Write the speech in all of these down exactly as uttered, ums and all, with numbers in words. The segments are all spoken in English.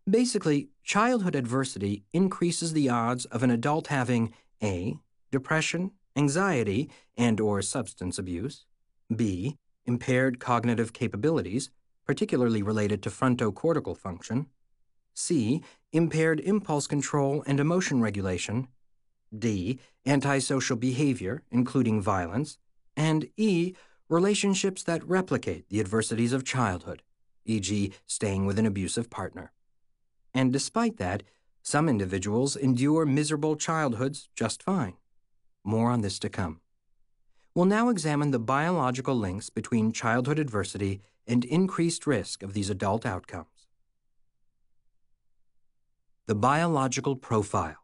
Basically, childhood adversity increases the odds of an adult having A. Depression, anxiety, and or substance abuse, B. Impaired cognitive capabilities, particularly related to frontocortical function, C. Impaired impulse control and emotion regulation, D. Antisocial behavior, including violence, and E. Relationships that replicate the adversities of childhood, for example staying with an abusive partner. And despite that, some individuals endure miserable childhoods just fine. More on this to come. We'll now examine the biological links between childhood adversity and increased risk of these adult outcomes. The biological profile.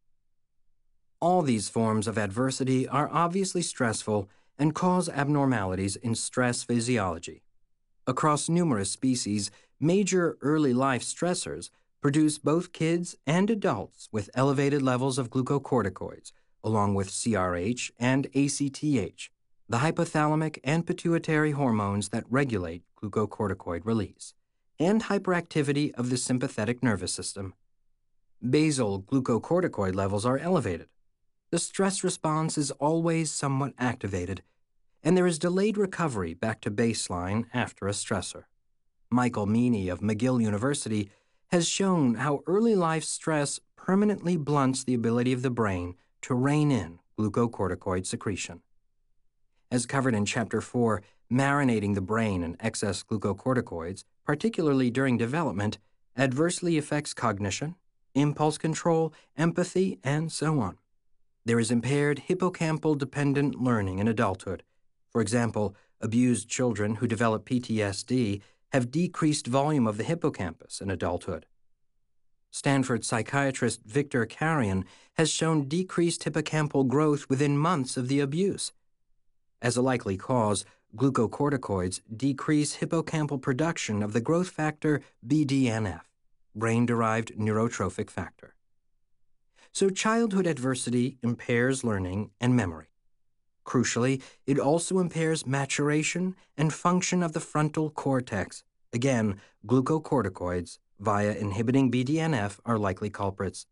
All these forms of adversity are obviously stressful and cause abnormalities in stress physiology. Across numerous species, major early life stressors produce both kids and adults with elevated levels of glucocorticoids, along with C R H and A C T H, the hypothalamic and pituitary hormones that regulate glucocorticoid release, and hyperactivity of the sympathetic nervous system. Basal glucocorticoid levels are elevated. The stress response is always somewhat activated, and there is delayed recovery back to baseline after a stressor. Michael Meany of McGill University has shown how early life stress permanently blunts the ability of the brain to rein in glucocorticoid secretion. As covered in Chapter four, Marinating the Brain in Excess Glucocorticoids, particularly during development, adversely affects cognition, impulse control, empathy, and so on. There is impaired hippocampal-dependent learning in adulthood. For example, abused children who develop P T S D have decreased volume of the hippocampus in adulthood. Stanford psychiatrist Victor Karian has shown decreased hippocampal growth within months of the abuse. As a likely cause, glucocorticoids decrease hippocampal production of the growth factor B D N F, brain-derived neurotrophic factor. So childhood adversity impairs learning and memory. Crucially, it also impairs maturation and function of the frontal cortex. Again, glucocorticoids, via inhibiting B D N F, are likely culprits.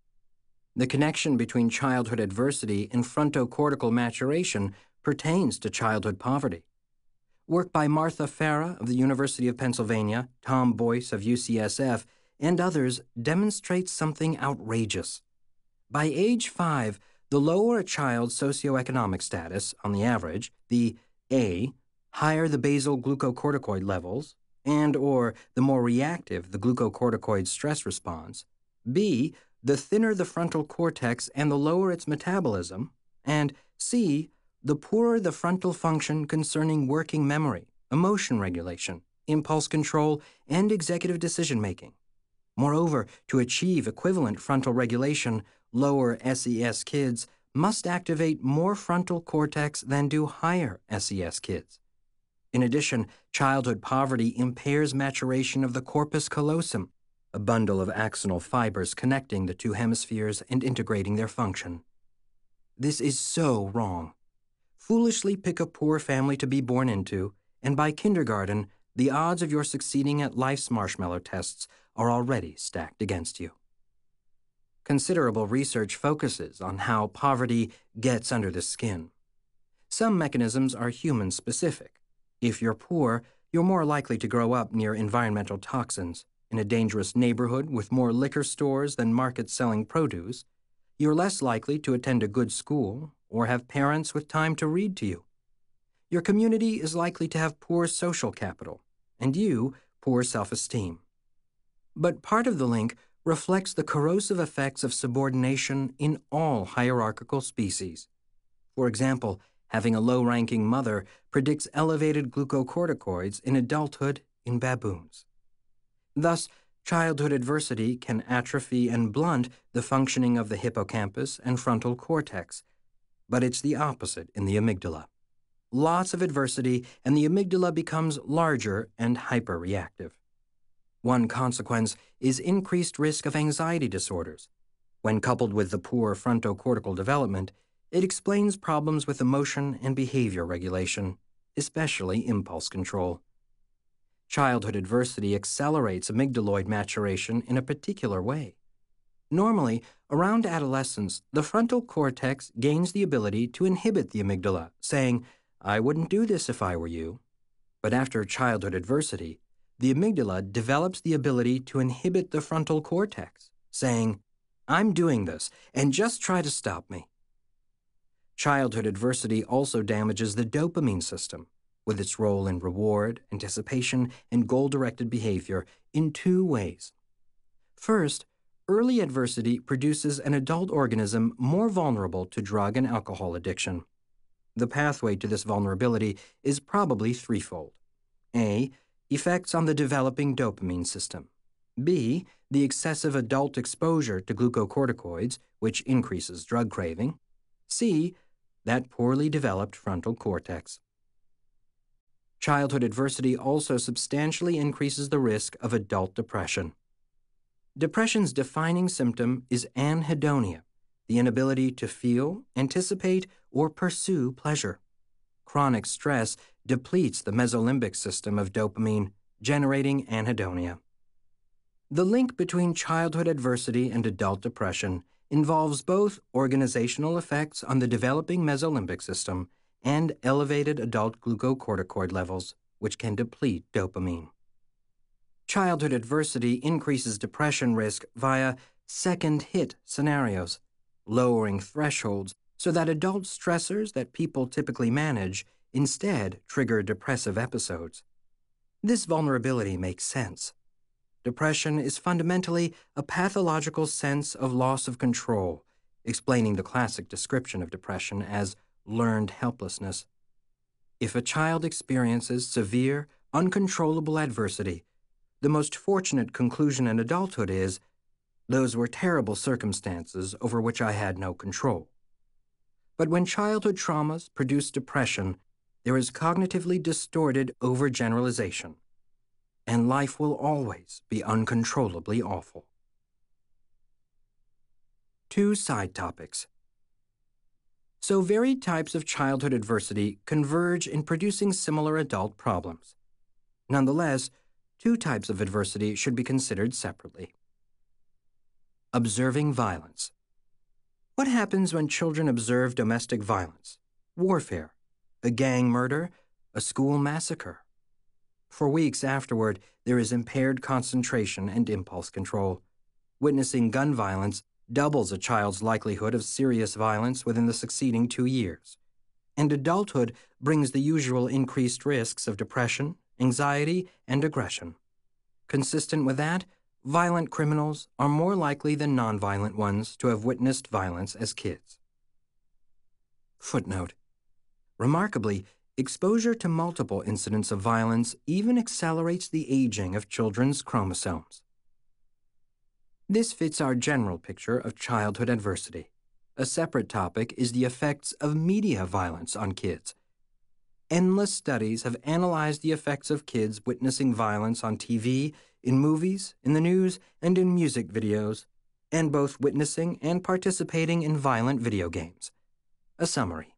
The connection between childhood adversity and frontocortical maturation pertains to childhood poverty. Work by Martha Farah of the University of Pennsylvania, Tom Boyce of U C S F, and others demonstrates something outrageous. By age five, the lower a child's socioeconomic status, on the average, the A, higher the basal glucocorticoid levels, and or the more reactive the glucocorticoid stress response, B, the thinner the frontal cortex and the lower its metabolism, and C, the poorer the frontal function concerning working memory, emotion regulation, impulse control, and executive decision-making. Moreover, to achieve equivalent frontal regulation, lower S E S kids must activate more frontal cortex than do higher S E S kids. In addition, childhood poverty impairs maturation of the corpus callosum, a bundle of axonal fibers connecting the two hemispheres and integrating their function. This is so wrong. Foolishly pick a poor family to be born into, and by kindergarten, the odds of your succeeding at life's marshmallow tests are already stacked against you. Considerable research focuses on how poverty gets under the skin. Some mechanisms are human-specific. If you're poor, you're more likely to grow up near environmental toxins, in a dangerous neighborhood with more liquor stores than markets selling produce. You're less likely to attend a good school or have parents with time to read to you. Your community is likely to have poor social capital, and you, poor self-esteem. But part of the link reflects the corrosive effects of subordination in all hierarchical species. For example, having a low-ranking mother predicts elevated glucocorticoids in adulthood in baboons. Thus, childhood adversity can atrophy and blunt the functioning of the hippocampus and frontal cortex, but it's the opposite in the amygdala. Lots of adversity, and the amygdala becomes larger and hyperreactive. One consequence is increased risk of anxiety disorders. When coupled with the poor frontocortical development, it explains problems with emotion and behavior regulation, especially impulse control. Childhood adversity accelerates amygdaloid maturation in a particular way. Normally, around adolescence, the frontal cortex gains the ability to inhibit the amygdala, saying, "I wouldn't do this if I were you." But after childhood adversity, the amygdala develops the ability to inhibit the frontal cortex, saying, "I'm doing this, and just try to stop me." Childhood adversity also damages the dopamine system, with its role in reward, anticipation, and goal-directed behavior in two ways. First, early adversity produces an adult organism more vulnerable to drug and alcohol addiction. The pathway to this vulnerability is probably threefold. A. Effects on the developing dopamine system. B. The excessive adult exposure to glucocorticoids, which increases drug craving. C. That poorly developed frontal cortex. Childhood adversity also substantially increases the risk of adult depression. Depression's defining symptom is anhedonia, the inability to feel, anticipate, or pursue pleasure. Chronic stress depletes the mesolimbic system of dopamine, generating anhedonia. The link between childhood adversity and adult depression involves both organizational effects on the developing mesolimbic system and elevated adult glucocorticoid levels, which can deplete dopamine. Childhood adversity increases depression risk via second-hit scenarios, lowering thresholds so that adult stressors that people typically manage instead trigger depressive episodes. This vulnerability makes sense. Depression is fundamentally a pathological sense of loss of control, explaining the classic description of depression as learned helplessness. If a child experiences severe, uncontrollable adversity, the most fortunate conclusion in adulthood is, "Those were terrible circumstances over which I had no control." But when childhood traumas produce depression, there is cognitively distorted overgeneralization, and life will always be uncontrollably awful. Two side topics. So varied types of childhood adversity converge in producing similar adult problems. Nonetheless, two types of adversity should be considered separately. Observing violence. What happens when children observe domestic violence, warfare, a gang murder, a school massacre? For weeks afterward, there is impaired concentration and impulse control. Witnessing gun violence doubles a child's likelihood of serious violence within the succeeding two years. And adulthood brings the usual increased risks of depression, anxiety, and aggression. Consistent with that, violent criminals are more likely than nonviolent ones to have witnessed violence as kids. Footnote. Remarkably, exposure to multiple incidents of violence even accelerates the aging of children's chromosomes. This fits our general picture of childhood adversity. A separate topic is the effects of media violence on kids. Endless studies have analyzed the effects of kids witnessing violence on T V, in movies, in the news, and in music videos, and both witnessing and participating in violent video games. A summary.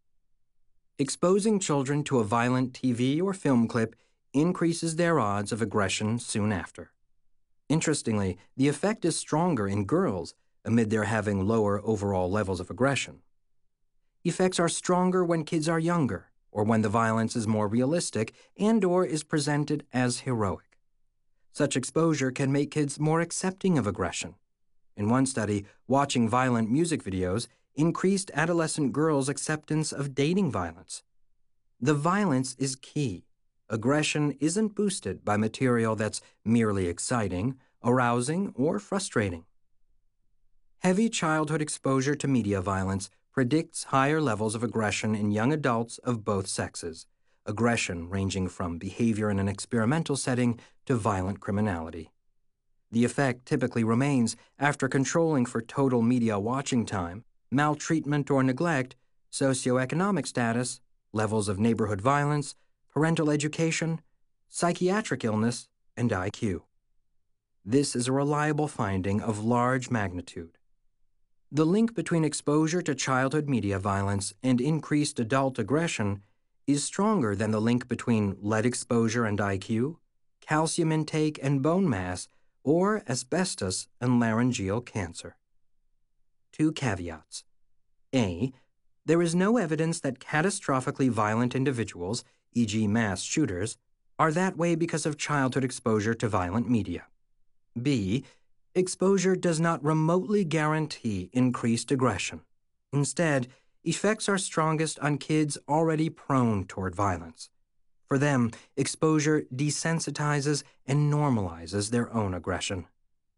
Exposing children to a violent T V or film clip increases their odds of aggression soon after. Interestingly, the effect is stronger in girls amid their having lower overall levels of aggression. Effects are stronger when kids are younger, or when the violence is more realistic and/or is presented as heroic. Such exposure can make kids more accepting of aggression. In one study, watching violent music videos increased adolescent girls' acceptance of dating violence. The violence is key. Aggression isn't boosted by material that's merely exciting, arousing, or frustrating. Heavy childhood exposure to media violence predicts higher levels of aggression in young adults of both sexes, aggression ranging from behavior in an experimental setting to violent criminality. The effect typically remains after controlling for total media watching time, maltreatment or neglect, socioeconomic status, levels of neighborhood violence, parental education, psychiatric illness, and I Q. This is a reliable finding of large magnitude. The link between exposure to childhood media violence and increased adult aggression is stronger than the link between lead exposure and I Q, calcium intake and bone mass, or asbestos and laryngeal cancer. Two caveats. A. There is no evidence that catastrophically violent individuals, for example mass shooters, are that way because of childhood exposure to violent media. B. Exposure does not remotely guarantee increased aggression. Instead, effects are strongest on kids already prone toward violence. For them, exposure desensitizes and normalizes their own aggression.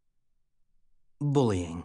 Bullying.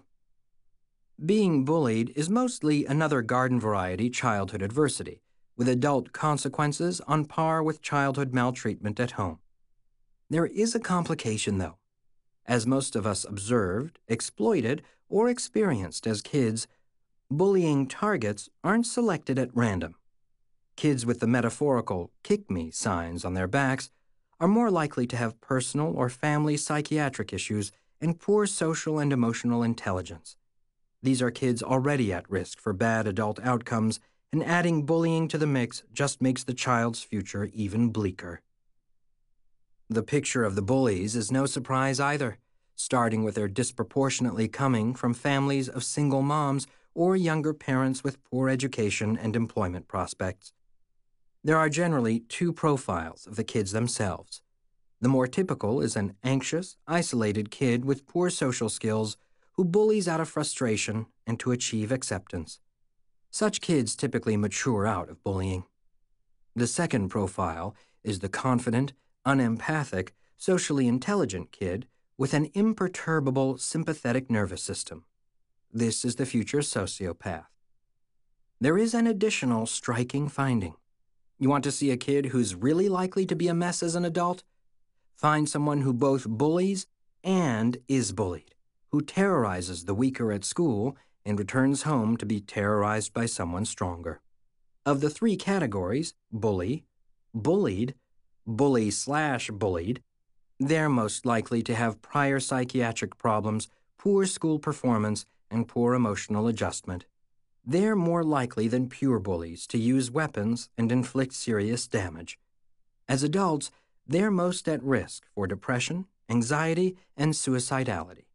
Being bullied is mostly another garden variety childhood adversity, with adult consequences on par with childhood maltreatment at home. There is a complication, though. As most of us observed, exploited, or experienced as kids, bullying targets aren't selected at random. Kids with the metaphorical kick me signs on their backs are more likely to have personal or family psychiatric issues and poor social and emotional intelligence. These are kids already at risk for bad adult outcomes, and adding bullying to the mix just makes the child's future even bleaker. The picture of the bullies is no surprise either, starting with their disproportionately coming from families of single moms or younger parents with poor education and employment prospects. There are generally two profiles of the kids themselves. The more typical is an anxious, isolated kid with poor social skills who bullies out of frustration and to achieve acceptance. Such kids typically mature out of bullying. The second profile is the confident, unempathic, socially intelligent kid with an imperturbable sympathetic nervous system. This is the future sociopath. There is an additional striking finding. You want to see a kid who's really likely to be a mess as an adult? Find someone who both bullies and is bullied, who terrorizes the weaker at school and returns home to be terrorized by someone stronger. Of the three categories, bully, bullied, bully slash bullied, they're most likely to have prior psychiatric problems, poor school performance, and poor emotional adjustment. They're more likely than pure bullies to use weapons and inflict serious damage. As adults, they're most at risk for depression, anxiety, and suicidality.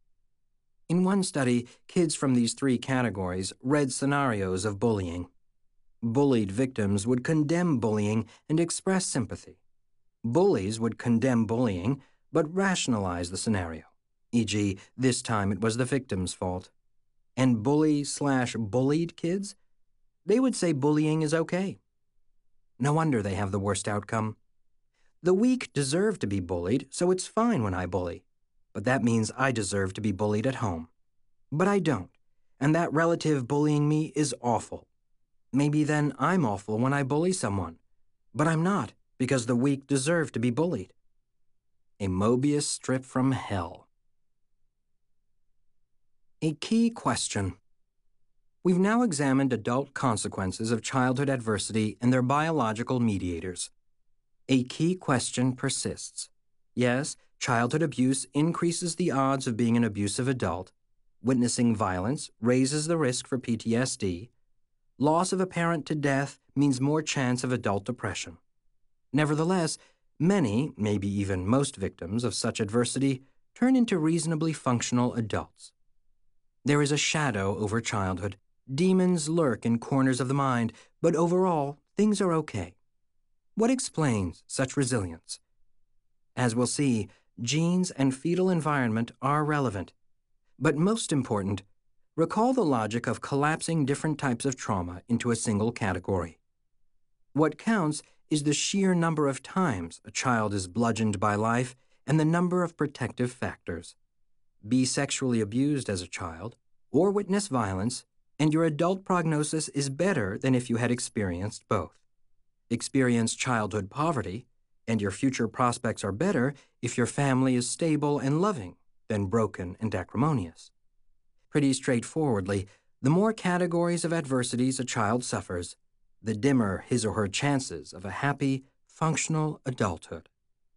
In one study, kids from these three categories read scenarios of bullying. Bullied victims would condemn bullying and express sympathy. Bullies would condemn bullying but rationalize the scenario, for example, this time it was the victim's fault. And bully slash bullied kids, they would say bullying is okay. No wonder they have the worst outcome. The weak deserve to be bullied, so it's fine when I bully. But that means I deserve to be bullied at home. But I don't, and that relative bullying me is awful. Maybe then I'm awful when I bully someone. But I'm not, because the weak deserve to be bullied. A Mobius strip from hell. A key question. We've now examined adult consequences of childhood adversity and their biological mediators. A key question persists. Yes, childhood abuse increases the odds of being an abusive adult. Witnessing violence raises the risk for P T S D. Loss of a parent to death means more chance of adult depression. Nevertheless, many, maybe even most victims of such adversity turn into reasonably functional adults. There is a shadow over childhood. Demons lurk in corners of the mind, but overall, things are okay. What explains such resilience? As we'll see, genes and fetal environment are relevant. But most important, recall the logic of collapsing different types of trauma into a single category. What counts is the sheer number of times a child is bludgeoned by life and the number of protective factors. Be sexually abused as a child, or witness violence, and your adult prognosis is better than if you had experienced both. Experience childhood poverty, and your future prospects are better if your family is stable and loving than broken and acrimonious. Pretty straightforwardly, the more categories of adversities a child suffers, the dimmer his or her chances of a happy, functional adulthood.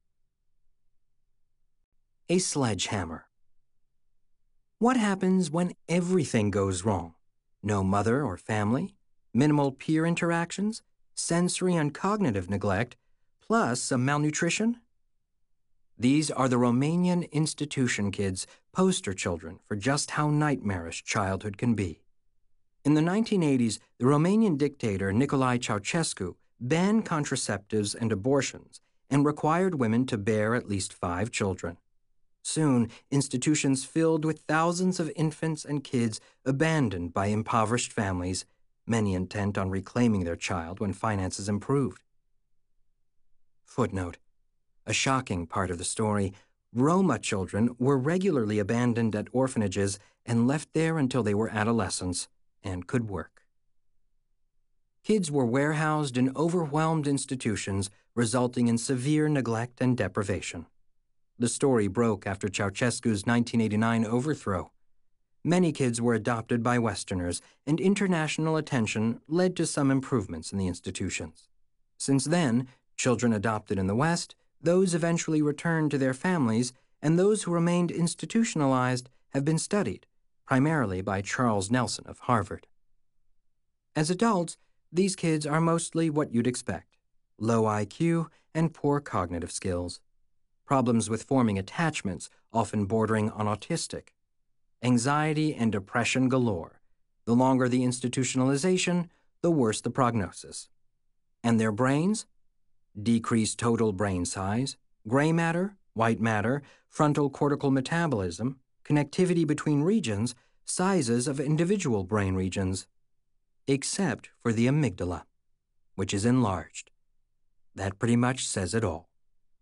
A sledgehammer. What happens when everything goes wrong? No mother or family, minimal peer interactions, sensory and cognitive neglect, plus some malnutrition? These are the Romanian institution kids, poster children for just how nightmarish childhood can be. In the nineteen eighties, the Romanian dictator Nicolae Ceausescu banned contraceptives and abortions and required women to bear at least five children. Soon, institutions filled with thousands of infants and kids abandoned by impoverished families, many intent on reclaiming their child when finances improved. Footnote: a shocking part of the story, Roma children were regularly abandoned at orphanages and left there until they were adolescents and could work. Kids were warehoused in overwhelmed institutions, resulting in severe neglect and deprivation. The story broke after Ceausescu's nineteen eighty-nine overthrow. Many kids were adopted by Westerners, and international attention led to some improvements in the institutions. Since then, children adopted in the West, those eventually returned to their families, and those who remained institutionalized have been studied, primarily by Charles Nelson of Harvard. As adults, these kids are mostly what you'd expect: low I Q and poor cognitive skills. Problems with forming attachments, often bordering on autistic. Anxiety and depression galore. The longer the institutionalization, the worse the prognosis. And their brains? Decreased total brain size, gray matter, white matter, frontal cortical metabolism, connectivity between regions, sizes of individual brain regions. Except for the amygdala, which is enlarged. That pretty much says it all.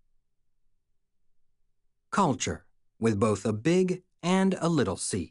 Culture, with both a big and a little c.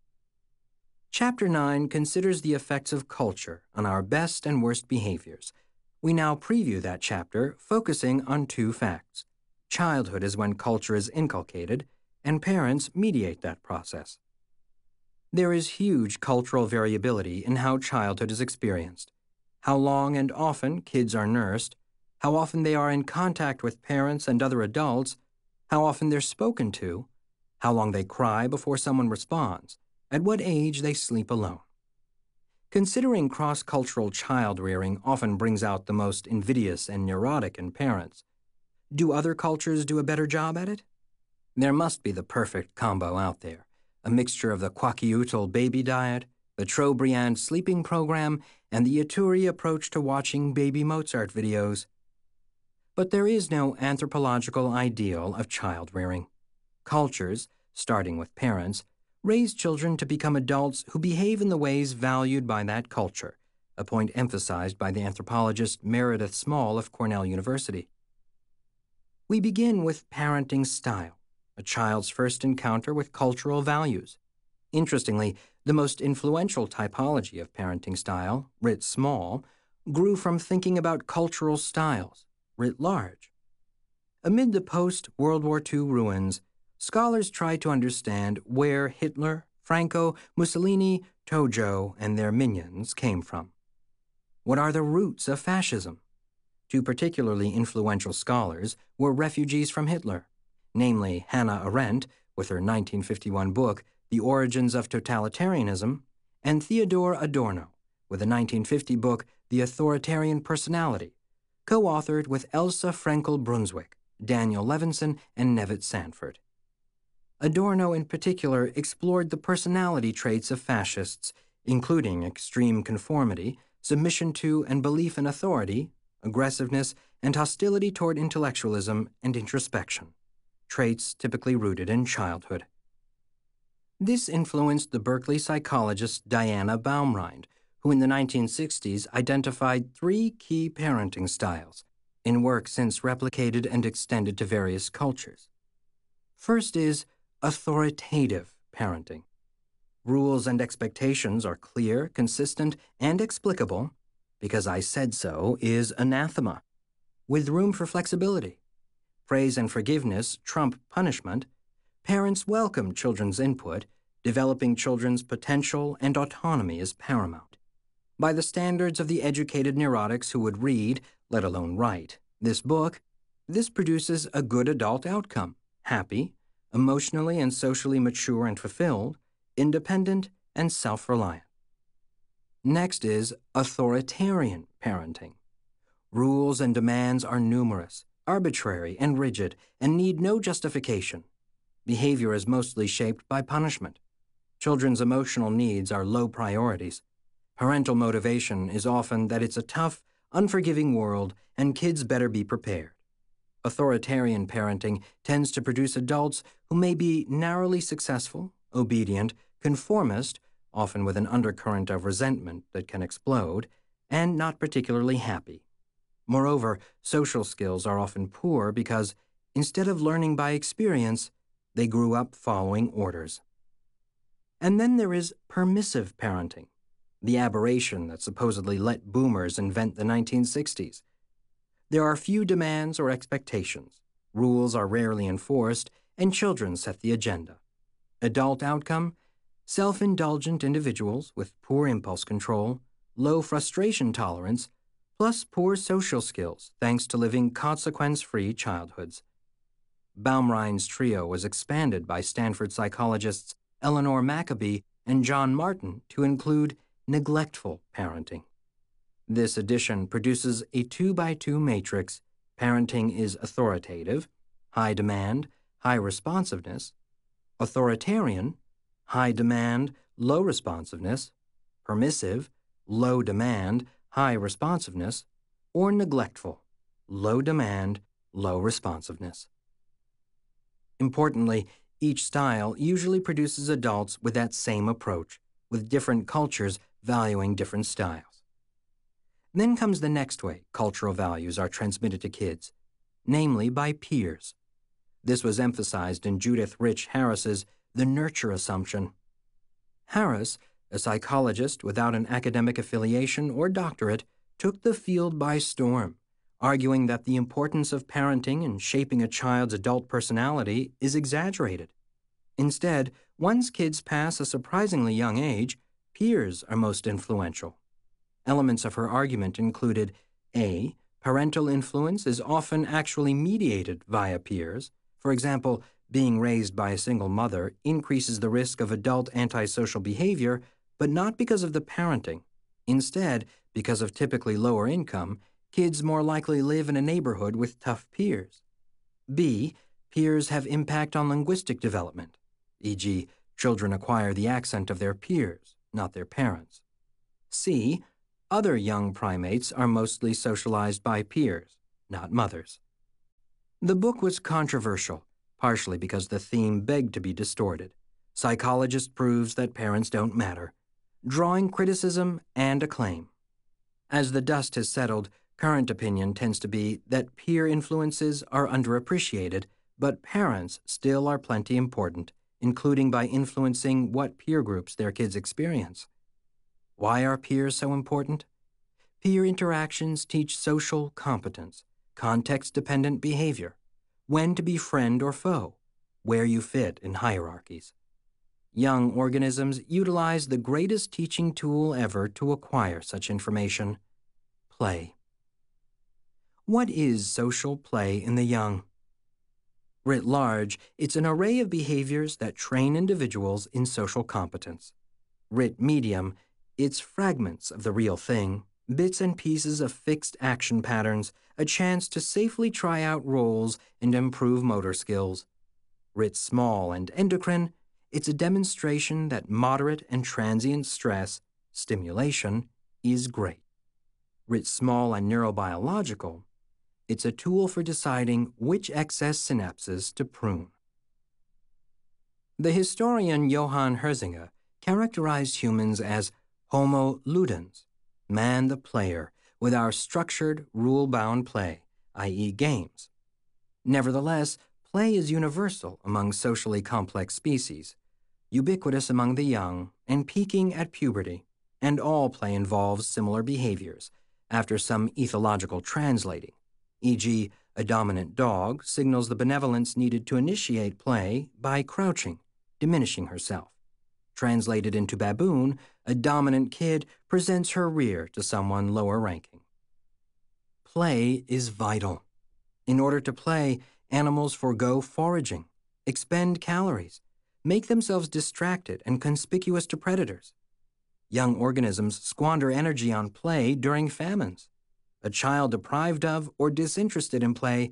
Chapter nine considers the effects of culture on our best and worst behaviors. We now preview that chapter, focusing on two facts. Childhood is when culture is inculcated, and parents mediate that process. There is huge cultural variability in how childhood is experienced, how long and often kids are nursed, how often they are in contact with parents and other adults, how often they're spoken to, how long they cry before someone responds, at what age they sleep alone. Considering cross-cultural child-rearing often brings out the most invidious and neurotic in parents. Do other cultures do a better job at it? There must be the perfect combo out there, a mixture of the Kwakiutl baby diet, the Trobriand sleeping program, and the Ituri approach to watching baby Mozart videos. But there is no anthropological ideal of child-rearing. Cultures, starting with parents, raise children to become adults who behave in the ways valued by that culture, a point emphasized by the anthropologist Meredith Small of Cornell University. We begin with parenting style, a child's first encounter with cultural values. Interestingly, the most influential typology of parenting style, writ small, grew from thinking about cultural styles, writ large. Amid the post-World War Two ruins, scholars tried to understand where Hitler, Franco, Mussolini, Tojo, and their minions came from. What are the roots of fascism? Two particularly influential scholars were refugees from Hitler, namely Hannah Arendt, with her nineteen fifty-one book, The Origins of Totalitarianism, and Theodor Adorno, with a nineteen fifty book, The Authoritarian Personality, co-authored with Elsa Frankel-Brunswick, Daniel Levinson, and Nevitt Sanford. Adorno in particular explored the personality traits of fascists, including extreme conformity, submission to and belief in authority, aggressiveness, and hostility toward intellectualism and introspection, traits typically rooted in childhood. This influenced the Berkeley psychologist Diana Baumrind, who in the nineteen sixties identified three key parenting styles, in work since replicated and extended to various cultures. First is authoritative parenting. Rules and expectations are clear, consistent, and explicable, because I said so is anathema, with room for flexibility. Praise and forgiveness trump punishment. Parents welcome children's input. Developing children's potential and autonomy is paramount. By the standards of the educated neurotics who would read, let alone write, this book, this produces a good adult outcome, happy, emotionally and socially mature and fulfilled, independent, and self-reliant. Next is authoritarian parenting. Rules and demands are numerous. arbitrary and rigid, and need no justification. Behavior is mostly shaped by punishment. Children's emotional needs are low priorities. Parental motivation is often that it's a tough, unforgiving world and kids better be prepared. Authoritarian parenting tends to produce adults who may be narrowly successful, obedient, conformist, often with an undercurrent of resentment that can explode, and not particularly happy. Moreover, social skills are often poor because, instead of learning by experience, they grew up following orders. And then there is permissive parenting, the aberration that supposedly let boomers invent the nineteen sixties. There are few demands or expectations, rules are rarely enforced, and children set the agenda. Adult outcome? Self-indulgent individuals with poor impulse control, low frustration tolerance, plus poor social skills thanks to living consequence-free childhoods. Baumrein's trio was expanded by Stanford psychologists Eleanor Maccoby and John Martin to include neglectful parenting. This addition produces a two-by-two matrix. Parenting is authoritative, high demand, high responsiveness; authoritarian, high demand, low responsiveness; permissive, low demand, high responsiveness; or neglectful, low demand, low responsiveness. Importantly, each style usually produces adults with that same approach, with different cultures valuing different styles. Then comes the next way cultural values are transmitted to kids, namely by peers. This was emphasized in Judith Rich Harris's The Nurture Assumption. Harris, a psychologist without an academic affiliation or doctorate, took the field by storm, arguing that the importance of parenting in shaping a child's adult personality is exaggerated. Instead, once kids pass a surprisingly young age, peers are most influential. Elements of her argument included A. Parental influence is often actually mediated via peers. For example, being raised by a single mother increases the risk of adult antisocial behavior, but not because of the parenting. Instead, because of typically lower income, kids more likely live in a neighborhood with tough peers. B. Peers have impact on linguistic development, for example, children acquire the accent of their peers, not their parents. C. Other young primates are mostly socialized by peers, not mothers. The book was controversial, partially because the theme begged to be distorted. Psychologist proves that parents don't matter, drawing criticism and acclaim. As the dust has settled, current opinion tends to be that peer influences are underappreciated, but parents still are plenty important, including by influencing what peer groups their kids experience. Why are peers so important? Peer interactions teach social competence, context-dependent behavior, when to be friend or foe, where you fit in hierarchies. Young organisms utilize the greatest teaching tool ever to acquire such information: play. What is social play in the young? Writ large, it's an array of behaviors that train individuals in social competence. Writ medium, it's fragments of the real thing, bits and pieces of fixed action patterns, a chance to safely try out roles and improve motor skills. Writ small and endocrine, it's a demonstration that moderate and transient stress, stimulation, is great. Writ small and neurobiological, it's a tool for deciding which excess synapses to prune. The historian Johann Herzinger characterized humans as Homo ludens, man the player, with our structured, rule-bound play, that is games. Nevertheless, play is universal among socially complex species, ubiquitous among the young, and peaking at puberty, and all play involves similar behaviors, after some ethological translating, for example, a dominant dog signals the benevolence needed to initiate play by crouching, diminishing herself. Translated into baboon, a dominant kid presents her rear to someone lower ranking. Play is vital. In order to play, animals forego foraging, expend calories, make themselves distracted and conspicuous to predators. Young organisms squander energy on play during famines. A child deprived of or disinterested in play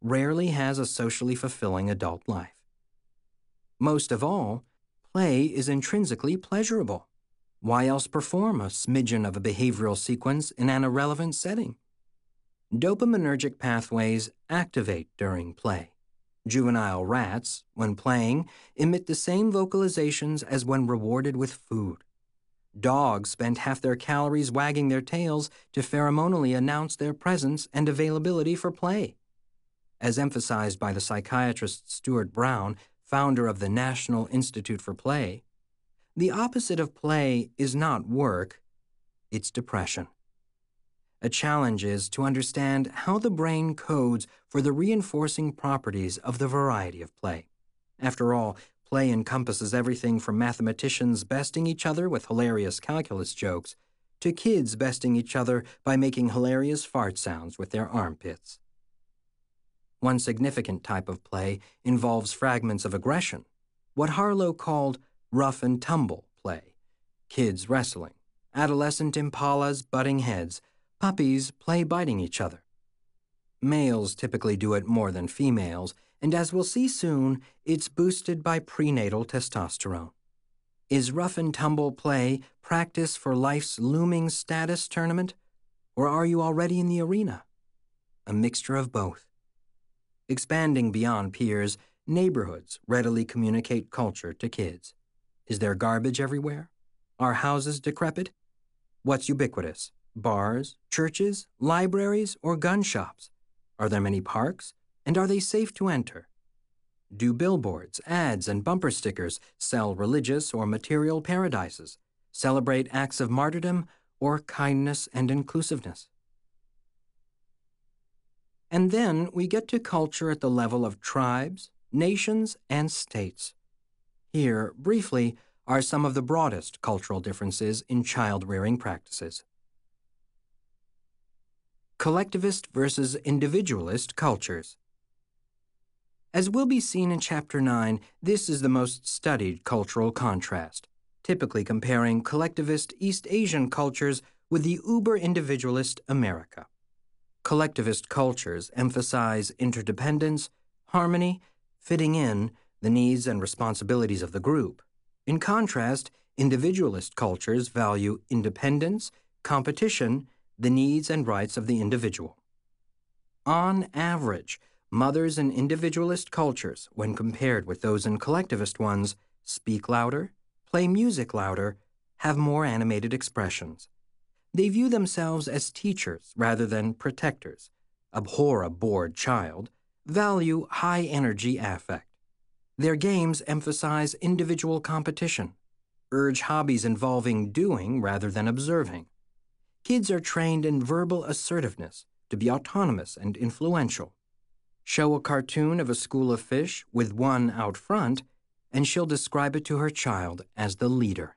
rarely has a socially fulfilling adult life. Most of all, play is intrinsically pleasurable. Why else perform a smidgen of a behavioral sequence in an irrelevant setting? Dopaminergic pathways activate during play. Juvenile rats, when playing, emit the same vocalizations as when rewarded with food. Dogs spend half their calories wagging their tails to pheromonally announce their presence and availability for play. As emphasized by the psychiatrist Stuart Brown, founder of the National Institute for Play, the opposite of play is not work, it's depression. A challenge is to understand how the brain codes for the reinforcing properties of the variety of play. After all, play encompasses everything from mathematicians besting each other with hilarious calculus jokes to kids besting each other by making hilarious fart sounds with their armpits. One significant type of play involves fragments of aggression, what Harlow called rough and tumble play, kids wrestling, adolescent impalas butting heads, puppies play biting each other. Males typically do it more than females, and as we'll see soon, it's boosted by prenatal testosterone. Is rough and tumble play practice for life's looming status tournament, or are you already in the arena? A mixture of both. Expanding beyond peers, neighborhoods readily communicate culture to kids. Is there garbage everywhere? Are houses decrepit? What's ubiquitous? Bars, churches, libraries, or gun shops? Are there many parks? And are they safe to enter? Do billboards, ads, and bumper stickers sell religious or material paradises, celebrate acts of martyrdom, or kindness and inclusiveness? And then we get to culture at the level of tribes, nations, and states. Here, briefly, are some of the broadest cultural differences in child-rearing practices. Collectivist versus individualist cultures. As will be seen in Chapter nine, this is the most studied cultural contrast, typically comparing collectivist East Asian cultures with the uber-individualist America. Collectivist cultures emphasize interdependence, harmony, fitting in, the needs and responsibilities of the group. In contrast, individualist cultures value independence, competition, the needs and rights of the individual. On average, mothers in individualist cultures, when compared with those in collectivist ones, speak louder, play music louder, have more animated expressions. They view themselves as teachers rather than protectors, abhor a bored child, value high-energy affect. Their games emphasize individual competition, urge hobbies involving doing rather than observing. Kids are trained in verbal assertiveness to be autonomous and influential. Show a cartoon of a school of fish with one out front, and she'll describe it to her child as the leader.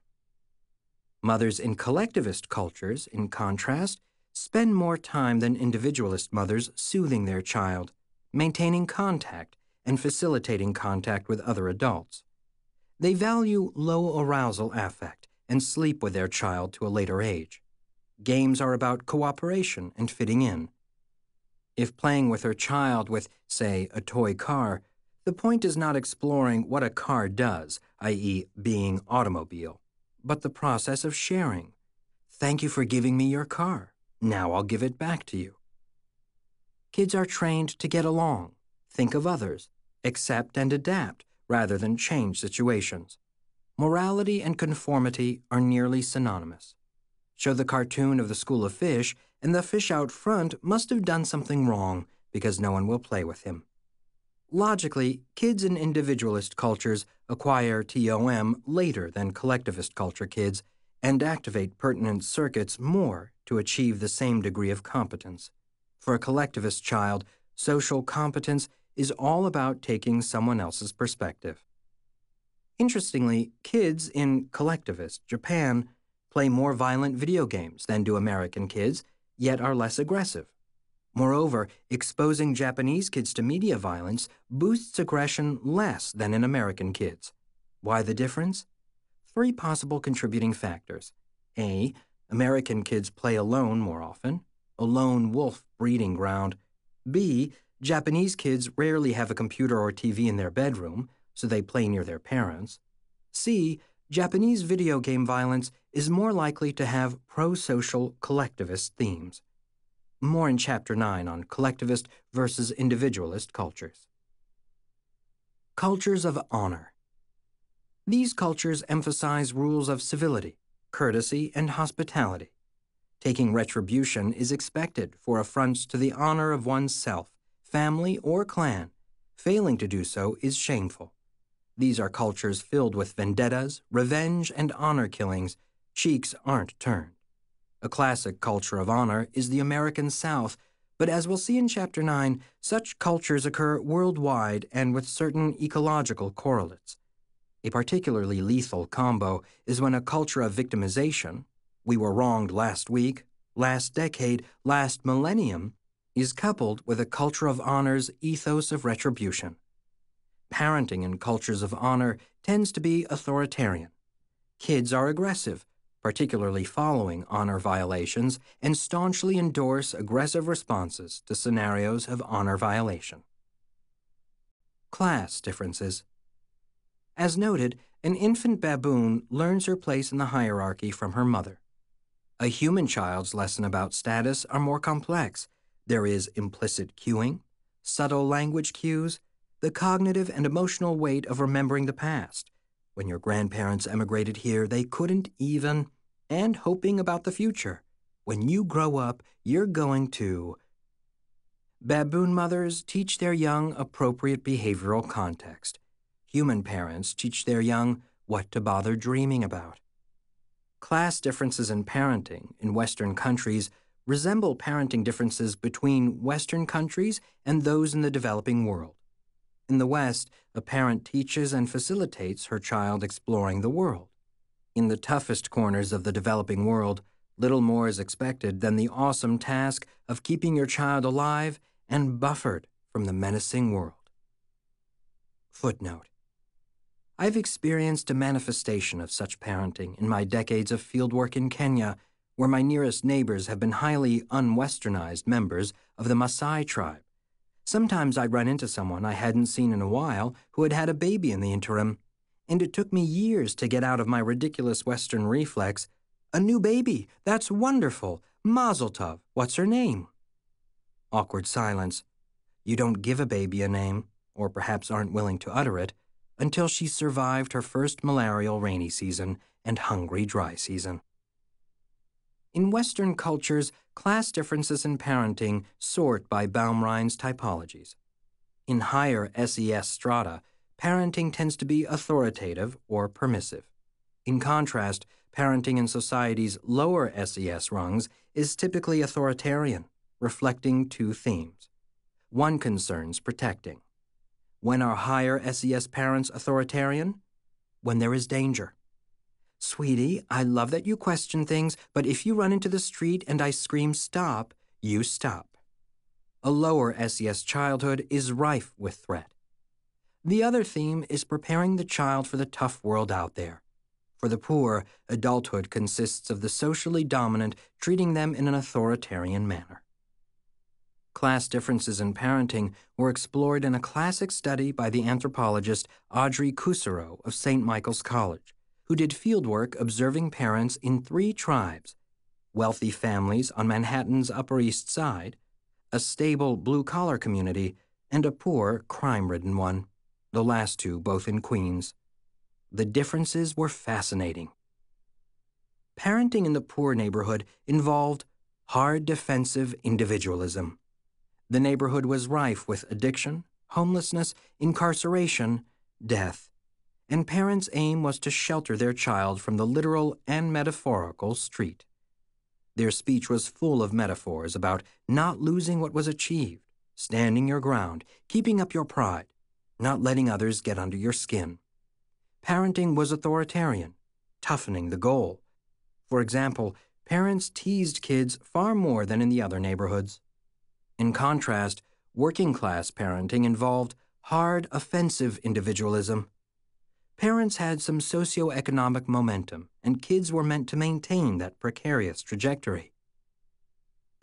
Mothers in collectivist cultures, in contrast, spend more time than individualist mothers soothing their child, maintaining contact, and facilitating contact with other adults. They value low arousal affect and sleep with their child to a later age. Games are about cooperation and fitting in. If playing with her child with, say, a toy car, the point is not exploring what a car does, that is being automobile, but the process of sharing. Thank you for giving me your car. Now I'll give it back to you. Kids are trained to get along, think of others, accept and adapt rather than change situations. Morality and conformity are nearly synonymous. Show the cartoon of the school of fish, and the fish out front must have done something wrong because no one will play with him. Logically, kids in individualist cultures acquire T O M later than collectivist culture kids and activate pertinent circuits more to achieve the same degree of competence. For a collectivist child, social competence is all about taking someone else's perspective. Interestingly, kids in collectivist Japan play more violent video games than do American kids, yet are less aggressive. Moreover, exposing Japanese kids to media violence boosts aggression less than in American kids. Why the difference? Three possible contributing factors. A. American kids play alone more often, a lone wolf breeding ground. B. Japanese kids rarely have a computer or T V in their bedroom, so they play near their parents. C. Japanese video game violence is more likely to have pro-social collectivist themes. More in Chapter nine on collectivist versus individualist cultures. Cultures of honor. These cultures emphasize rules of civility, courtesy, and hospitality. Taking retribution is expected for affronts to the honor of one's self, family, or clan. Failing to do so is shameful. These are cultures filled with vendettas, revenge, and honor killings. Cheeks aren't turned. A classic culture of honor is the American South, but as we'll see in Chapter nine, such cultures occur worldwide and with certain ecological correlates. A particularly lethal combo is when a culture of victimization, we were wronged last week, last decade, last millennium, is coupled with a culture of honor's ethos of retribution. Parenting in cultures of honor tends to be authoritarian. Kids are aggressive, particularly following honor violations, and staunchly endorse aggressive responses to scenarios of honor violation. Class differences. As noted, an infant baboon learns her place in the hierarchy from her mother. A human child's lesson about status are more complex. There is implicit cueing, subtle language cues, the cognitive and emotional weight of remembering the past. When your grandparents emigrated here, they couldn't even, and hoping about the future. When you grow up, you're going to. Baboon mothers teach their young appropriate behavioral context. Human parents teach their young what to bother dreaming about. Class differences in parenting in Western countries resemble parenting differences between Western countries and those in the developing world. In the West, a parent teaches and facilitates her child exploring the world. In the toughest corners of the developing world, little more is expected than the awesome task of keeping your child alive and buffered from the menacing world. Footnote. I've experienced a manifestation of such parenting in my decades of fieldwork in Kenya, where my nearest neighbors have been highly unwesternized members of the Maasai tribe. Sometimes I'd run into someone I hadn't seen in a while who had had a baby in the interim, and it took me years to get out of my ridiculous Western reflex, "A new baby, that's wonderful, Mazel Tov, what's her name?" Awkward silence. You don't give a baby a name, or perhaps aren't willing to utter it, until she's survived her first malarial rainy season and hungry dry season. In Western cultures, class differences in parenting sort by Baumrine's typologies. In higher S E S strata, parenting tends to be authoritative or permissive. In contrast, parenting in society's lower S E S rungs is typically authoritarian, reflecting two themes. One concerns protecting. When are higher S E S parents authoritarian? When there is danger. Sweetie, I love that you question things, but if you run into the street and I scream stop, you stop. A lower S E S childhood is rife with threat. The other theme is preparing the child for the tough world out there. For the poor, adulthood consists of the socially dominant treating them in an authoritarian manner. Class differences in parenting were explored in a classic study by the anthropologist Audrey Cousereau of Saint Michael's College, who did fieldwork observing parents in three tribes: wealthy families on Manhattan's Upper East Side, a stable blue-collar community, and a poor, crime-ridden one, the last two both in Queens. The differences were fascinating. Parenting in the poor neighborhood involved hard defensive individualism. The neighborhood was rife with addiction, homelessness, incarceration, death, and parents' aim was to shelter their child from the literal and metaphorical street. Their speech was full of metaphors about not losing what was achieved, standing your ground, keeping up your pride, not letting others get under your skin. Parenting was authoritarian, toughening the goal. For example, parents teased kids far more than in the other neighborhoods. In contrast, working-class parenting involved hard, offensive individualism. Parents had some socioeconomic momentum, and kids were meant to maintain that precarious trajectory.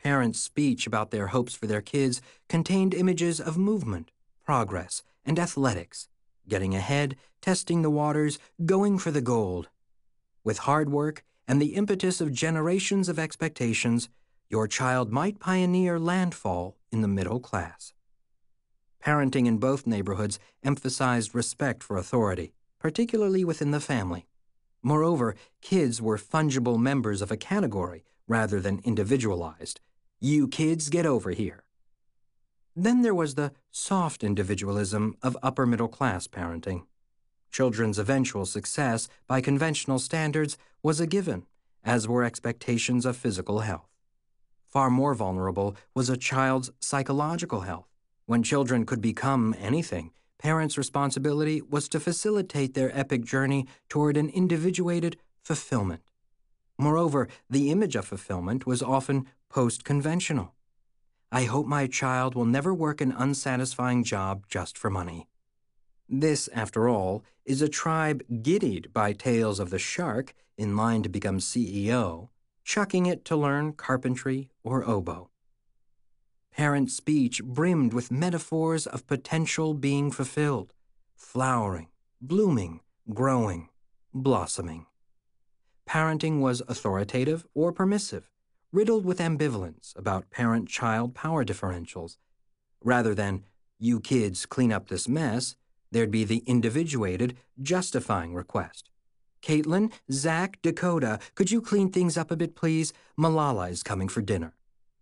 Parents' speech about their hopes for their kids contained images of movement, progress, and athletics, getting ahead, testing the waters, going for the gold. With hard work and the impetus of generations of expectations, your child might pioneer landfall in the middle class. Parenting in both neighborhoods emphasized respect for authority, particularly within the family. Moreover, kids were fungible members of a category rather than individualized. You kids get over here. Then there was the soft individualism of upper-middle-class parenting. Children's eventual success, by conventional standards, was a given, as were expectations of physical health. Far more vulnerable was a child's psychological health. When children could become anything, parents' responsibility was to facilitate their epic journey toward an individuated fulfillment. Moreover, the image of fulfillment was often post-conventional. I hope my child will never work an unsatisfying job just for money. This, after all, is a tribe giddied by tales of the shark in line to become C E O, chucking it to learn carpentry or oboe. Parent speech brimmed with metaphors of potential being fulfilled, flowering, blooming, growing, blossoming. Parenting was authoritative or permissive, riddled with ambivalence about parent-child power differentials. Rather than, you kids clean up this mess, there'd be the individuated, justifying request. Caitlin, Zach, Dakota, could you clean things up a bit, please? Malala is coming for dinner.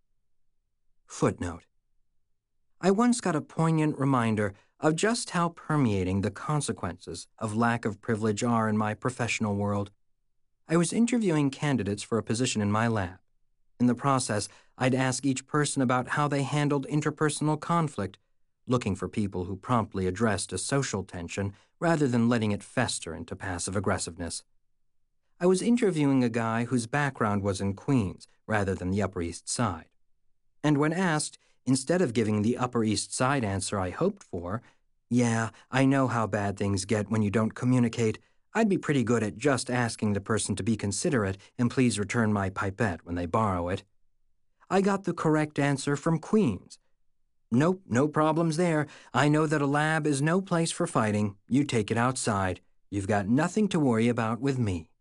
Footnote. I once got a poignant reminder of just how permeating the consequences of lack of privilege are in my professional world. I was interviewing candidates for a position in my lab. In the process, I'd ask each person about how they handled interpersonal conflict, looking for people who promptly addressed a social tension rather than letting it fester into passive aggressiveness. I was interviewing a guy whose background was in Queens rather than the Upper East Side. And when asked, instead of giving the Upper East Side answer I hoped for, yeah, I know how bad things get when you don't communicate, I'd be pretty good at just asking the person to be considerate and please return my pipette when they borrow it, I got the correct answer from Queens. Nope, no problems there. I know that a lab is no place for fighting. You take it outside. You've got nothing to worry about with me.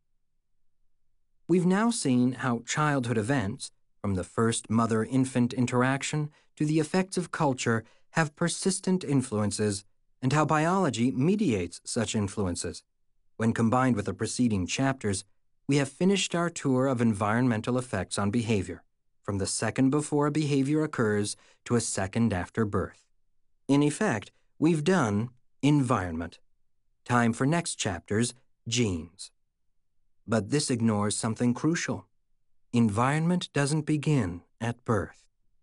We've now seen how childhood events, from the first mother-infant interaction to the effects of culture, have persistent influences, and how biology mediates such influences. When combined with the preceding chapters, we have finished our tour of environmental effects on behavior, from the second before a behavior occurs to a second after birth. In effect, we've done environment. Time for next chapter's genes. But this ignores something crucial. Environment doesn't begin at birth.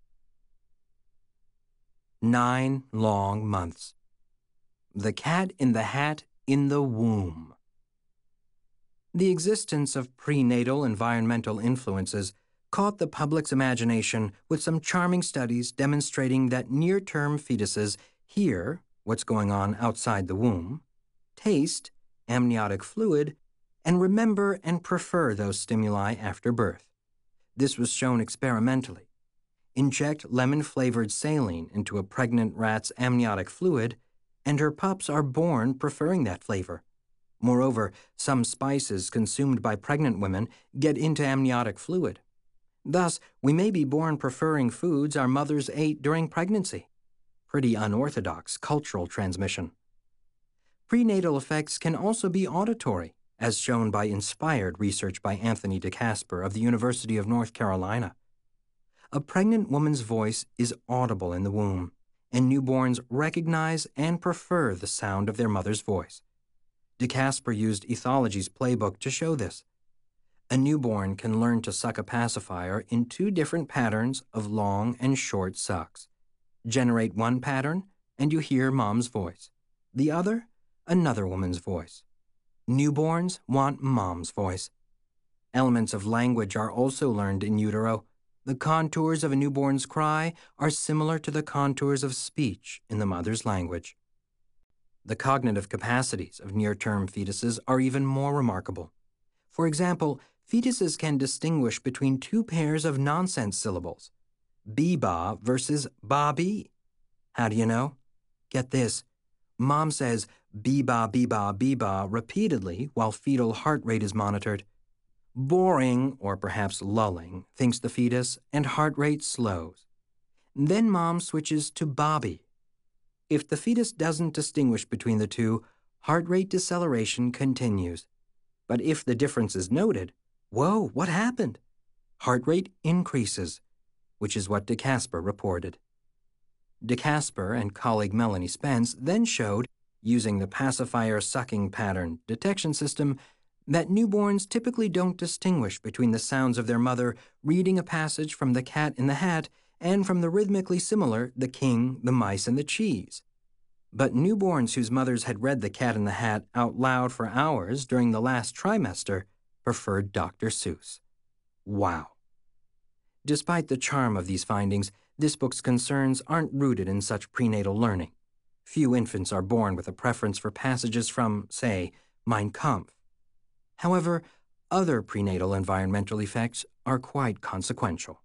Nine long months. The cat in the hat in the womb. The existence of prenatal environmental influences caught the public's imagination with some charming studies demonstrating that near-term fetuses hear what's going on outside the womb, taste amniotic fluid, and remember and prefer those stimuli after birth. This was shown experimentally. Inject lemon-flavored saline into a pregnant rat's amniotic fluid, and her pups are born preferring that flavor. Moreover, some spices consumed by pregnant women get into amniotic fluid. Thus, we may be born preferring foods our mothers ate during pregnancy. Pretty unorthodox cultural transmission. Prenatal effects can also be auditory, as shown by inspired research by Anthony DeCasper of the University of North Carolina. A pregnant woman's voice is audible in the womb, and newborns recognize and prefer the sound of their mother's voice. DeCasper used ethology's playbook to show this. A newborn can learn to suck a pacifier in two different patterns of long and short sucks. Generate one pattern, and you hear mom's voice. The other, another woman's voice. Newborns want mom's voice. Elements of language are also learned in utero. The contours of a newborn's cry are similar to the contours of speech in the mother's language. The cognitive capacities of near-term fetuses are even more remarkable. For example, fetuses can distinguish between two pairs of nonsense syllables, Beba versus Bobby. How do you know? Get this. Mom says Beba, Beba, Beba repeatedly while fetal heart rate is monitored. Boring, or perhaps lulling, thinks the fetus, and heart rate slows. Then mom switches to Bobby. If the fetus doesn't distinguish between the two, heart rate deceleration continues. But if the difference is noted, whoa, what happened? Heart rate increases, which is what DeCasper reported. DeCasper and colleague Melanie Spence then showed, using the pacifier sucking pattern detection system, that newborns typically don't distinguish between the sounds of their mother reading a passage from The Cat in the Hat and from the rhythmically similar The King, the Mice, and the Cheese. But newborns whose mothers had read The Cat in the Hat out loud for hours during the last trimester preferred Doctor Seuss. Wow. Despite the charm of these findings, this book's concerns aren't rooted in such prenatal learning. Few infants are born with a preference for passages from, say, Mein Kampf. However, other prenatal environmental effects are quite consequential.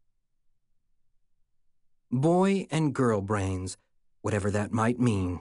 Boy and girl brains, whatever that might mean.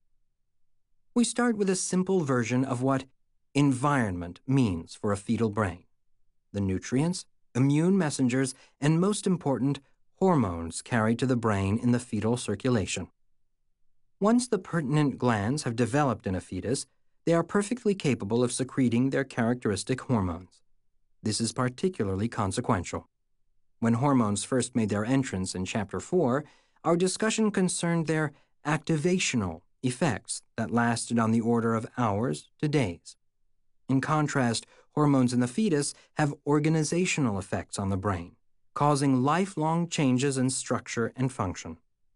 We start with a simple version of what environment means for a fetal brain. The nutrients, immune messengers, and most important, hormones carried to the brain in the fetal circulation. Once the pertinent glands have developed in a fetus, they are perfectly capable of secreting their characteristic hormones. This is particularly consequential. When hormones first made their entrance in Chapter four, our discussion concerned their activational effects that lasted on the order of hours to days. In contrast, hormones in the fetus have organizational effects on the brain, causing lifelong changes in structure and function.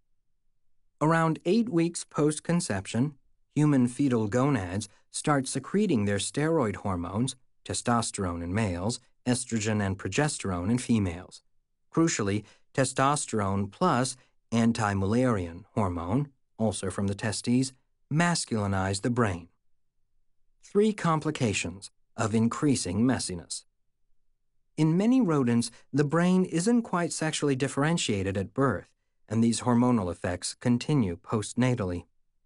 Around eight weeks post-conception, human fetal gonads start secreting their steroid hormones, testosterone in males, estrogen and progesterone in females. Crucially, testosterone plus anti-Mullerian hormone, also from the testes, masculinize the brain. Three complications of increasing messiness. In many rodents, the brain isn't quite sexually differentiated at birth, and these hormonal effects continue postnatally.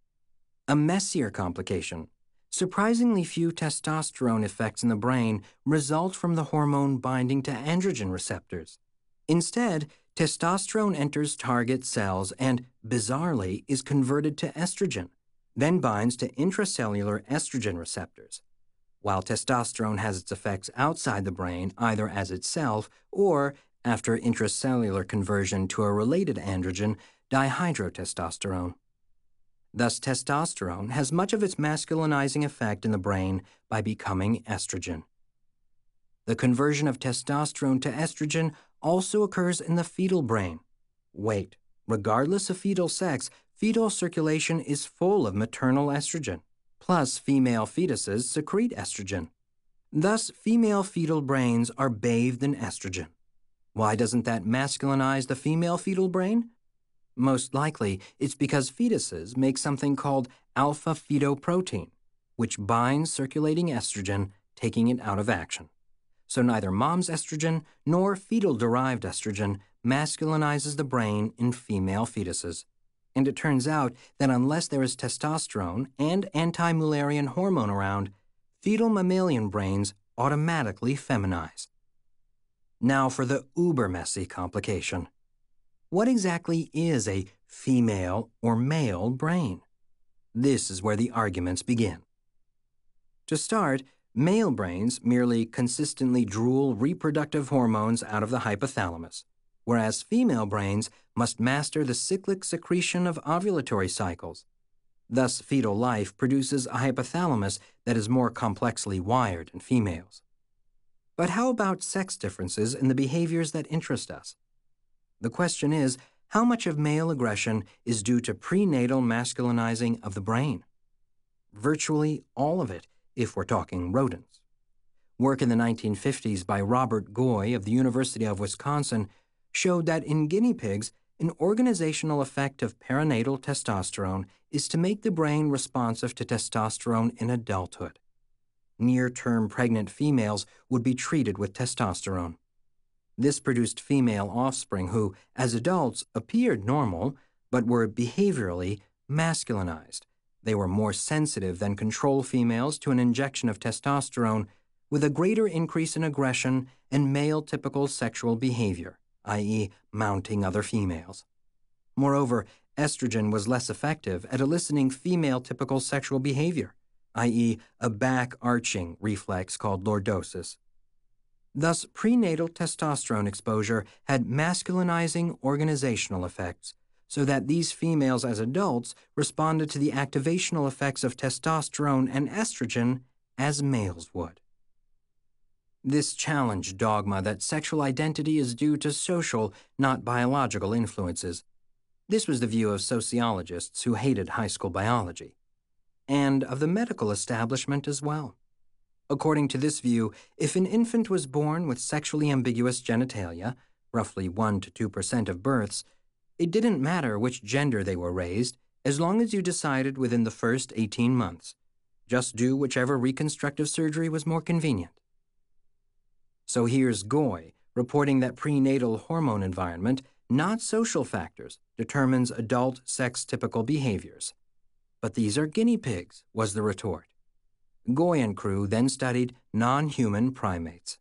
A messier complication. Surprisingly few testosterone effects in the brain result from the hormone binding to androgen receptors. Instead, testosterone enters target cells and, bizarrely, is converted to estrogen, then binds to intracellular estrogen receptors. While testosterone has its effects outside the brain either as itself or, after intracellular conversion to a related androgen, dihydrotestosterone. Thus, testosterone has much of its masculinizing effect in the brain by becoming estrogen. The conversion of testosterone to estrogen also occurs in the fetal brain. Wait, regardless of fetal sex, fetal circulation is full of maternal estrogen. Plus, female fetuses secrete estrogen. Thus, female fetal brains are bathed in estrogen. Why doesn't that masculinize the female fetal brain? Most likely, it's because fetuses make something called alpha-fetoprotein, which binds circulating estrogen, taking it out of action. So neither mom's estrogen nor fetal-derived estrogen masculinizes the brain in female fetuses. And it turns out that unless there is testosterone and anti-Mullerian hormone around, fetal mammalian brains automatically feminize. Now for the uber-messy complication. What exactly is a female or male brain? This is where the arguments begin. To start, male brains merely consistently drool reproductive hormones out of the hypothalamus, whereas female brains must master the cyclic secretion of ovulatory cycles. Thus, fetal life produces a hypothalamus that is more complexly wired in females. But how about sex differences in the behaviors that interest us? The question is, how much of male aggression is due to prenatal masculinizing of the brain? Virtually all of it, if we're talking rodents. Work in the nineteen fifties by Robert Goy of the University of Wisconsin showed that in guinea pigs, an organizational effect of perinatal testosterone is to make the brain responsive to testosterone in adulthood. Near-term pregnant females would be treated with testosterone. This produced female offspring who, as adults, appeared normal, but were behaviorally masculinized. They were more sensitive than control females to an injection of testosterone, with a greater increase in aggression and male-typical sexual behavior, that is, mounting other females. Moreover, estrogen was less effective at eliciting female-typical sexual behavior, that is, a back-arching reflex called lordosis. Thus, prenatal testosterone exposure had masculinizing organizational effects, so that these females as adults responded to the activational effects of testosterone and estrogen as males would. This challenged dogma that sexual identity is due to social, not biological influences. This was the view of sociologists who hated high school biology, and of the medical establishment as well. According to this view, if an infant was born with sexually ambiguous genitalia, roughly one to two percent of births, it didn't matter which gender they were raised, as long as you decided within the first eighteen months. Just do whichever reconstructive surgery was more convenient. So here's Goy reporting that prenatal hormone environment, not social factors, determines adult sex-typical behaviors. But these are guinea pigs, was the retort. Goy and crew then studied non-human primates.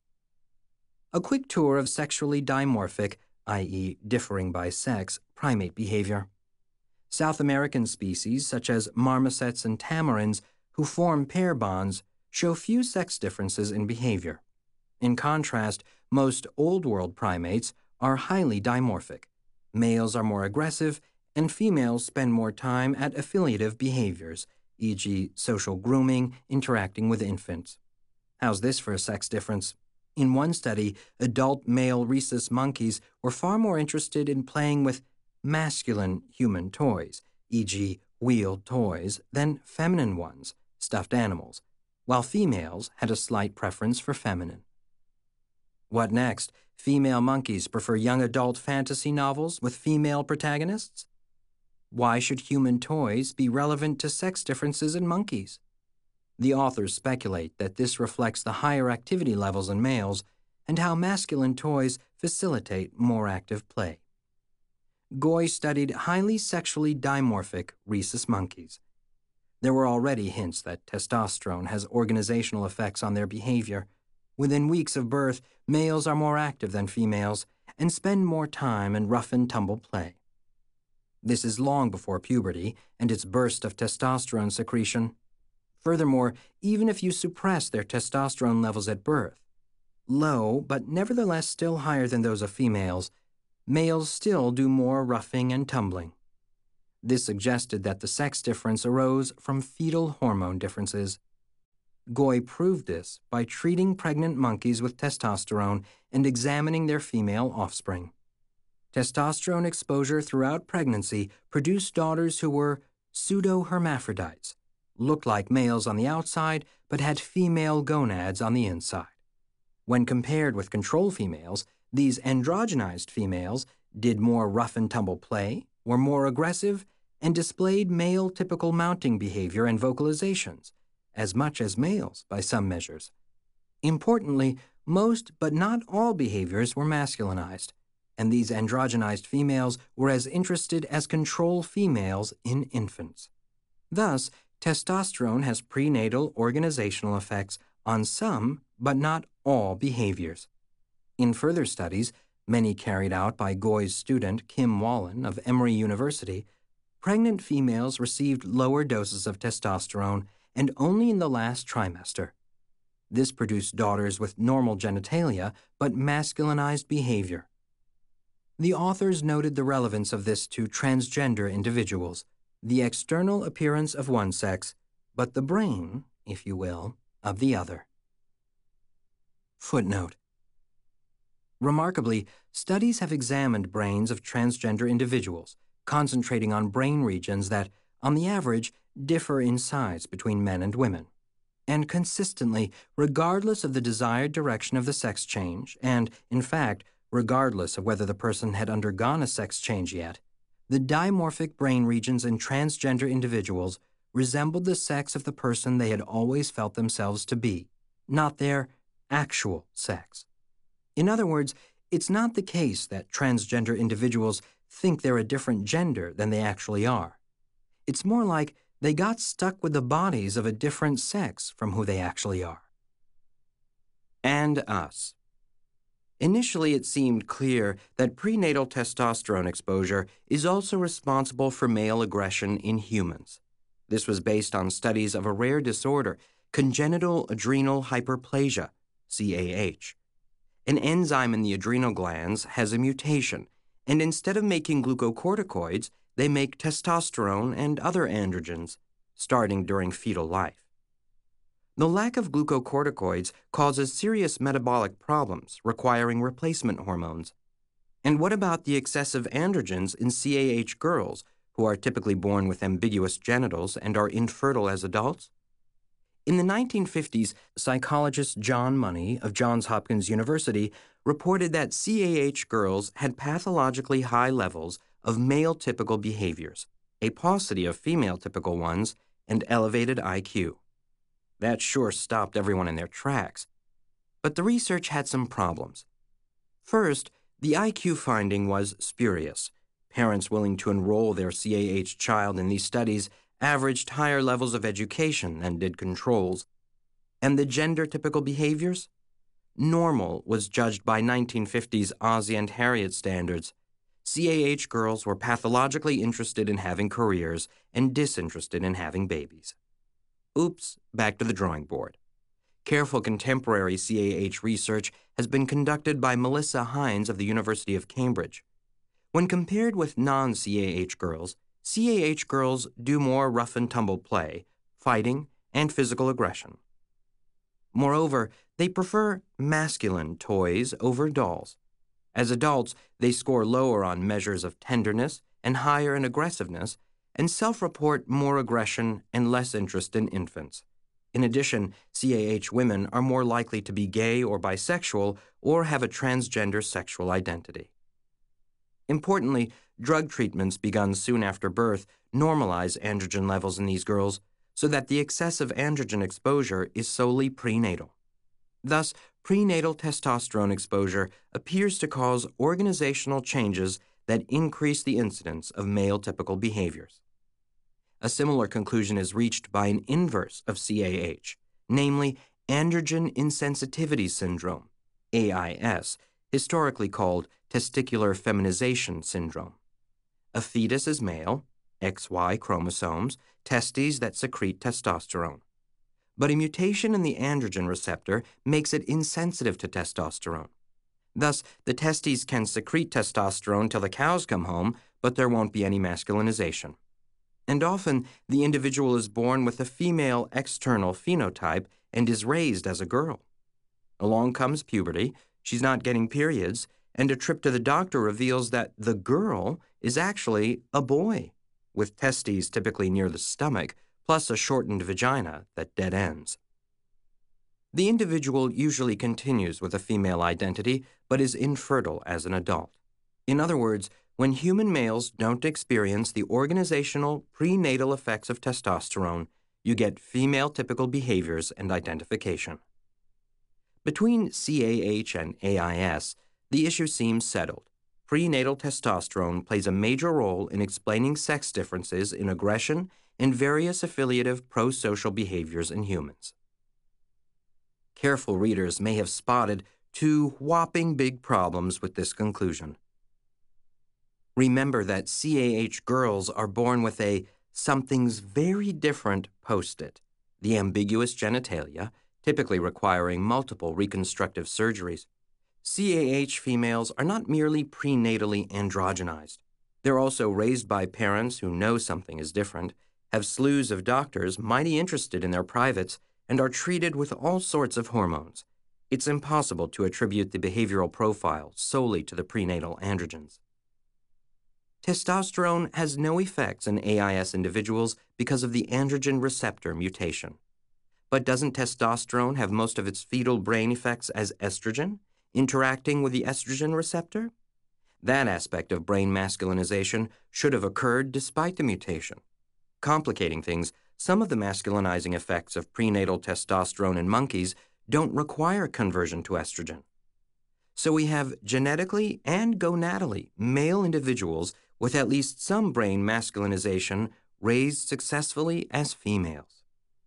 A quick tour of sexually dimorphic, that is, differing by sex, primate behavior. South American species, such as marmosets and tamarins, who form pair bonds, show few sex differences in behavior. In contrast, most Old World primates are highly dimorphic. Males are more aggressive, and females spend more time at affiliative behaviors, for example social grooming, interacting with infants. How's this for a sex difference? In one study, adult male rhesus monkeys were far more interested in playing with masculine human toys, for example wheeled toys, than feminine ones, stuffed animals, while females had a slight preference for feminine. What next? Female monkeys prefer young adult fantasy novels with female protagonists? Why should human toys be relevant to sex differences in monkeys? The authors speculate that this reflects the higher activity levels in males and how masculine toys facilitate more active play. Goy studied highly sexually dimorphic rhesus monkeys. There were already hints that testosterone has organizational effects on their behavior. Within weeks of birth, males are more active than females and spend more time in rough-and-tumble play. This is long before puberty and its burst of testosterone secretion. Furthermore, even if you suppress their testosterone levels at birth, low but nevertheless still higher than those of females, males still do more roughing and tumbling. This suggested that the sex difference arose from fetal hormone differences. Goy proved this by treating pregnant monkeys with testosterone and examining their female offspring. Testosterone exposure throughout pregnancy produced daughters who were pseudo-hermaphrodites, looked like males on the outside but had female gonads on the inside. When compared with control females, these androgenized females did more rough-and-tumble play, were more aggressive, and displayed male-typical mounting behavior and vocalizations, as much as males by some measures. Importantly, most but not all behaviors were masculinized, and these androgenized females were as interested as control females in infants. Thus, testosterone has prenatal organizational effects on some but not all behaviors. In further studies, many carried out by Goy's student Kim Wallen of Emory University, pregnant females received lower doses of testosterone and only in the last trimester. This produced daughters with normal genitalia but masculinized behavior. The authors noted the relevance of this to transgender individuals, the external appearance of one sex, but the brain, if you will, of the other. Footnote. Remarkably, studies have examined brains of transgender individuals, concentrating on brain regions that, on the average, differ in size between men and women. And consistently, regardless of the desired direction of the sex change, and, in fact, regardless of whether the person had undergone a sex change yet, the dimorphic brain regions in transgender individuals resembled the sex of the person they had always felt themselves to be, not their actual sex. In other words, It's not the case that transgender individuals think they're a different gender than they actually are. It's more like they got stuck with the bodies of a different sex from who they actually are. And us. Initially, it seemed clear that prenatal testosterone exposure is also responsible for male aggression in humans. This was based on studies of a rare disorder, congenital adrenal hyperplasia, C A H. An enzyme in the adrenal glands has a mutation, and instead of making glucocorticoids, they make testosterone and other androgens, starting during fetal life. The lack of glucocorticoids causes serious metabolic problems requiring replacement hormones. And what about the excessive androgens in C A H girls who are typically born with ambiguous genitals and are infertile as adults? In the nineteen fifties, psychologist John Money of Johns Hopkins University reported that C A H girls had pathologically high levels of male-typical behaviors, a paucity of female-typical ones, and elevated I Q. That sure stopped everyone in their tracks. But the research had some problems. First, the I Q finding was spurious. Parents willing to enroll their C A H child in these studies averaged higher levels of education than did controls. And the gender-typical behaviors? Normal was judged by nineteen fifties Ozzie and Harriet standards. C A H girls were pathologically interested in having careers and disinterested in having babies. Oops, back to the drawing board. Careful contemporary C A H research has been conducted by Melissa Hines of the University of Cambridge. When compared with non-C A H girls, C A H girls do more rough-and-tumble play, fighting, and physical aggression. Moreover, they prefer masculine toys over dolls. As adults, they score lower on measures of tenderness and higher in aggressiveness, and self-report more aggression and less interest in infants. In addition, C A H women are more likely to be gay or bisexual or have a transgender sexual identity. Importantly, drug treatments begun soon after birth normalize androgen levels in these girls so that the excessive androgen exposure is solely prenatal. Thus, prenatal testosterone exposure appears to cause organizational changes that increase the incidence of male-typical behaviors. A similar conclusion is reached by an inverse of C A H, namely androgen insensitivity syndrome, A I S, historically called testicular feminization syndrome. A fetus is male, X Y chromosomes, testes that secrete testosterone. But a mutation in the androgen receptor makes it insensitive to testosterone. Thus, the testes can secrete testosterone till the cows come home, but there won't be any masculinization. And often, the individual is born with a female external phenotype and is raised as a girl. Along comes puberty, she's not getting periods, and a trip to the doctor reveals that the girl is actually a boy, with testes typically near the stomach, plus a shortened vagina that dead ends. The individual usually continues with a female identity, but is infertile as an adult. In other words, when human males don't experience the organizational prenatal effects of testosterone, you get female-typical behaviors and identification. Between C A H and A I S, the issue seems settled. Prenatal testosterone plays a major role in explaining sex differences in aggression and various affiliative prosocial behaviors in humans. Careful readers may have spotted two whopping big problems with this conclusion. Remember that C A H girls are born with a something's very different post-it, the ambiguous genitalia, typically requiring multiple reconstructive surgeries. C A H females are not merely prenatally androgenized. They're also raised by parents who know something is different, have slews of doctors mighty interested in their privates, and are treated with all sorts of hormones. It's impossible to attribute the behavioral profile solely to the prenatal androgens. Testosterone has no effects in A I S individuals because of the androgen receptor mutation. But doesn't testosterone have most of its fetal brain effects as estrogen, interacting with the estrogen receptor? That aspect of brain masculinization should have occurred despite the mutation. Complicating things, some of the masculinizing effects of prenatal testosterone in monkeys don't require conversion to estrogen. So we have genetically and gonadally male individuals with at least some brain masculinization raised successfully as females.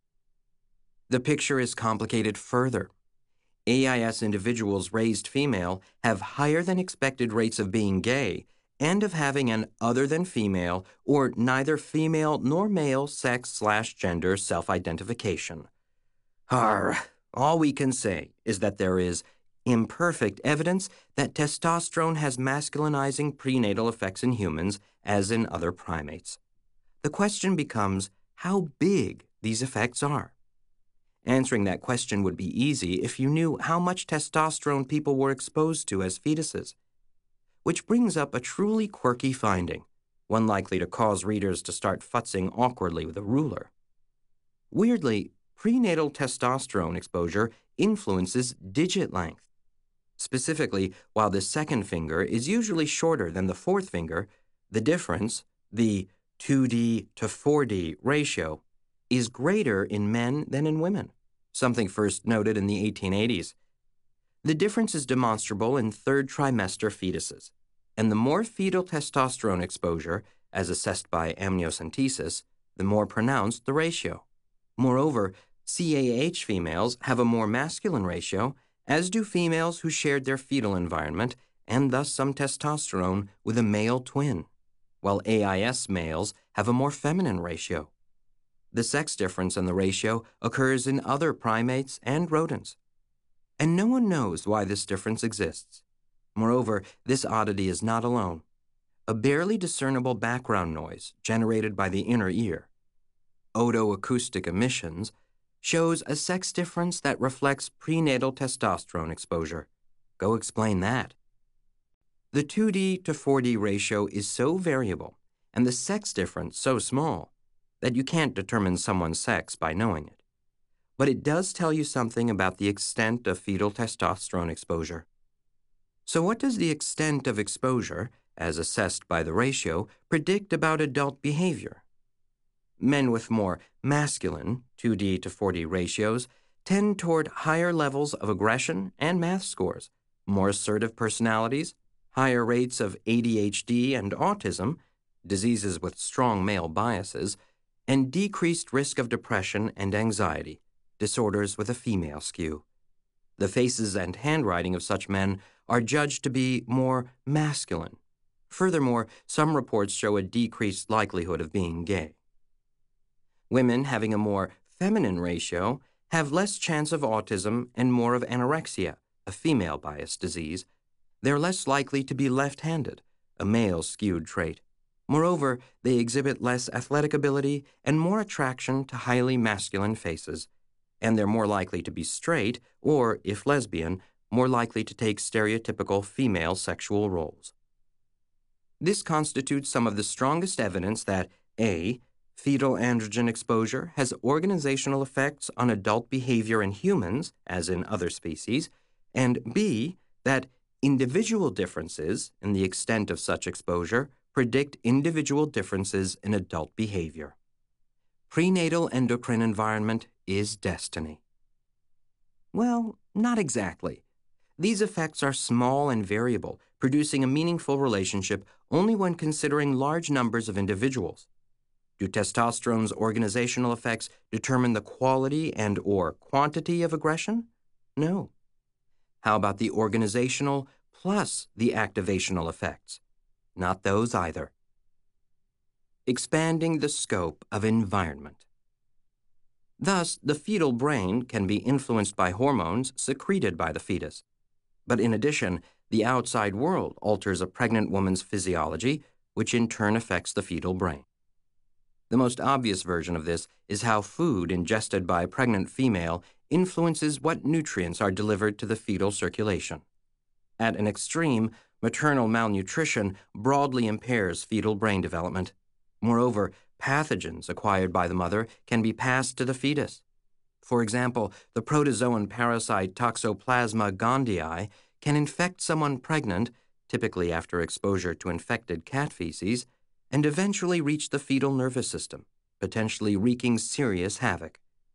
The picture is complicated further. A I S individuals raised female have higher than expected rates of being gay and of having an other than female or neither female nor male sex slash gender self-identification. Arr, all we can say is that there is imperfect evidence that testosterone has masculinizing prenatal effects in humans as in other primates. The question becomes how big these effects are. Answering that question would be easy if you knew how much testosterone people were exposed to as fetuses. Which brings up a truly quirky finding, one likely to cause readers to start futzing awkwardly with a ruler. Weirdly, prenatal testosterone exposure influences digit length. Specifically, while the second finger is usually shorter than the fourth finger, the difference, the two D to four D ratio, is greater in men than in women, something first noted in the eighteen eighties. The difference is demonstrable in third trimester fetuses, and the more fetal testosterone exposure, as assessed by amniocentesis, the more pronounced the ratio. Moreover, C A H females have a more masculine ratio, as do females who shared their fetal environment and thus some testosterone with a male twin, while A I S males have a more feminine ratio. The sex difference in the ratio occurs in other primates and rodents, and no one knows why this difference exists. Moreover, this oddity is not alone. A barely discernible background noise generated by the inner ear, otoacoustic emissions, shows a sex difference that reflects prenatal testosterone exposure. Go explain that. The two D to four D ratio is so variable, and the sex difference so small, that you can't determine someone's sex by knowing it. But it does tell you something about the extent of fetal testosterone exposure. So what does the extent of exposure, as assessed by the ratio, predict about adult behavior? Men with more masculine, two D to four D ratios, tend toward higher levels of aggression and math scores, more assertive personalities, higher rates of A D H D and autism, diseases with strong male biases, and decreased risk of depression and anxiety, disorders with a female skew. The faces and handwriting of such men are judged to be more masculine. Furthermore, some reports show a decreased likelihood of being gay. Women having a more feminine ratio have less chance of autism and more of anorexia, a female bias disease. They're less likely to be left-handed, a male-skewed trait. Moreover, they exhibit less athletic ability and more attraction to highly masculine faces, and they're more likely to be straight or, if lesbian, more likely to take stereotypical female sexual roles. This constitutes some of the strongest evidence that A. Fetal androgen exposure has organizational effects on adult behavior in humans, as in other species, and B. That individual differences in the extent of such exposure predict individual differences in adult behavior. Prenatal endocrine environment is destiny. Well, not exactly. These effects are small and variable, producing a meaningful relationship only when considering large numbers of individuals. Do testosterone's organizational effects determine the quality and or quantity of aggression? No. How about the organizational plus the activational effects? Not those either. Expanding the scope of environment. Thus, the fetal brain can be influenced by hormones secreted by the fetus. But in addition, the outside world alters a pregnant woman's physiology, which in turn affects the fetal brain. The most obvious version of this is how food ingested by a pregnant female influences what nutrients are delivered to the fetal circulation. At an extreme, maternal malnutrition broadly impairs fetal brain development. Moreover, pathogens acquired by the mother can be passed to the fetus. For example, the protozoan parasite Toxoplasma gondii can infect someone pregnant, typically after exposure to infected cat feces, and eventually reach the fetal nervous system, potentially wreaking serious havoc.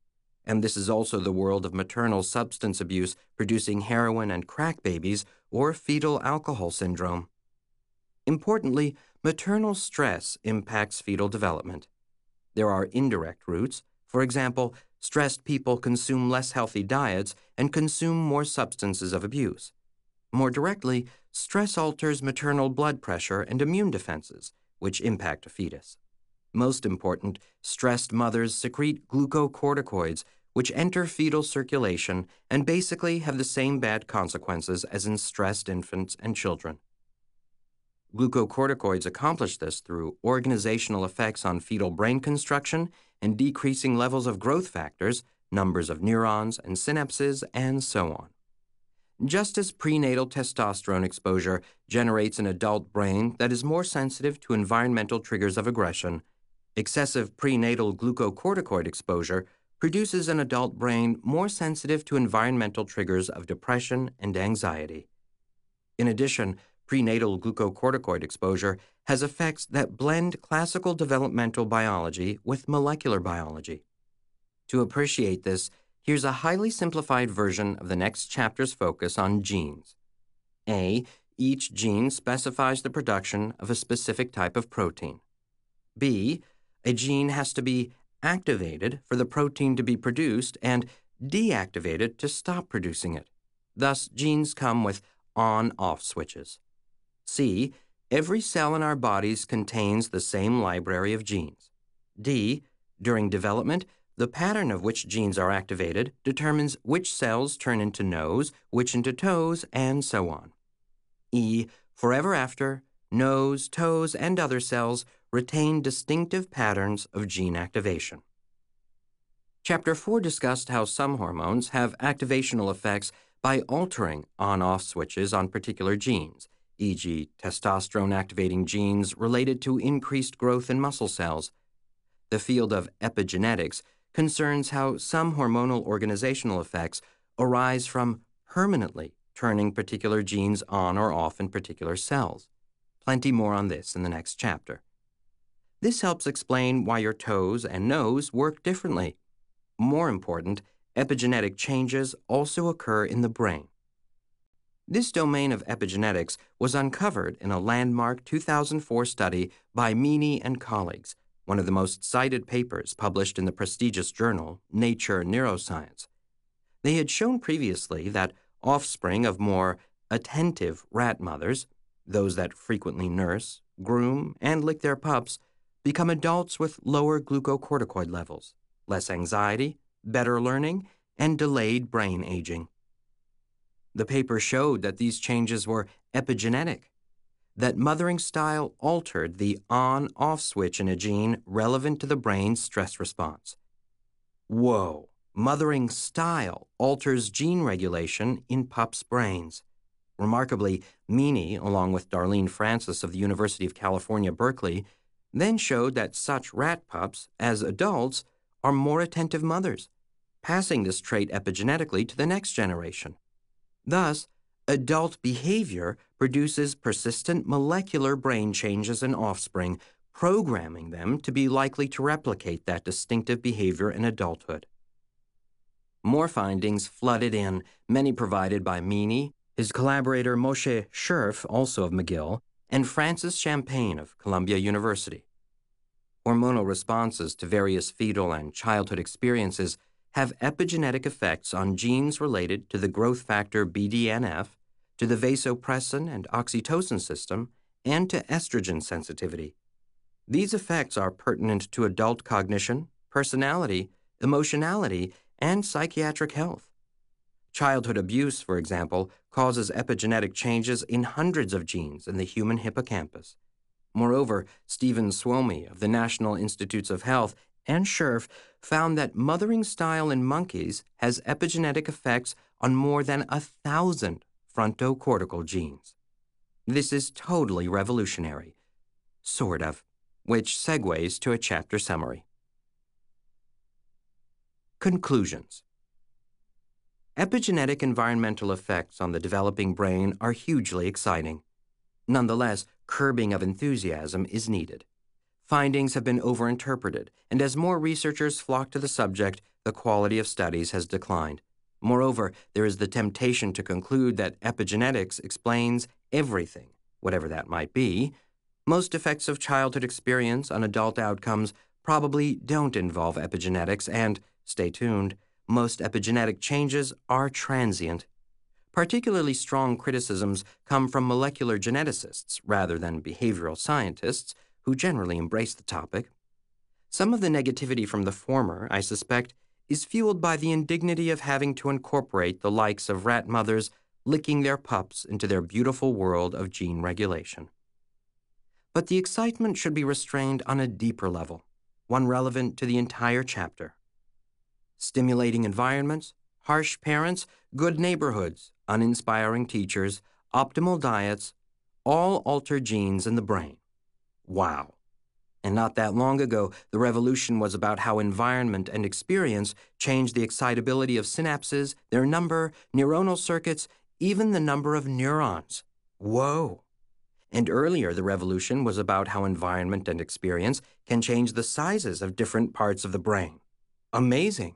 and this is also the world of maternal substance abuse producing heroin and crack babies or fetal alcohol syndrome. Importantly, maternal stress impacts fetal development. There are indirect routes. For example, stressed people consume less healthy diets and consume more substances of abuse. More directly, stress alters maternal blood pressure and immune defenses, which impact a fetus. Most important, stressed mothers secrete glucocorticoids, which enter fetal circulation and basically have the same bad consequences as in stressed infants and children. Glucocorticoids accomplish this through organizational effects on fetal brain construction and decreasing levels of growth factors, numbers of neurons and synapses, and so on. Just as prenatal testosterone exposure generates an adult brain that is more sensitive to environmental triggers of aggression, excessive prenatal glucocorticoid exposure produces an adult brain more sensitive to environmental triggers of depression and anxiety. In addition, prenatal glucocorticoid exposure has effects that blend classical developmental biology with molecular biology. To appreciate this, here's a highly simplified version of the next chapter's focus on genes. A. Each gene specifies the production of a specific type of protein. B. A gene has to be activated for the protein to be produced and deactivated to stop producing it. Thus, genes come with on-off switches. C. Every cell in our bodies contains the same library of genes. D. During development, the pattern of which genes are activated determines which cells turn into nose, which into toes, and so on. E. Forever after, nose, toes, and other cells retain distinctive patterns of gene activation. Chapter four discussed how some hormones have activational effects by altering on-off switches on particular genes, for example testosterone-activating genes related to increased growth in muscle cells. The field of epigenetics concerns how some hormonal organizational effects arise from permanently turning particular genes on or off in particular cells. Plenty more on this in the next chapter. This helps explain why your toes and nose work differently. More important, epigenetic changes also occur in the brain. This domain of epigenetics was uncovered in a landmark two thousand four study by Meany and colleagues, one of the most cited papers published in the prestigious journal Nature Neuroscience. They had shown previously that offspring of more attentive rat mothers, those that frequently nurse, groom, and lick their pups, become adults with lower glucocorticoid levels, less anxiety, better learning, and delayed brain aging. The paper showed that these changes were epigenetic, that mothering style altered the on-off switch in a gene relevant to the brain's stress response. Whoa! Mothering style alters gene regulation in pups' brains. Remarkably, Meany, along with Darlene Francis of the University of California, Berkeley, then showed that such rat pups, as adults, are more attentive mothers, passing this trait epigenetically to the next generation. Thus, adult behavior produces persistent molecular brain changes in offspring, programming them to be likely to replicate that distinctive behavior in adulthood. More findings flooded in, many provided by Meany, his collaborator Moshe Scherf, also of McGill, and Francis Champagne of Columbia University. Hormonal responses to various fetal and childhood experiences have epigenetic effects on genes related to the growth factor B D N F, to the vasopressin and oxytocin system, and to estrogen sensitivity. These effects are pertinent to adult cognition, personality, emotionality, and psychiatric health. Childhood abuse, for example, causes epigenetic changes in hundreds of genes in the human hippocampus. Moreover, Stephen Suomi of the National Institutes of Health and Scherf found that mothering style in monkeys has epigenetic effects on more than a thousand frontocortical genes. This is totally revolutionary. Sort of, which segues to a chapter summary. Conclusions. Epigenetic environmental effects on the developing brain are hugely exciting. Nonetheless, curbing of enthusiasm is needed. Findings have been overinterpreted, and as more researchers flock to the subject, the quality of studies has declined. Moreover, there is the temptation to conclude that epigenetics explains everything, whatever that might be. Most effects of childhood experience on adult outcomes probably don't involve epigenetics, and, stay tuned, most epigenetic changes are transient. Particularly strong criticisms come from molecular geneticists rather than behavioral scientists, who generally embrace the topic. Some of the negativity from the former, I suspect, is fueled by the indignity of having to incorporate the likes of rat mothers licking their pups into their beautiful world of gene regulation. But the excitement should be restrained on a deeper level, one relevant to the entire chapter. Stimulating environments, harsh parents, good neighborhoods, uninspiring teachers, optimal diets, all alter genes in the brain. Wow. And not that long ago, the revolution was about how environment and experience change the excitability of synapses, their number, neuronal circuits, even the number of neurons. Whoa. And earlier, the revolution was about how environment and experience can change the sizes of different parts of the brain. Amazing.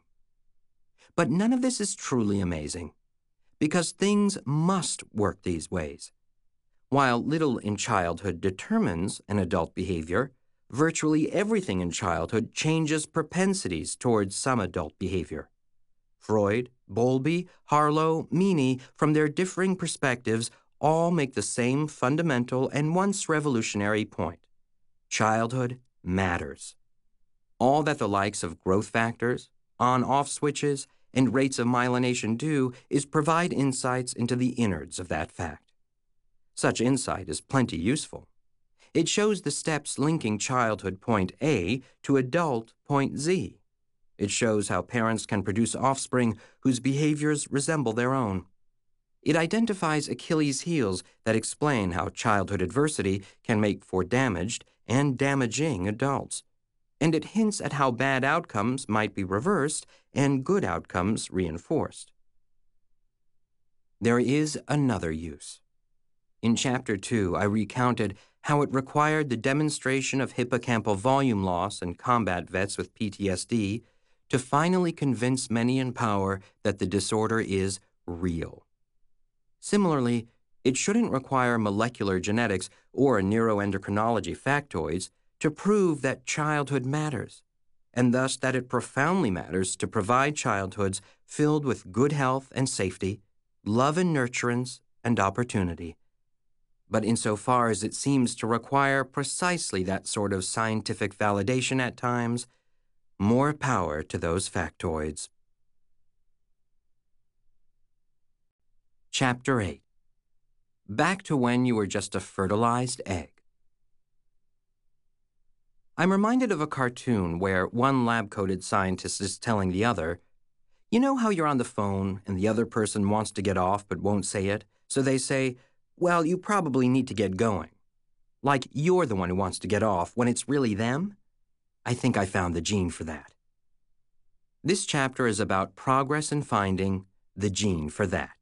But none of this is truly amazing, because things must work these ways. While little in childhood determines an adult behavior, virtually everything in childhood changes propensities towards some adult behavior. Freud, Bowlby, Harlow, Meany, from their differing perspectives, all make the same fundamental and once revolutionary point. Childhood matters. All that the likes of growth factors, on-off switches, and rates of myelination do is provide insights into the innards of that fact. Such insight is plenty useful. It shows the steps linking childhood point A to adult point Z. It shows how parents can produce offspring whose behaviors resemble their own. It identifies Achilles' heels that explain how childhood adversity can make for damaged and damaging adults. And it hints at how bad outcomes might be reversed and good outcomes reinforced. There is another use. In Chapter two, I recounted how it required the demonstration of hippocampal volume loss in combat vets with P T S D to finally convince many in power that the disorder is real. Similarly, it shouldn't require molecular genetics or neuroendocrinology factoids to prove that childhood matters, and thus that it profoundly matters to provide childhoods filled with good health and safety, love and nurturance, and opportunity. But insofar as it seems to require precisely that sort of scientific validation at times, more power to those factoids. Chapter eight. Back to when you were just a fertilized egg. I'm reminded of a cartoon where one lab-coated scientist is telling the other, you know how you're on the phone and the other person wants to get off but won't say it, so they say, well, you probably need to get going. Like you're the one who wants to get off when it's really them? I think I found the gene for that. This chapter is about progress in finding the gene for that.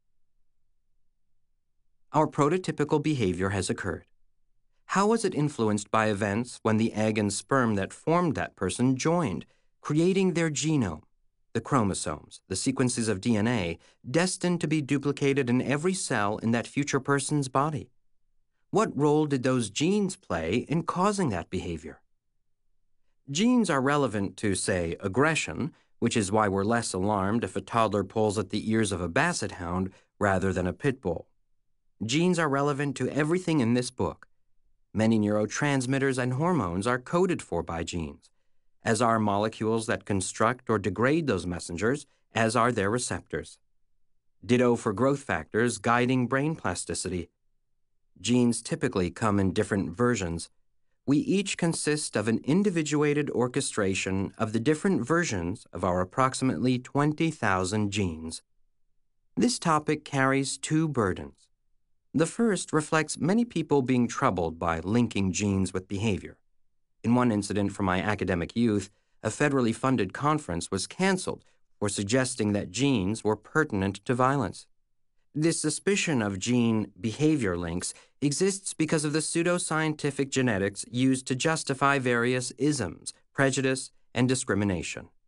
Our prototypical behavior has occurred. How was it influenced by events when the egg and sperm that formed that person joined, creating their genome, the chromosomes, the sequences of D N A, destined to be duplicated in every cell in that future person's body? What role did those genes play in causing that behavior? Genes are relevant to, say, aggression, which is why we're less alarmed if a toddler pulls at the ears of a basset hound rather than a pit bull. Genes are relevant to everything in this book. Many neurotransmitters and hormones are coded for by genes, as are molecules that construct or degrade those messengers, as are their receptors. Ditto for growth factors guiding brain plasticity. Genes typically come in different versions. We each consist of an individuated orchestration of the different versions of our approximately twenty thousand genes. This topic carries two burdens. The first reflects many people being troubled by linking genes with behavior. In one incident from my academic youth, a federally funded conference was canceled for suggesting that genes were pertinent to violence. This suspicion of gene behavior links exists because of the pseudoscientific genetics used to justify various isms, prejudice, and discrimination.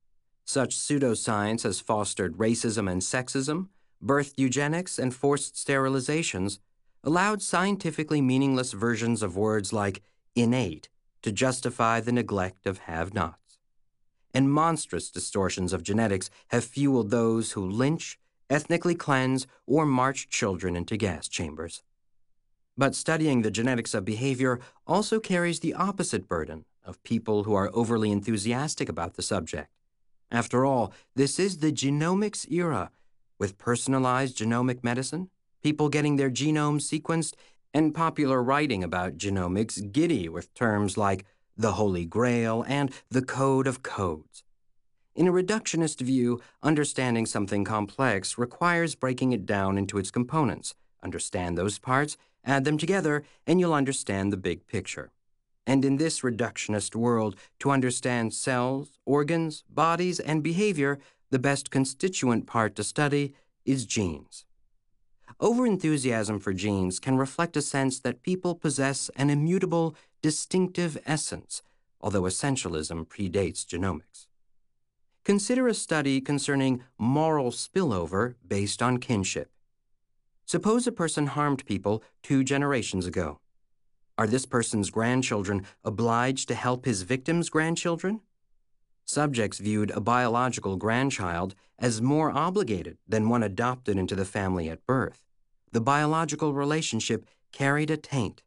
Such pseudoscience has fostered racism and sexism, birthed eugenics and forced sterilizations, allowed scientifically meaningless versions of words like innate to justify the neglect of have-nots. And monstrous distortions of genetics have fueled those who lynch, ethnically cleanse, or march children into gas chambers. But studying the genetics of behavior also carries the opposite burden of people who are overly enthusiastic about the subject. After all, this is the genomics era, with personalized genomic medicine, people getting their genomes sequenced, and popular writing about genomics giddy with terms like the Holy Grail and the Code of Codes. In a reductionist view, understanding something complex requires breaking it down into its components. Understand those parts, add them together, and you'll understand the big picture. And in this reductionist world, to understand cells, organs, bodies, and behavior, the best constituent part to study is genes. Overenthusiasm for genes can reflect a sense that people possess an immutable, distinctive essence, although essentialism predates genomics. Consider a study concerning moral spillover based on kinship. Suppose a person harmed people two generations ago. Are this person's grandchildren obliged to help his victim's grandchildren? Subjects viewed a biological grandchild as more obligated than one adopted into the family at birth. The biological relationship carried a taint.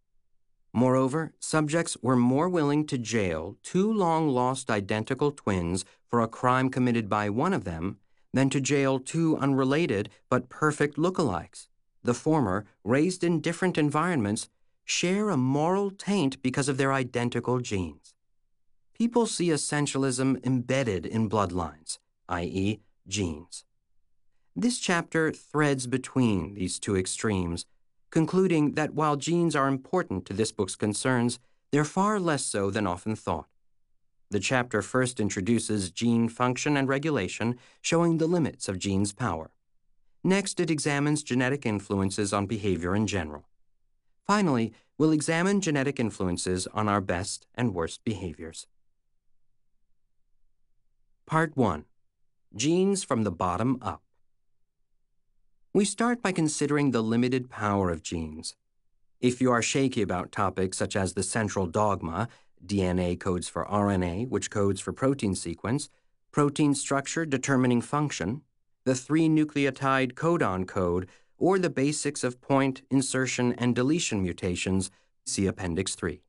Moreover, subjects were more willing to jail two long-lost identical twins for a crime committed by one of them than to jail two unrelated but perfect lookalikes. The former, raised in different environments, share a moral taint because of their identical genes. People see essentialism embedded in bloodlines, that is, genes. This chapter threads between these two extremes, concluding that while genes are important to this book's concerns, they're far less so than often thought. The chapter first introduces gene function and regulation, showing the limits of genes' power. Next, it examines genetic influences on behavior in general. Finally, we'll examine genetic influences on our best and worst behaviors. Part one. Genes from the bottom up. We start by considering the limited power of genes. If you are shaky about topics such as the central dogma, D N A codes for R N A, which codes for protein sequence, protein structure determining function, the three-nucleotide codon code, or the basics of point, insertion, and deletion mutations, see Appendix three.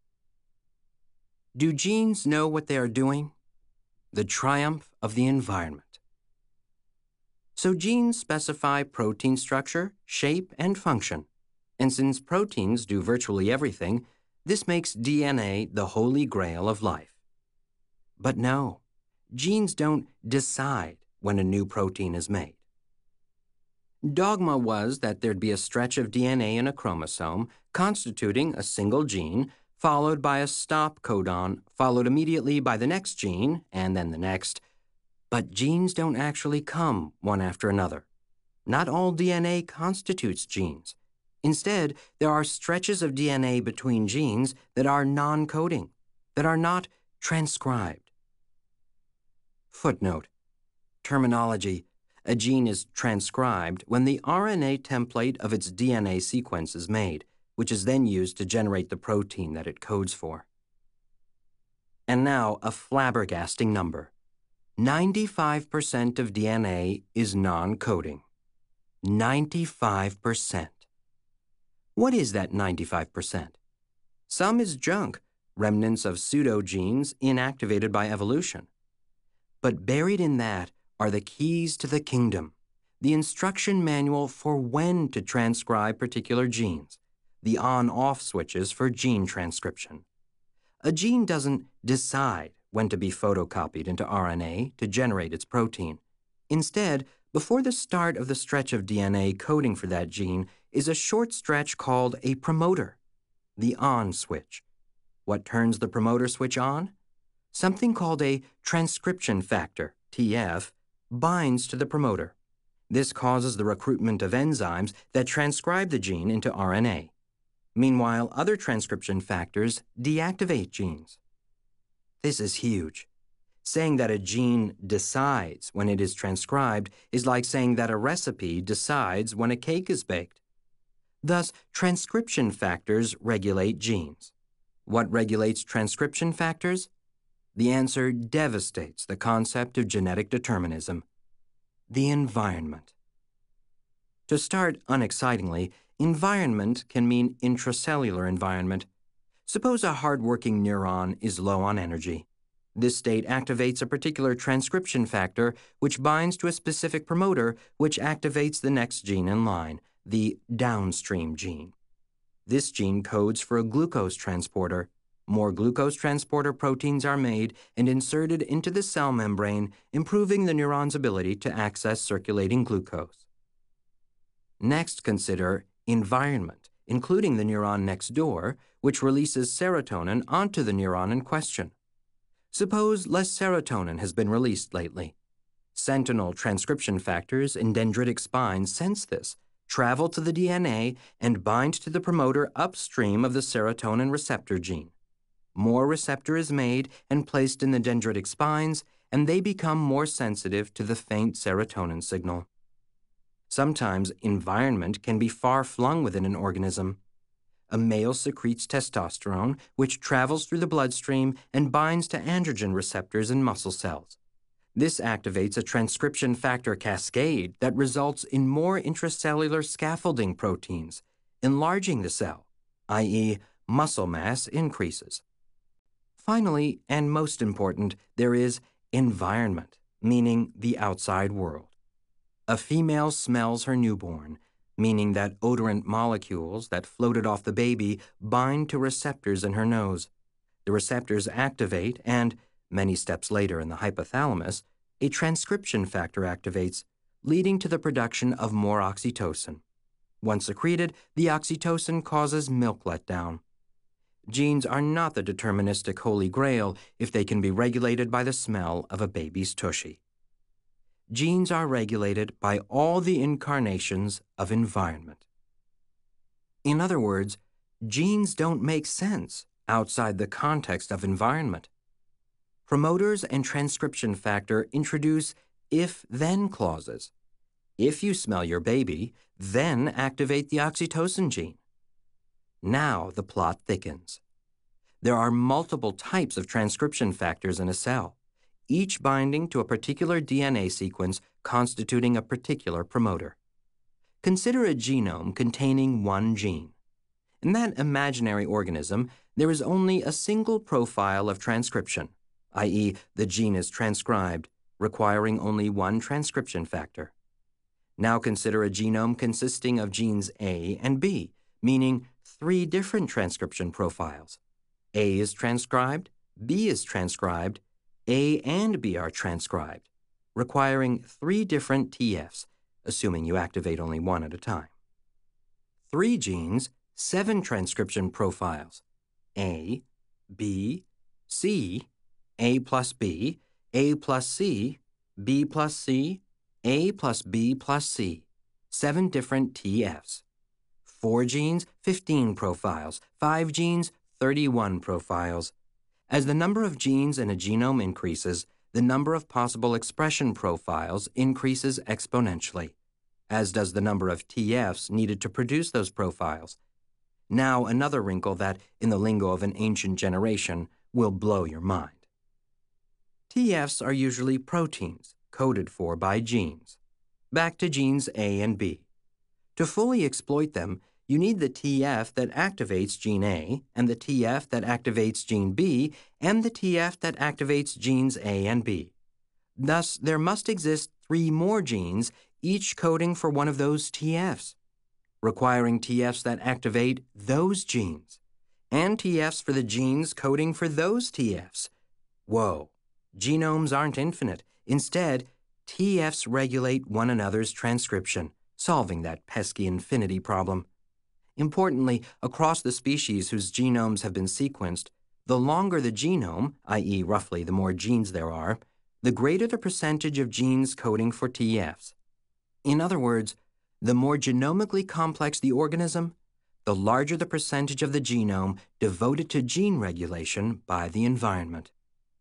Do genes know what they are doing? The triumph of the environment. So genes specify protein structure, shape, and function. And since proteins do virtually everything, this makes D N A the holy grail of life. But no, genes don't decide when a new protein is made. Dogma was that there'd be a stretch of D N A in a chromosome constituting a single gene, followed by a stop codon, followed immediately by the next gene, and then the next. But genes don't actually come one after another. Not all D N A constitutes genes. Instead, there are stretches of D N A between genes that are non-coding, that are not transcribed. Footnote. Terminology. A gene is transcribed when the R N A template of its D N A sequence is made, which is then used to generate the protein that it codes for. And now, a flabbergasting number. ninety-five percent of D N A is non-coding. ninety-five percent. What is that ninety-five percent? Some is junk, remnants of pseudogenes inactivated by evolution. But buried in that are the keys to the kingdom, the instruction manual for when to transcribe particular genes, the on-off switches for gene transcription. A gene doesn't decide when to be photocopied into R N A to generate its protein. Instead, before the start of the stretch of D N A coding for that gene is a short stretch called a promoter, the on switch. What turns the promoter switch on? Something called a transcription factor, T F, binds to the promoter. This causes the recruitment of enzymes that transcribe the gene into R N A. Meanwhile, other transcription factors deactivate genes. This is huge. Saying that a gene decides when it is transcribed is like saying that a recipe decides when a cake is baked. Thus, transcription factors regulate genes. What regulates transcription factors? The answer devastates the concept of genetic determinism: the environment. To start unexcitingly, environment can mean intracellular environment. Suppose a hardworking neuron is low on energy. This state activates a particular transcription factor which binds to a specific promoter which activates the next gene in line, the downstream gene. This gene codes for a glucose transporter. More glucose transporter proteins are made and inserted into the cell membrane, improving the neuron's ability to access circulating glucose. Next, consider environment, including the neuron next door, which releases serotonin onto the neuron in question. Suppose less serotonin has been released lately. Sentinel transcription factors in dendritic spines sense this, travel to the D N A, and bind to the promoter upstream of the serotonin receptor gene. More receptor is made and placed in the dendritic spines, and they become more sensitive to the faint serotonin signal. Sometimes environment can be far-flung within an organism. A male secretes testosterone, which travels through the bloodstream and binds to androgen receptors in muscle cells. This activates a transcription factor cascade that results in more intracellular scaffolding proteins, enlarging the cell, that is, muscle mass increases. Finally, and most important, there is environment, meaning the outside world. A female smells her newborn, meaning that odorant molecules that floated off the baby bind to receptors in her nose. The receptors activate and, many steps later in the hypothalamus, a transcription factor activates, leading to the production of more oxytocin. Once secreted, the oxytocin causes milk letdown. Genes are not the deterministic holy grail if they can be regulated by the smell of a baby's tushy. Genes are regulated by all the incarnations of environment. In other words, genes don't make sense outside the context of environment. Promoters and transcription factor introduce if-then clauses. If you smell your baby, then activate the oxytocin gene. Now the plot thickens. There are multiple types of transcription factors in a cell, each binding to a particular D N A sequence constituting a particular promoter. Consider a genome containing one gene. In that imaginary organism, there is only a single profile of transcription, that is, the gene is transcribed, requiring only one transcription factor. Now consider a genome consisting of genes A and B, meaning three different transcription profiles. A is transcribed, B is transcribed, A and B are transcribed, requiring three different T Fs, assuming you activate only one at a time. Three genes, seven transcription profiles: A, B, C, A plus B, A plus C, B plus C, A plus B plus C, seven different T Fs. Four genes, fifteen profiles. Five genes, thirty-one profiles. As the number of genes in a genome increases, the number of possible expression profiles increases exponentially, as does the number of T Fs needed to produce those profiles. Now another wrinkle that, in the lingo of an ancient generation, will blow your mind. T Fs are usually proteins, coded for by genes. Back to genes A and B. To fully exploit them, you need the T F that activates gene A, and the T F that activates gene B, and the T F that activates genes A and B. Thus, there must exist three more genes, each coding for one of those T Fs, requiring T Fs that activate those genes, and T Fs for the genes coding for those T Fs. Whoa, genomes aren't infinite. Instead, T Fs regulate one another's transcription, solving that pesky infinity problem. Importantly, across the species whose genomes have been sequenced, the longer the genome, that is roughly the more genes there are, the greater the percentage of genes coding for T Fs. In other words, the more genomically complex the organism, the larger the percentage of the genome devoted to gene regulation by the environment.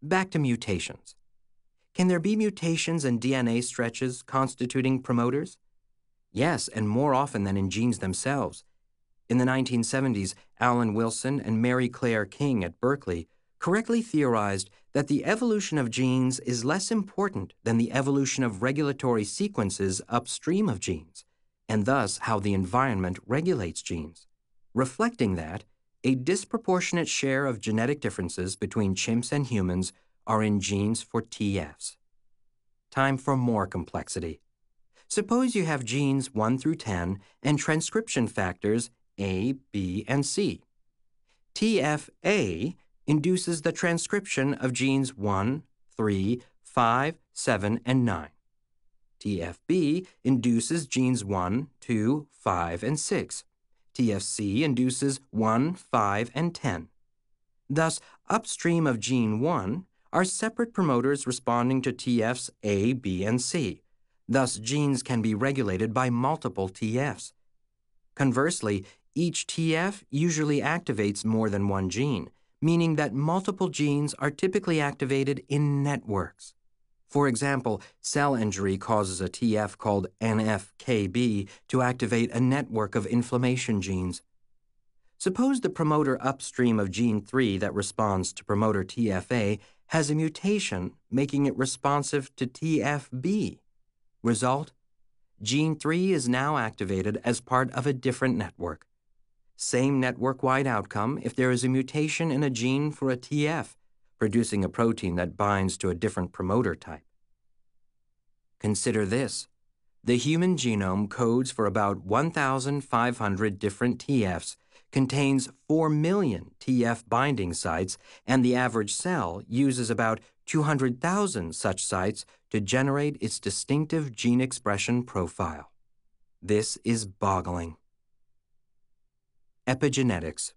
Back to mutations. Can there be mutations in D N A stretches constituting promoters? Yes, and more often than in genes themselves. In the nineteen seventies, Alan Wilson and Mary Claire King at Berkeley correctly theorized that the evolution of genes is less important than the evolution of regulatory sequences upstream of genes, and thus how the environment regulates genes. Reflecting that, a disproportionate share of genetic differences between chimps and humans are in genes for T Fs. Time for more complexity. Suppose you have genes one through ten and transcription factors A, B, and C. T F A induces the transcription of genes one, three, five, seven, and nine. T F B induces genes one, two, five, and six. T F C induces one, five, and ten. Thus, upstream of gene one are separate promoters responding to T Fs A, B, and C. Thus, genes can be regulated by multiple T Fs. Conversely, each T F usually activates more than one gene, meaning that multiple genes are typically activated in networks. For example, cell injury causes a T F called N F K B to activate a network of inflammation genes. Suppose the promoter upstream of gene three that responds to promoter T F A has a mutation, making it responsive to T F B. Result? Gene three is now activated as part of a different network. Same network-wide outcome if there is a mutation in a gene for a T F, producing a protein that binds to a different promoter type. Consider this. The human genome codes for about one thousand five hundred different T Fs, contains four million T F binding sites, and the average cell uses about two hundred thousand such sites to generate its distinctive gene expression profile. This is boggling. Epigenetics.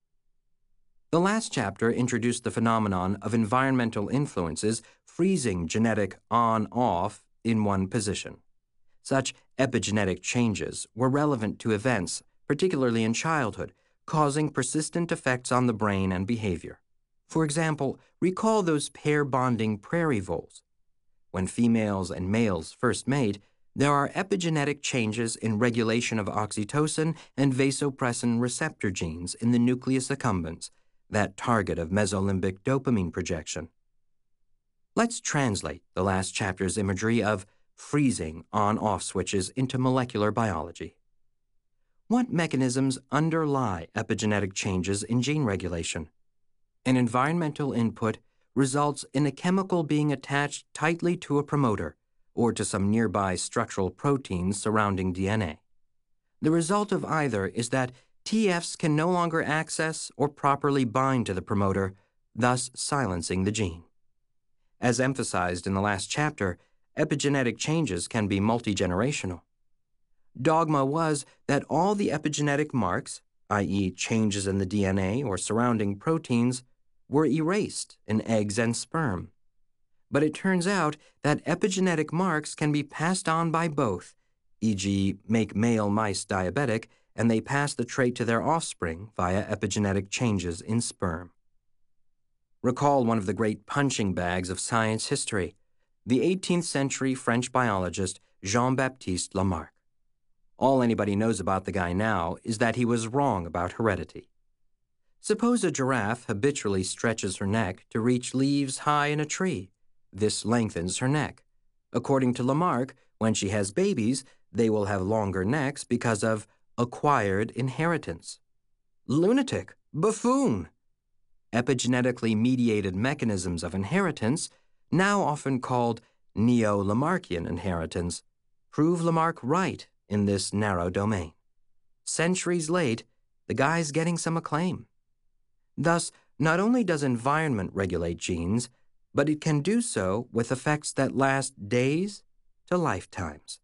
The last chapter introduced the phenomenon of environmental influences freezing genetic on-off in one position. Such epigenetic changes were relevant to events, particularly in childhood, causing persistent effects on the brain and behavior. For example, recall those pair-bonding prairie voles. When females and males first mate, there are epigenetic changes in regulation of oxytocin and vasopressin receptor genes in the nucleus accumbens, that target of mesolimbic dopamine projection. Let's translate the last chapter's imagery of freezing on-off switches into molecular biology. What mechanisms underlie epigenetic changes in gene regulation? An environmental input results in a chemical being attached tightly to a promoter or to some nearby structural proteins surrounding D N A. The result of either is that T Fs can no longer access or properly bind to the promoter, thus silencing the gene. As emphasized in the last chapter, epigenetic changes can be multigenerational. Dogma was that all the epigenetic marks, that is changes in the D N A or surrounding proteins, were erased in eggs and sperm. But it turns out that epigenetic marks can be passed on by both, for example make male mice diabetic, and they pass the trait to their offspring via epigenetic changes in sperm. Recall one of the great punching bags of science history, the eighteenth century French biologist Jean-Baptiste Lamarck. All anybody knows about the guy now is that he was wrong about heredity. Suppose a giraffe habitually stretches her neck to reach leaves high in a tree. This lengthens her neck. According to Lamarck, when she has babies, they will have longer necks because of acquired inheritance. Lunatic! Buffoon! Epigenetically mediated mechanisms of inheritance, now often called neo-Lamarckian inheritance, prove Lamarck right in this narrow domain. Centuries late, the guy's getting some acclaim. Thus, not only does environment regulate genes, but it can do so with effects that last days to lifetimes.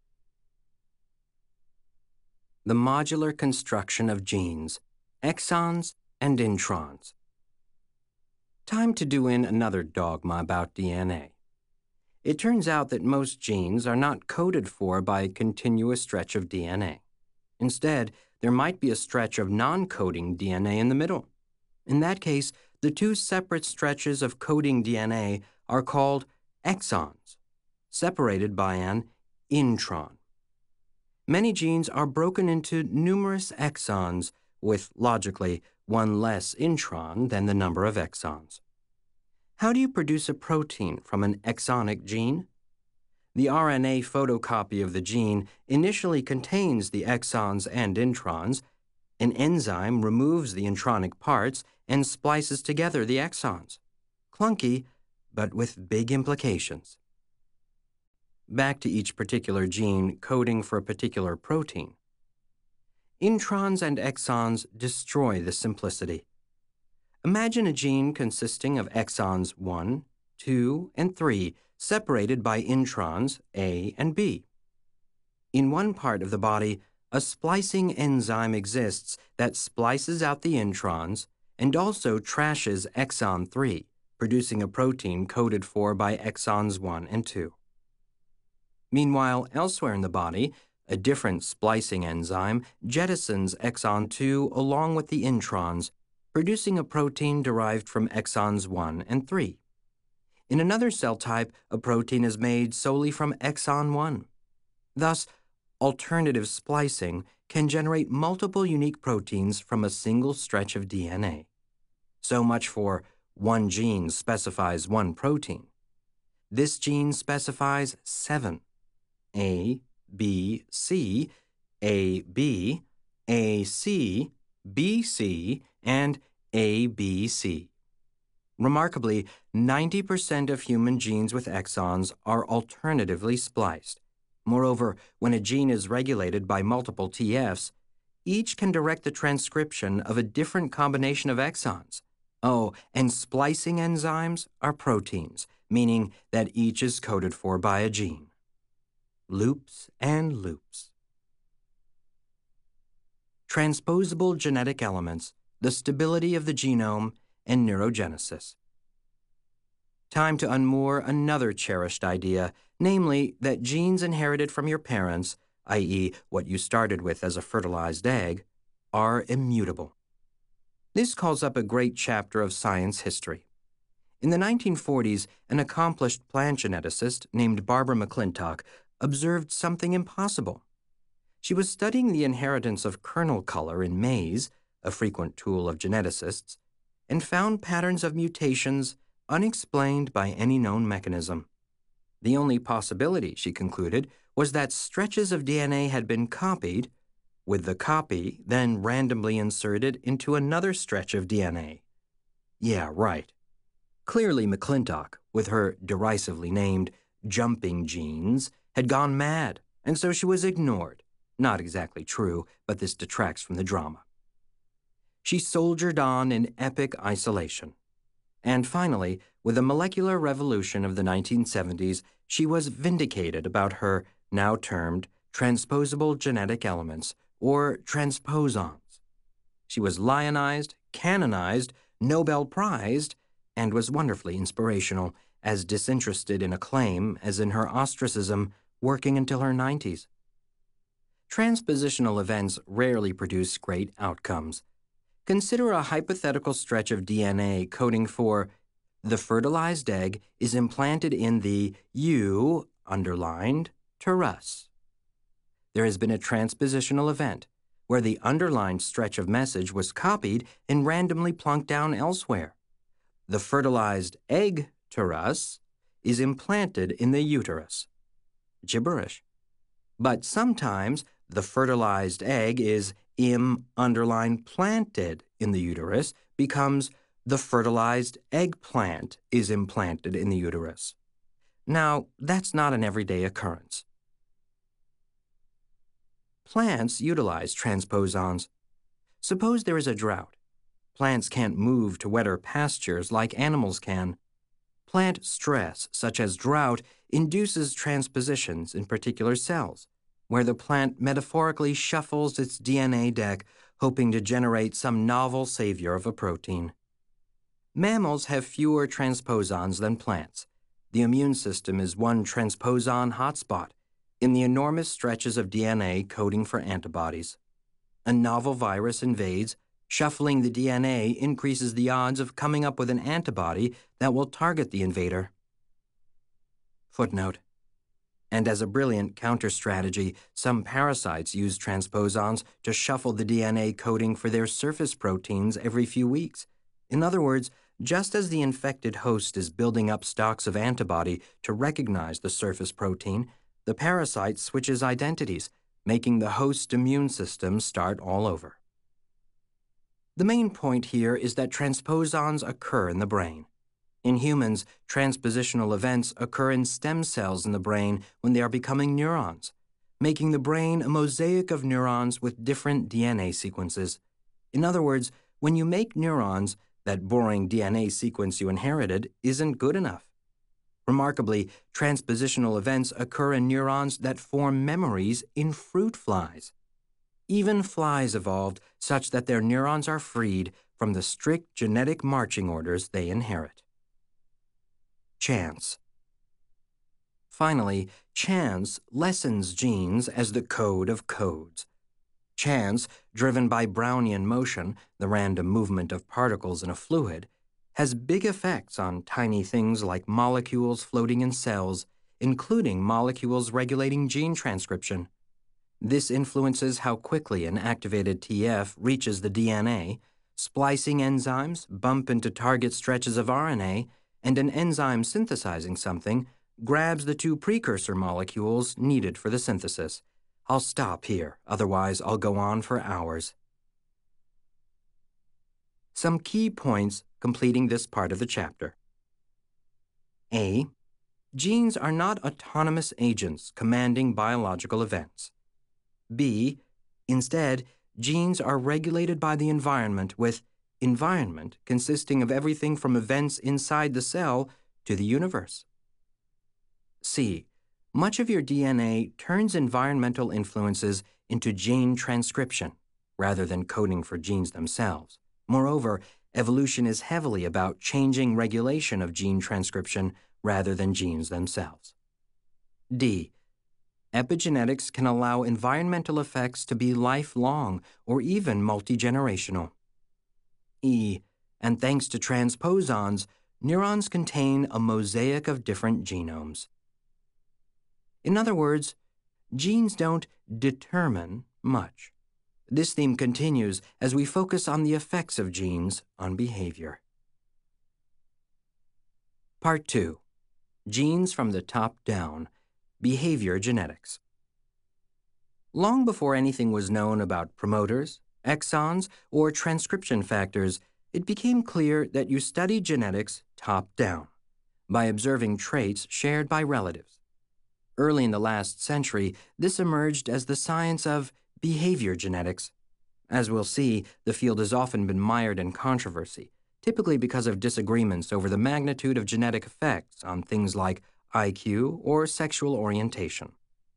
The modular construction of genes, exons and introns. Time to do in another dogma about D N A. It turns out that most genes are not coded for by a continuous stretch of D N A. Instead, there might be a stretch of non-coding D N A in the middle. In that case, The two separate stretches of coding D N A are called exons, separated by an intron. Many genes are broken into numerous exons, with, logically, one less intron than the number of exons. How do you produce a protein from an exonic gene? The R N A photocopy of the gene initially contains the exons and introns. An enzyme removes the intronic parts and splices together the exons. Clunky, but with big implications. Back to each particular gene coding for a particular protein. Introns and exons destroy the simplicity. Imagine a gene consisting of exons one, two, and three separated by introns A and B. In one part of the body, a splicing enzyme exists that splices out the introns and also trashes exon three, producing a protein coded for by exons one and two. Meanwhile, elsewhere in the body, a different splicing enzyme jettisons exon two along with the introns, producing a protein derived from exons one and three. In another cell type, a protein is made solely from exon one. Thus, alternative splicing can generate multiple unique proteins from a single stretch of D N A. So much for one gene specifies one protein. This gene specifies seven: A, B, C, A, B, A, C, B, C, and A, B, C. Remarkably, ninety percent of human genes with exons are alternatively spliced. Moreover, when a gene is regulated by multiple T Fs, each can direct the transcription of a different combination of exons. Oh, and splicing enzymes are proteins, meaning that each is coded for by a gene. Loops and loops. Transposable genetic elements, the stability of the genome, and neurogenesis. Time to unmoor another cherished idea, namely that genes inherited from your parents, that is what you started with as a fertilized egg, are immutable. This calls up a great chapter of science history. In the nineteen forties, an accomplished plant geneticist named Barbara McClintock observed something impossible. She was studying the inheritance of kernel color in maize, a frequent tool of geneticists, and found patterns of mutations unexplained by any known mechanism. The only possibility, she concluded, was that stretches of D N A had been copied, with the copy then randomly inserted into another stretch of D N A. Yeah, right. Clearly, McClintock, with her derisively named jumping genes, had gone mad, and so she was ignored. Not exactly true, but this detracts from the drama. She soldiered on in epic isolation. And finally, with the molecular revolution of the nineteen seventies, she was vindicated about her, now termed, transposable genetic elements, or transposons. She was lionized, canonized, Nobel prized, and was wonderfully inspirational, as disinterested in acclaim as in her ostracism, working until her nineties. Transpositional events rarely produce great outcomes. Consider a hypothetical stretch of D N A coding for the fertilized egg is implanted in the U, underlined, terus. There has been a transpositional event where the underlined stretch of message was copied and randomly plunked down elsewhere. The fertilized egg, terus, is implanted in the uterus. Gibberish. But sometimes the fertilized egg is im underlined planted in the uterus becomes the fertilized eggplant is implanted in the uterus. Now, that's not an everyday occurrence. Plants utilize transposons. Suppose there is a drought. Plants can't move to wetter pastures like animals can. Plant stress, such as drought, induces transpositions in particular cells, where the plant metaphorically shuffles its D N A deck, hoping to generate some novel savior of a protein. Mammals have fewer transposons than plants. The immune system is one transposon hotspot in the enormous stretches of D N A coding for antibodies. A novel virus invades, Shuffling the D N A increases the odds of coming up with an antibody that will target the invader. Footnote. And as a brilliant counter-strategy, some parasites use transposons to shuffle the D N A coding for their surface proteins every few weeks. In other words, just as the infected host is building up stocks of antibody to recognize the surface protein, the parasite switches identities, making the host's immune system start all over. The main point here is that transposons occur in the brain. In humans, transpositional events occur in stem cells in the brain when they are becoming neurons, making the brain a mosaic of neurons with different D N A sequences. In other words, when you make neurons, that boring D N A sequence you inherited isn't good enough. Remarkably, transpositional events occur in neurons that form memories in fruit flies. Even flies evolved such that their neurons are freed from the strict genetic marching orders they inherit. Chance. Finally, chance lessens genes as the code of codes. Chance, driven by Brownian motion, the random movement of particles in a fluid, has big effects on tiny things like molecules floating in cells, including molecules regulating gene transcription. This influences how quickly an activated T F reaches the D N A, splicing enzymes bump into target stretches of R N A, and an enzyme synthesizing something grabs the two precursor molecules needed for the synthesis. I'll stop here, otherwise I'll go on for hours. Some key points completing this part of the chapter. A. Genes are not autonomous agents commanding biological events. B. Instead, genes are regulated by the environment, with environment consisting of everything from events inside the cell to the universe. C. Much of your D N A turns environmental influences into gene transcription, rather than coding for genes themselves. Moreover, evolution is heavily about changing regulation of gene transcription rather than genes themselves. D. Epigenetics can allow environmental effects to be lifelong or even multi-generational. E. And thanks to transposons, neurons contain a mosaic of different genomes. In other words, genes don't determine much. This theme continues as we focus on the effects of genes on behavior. Part two. Genes from the top down. Behavior genetics. Long before anything was known about promoters, exons, or transcription factors, it became clear that you study genetics top down, by observing traits shared by relatives. Early in the last century, this emerged as the science of behavior genetics. As we'll see, the field has often been mired in controversy, typically because of disagreements over the magnitude of genetic effects on things like I Q or sexual orientation.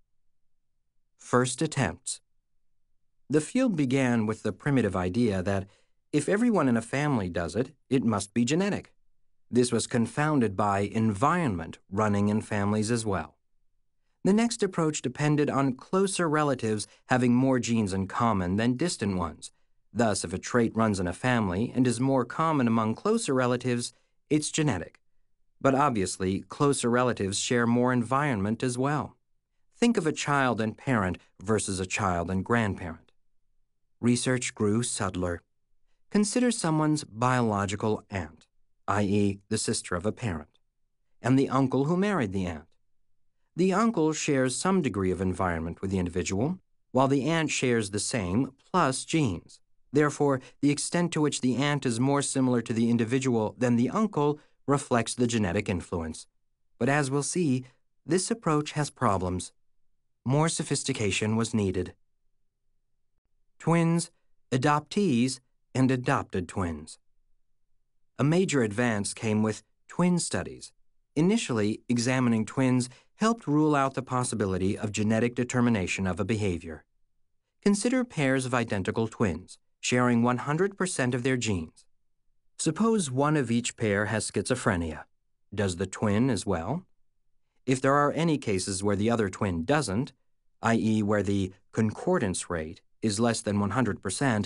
First attempts. The field began with the primitive idea that if everyone in a family does it, it must be genetic. This was confounded by environment running in families as well. The next approach depended on closer relatives having more genes in common than distant ones. Thus, if a trait runs in a family and is more common among closer relatives, it's genetic. But obviously, closer relatives share more environment as well. Think of a child and parent versus a child and grandparent. Research grew subtler. Consider someone's biological aunt, that is the sister of a parent, and the uncle who married the aunt. The uncle shares some degree of environment with the individual, while the aunt shares the same plus genes. Therefore, the extent to which the aunt is more similar to the individual than the uncle reflects the genetic influence. But as we'll see, this approach has problems. More sophistication was needed. Twins, adoptees, and adopted twins. A major advance came with twin studies. Initially, examining twins helped rule out the possibility of genetic determination of a behavior. Consider pairs of identical twins, sharing one hundred percent of their genes. Suppose one of each pair has schizophrenia. Does the twin as well? If there are any cases where the other twin doesn't, that is where the concordance rate is less than one hundred percent,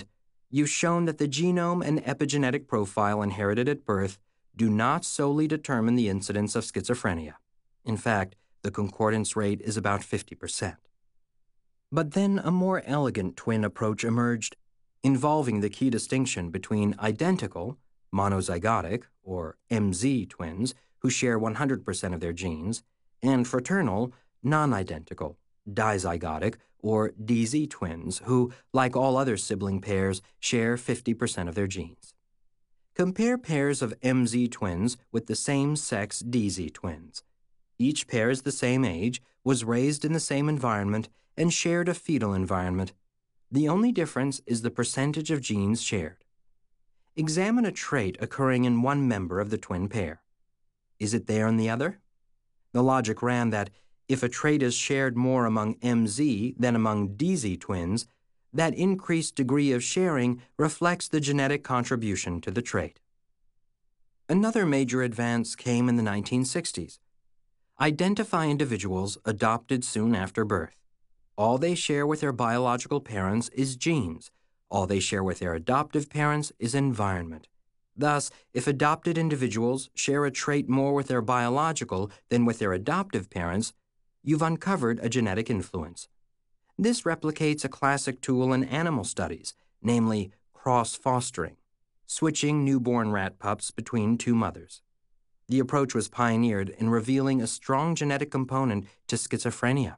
You've shown that the genome and epigenetic profile inherited at birth do not solely determine the incidence of schizophrenia. In fact, the concordance rate is about fifty percent. But then a more elegant twin approach emerged, involving the key distinction between identical, monozygotic, or M Z twins who share one hundred percent of their genes, and fraternal, non-identical, dizygotic, or D Z twins who, like all other sibling pairs, share fifty percent of their genes. Compare pairs of M Z twins with the same sex D Z twins. Each pair is the same age, was raised in the same environment, and shared a fetal environment. The only difference is the percentage of genes shared. Examine a trait occurring in one member of the twin pair. Is it there in the other? The logic ran that if a trait is shared more among M Z than among D Z twins, that increased degree of sharing reflects the genetic contribution to the trait. Another major advance came in the nineteen sixties. Identify individuals adopted soon after birth. All they share with their biological parents is genes. All they share with their adoptive parents is environment. Thus, if adopted individuals share a trait more with their biological than with their adoptive parents, you've uncovered a genetic influence. This replicates a classic tool in animal studies, namely cross-fostering, switching newborn rat pups between two mothers. The approach was pioneered in revealing a strong genetic component to schizophrenia.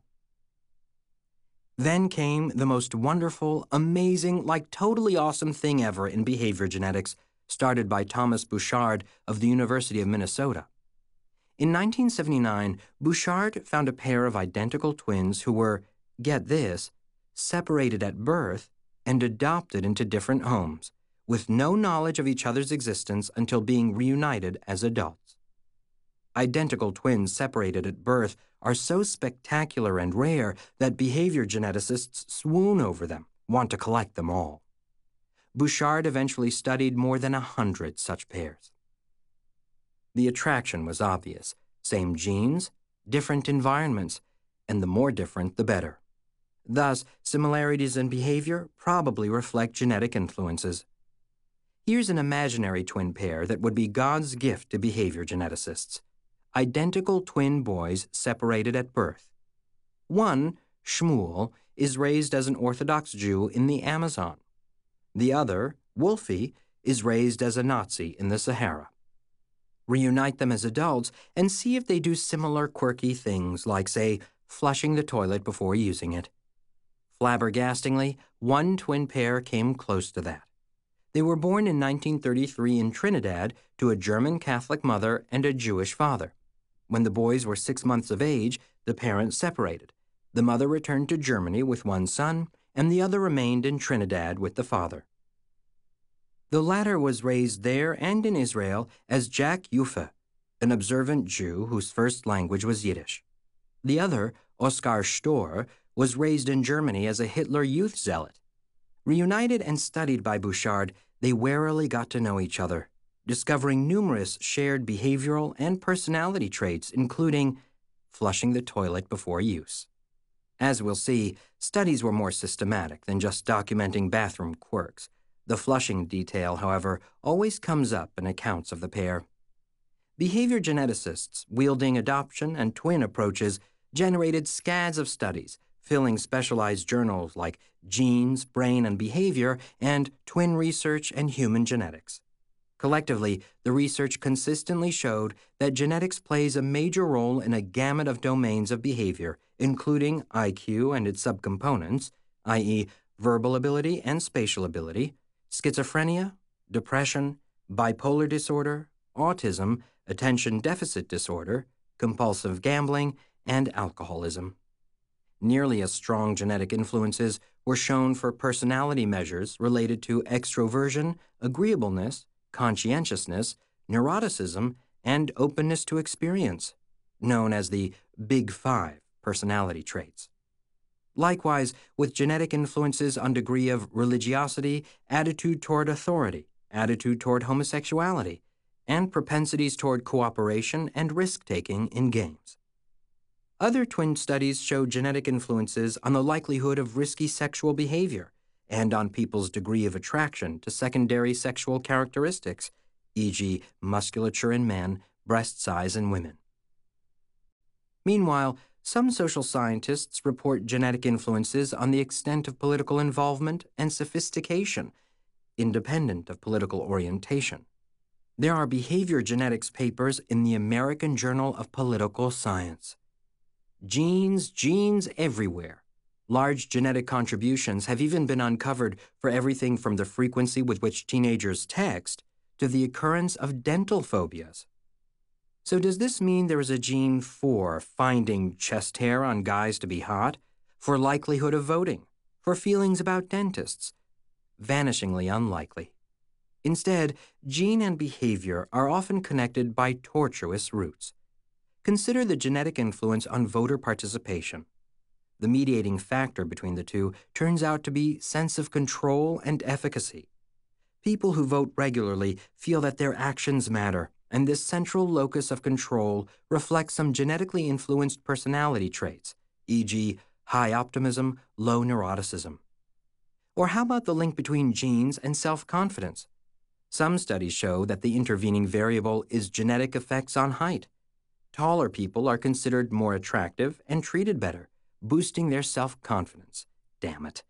Then came the most wonderful, amazing, like totally awesome thing ever in behavior genetics, started by Thomas Bouchard of the University of Minnesota. In nineteen seventy-nine, Bouchard found a pair of identical twins who were, get this, separated at birth and adopted into different homes, with no knowledge of each other's existence until being reunited as adults. Identical twins separated at birth are so spectacular and rare that behavior geneticists swoon over them, want to collect them all. Bouchard eventually studied more than a hundred such pairs. The attraction was obvious: same genes, different environments, and the more different, the better. Thus, similarities in behavior probably reflect genetic influences. Here's an imaginary twin pair that would be God's gift to behavior geneticists. Identical twin boys separated at birth. One, Shmuel, is raised as an Orthodox Jew in the Amazon. The other, Wolfie, is raised as a Nazi in the Sahara. Reunite them as adults and see if they do similar quirky things like, say, flushing the toilet before using it. Flabbergastingly, one twin pair came close to that. They were born in nineteen thirty-three in Trinidad to a German Catholic mother and a Jewish father. When the boys were six months of age, the parents separated. The mother returned to Germany with one son, and the other remained in Trinidad with the father. The latter was raised there and in Israel as Jack Yuffe, an observant Jew whose first language was Yiddish. The other, Oskar Stor, was raised in Germany as a Hitler Youth zealot. Reunited and studied by Bouchard, they warily got to know each other, discovering numerous shared behavioral and personality traits, including flushing the toilet before use. As we'll see, studies were more systematic than just documenting bathroom quirks. The flushing detail, however, always comes up in accounts of the pair. Behavior geneticists, wielding adoption and twin approaches, generated scads of studies, filling specialized journals like Genes, Brain, and Behavior and Twin Research and Human Genetics. Collectively, the research consistently showed that genetics plays a major role in a gamut of domains of behavior, including I Q and its subcomponents, that is, verbal ability and spatial ability, schizophrenia, depression, bipolar disorder, autism, attention deficit disorder, compulsive gambling, and alcoholism. Nearly as strong genetic influences were shown for personality measures related to extroversion, agreeableness, conscientiousness, neuroticism, and openness to experience, known as the Big Five personality traits. Likewise, with genetic influences on degree of religiosity, attitude toward authority, attitude toward homosexuality, and propensities toward cooperation and risk-taking in games. Other twin studies showed genetic influences on the likelihood of risky sexual behavior and on people's degree of attraction to secondary sexual characteristics, for example musculature in men, breast size in women. Meanwhile, some social scientists report genetic influences on the extent of political involvement and sophistication, independent of political orientation. There are behavior genetics papers in the American Journal of Political Science. Genes, genes everywhere. Large genetic contributions have even been uncovered for everything from the frequency with which teenagers text to the occurrence of dental phobias. So does this mean there is a gene for finding chest hair on guys to be hot, for likelihood of voting, for feelings about dentists? Vanishingly unlikely. Instead, gene and behavior are often connected by tortuous roots. Consider the genetic influence on voter participation. The mediating factor between the two turns out to be sense of control and efficacy. People who vote regularly feel that their actions matter, and this central locus of control reflects some genetically influenced personality traits, for example high optimism, low neuroticism. Or how about the link between genes and self-confidence? Some studies show that the intervening variable is genetic effects on height. Taller people are considered more attractive and treated better, boosting their self-confidence. Damn it.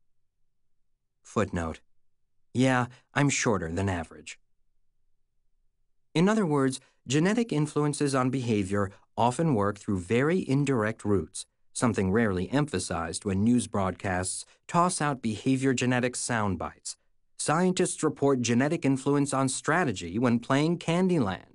Footnote. Yeah, I'm shorter than average. In other words, genetic influences on behavior often work through very indirect routes, something rarely emphasized when news broadcasts toss out behavior genetics sound bites. Scientists report genetic influence on strategy when playing Candyland.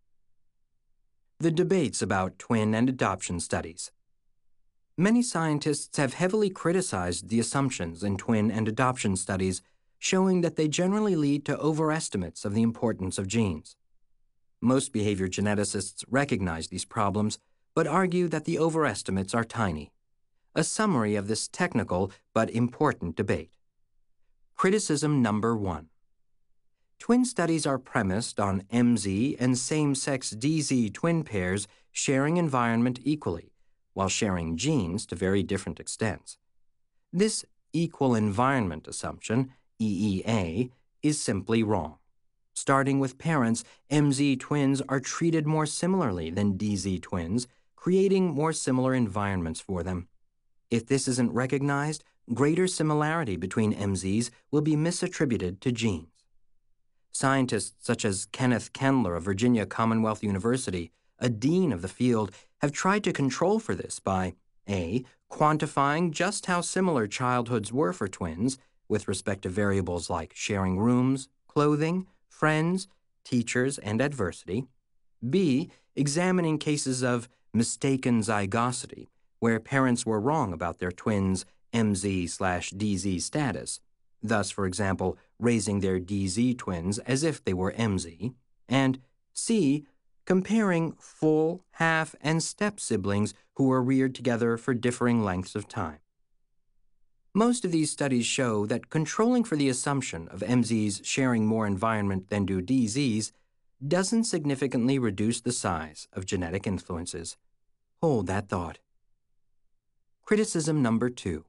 The debates about twin and adoption studies. Many scientists have heavily criticized the assumptions in twin and adoption studies, showing that they generally lead to overestimates of the importance of genes. Most behavior geneticists recognize these problems, but argue that the overestimates are tiny. A summary of this technical but important debate. Criticism number one. Twin studies are premised on M Z and same-sex D Z twin pairs sharing environment equally, while sharing genes to very different extents. This equal environment assumption, E E A, is simply wrong. Starting with parents, M Z twins are treated more similarly than D Z twins, creating more similar environments for them. If this isn't recognized, greater similarity between M Zs will be misattributed to genes. Scientists such as Kenneth Kendler of Virginia Commonwealth University, a dean of the field, have tried to control for this by A. quantifying just how similar childhoods were for twins with respect to variables like sharing rooms, clothing, friends, teachers, and adversity. B. examining cases of mistaken zygosity, where parents were wrong about their twins' M Z slash D Z status, thus, for example, raising their D Z twins as if they were M Z. And C. comparing full, half, and step siblings who were reared together for differing lengths of time. Most of these studies show that controlling for the assumption of M Zs sharing more environment than do D Zs doesn't significantly reduce the size of genetic influences. Hold that thought. Criticism number two.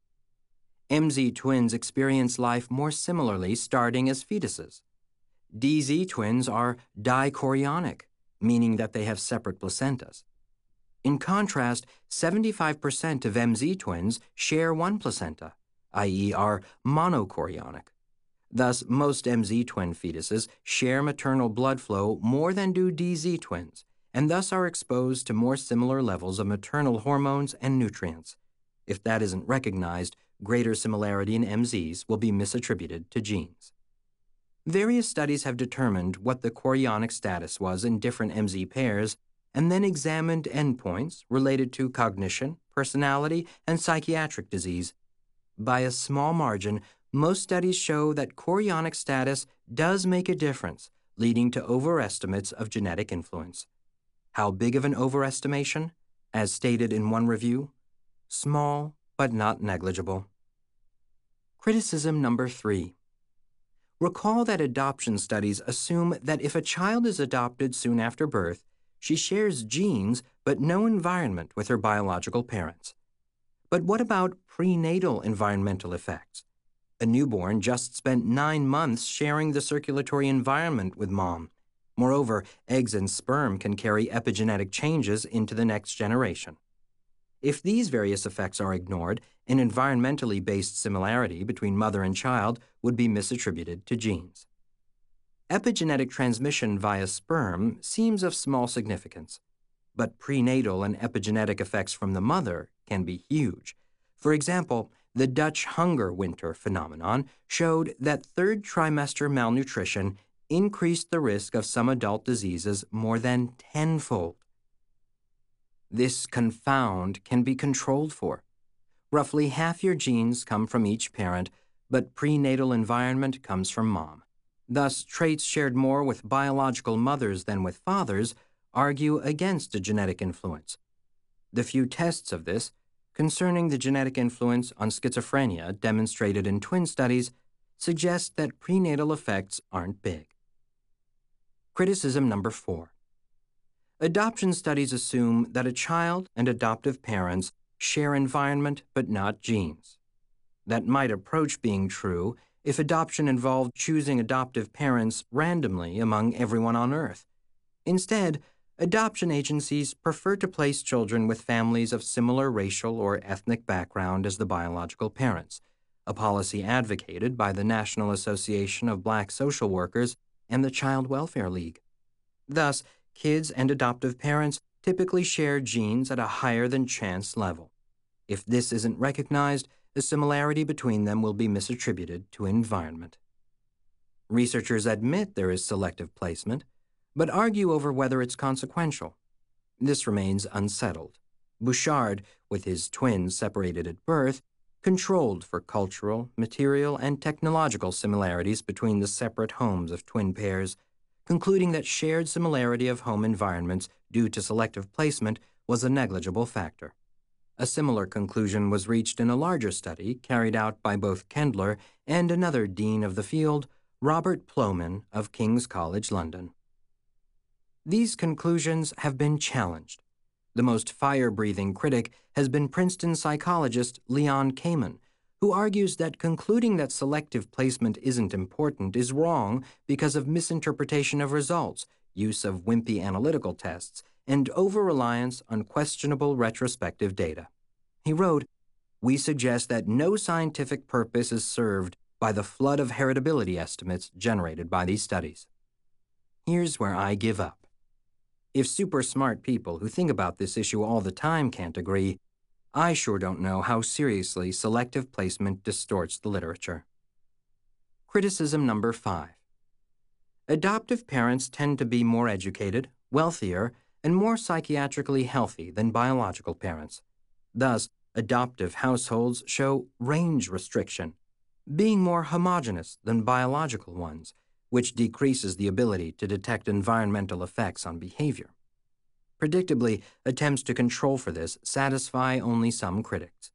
M Z twins experience life more similarly starting as fetuses. D Z twins are dichorionic, meaning that they have separate placentas. In contrast, seventy-five percent of M Z twins share one placenta, that is are monochorionic. Thus, most M Z twin fetuses share maternal blood flow more than do D Z twins, and thus are exposed to more similar levels of maternal hormones and nutrients. If that isn't recognized, greater similarity in M Zs will be misattributed to genes. Various studies have determined what the chorionic status was in different M Z pairs and then examined endpoints related to cognition, personality, and psychiatric disease. By a small margin, most studies show that chorionic status does make a difference, leading to overestimates of genetic influence. How big of an overestimation? As stated in one review, small but not negligible. Criticism number three. Recall that adoption studies assume that if a child is adopted soon after birth, she shares genes but no environment with her biological parents. But what about prenatal environmental effects? A newborn just spent nine months sharing the circulatory environment with mom. Moreover, eggs and sperm can carry epigenetic changes into the next generation. If these various effects are ignored, an environmentally based similarity between mother and child would be misattributed to genes. Epigenetic transmission via sperm seems of small significance, but prenatal and epigenetic effects from the mother can be huge. For example, the Dutch hunger winter phenomenon showed that third trimester malnutrition increased the risk of some adult diseases more than tenfold. This confound can be controlled for. Roughly half your genes come from each parent, but prenatal environment comes from mom. Thus, traits shared more with biological mothers than with fathers argue against a genetic influence. The few tests of this concerning the genetic influence on schizophrenia demonstrated in twin studies suggest that prenatal effects aren't big. Criticism number four. Adoption studies assume that a child and adoptive parents share environment but not genes. That might approach being true if adoption involved choosing adoptive parents randomly among everyone on Earth. Instead, adoption agencies prefer to place children with families of similar racial or ethnic background as the biological parents, a policy advocated by the National Association of Black Social Workers and the Child Welfare League. Thus, kids and adoptive parents typically share genes at a higher than chance level. If this isn't recognized, the similarity between them will be misattributed to environment. Researchers admit there is selective placement, but argue over whether it's consequential. This remains unsettled. Bouchard, with his twins separated at birth, controlled for cultural, material, and technological similarities between the separate homes of twin pairs, concluding that shared similarity of home environments due to selective placement was a negligible factor. A similar conclusion was reached in a larger study carried out by both Kendler and another dean of the field, Robert Plomin of King's College London. These conclusions have been challenged. The most fire-breathing critic has been Princeton psychologist Leon Kamen, who argues that concluding that selective placement isn't important is wrong because of misinterpretation of results, use of wimpy analytical tests, and over-reliance on questionable retrospective data. He wrote, "We suggest that no scientific purpose is served by the flood of heritability estimates generated by these studies." Here's where I give up. If super smart people who think about this issue all the time can't agree, I sure don't know how seriously selective placement distorts the literature. Criticism number five. Adoptive parents tend to be more educated, wealthier, and more psychiatrically healthy than biological parents. Thus, adoptive households show range restriction, being more homogeneous than biological ones, which decreases the ability to detect environmental effects on behavior. Predictably, attempts to control for this satisfy only some critics.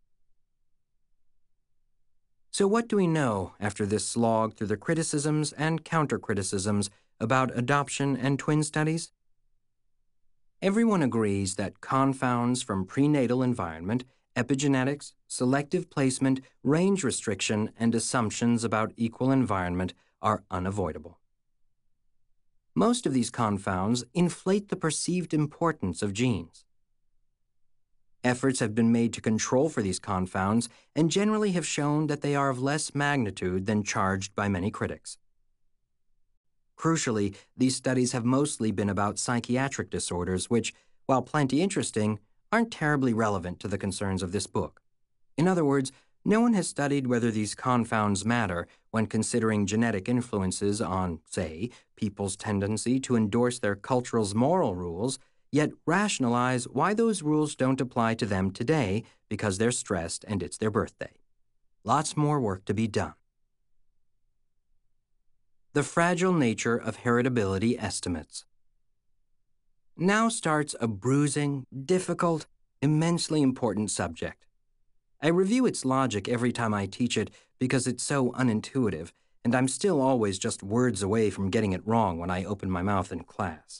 So what do we know after this slog through the criticisms and counter-criticisms about adoption and twin studies? Everyone agrees that confounds from prenatal environment, epigenetics, selective placement, range restriction, and assumptions about equal environment are unavoidable. Most of these confounds inflate the perceived importance of genes. Efforts have been made to control for these confounds and generally have shown that they are of less magnitude than charged by many critics. Crucially, these studies have mostly been about psychiatric disorders which, while plenty interesting, aren't terribly relevant to the concerns of this book. In other words, no one has studied whether these confounds matter when considering genetic influences on, say, people's tendency to endorse their cultural's moral rules, yet rationalize why those rules don't apply to them today because they're stressed and it's their birthday. Lots more work to be done. The fragile nature of heritability estimates. Now starts a bruising, difficult, immensely important subject. I review its logic every time I teach it because it's so unintuitive, and I'm still always just words away from getting it wrong when I open my mouth in class.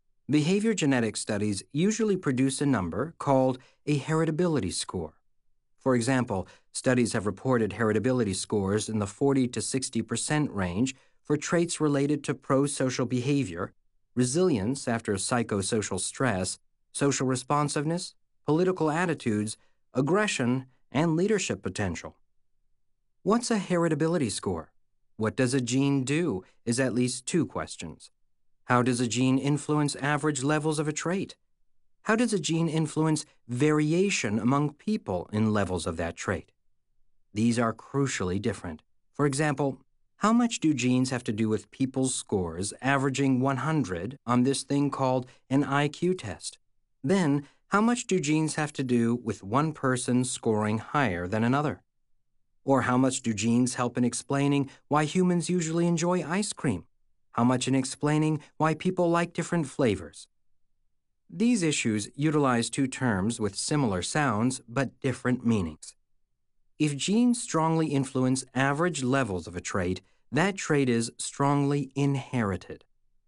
Behavior genetic studies usually produce a number called a heritability score. For example, studies have reported heritability scores in the forty to sixty percent range for traits related to pro-social behavior, resilience after psychosocial stress, social responsiveness, political attitudes, aggression, and leadership potential. What's a heritability score? What does a gene do is at least two questions. How does a gene influence average levels of a trait? How does a gene influence variation among people in levels of that trait? These are crucially different. For example, how much do genes have to do with people's scores averaging one hundred on this thing called an I Q test? Then, how much do genes have to do with one person scoring higher than another? Or how much do genes help in explaining why humans usually enjoy ice cream? How much in explaining why people like different flavors? These issues utilize two terms with similar sounds but different meanings. If genes strongly influence average levels of a trait, that trait is strongly inherited.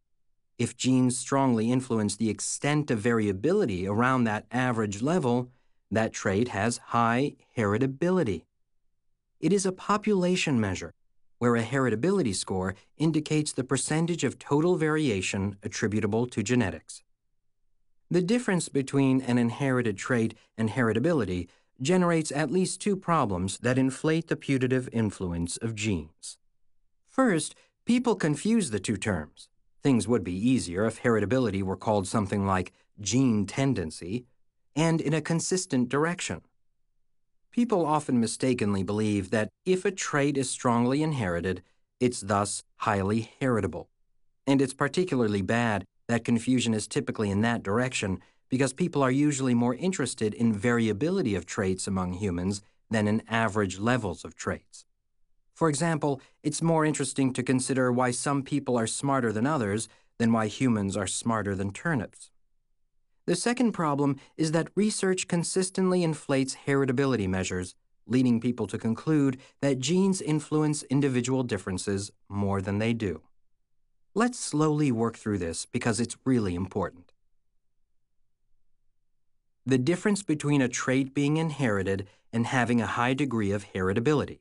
If genes strongly influence the extent of variability around that average level, that trait has high heritability. It is a population measure, where a heritability score indicates the percentage of total variation attributable to genetics. The difference between an inherited trait and heritability generates at least two problems that inflate the putative influence of genes. First, people confuse the two terms. Things would be easier if heritability were called something like gene tendency and in a consistent direction. People often mistakenly believe that if a trait is strongly inherited, it's thus highly heritable. And it's particularly bad that confusion is typically in that direction because people are usually more interested in variability of traits among humans than in average levels of traits. For example, it's more interesting to consider why some people are smarter than others than why humans are smarter than turnips. The second problem is that research consistently inflates heritability measures, leading people to conclude that genes influence individual differences more than they do. Let's slowly work through this because it's really important. The difference between a trait being inherited and having a high degree of heritability.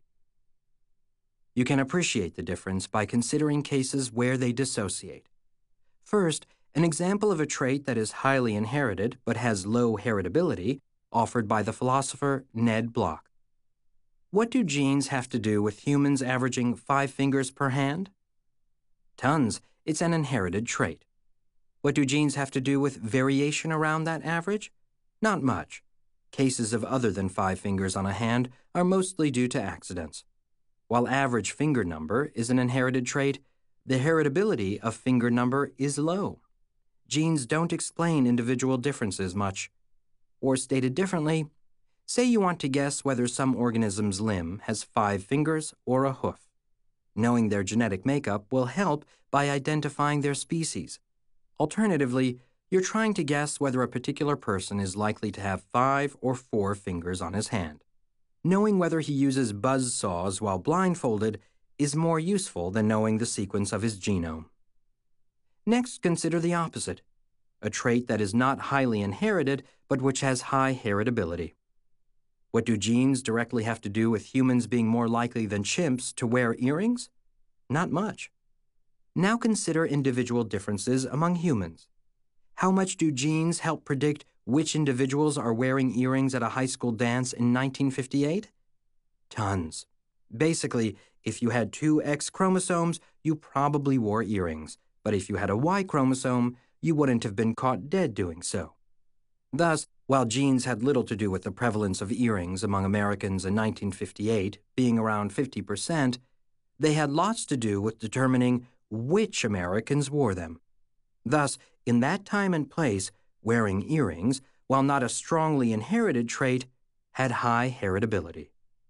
You can appreciate the difference by considering cases where they dissociate. First, an example of a trait that is highly inherited but has low heritability, offered by the philosopher Ned Block. What do genes have to do with humans averaging five fingers per hand? Tons. It's an inherited trait. What do genes have to do with variation around that average? Not much. Cases of other than five fingers on a hand are mostly due to accidents. While average finger number is an inherited trait, the heritability of finger number is low. Genes don't explain individual differences much. Or stated differently, say you want to guess whether some organism's limb has five fingers or a hoof. Knowing their genetic makeup will help by identifying their species. Alternatively, you're trying to guess whether a particular person is likely to have five or four fingers on his hand. Knowing whether he uses buzz saws while blindfolded is more useful than knowing the sequence of his genome. Next, consider the opposite, a trait that is not highly inherited but which has high heritability. What do genes directly have to do with humans being more likely than chimps to wear earrings? Not much. Now consider individual differences among humans. How much do genes help predict which individuals are wearing earrings at a high school dance in nineteen fifty-eight? Tons. Basically, if you had two X chromosomes, you probably wore earrings, but if you had a Y chromosome, you wouldn't have been caught dead doing so. Thus, while genes had little to do with the prevalence of earrings among Americans in nineteen fifty-eight, being around fifty percent, they had lots to do with determining which Americans wore them. Thus, in that time and place, wearing earrings, while not a strongly inherited trait, had high heritability.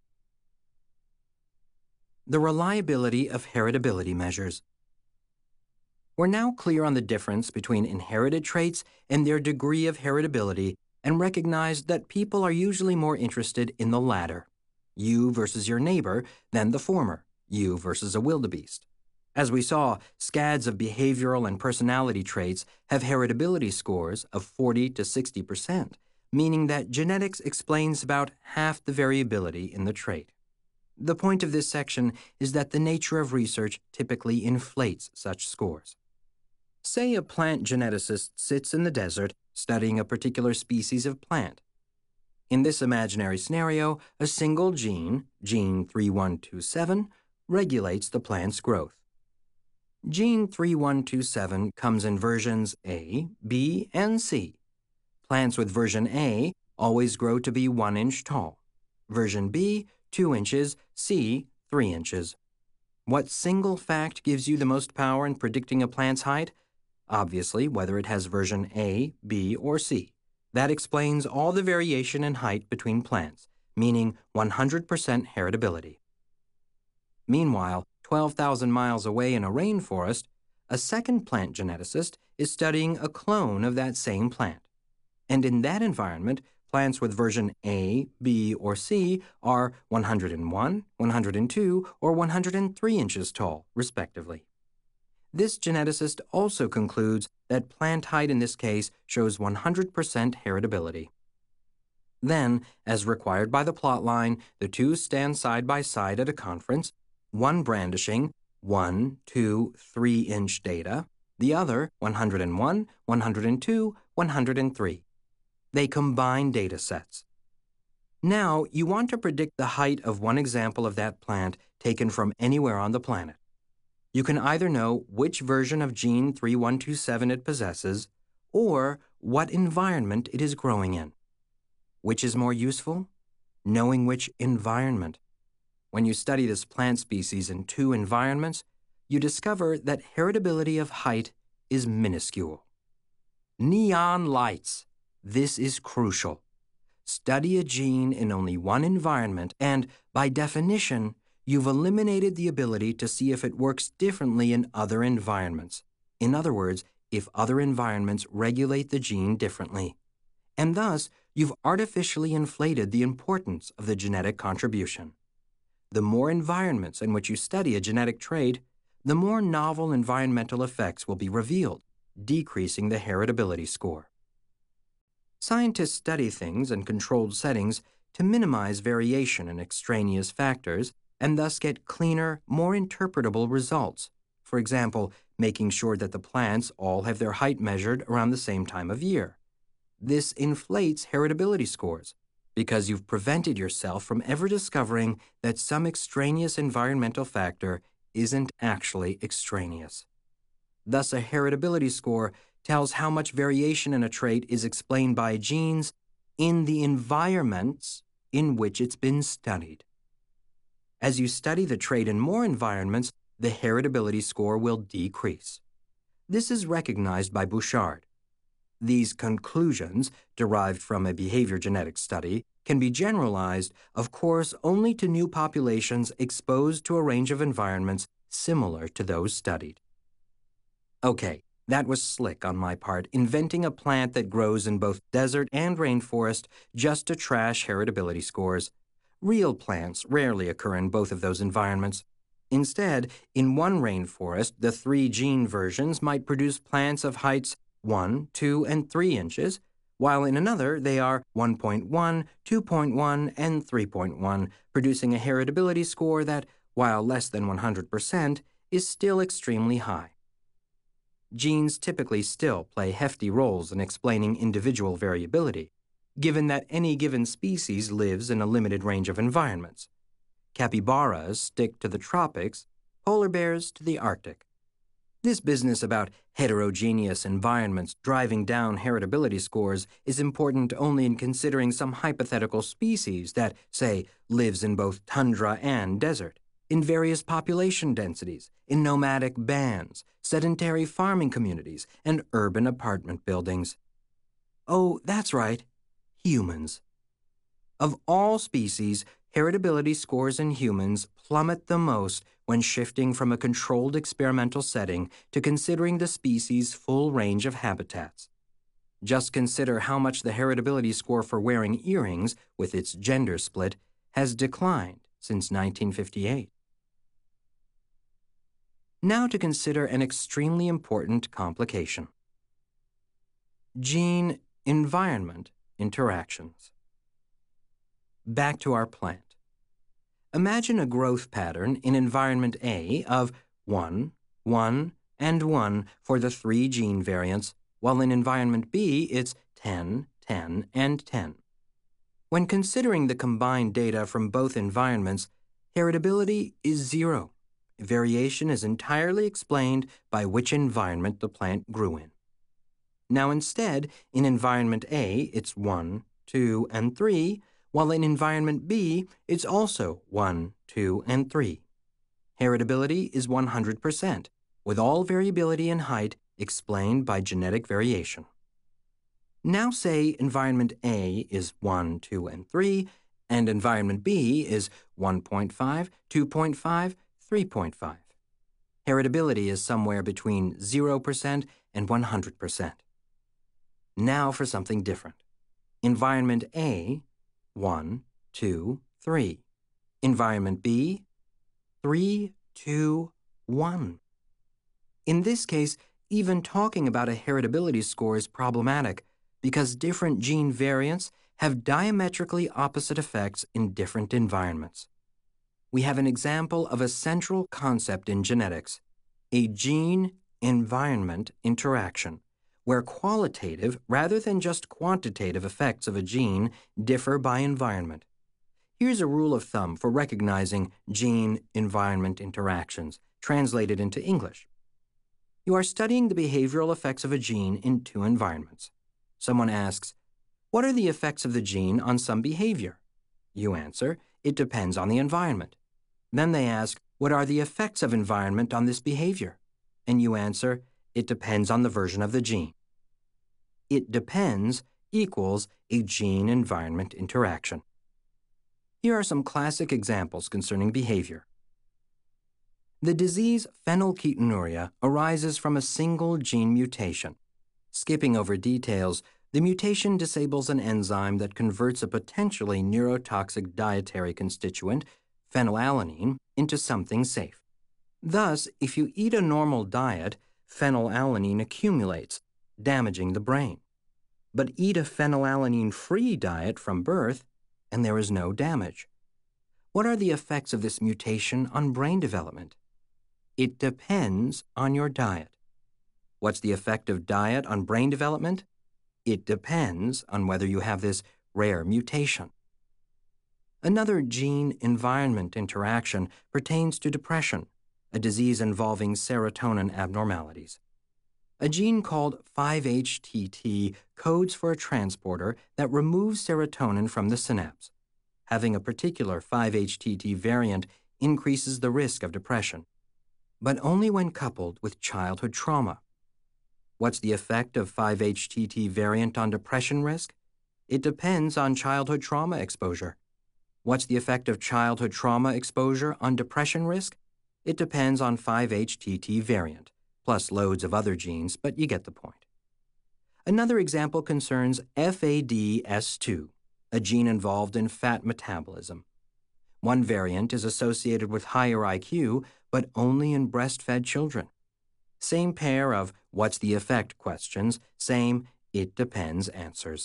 The reliability of heritability measures. We're now clear on the difference between inherited traits and their degree of heritability and recognize that people are usually more interested in the latter, you versus your neighbor, than the former, you versus a wildebeest. As we saw, scads of behavioral and personality traits have heritability scores of forty to sixty percent, meaning that genetics explains about half the variability in the trait. The point of this section is that the nature of research typically inflates such scores. Say a plant geneticist sits in the desert studying a particular species of plant. In this imaginary scenario, a single gene, gene three one two seven, regulates the plant's growth. Gene three one two seven comes in versions A, B, and C. Plants with version A always grow to be one inch tall. Version B, two inches, C, three inches. What single fact gives you the most power in predicting a plant's height? Obviously, whether it has version A, B, or C. That explains all the variation in height between plants, meaning one hundred percent heritability. Meanwhile, twelve thousand miles away in a rainforest, a second plant geneticist is studying a clone of that same plant. And in that environment, plants with version A, B, or C are one hundred one, one hundred two, or one hundred three inches tall, respectively. This geneticist also concludes that plant height in this case shows one hundred percent heritability. Then, as required by the plotline, the two stand side by side at a conference, one brandishing one, two, three inch data, the other one hundred one, one hundred two, one hundred three. They combine data sets. Now, you want to predict the height of one example of that plant taken from anywhere on the planet. You can either know which version of gene three one two seven it possesses or what environment it is growing in. Which is more useful? Knowing which environment. When you study this plant species in two environments, you discover that heritability of height is minuscule. Neon lights. This is crucial. Study a gene in only one environment and, by definition, you've eliminated the ability to see if it works differently in other environments. In other words, if other environments regulate the gene differently. And thus, you've artificially inflated the importance of the genetic contribution. The more environments in which you study a genetic trait, the more novel environmental effects will be revealed, decreasing the heritability score. Scientists study things in controlled settings to minimize variation in extraneous factors and thus get cleaner, more interpretable results. For example, making sure that the plants all have their height measured around the same time of year. This inflates heritability scores because you've prevented yourself from ever discovering that some extraneous environmental factor isn't actually extraneous. Thus, a heritability score tells how much variation in a trait is explained by genes in the environments in which it's been studied. As you study the trait in more environments, the heritability score will decrease. This is recognized by Bouchard. These conclusions, derived from a behavior genetics study, can be generalized, of course, only to new populations exposed to a range of environments similar to those studied. Okay, that was slick on my part, inventing a plant that grows in both desert and rainforest just to trash heritability scores. Real plants rarely occur in both of those environments. Instead, in one rainforest, the three gene versions might produce plants of heights one, two, and three inches, while in another they are one point one, two point one, and three point one, producing a heritability score that, while less than one hundred percent, is still extremely high. Genes typically still play hefty roles in explaining individual variability, given that any given species lives in a limited range of environments. Capybaras stick to the tropics, polar bears to the Arctic. This business about heterogeneous environments driving down heritability scores is important only in considering some hypothetical species that, say, lives in both tundra and desert, in various population densities, in nomadic bands, sedentary farming communities, and urban apartment buildings. Oh, that's right, humans. Of all species, heritability scores in humans plummet the most when shifting from a controlled experimental setting to considering the species' full range of habitats. Just consider how much the heritability score for wearing earrings, with its gender split, has declined since nineteen fifty-eight. Now to consider an extremely important complication. Gene environment interactions. Back to our plant. Imagine a growth pattern in environment A of one, one, and one for the three gene variants, while in environment B it's ten, ten, and ten. When considering the combined data from both environments, heritability is zero. Variation is entirely explained by which environment the plant grew in. Now instead, in environment A, it's one, two, and three, while in environment B, it's also one, two, and three. Heritability is one hundred percent, with all variability in height explained by genetic variation. Now say environment A is one, two, and three, and environment B is one point five, two point five, three point five. Heritability is somewhere between zero percent and one hundred percent. Now for something different. Environment A, one, two, three. Environment B, three, two, one. In this case, even talking about a heritability score is problematic because different gene variants have diametrically opposite effects in different environments. We have an example of a central concept in genetics, a gene-environment interaction, where qualitative rather than just quantitative effects of a gene differ by environment. Here's a rule of thumb for recognizing gene-environment interactions, translated into English. You are studying the behavioral effects of a gene in two environments. Someone asks, what are the effects of the gene on some behavior? You answer, it depends on the environment. Then they ask, what are the effects of environment on this behavior? And you answer, it depends on the version of the gene. It depends equals a gene-environment interaction. Here are some classic examples concerning behavior. The disease phenylketonuria arises from a single gene mutation. Skipping over details, the mutation disables an enzyme that converts a potentially neurotoxic dietary constituent, phenylalanine, into something safe. Thus, if you eat a normal diet, phenylalanine accumulates, damaging the brain. But eat a phenylalanine-free diet from birth, and there is no damage. What are the effects of this mutation on brain development? It depends on your diet. What's the effect of diet on brain development? It depends on whether you have this rare mutation. Another gene-environment interaction pertains to depression, a disease involving serotonin abnormalities. A gene called five H T T codes for a transporter that removes serotonin from the synapse. Having a particular five H T T variant increases the risk of depression, but only when coupled with childhood trauma. What's the effect of five H T T variant on depression risk? It depends on childhood trauma exposure. What's the effect of childhood trauma exposure on depression risk? It depends on five H T T variant, plus loads of other genes, but you get the point. Another example concerns F A D S two, a gene involved in fat metabolism. One variant is associated with higher I Q, but only in breastfed children. Same pair of what's the effect questions, same it depends answers.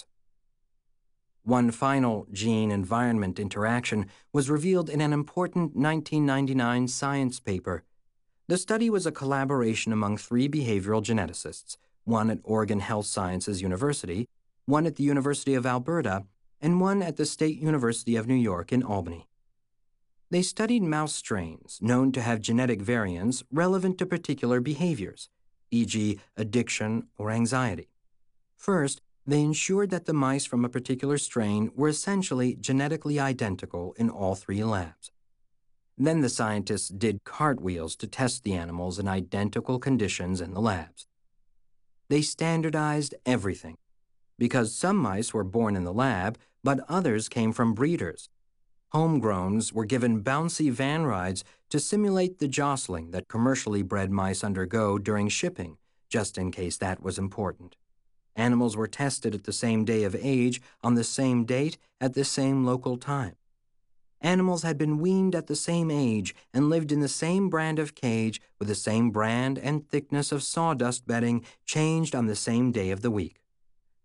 One final gene-environment interaction was revealed in an important nineteen ninety-nine Science paper. The study was a collaboration among three behavioral geneticists, one at Oregon Health Sciences University, one at the University of Alberta, and one at the State University of New York in Albany. They studied mouse strains known to have genetic variants relevant to particular behaviors, for example addiction or anxiety. First, they ensured that the mice from a particular strain were essentially genetically identical in all three labs. Then the scientists did cartwheels to test the animals in identical conditions in the labs. They standardized everything, because some mice were born in the lab, but others came from breeders. Homegrowns were given bouncy van rides to simulate the jostling that commercially bred mice undergo during shipping, just in case that was important. Animals were tested at the same day of age, on the same date, at the same local time. Animals had been weaned at the same age and lived in the same brand of cage with the same brand and thickness of sawdust bedding changed on the same day of the week.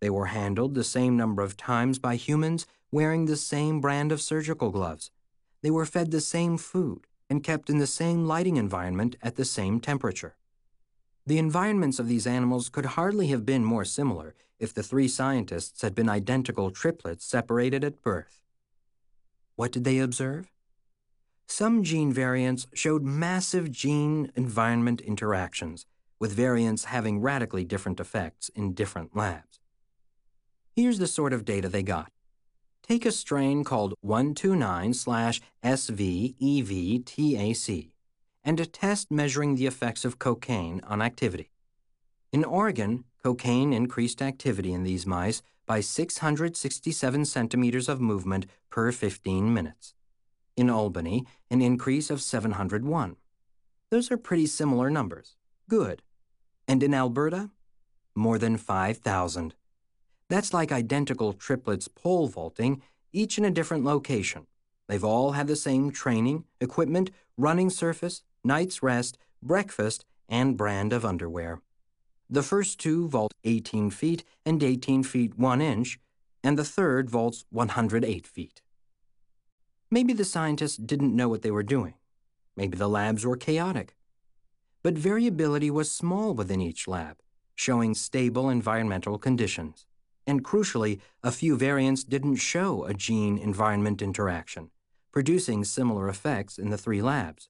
They were handled the same number of times by humans wearing the same brand of surgical gloves. They were fed the same food and kept in the same lighting environment at the same temperature. The environments of these animals could hardly have been more similar if the three scientists had been identical triplets separated at birth. What did they observe? Some gene variants showed massive gene-environment interactions, with variants having radically different effects in different labs. Here's the sort of data they got. Take a strain called one two nine S V E V T A C and a test measuring the effects of cocaine on activity. In Oregon, cocaine increased activity in these mice by six hundred sixty-seven centimeters of movement per fifteen minutes. In Albany, an increase of seven hundred one. Those are pretty similar numbers. Good. And in Alberta, more than five thousand. That's like identical triplets pole vaulting, each in a different location. They've all had the same training, equipment, running surface, night's rest, breakfast, and brand of underwear. The first two vault eighteen feet and eighteen feet one inch, and the third vaults one hundred eight feet. Maybe the scientists didn't know what they were doing. Maybe the labs were chaotic. But variability was small within each lab, showing stable environmental conditions. And crucially, a few variants didn't show a gene-environment interaction, producing similar effects in the three labs.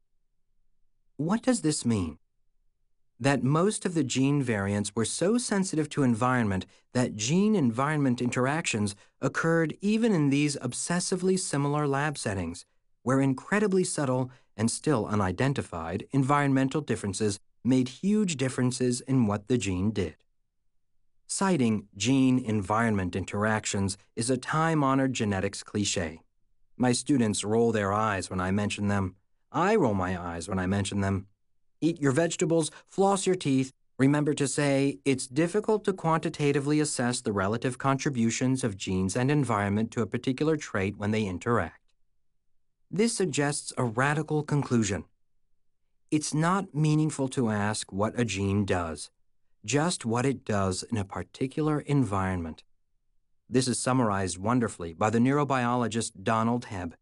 What does this mean? That most of the gene variants were so sensitive to environment that gene-environment interactions occurred even in these obsessively similar lab settings, where incredibly subtle and still unidentified environmental differences made huge differences in what the gene did. Citing gene-environment interactions is a time-honored genetics cliché. My students roll their eyes when I mention them. I roll my eyes when I mention them. Eat your vegetables, floss your teeth. Remember to say, it's difficult to quantitatively assess the relative contributions of genes and environment to a particular trait when they interact. This suggests a radical conclusion. It's not meaningful to ask what a gene does, just what it does in a particular environment. This is summarized wonderfully by the neurobiologist Donald Hebb.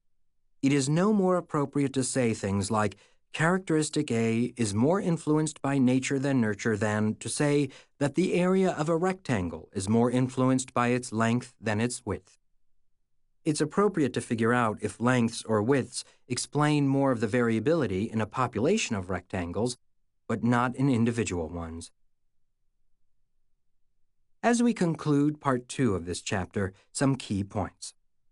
It is no more appropriate to say things like, characteristic A is more influenced by nature than nurture than to say that the area of a rectangle is more influenced by its length than its width. It's appropriate to figure out if lengths or widths explain more of the variability in a population of rectangles, but not in individual ones. As we conclude part two of this chapter, some key points.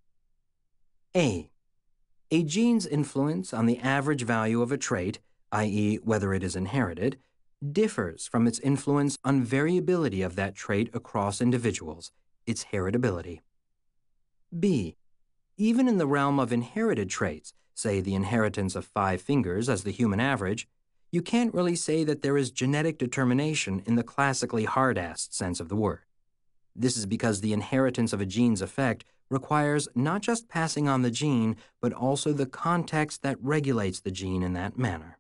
A. A gene's influence on the average value of a trait, that is whether it is inherited, differs from its influence on variability of that trait across individuals, its heritability. B. Even in the realm of inherited traits, say the inheritance of five fingers as the human average, you can't really say that there is genetic determination in the classically hard-assed sense of the word. This is because the inheritance of a gene's effect requires not just passing on the gene, but also the context that regulates the gene in that manner.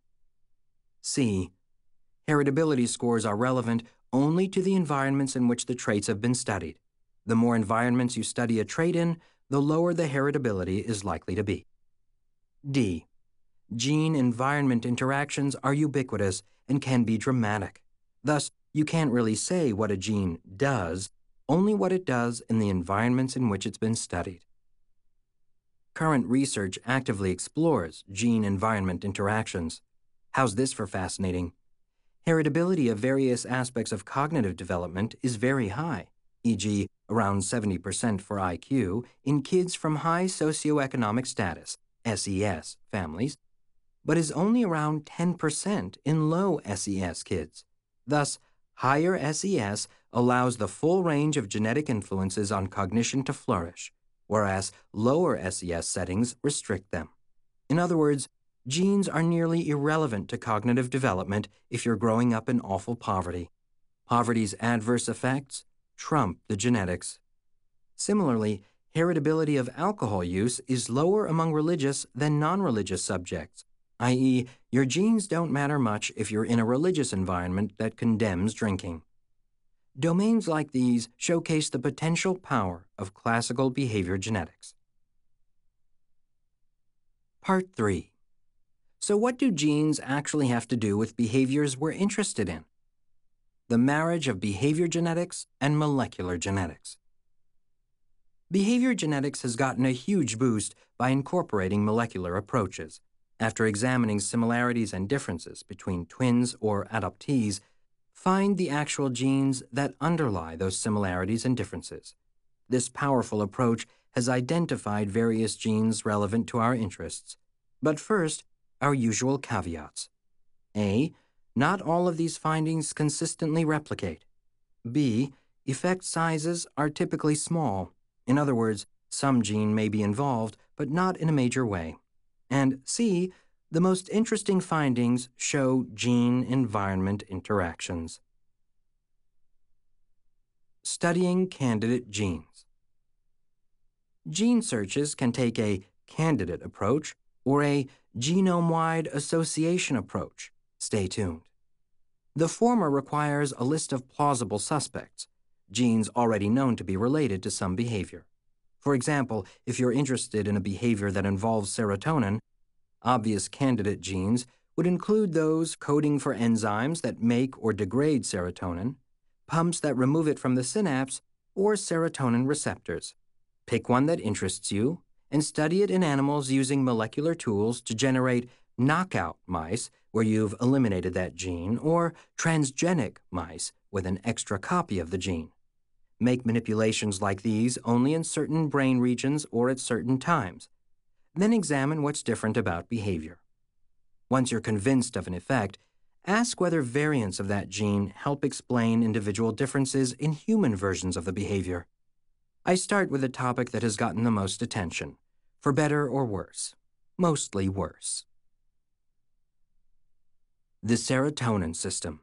C. Heritability scores are relevant only to the environments in which the traits have been studied. The more environments you study a trait in, the lower the heritability is likely to be. D. Gene-environment interactions are ubiquitous and can be dramatic. Thus, you can't really say what a gene does, only what it does in the environments in which it's been studied. Current research actively explores gene-environment interactions. How's this for fascinating? Heritability of various aspects of cognitive development is very high, for example around seventy percent for I Q in kids from high socioeconomic status, S E S, families, but is only around ten percent in low S E S kids. Thus, higher S E S allows the full range of genetic influences on cognition to flourish, whereas lower S E S settings restrict them. In other words, genes are nearly irrelevant to cognitive development if you're growing up in awful poverty. Poverty's adverse effects trump the genetics. Similarly, heritability of alcohol use is lower among religious than non-religious subjects, that is, your genes don't matter much if you're in a religious environment that condemns drinking. Domains like these showcase the potential power of classical behavior genetics. Part three. So what do genes actually have to do with behaviors we're interested in? The marriage of behavior genetics and molecular genetics. Behavior genetics has gotten a huge boost by incorporating molecular approaches. After examining similarities and differences between twins or adoptees, find the actual genes that underlie those similarities and differences. This powerful approach has identified various genes relevant to our interests. But first, our usual caveats. A. Not all of these findings consistently replicate. B. Effect sizes are typically small. In other words, some gene may be involved, but not in a major way. And C. The most interesting findings show gene-environment interactions. Studying candidate genes. Gene searches can take a candidate approach or a genome-wide association approach. Stay tuned. The former requires a list of plausible suspects, genes already known to be related to some behavior. For example, if you're interested in a behavior that involves serotonin, obvious candidate genes would include those coding for enzymes that make or degrade serotonin, pumps that remove it from the synapse, or serotonin receptors. Pick one that interests you and study it in animals using molecular tools to generate knockout mice where you've eliminated that gene, or transgenic mice with an extra copy of the gene. Make manipulations like these only in certain brain regions or at certain times. Then examine what's different about behavior. Once you're convinced of an effect, ask whether variants of that gene help explain individual differences in human versions of the behavior. I start with a topic that has gotten the most attention, for better or worse, mostly worse. The serotonin system.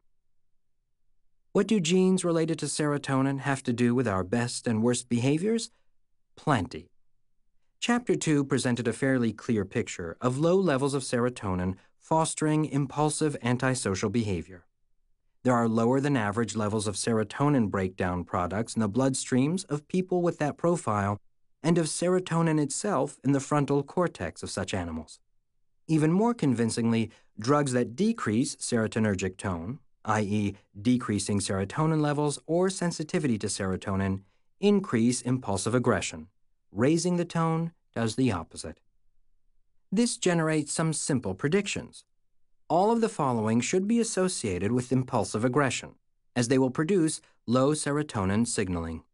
What do genes related to serotonin have to do with our best and worst behaviors? Plenty. Chapter two presented a fairly clear picture of low levels of serotonin fostering impulsive antisocial behavior. There are lower than average levels of serotonin breakdown products in the bloodstreams of people with that profile and of serotonin itself in the frontal cortex of such animals. Even more convincingly, drugs that decrease serotonergic tone, that is decreasing serotonin levels or sensitivity to serotonin, increase impulsive aggression. Raising the tone does the opposite. This generates some simple predictions. All of the following should be associated with impulsive aggression, as they will produce low serotonin signaling.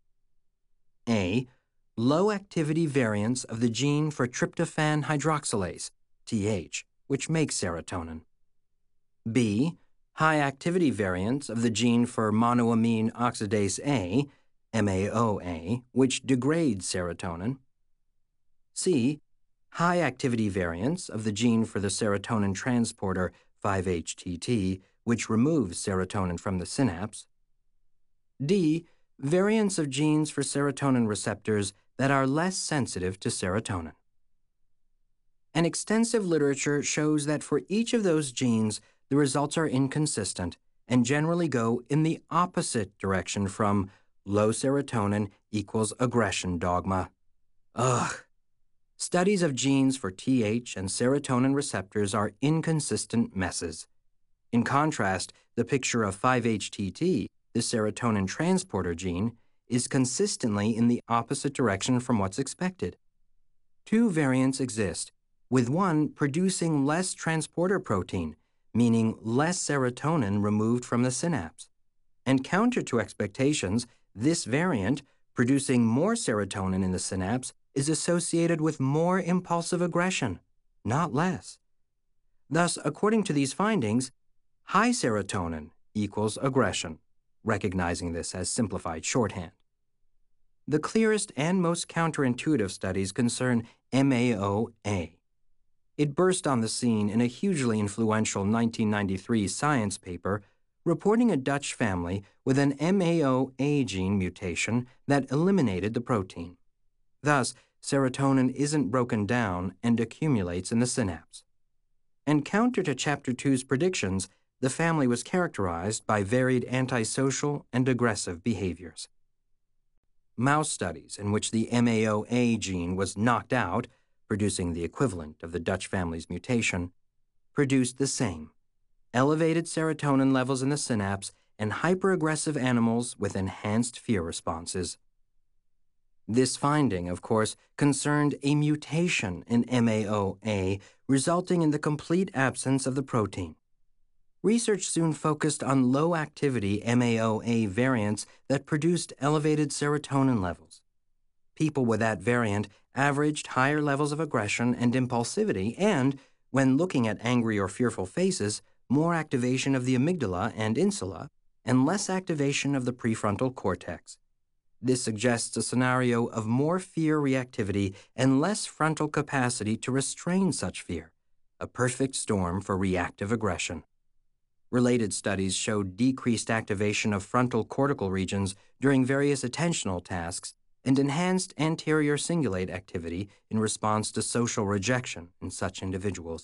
A. Low activity variants of the gene for tryptophan hydroxylase, T H, which makes serotonin. B. High activity variants of the gene for monoamine oxidase A, M A O A, which degrades serotonin. C. High activity variants of the gene for the serotonin transporter five H T T, which removes serotonin from the synapse. D. Variants of genes for serotonin receptors that are less sensitive to serotonin. An extensive literature shows that for each of those genes, the results are inconsistent and generally go in the opposite direction from low serotonin equals aggression dogma. Ugh. Studies of genes for T H and serotonin receptors are inconsistent messes. In contrast, the picture of five H T T, the serotonin transporter gene, is consistently in the opposite direction from what's expected. Two variants exist, with one producing less transporter protein, meaning less serotonin removed from the synapse. And counter to expectations, this variant, producing more serotonin in the synapse, is associated with more impulsive aggression, not less. Thus, according to these findings, high serotonin equals aggression, recognizing this as simplified shorthand. The clearest and most counterintuitive studies concern M A O A. It burst on the scene in a hugely influential nineteen ninety-three Science paper reporting a Dutch family with an M A O A gene mutation that eliminated the protein. Thus, serotonin isn't broken down and accumulates in the synapse. And counter to Chapter two's predictions, the family was characterized by varied antisocial and aggressive behaviors. Mouse studies in which the M A O A gene was knocked out, producing the equivalent of the Dutch family's mutation, produced the same: elevated serotonin levels in the synapse and hyperaggressive animals with enhanced fear responses. This finding, of course, concerned a mutation in M A O A, resulting in the complete absence of the protein. Research soon focused on low-activity M A O A variants that produced elevated serotonin levels. People with that variant averaged higher levels of aggression and impulsivity and, when looking at angry or fearful faces, more activation of the amygdala and insula, and less activation of the prefrontal cortex. This suggests a scenario of more fear reactivity and less frontal capacity to restrain such fear, a perfect storm for reactive aggression. Related studies showed decreased activation of frontal cortical regions during various attentional tasks and enhanced anterior cingulate activity in response to social rejection in such individuals.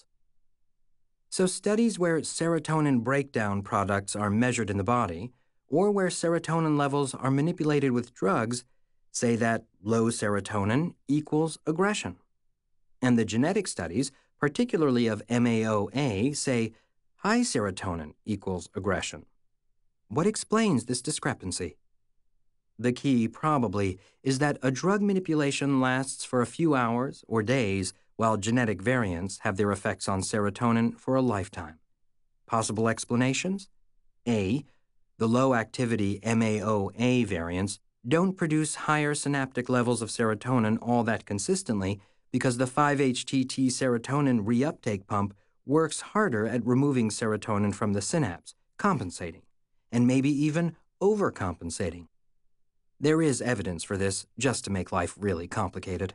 So studies where serotonin breakdown products are measured in the body, or where serotonin levels are manipulated with drugs, say that low serotonin equals aggression. And the genetic studies, particularly of M A O A, say high serotonin equals aggression. What explains this discrepancy? The key, probably, is that a drug manipulation lasts for a few hours or days, while genetic variants have their effects on serotonin for a lifetime. Possible explanations? A. The low-activity M A O A variants don't produce higher synaptic levels of serotonin all that consistently because the five H T T serotonin reuptake pump works harder at removing serotonin from the synapse, compensating, and maybe even overcompensating. There is evidence for this, just to make life really complicated.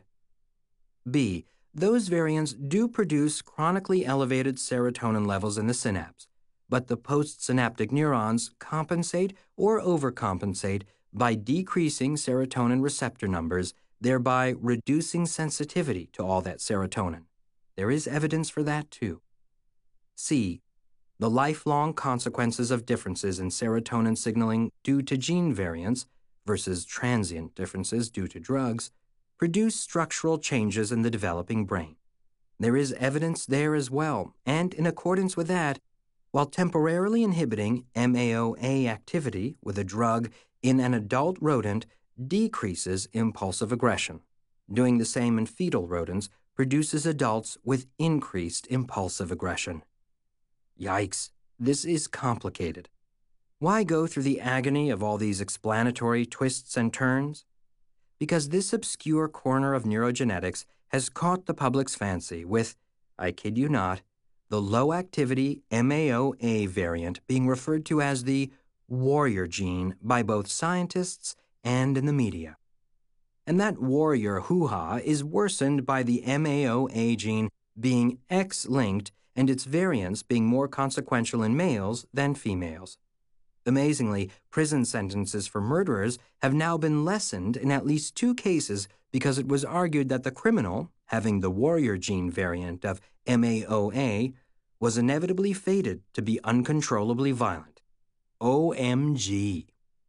B. Those variants do produce chronically elevated serotonin levels in the synapse, but the postsynaptic neurons compensate or overcompensate by decreasing serotonin receptor numbers, thereby reducing sensitivity to all that serotonin. There is evidence for that too. C. The lifelong consequences of differences in serotonin signaling due to gene variants versus transient differences due to drugs produce structural changes in the developing brain. There is evidence there as well, and in accordance with that, while temporarily inhibiting M A O A activity with a drug in an adult rodent decreases impulsive aggression. Doing the same in fetal rodents produces adults with increased impulsive aggression. Yikes, this is complicated. Why go through the agony of all these explanatory twists and turns? Because this obscure corner of neurogenetics has caught the public's fancy with, I kid you not, the low-activity M A O A variant being referred to as the warrior gene by both scientists and in the media. And that warrior hoo-ha is worsened by the M A O A gene being X-linked and its variants being more consequential in males than females. Amazingly, prison sentences for murderers have now been lessened in at least two cases because it was argued that the criminal, having the warrior gene variant of M A O A, was inevitably fated to be uncontrollably violent. O M G.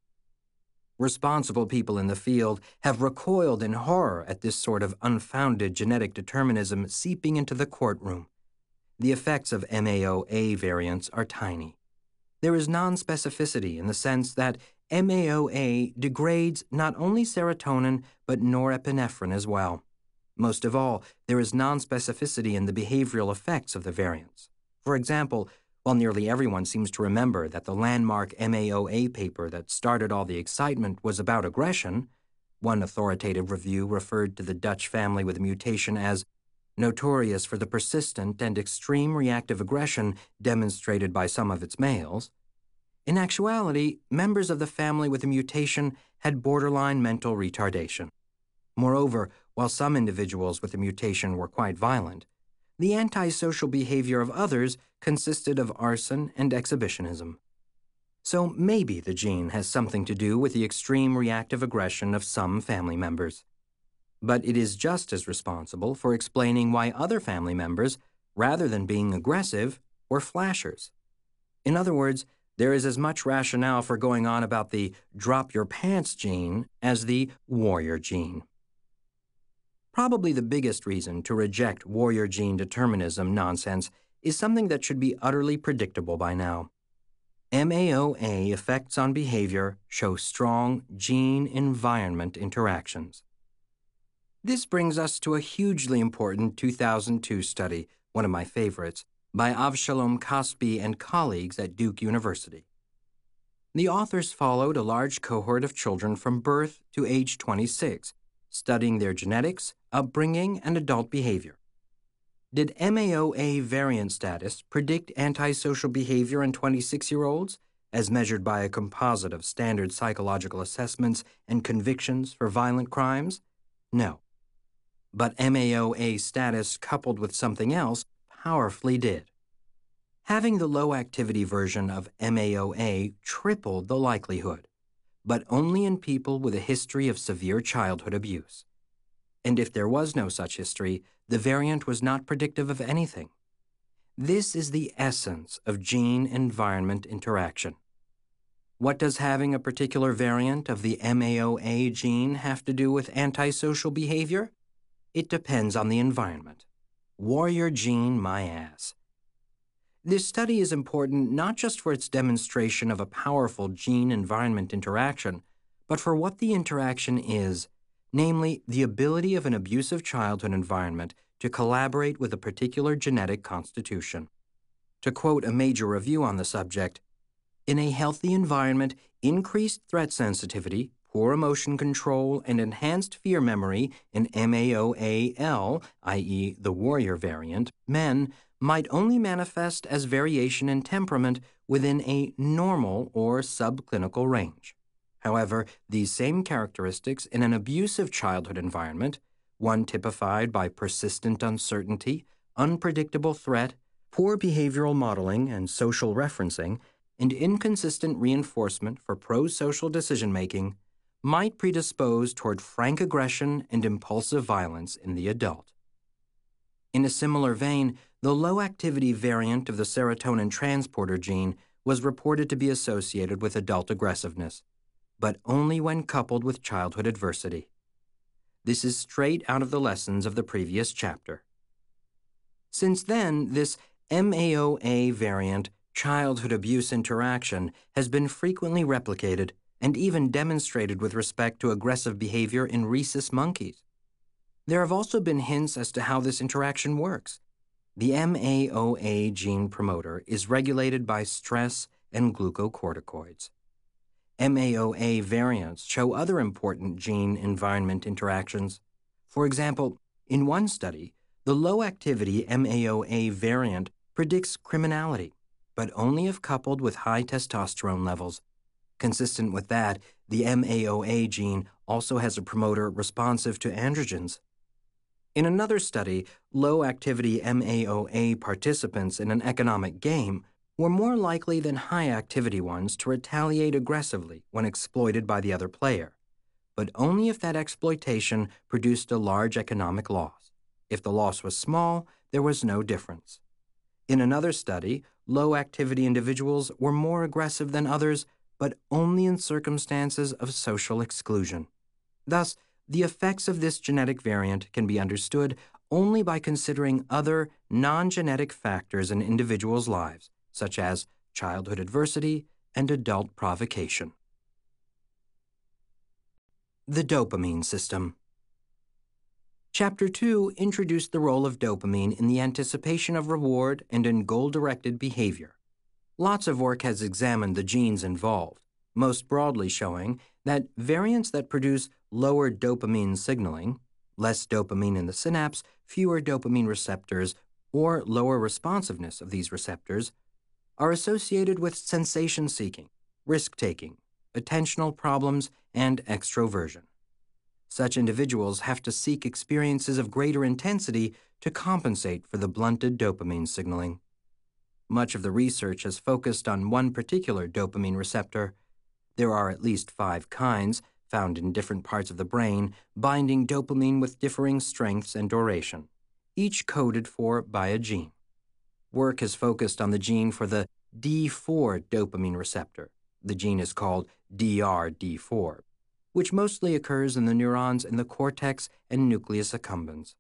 Responsible people in the field have recoiled in horror at this sort of unfounded genetic determinism seeping into the courtroom. The effects of M A O A variants are tiny. There is non-specificity in the sense that M A O A degrades not only serotonin but norepinephrine as well. Most of all, there is non-specificity in the behavioral effects of the variants. For example, while nearly everyone seems to remember that the landmark M A O A paper that started all the excitement was about aggression, one authoritative review referred to the Dutch family with a mutation as notorious for the persistent and extreme reactive aggression demonstrated by some of its males. In actuality, members of the family with a mutation had borderline mental retardation. Moreover, while some individuals with the mutation were quite violent, the antisocial behavior of others consisted of arson and exhibitionism. So maybe the gene has something to do with the extreme reactive aggression of some family members. But it is just as responsible for explaining why other family members, rather than being aggressive, were flashers. In other words, there is as much rationale for going on about the drop your pants gene as the warrior gene. Probably the biggest reason to reject warrior gene determinism nonsense is something that should be utterly predictable by now. M A O A effects on behavior show strong gene-environment interactions. This brings us to a hugely important two thousand two study, one of my favorites, by Avshalom Caspi and colleagues at Duke University. The authors followed a large cohort of children from birth to age twenty-six, studying their genetics, upbringing, and adult behavior. Did M A O A variant status predict antisocial behavior in twenty-six-year-olds, as measured by a composite of standard psychological assessments and convictions for violent crimes? No. But M A O A status coupled with something else powerfully did. Having the low-activity version of M A O A tripled the likelihood, but only in people with a history of severe childhood abuse. And if there was no such history, the variant was not predictive of anything. This is the essence of gene-environment interaction. What does having a particular variant of the M A O A gene have to do with antisocial behavior? It depends on the environment. Warrior gene, my ass. This study is important not just for its demonstration of a powerful gene-environment interaction, but for what the interaction is, namely the ability of an abusive childhood environment to collaborate with a particular genetic constitution. To quote a major review on the subject, in a healthy environment, increased threat sensitivity, poor emotion control, and enhanced fear memory in M A O A L, that is the warrior variant, men might only manifest as variation in temperament within a normal or subclinical range. However, these same characteristics in an abusive childhood environment, one typified by persistent uncertainty, unpredictable threat, poor behavioral modeling and social referencing, and inconsistent reinforcement for pro-social decision-making, might predispose toward frank aggression and impulsive violence in the adult. In a similar vein, the low-activity variant of the serotonin transporter gene was reported to be associated with adult aggressiveness, but only when coupled with childhood adversity. This is straight out of the lessons of the previous chapter. Since then, this M A O A variant childhood abuse interaction has been frequently replicated and even demonstrated with respect to aggressive behavior in rhesus monkeys. There have also been hints as to how this interaction works. The M A O A gene promoter is regulated by stress and glucocorticoids. M A O A variants show other important gene-environment interactions. For example, in one study, the low-activity M A O A variant predicts criminality, but only if coupled with high testosterone levels. Consistent with that, the M A O A gene also has a promoter responsive to androgens. In another study, low-activity M A O A participants in an economic game were more likely than high-activity ones to retaliate aggressively when exploited by the other player, but only if that exploitation produced a large economic loss. If the loss was small, there was no difference. In another study, low-activity individuals were more aggressive than others, but only in circumstances of social exclusion. Thus, the effects of this genetic variant can be understood only by considering other non-genetic factors in individuals' lives, such as childhood adversity and adult provocation. The dopamine system. Chapter two introduced the role of dopamine in the anticipation of reward and in goal-directed behavior. Lots of work has examined the genes involved, most broadly showing that variants that produce lower dopamine signaling, less dopamine in the synapse, fewer dopamine receptors, or lower responsiveness of these receptors, are associated with sensation-seeking, risk-taking, attentional problems, and extroversion. Such individuals have to seek experiences of greater intensity to compensate for the blunted dopamine signaling. Much of the research has focused on one particular dopamine receptor. There are at least five kinds, found in different parts of the brain, binding dopamine with differing strengths and duration, each coded for by a gene. Work has focused on the gene for the D four dopamine receptor. The gene is called D R D four, which mostly occurs in the neurons in the cortex and nucleus accumbens.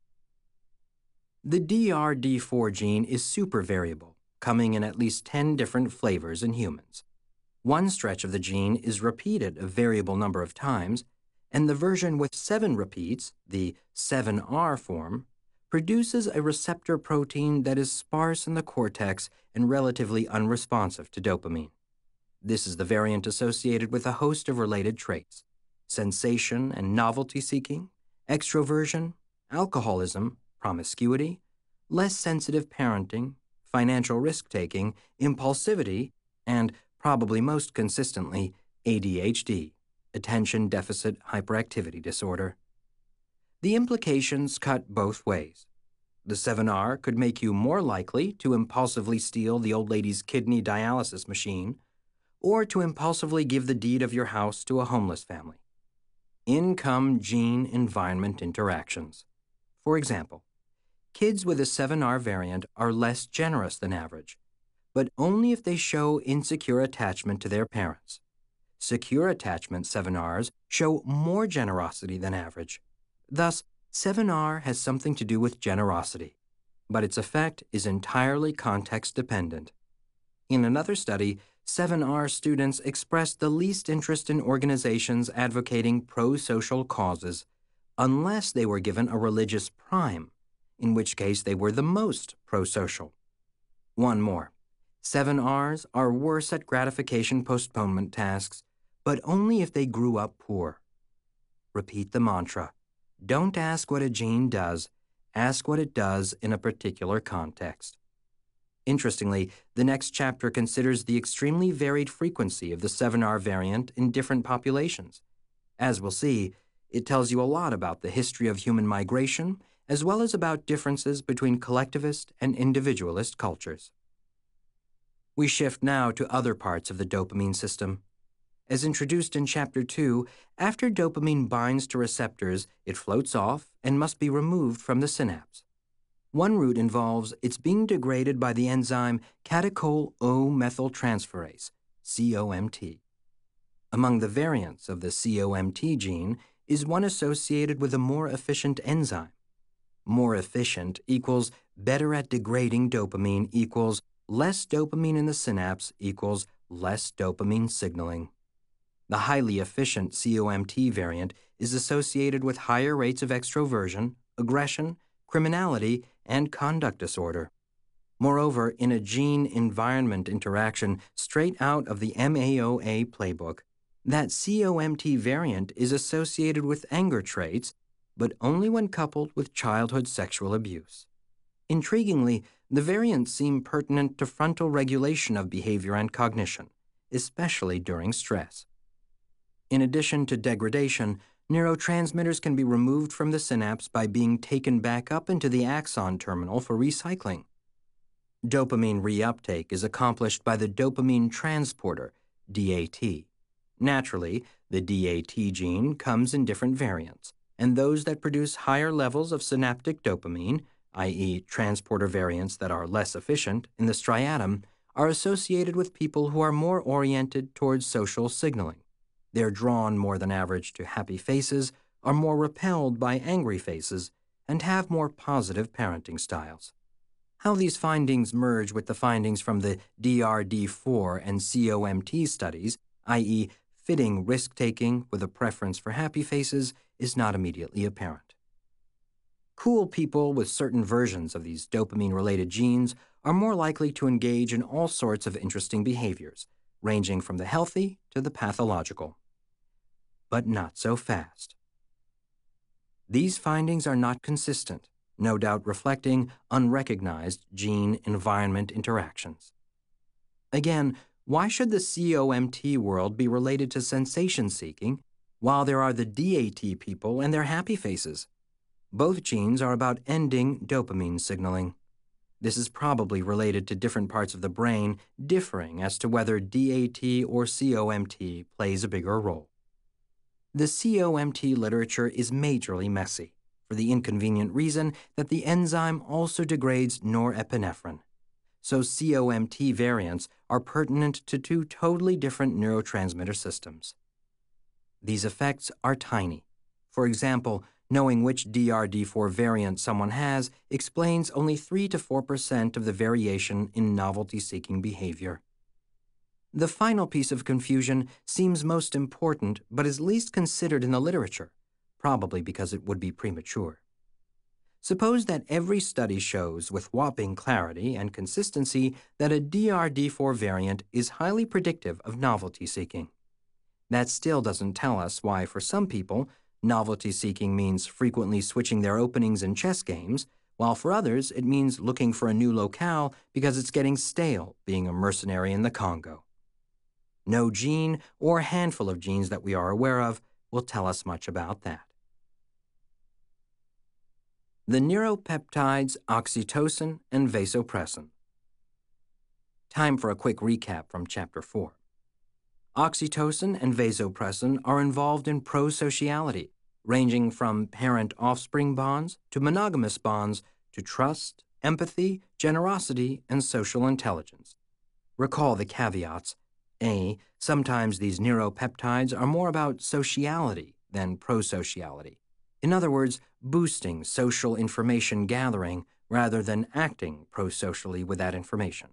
The D R D four gene is super variable, coming in at least ten different flavors in humans. One stretch of the gene is repeated a variable number of times, and the version with seven repeats, the seven R form, produces a receptor protein that is sparse in the cortex and relatively unresponsive to dopamine. This is the variant associated with a host of related traits: sensation and novelty seeking, extroversion, alcoholism, promiscuity, less sensitive parenting, financial risk-taking, impulsivity, and, probably most consistently, A D H D, attention deficit hyperactivity disorder. The implications cut both ways. The seven R could make you more likely to impulsively steal the old lady's kidney dialysis machine, or to impulsively give the deed of your house to a homeless family. In come gene-environment interactions. For example, kids with a seven R variant are less generous than average, but only if they show insecure attachment to their parents. Secure attachment seven Rs show more generosity than average. Thus, seven R has something to do with generosity, but its effect is entirely context-dependent. In another study, seven R students expressed the least interest in organizations advocating pro-social causes unless they were given a religious prime, in which case they were the most pro-social. One more. seven Rs are worse at gratification postponement tasks, but only if they grew up poor. Repeat the mantra. Don't ask what a gene does, ask what it does in a particular context. Interestingly, the next chapter considers the extremely varied frequency of the seven R variant in different populations. As we'll see, it tells you a lot about the history of human migration, as well as about differences between collectivist and individualist cultures. We shift now to other parts of the dopamine system. As introduced in Chapter two, after dopamine binds to receptors, it floats off and must be removed from the synapse. One route involves its being degraded by the enzyme catechol O methyltransferase, C O M T. Among the variants of the C O M T gene is one associated with a more efficient enzyme. More efficient equals better at degrading dopamine equals less dopamine in the synapse equals less dopamine signaling. The highly efficient C O M T variant is associated with higher rates of extroversion, aggression, criminality, and conduct disorder. Moreover, in a gene-environment interaction straight out of the M A O A playbook, that C O M T variant is associated with anger traits, but only when coupled with childhood sexual abuse. Intriguingly, the variants seem pertinent to frontal regulation of behavior and cognition, especially during stress. In addition to degradation, neurotransmitters can be removed from the synapse by being taken back up into the axon terminal for recycling. Dopamine reuptake is accomplished by the dopamine transporter, D A T. Naturally, the D A T gene comes in different variants, and those that produce higher levels of synaptic dopamine, that is transporter variants that are less efficient, in the striatum, are associated with people who are more oriented towards social signaling. They're drawn more than average to happy faces, are more repelled by angry faces, and have more positive parenting styles. How these findings merge with the findings from the D R D four and C O M T studies, that is fitting risk-taking with a preference for happy faces, is not immediately apparent. Cool people with certain versions of these dopamine-related genes are more likely to engage in all sorts of interesting behaviors, ranging from the healthy to the pathological. But not so fast. These findings are not consistent, no doubt reflecting unrecognized gene-environment interactions. Again, why should the C O M T world be related to sensation-seeking, while there are the D A T people and their happy faces? Both genes are about ending dopamine signaling. This is probably related to different parts of the brain differing as to whether D A T or C O M T plays a bigger role. The C O M T literature is majorly messy, for the inconvenient reason that the enzyme also degrades norepinephrine. So C O M T variants are pertinent to two totally different neurotransmitter systems. These effects are tiny. For example, knowing which D R D four variant someone has explains only three to four percent of the variation in novelty-seeking behavior. The final piece of confusion seems most important but is least considered in the literature, probably because it would be premature. Suppose that every study shows with whopping clarity and consistency that a D R D four variant is highly predictive of novelty-seeking. That still doesn't tell us why, for some people, novelty-seeking means frequently switching their openings in chess games, while for others it means looking for a new locale because it's getting stale being a mercenary in the Congo. No gene or handful of genes that we are aware of will tell us much about that. The neuropeptides oxytocin and vasopressin. Time for a quick recap from Chapter four. Oxytocin and vasopressin are involved in prosociality, ranging from parent-offspring bonds to monogamous bonds to trust, empathy, generosity, and social intelligence. Recall the caveats. A. Sometimes these neuropeptides are more about sociality than prosociality. In other words, boosting social information gathering rather than acting prosocially with that information.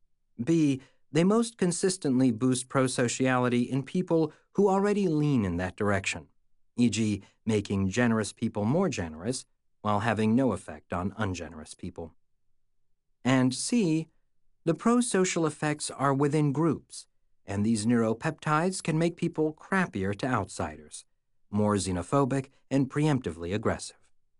B. They most consistently boost prosociality in people who already lean in that direction, for example, making generous people more generous while having no effect on ungenerous people. And C. The prosocial effects are within groups, and these neuropeptides can make people crappier to outsiders, more xenophobic and preemptively aggressive.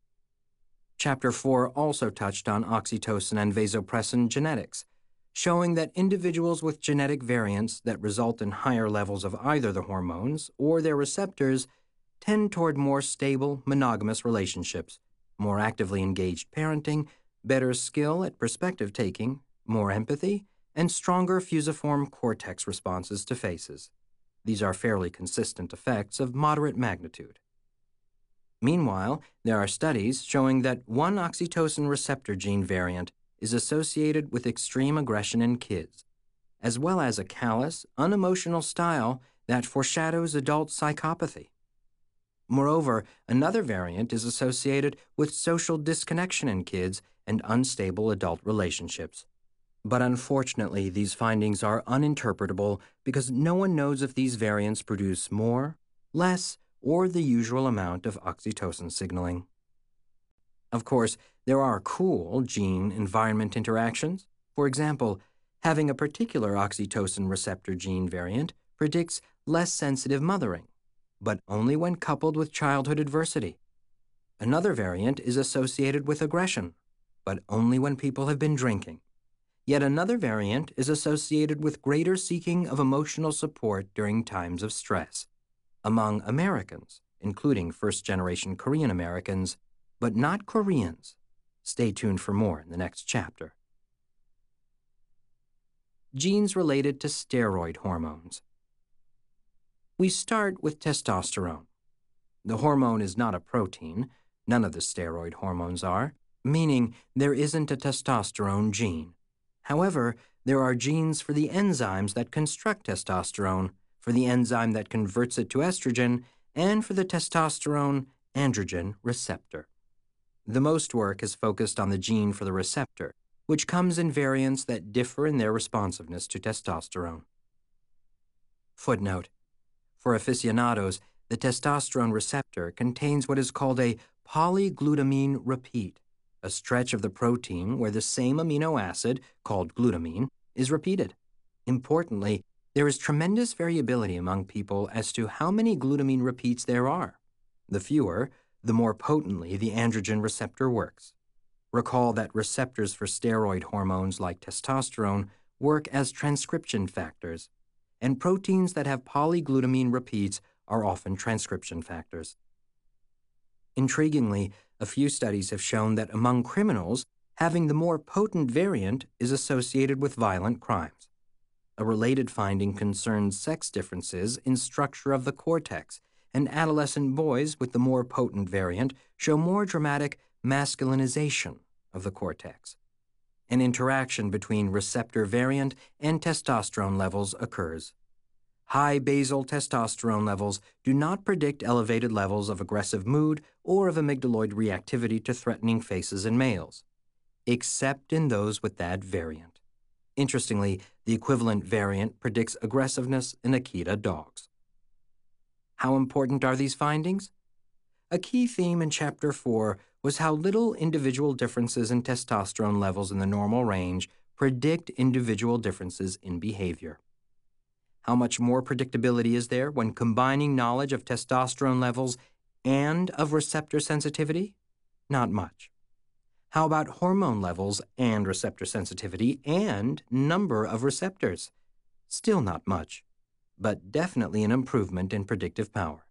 Chapter four also touched on oxytocin and vasopressin genetics, showing that individuals with genetic variants that result in higher levels of either the hormones or their receptors tend toward more stable, monogamous relationships, more actively engaged parenting, better skill at perspective taking, more empathy, and stronger fusiform cortex responses to faces. These are fairly consistent effects of moderate magnitude. Meanwhile, there are studies showing that one oxytocin receptor gene variant is associated with extreme aggression in kids, as well as a callous, unemotional style that foreshadows adult psychopathy. Moreover, another variant is associated with social disconnection in kids and unstable adult relationships. But unfortunately, these findings are uninterpretable because no one knows if these variants produce more, less, or the usual amount of oxytocin signaling. Of course, there are cool gene-environment interactions. For example, having a particular oxytocin receptor gene variant predicts less sensitive mothering, but only when coupled with childhood adversity. Another variant is associated with aggression, but only when people have been drinking. Yet another variant is associated with greater seeking of emotional support during times of stress. Among Americans, including first-generation Korean Americans, but not Koreans. Stay tuned for more in the next chapter. Genes related to steroid hormones. We start with testosterone. The hormone is not a protein. None of the steroid hormones are, meaning there isn't a testosterone gene. However, there are genes for the enzymes that construct testosterone, for the enzyme that converts it to estrogen, and for the testosterone androgen receptor. The most work is focused on the gene for the receptor, which comes in variants that differ in their responsiveness to testosterone. Footnote: for aficionados, the testosterone receptor contains what is called a polyglutamine repeat, a stretch of the protein where the same amino acid, called glutamine, is repeated. Importantly, there is tremendous variability among people as to how many glutamine repeats there are. The fewer, the more potently the androgen receptor works. Recall that receptors for steroid hormones like testosterone work as transcription factors, and proteins that have polyglutamine repeats are often transcription factors. Intriguingly, a few studies have shown that among criminals, having the more potent variant is associated with violent crimes. A related finding concerns sex differences in structure of the cortex, and adolescent boys with the more potent variant show more dramatic masculinization of the cortex. An interaction between receptor variant and testosterone levels occurs. High basal testosterone levels do not predict elevated levels of aggressive mood or of amygdaloid reactivity to threatening faces in males, except in those with that variant. Interestingly, the equivalent variant predicts aggressiveness in Akita dogs. How important are these findings? A key theme in Chapter four was how little individual differences in testosterone levels in the normal range predict individual differences in behavior. How much more predictability is there when combining knowledge of testosterone levels and of receptor sensitivity? Not much. How about hormone levels and receptor sensitivity and number of receptors? Still not much, but definitely an improvement in predictive power.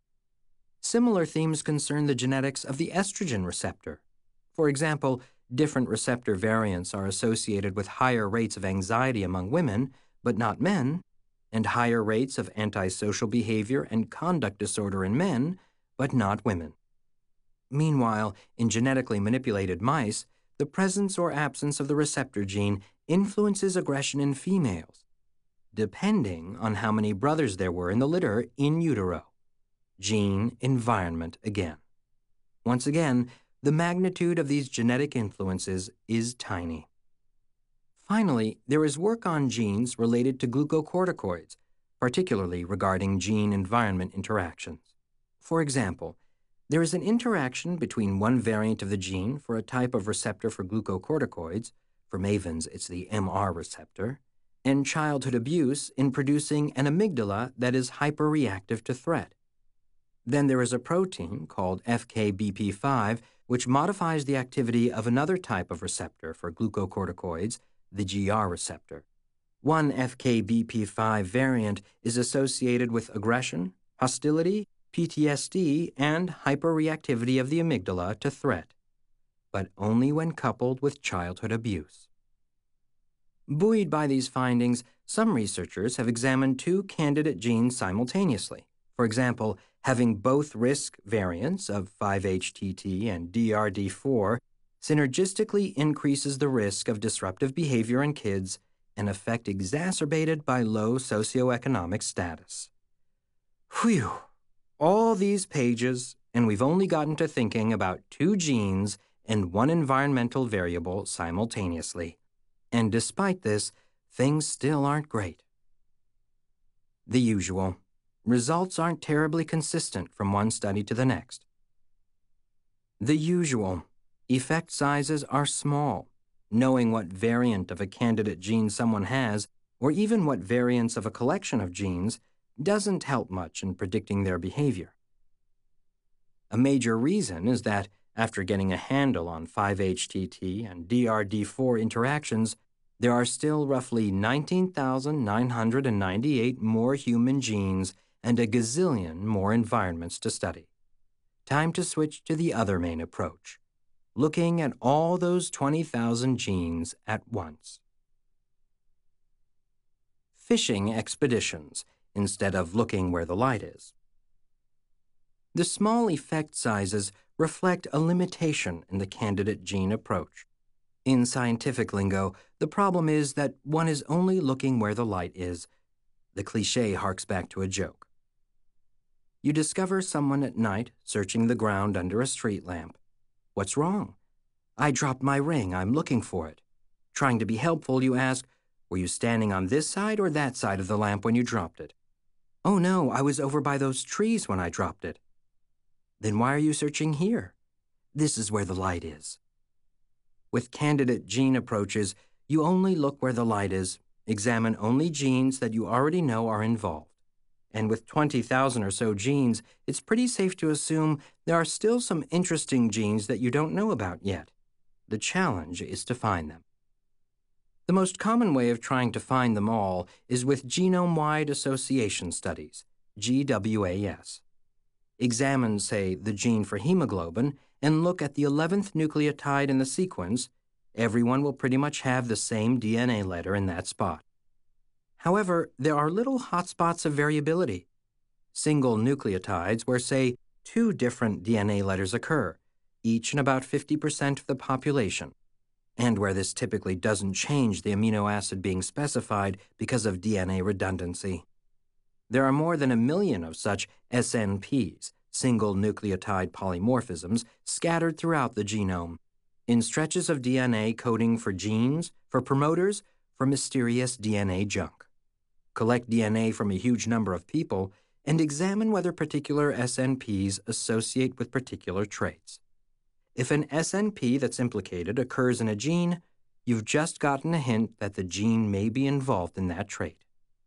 Similar themes concern the genetics of the estrogen receptor. For example, different receptor variants are associated with higher rates of anxiety among women, but not men, and higher rates of antisocial behavior and conduct disorder in men, but not women. Meanwhile, in genetically manipulated mice, the presence or absence of the receptor gene influences aggression in females, depending on how many brothers there were in the litter in utero. Gene environment again. Once again, the magnitude of these genetic influences is tiny. Finally, there is work on genes related to glucocorticoids, particularly regarding gene-environment interactions. For example, there is an interaction between one variant of the gene for a type of receptor for glucocorticoids, for mavens it's the M R receptor, and childhood abuse in producing an amygdala that is hyperreactive to threat. Then there is a protein called F K B P five which modifies the activity of another type of receptor for glucocorticoids, the G R receptor. One F K B P five variant is associated with aggression, hostility, P T S D, and hyperreactivity of the amygdala to threat, but only when coupled with childhood abuse. Buoyed by these findings, some researchers have examined two candidate genes simultaneously. For example, having both risk variants of five H T T and D R D four synergistically increases the risk of disruptive behavior in kids, an effect exacerbated by low socioeconomic status. Whew! All these pages, and we've only gotten to thinking about two genes and one environmental variable simultaneously. And despite this, things still aren't great. The usual. Results aren't terribly consistent from one study to the next. The usual. Effect sizes are small. Knowing what variant of a candidate gene someone has, or even what variants of a collection of genes, doesn't help much in predicting their behavior. A major reason is that, after getting a handle on five H T T and D R D four interactions, there are still roughly nineteen thousand nine hundred ninety-eight more human genes and a gazillion more environments to study. Time to switch to the other main approach, looking at all those twenty thousand genes at once. Fishing expeditions, instead of looking where the light is. The small effect sizes reflect a limitation in the candidate gene approach. In scientific lingo, the problem is that one is only looking where the light is. The cliché harks back to a joke. You discover someone at night searching the ground under a street lamp. What's wrong? I dropped my ring, I'm looking for it. Trying to be helpful, you ask, were you standing on this side or that side of the lamp when you dropped it? Oh no, I was over by those trees when I dropped it. Then why are you searching here? This is where the light is. With candidate gene approaches, you only look where the light is, examine only genes that you already know are involved. And with twenty thousand or so genes, it's pretty safe to assume there are still some interesting genes that you don't know about yet. The challenge is to find them. The most common way of trying to find them all is with genome-wide association studies, G W A S. Examine, say, the gene for hemoglobin and look at the eleventh nucleotide in the sequence. Everyone will pretty much have the same D N A letter in that spot. However, there are little hotspots of variability. Single nucleotides where, say, two different D N A letters occur, each in about fifty percent of the population. and where this typically doesn't change the amino acid being specified because of D N A redundancy. There are more than a million of such S N Ps, single nucleotide polymorphisms, scattered throughout the genome, in stretches of D N A coding for genes, for promoters, for mysterious D N A junk. Collect D N A from a huge number of people and examine whether particular S N Ps associate with particular traits. If an S N P that's implicated occurs in a gene, you've just gotten a hint that the gene may be involved in that trait.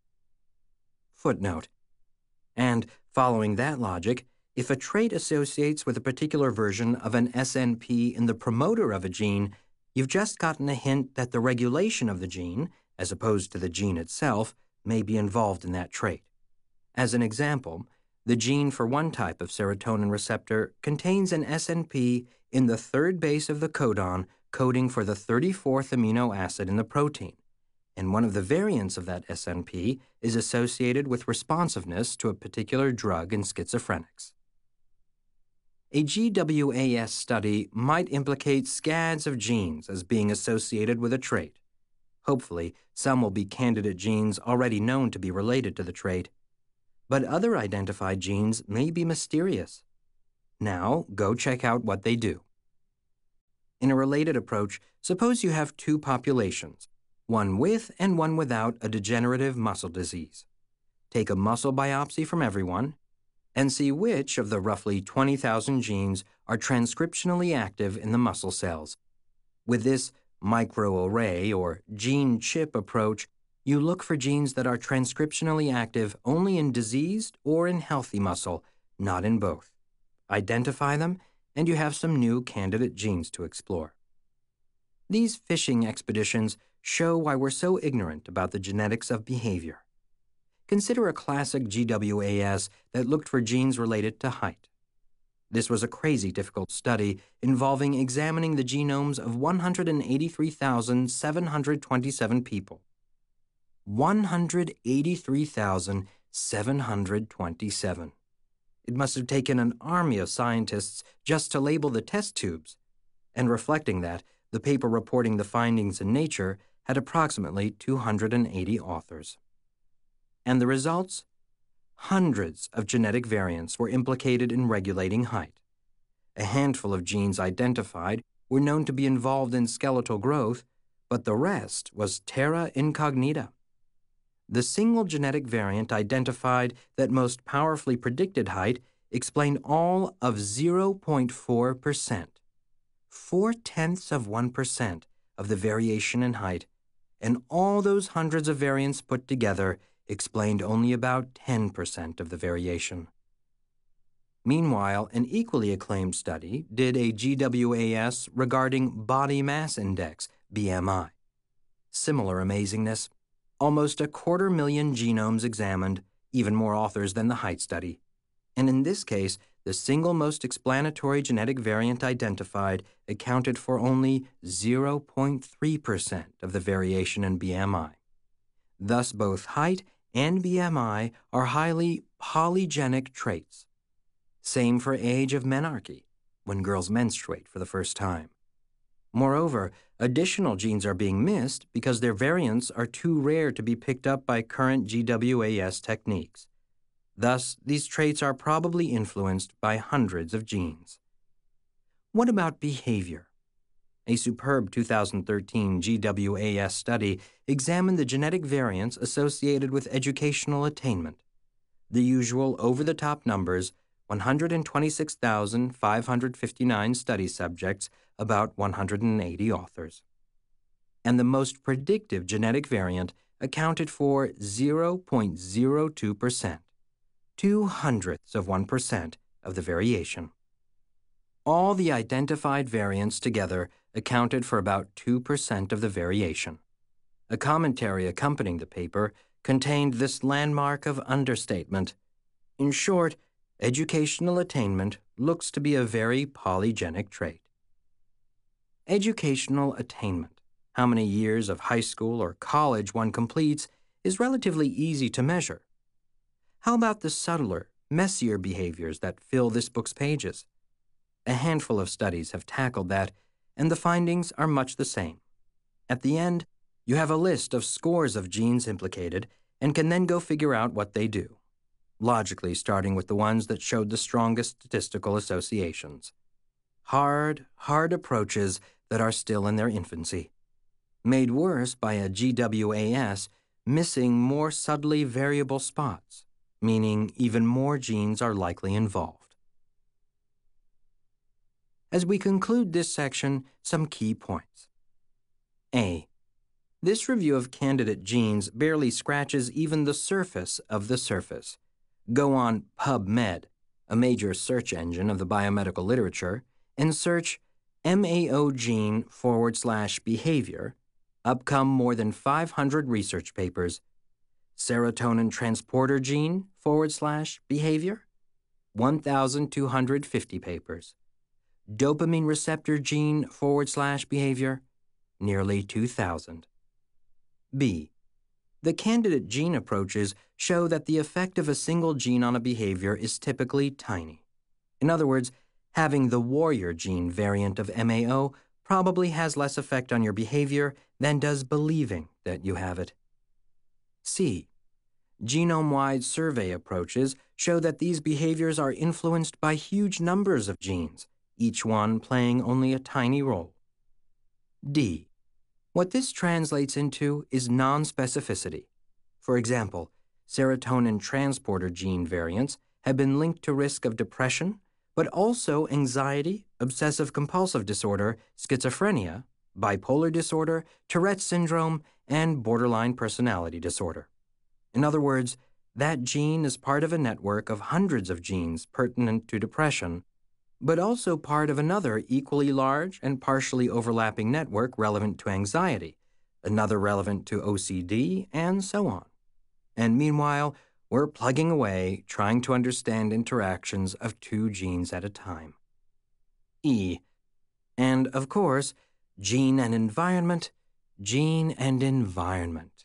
Footnote. And, following that logic, if a trait associates with a particular version of an S N P in the promoter of a gene, you've just gotten a hint that the regulation of the gene, as opposed to the gene itself, may be involved in that trait. As an example, the gene for one type of serotonin receptor contains an S N P in the third base of the codon coding for the thirty-fourth amino acid in the protein, and one of the variants of that S N P is associated with responsiveness to a particular drug in schizophrenics. A G W A S study might implicate scads of genes as being associated with a trait. Hopefully, some will be candidate genes already known to be related to the trait. But other identified genes may be mysterious. Now, go check out what they do. In a related approach, suppose you have two populations, one with and one without a degenerative muscle disease. Take a muscle biopsy from everyone and see which of the roughly twenty thousand genes are transcriptionally active in the muscle cells. With this microarray or gene chip approach, you look for genes that are transcriptionally active only in diseased or in healthy muscle, not in both. Identify them, and you have some new candidate genes to explore. These fishing expeditions show why we're so ignorant about the genetics of behavior. Consider a classic G W A S that looked for genes related to height. This was a crazy difficult study involving examining the genomes of one hundred eighty-three thousand seven hundred twenty-seven people. one hundred eighty-three thousand seven hundred twenty-seven. It must have taken an army of scientists just to label the test tubes. And reflecting that, the paper reporting the findings in Nature had approximately two hundred eighty authors. And the results? Hundreds of genetic variants were implicated in regulating height. A handful of genes identified were known to be involved in skeletal growth, but the rest was terra incognita. The single genetic variant identified that most powerfully predicted height explained all of zero point four percent. Four-tenths of one percent of the variation in height, and all those hundreds of variants put together explained only about ten percent of the variation. Meanwhile, an equally acclaimed study did a G W A S regarding body mass index, B M I. Similar amazingness. Almost a quarter million genomes examined, even more authors than the height study. And in this case, the single most explanatory genetic variant identified accounted for only zero point three percent of the variation in B M I. Thus, both height and B M I are highly polygenic traits. Same for age of menarche, when girls menstruate for the first time. Moreover, additional genes are being missed because their variants are too rare to be picked up by current G W A S techniques. Thus, these traits are probably influenced by hundreds of genes. What about behavior? A superb two thousand thirteen G W A S study examined the genetic variants associated with educational attainment. The usual over-the-top numbers, one hundred twenty-six thousand five hundred fifty-nine study subjects, about one hundred eighty authors. And the most predictive genetic variant accounted for zero point zero two percent, two hundredths of one percent of the variation. All the identified variants together accounted for about two percent of the variation. A commentary accompanying the paper contained this landmark of understatement. In short, educational attainment looks to be a very polygenic trait. Educational attainment, how many years of high school or college one completes, is relatively easy to measure. How about the subtler, messier behaviors that fill this book's pages? A handful of studies have tackled that, and the findings are much the same. At the end, you have a list of scores of genes implicated and can then go figure out what they do, logically starting with the ones that showed the strongest statistical associations. Hard, hard approaches that are still in their infancy, made worse by a G W A S missing more subtly variable spots, meaning even more genes are likely involved. As we conclude this section, some key points. A. This review of candidate genes barely scratches even the surface of the surface. Go on PubMed, a major search engine of the biomedical literature, and search M A O gene forward slash behavior. Up come more than five hundred research papers. Serotonin transporter gene forward slash behavior, one thousand two hundred fifty papers. Dopamine receptor gene forward slash behavior, nearly two thousand. B. The candidate gene approaches show that the effect of a single gene on a behavior is typically tiny. In other words, having the warrior gene variant of M A O probably has less effect on your behavior than does believing that you have it. C. Genome-wide survey approaches show that these behaviors are influenced by huge numbers of genes, each one playing only a tiny role. D. What this translates into is non-specificity. For example, serotonin transporter gene variants have been linked to risk of depression, but also anxiety, obsessive-compulsive disorder, schizophrenia, bipolar disorder, Tourette's syndrome, and borderline personality disorder. In other words, that gene is part of a network of hundreds of genes pertinent to depression, but also part of another equally large and partially overlapping network relevant to anxiety, another relevant to O C D, and so on. And meanwhile, we're plugging away trying to understand interactions of two genes at a time. E. And, of course, gene and environment, gene and environment.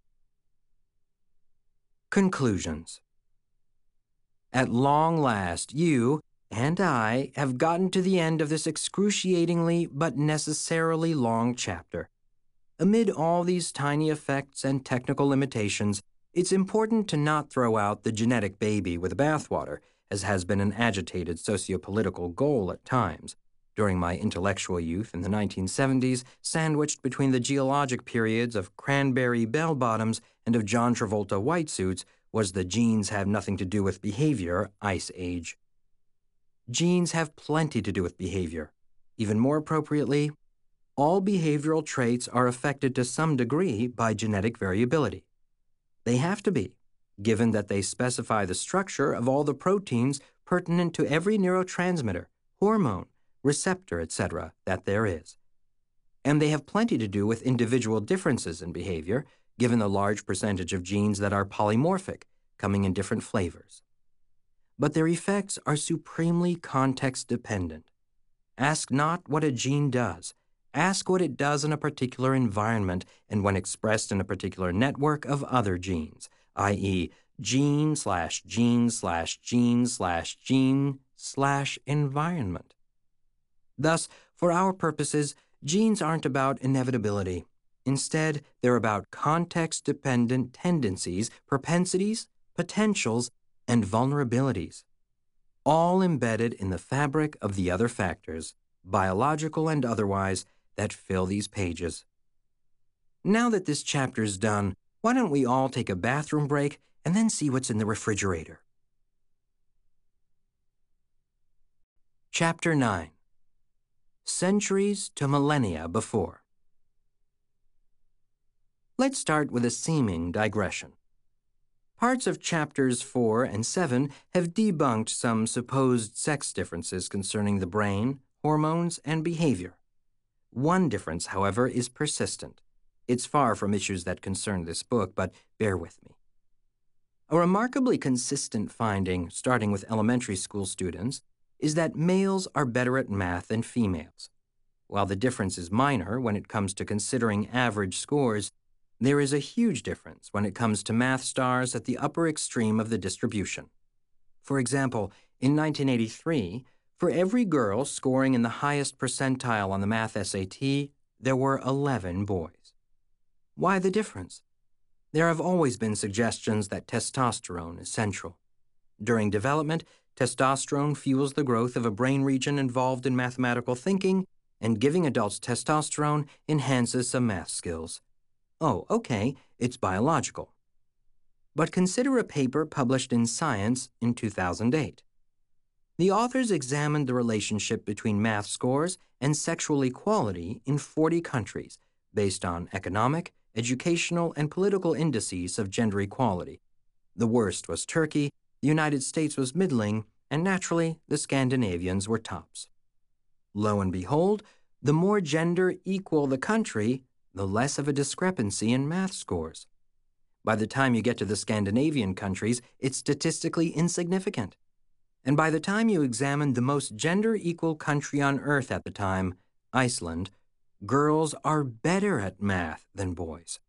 Conclusions. At long last, you and I have gotten to the end of this excruciatingly but necessarily long chapter. Amid all these tiny effects and technical limitations, it's important to not throw out the genetic baby with the bathwater, as has been an agitated sociopolitical goal at times. During my intellectual youth in the nineteen seventies, sandwiched between the geologic periods of cranberry bell-bottoms and of John Travolta white suits, was the genes have nothing to do with behavior ice age. Genes have plenty to do with behavior. Even more appropriately, all behavioral traits are affected to some degree by genetic variability. They have to be, given that they specify the structure of all the proteins pertinent to every neurotransmitter, hormone, receptor, et cetera that there is. And they have plenty to do with individual differences in behavior, given the large percentage of genes that are polymorphic, coming in different flavors. But their effects are supremely context-dependent. Ask not what a gene does. Ask what it does in a particular environment and when expressed in a particular network of other genes, that is, gene slash gene slash gene slash gene slash environment. Thus, for our purposes, genes aren't about inevitability. Instead, they're about context-dependent tendencies, propensities, potentials, and vulnerabilities, all embedded in the fabric of the other factors, biological and otherwise, that fill these pages. Now that this chapter's done, why don't we all take a bathroom break and then see what's in the refrigerator? Chapter nine. Centuries to millennia before. Let's start with a seeming digression. Parts of chapters four and seven have debunked some supposed sex differences concerning the brain, hormones, and behavior. One difference, however, is persistent. It's far from issues that concern this book, but bear with me. A remarkably consistent finding, starting with elementary school students, is that males are better at math than females. While the difference is minor when it comes to considering average scores, there is a huge difference when it comes to math stars at the upper extreme of the distribution. For example, in nineteen eighty-three, For every girl scoring in the highest percentile on the math S A T, there were eleven boys. Why the difference? There have always been suggestions that testosterone is central. During development, testosterone fuels the growth of a brain region involved in mathematical thinking, and giving adults testosterone enhances some math skills. Oh, okay, it's biological. But consider a paper published in Science in two thousand eight. The authors examined the relationship between math scores and sexual equality in forty countries based on economic, educational, and political indices of gender equality. The worst was Turkey, the United States was middling, and naturally, the Scandinavians were tops. Lo and behold, the more gender equal the country, the less of a discrepancy in math scores. By the time you get to the Scandinavian countries, it's statistically insignificant. And by the time you examine the most gender-equal country on Earth at the time, Iceland, girls are better at math than boys.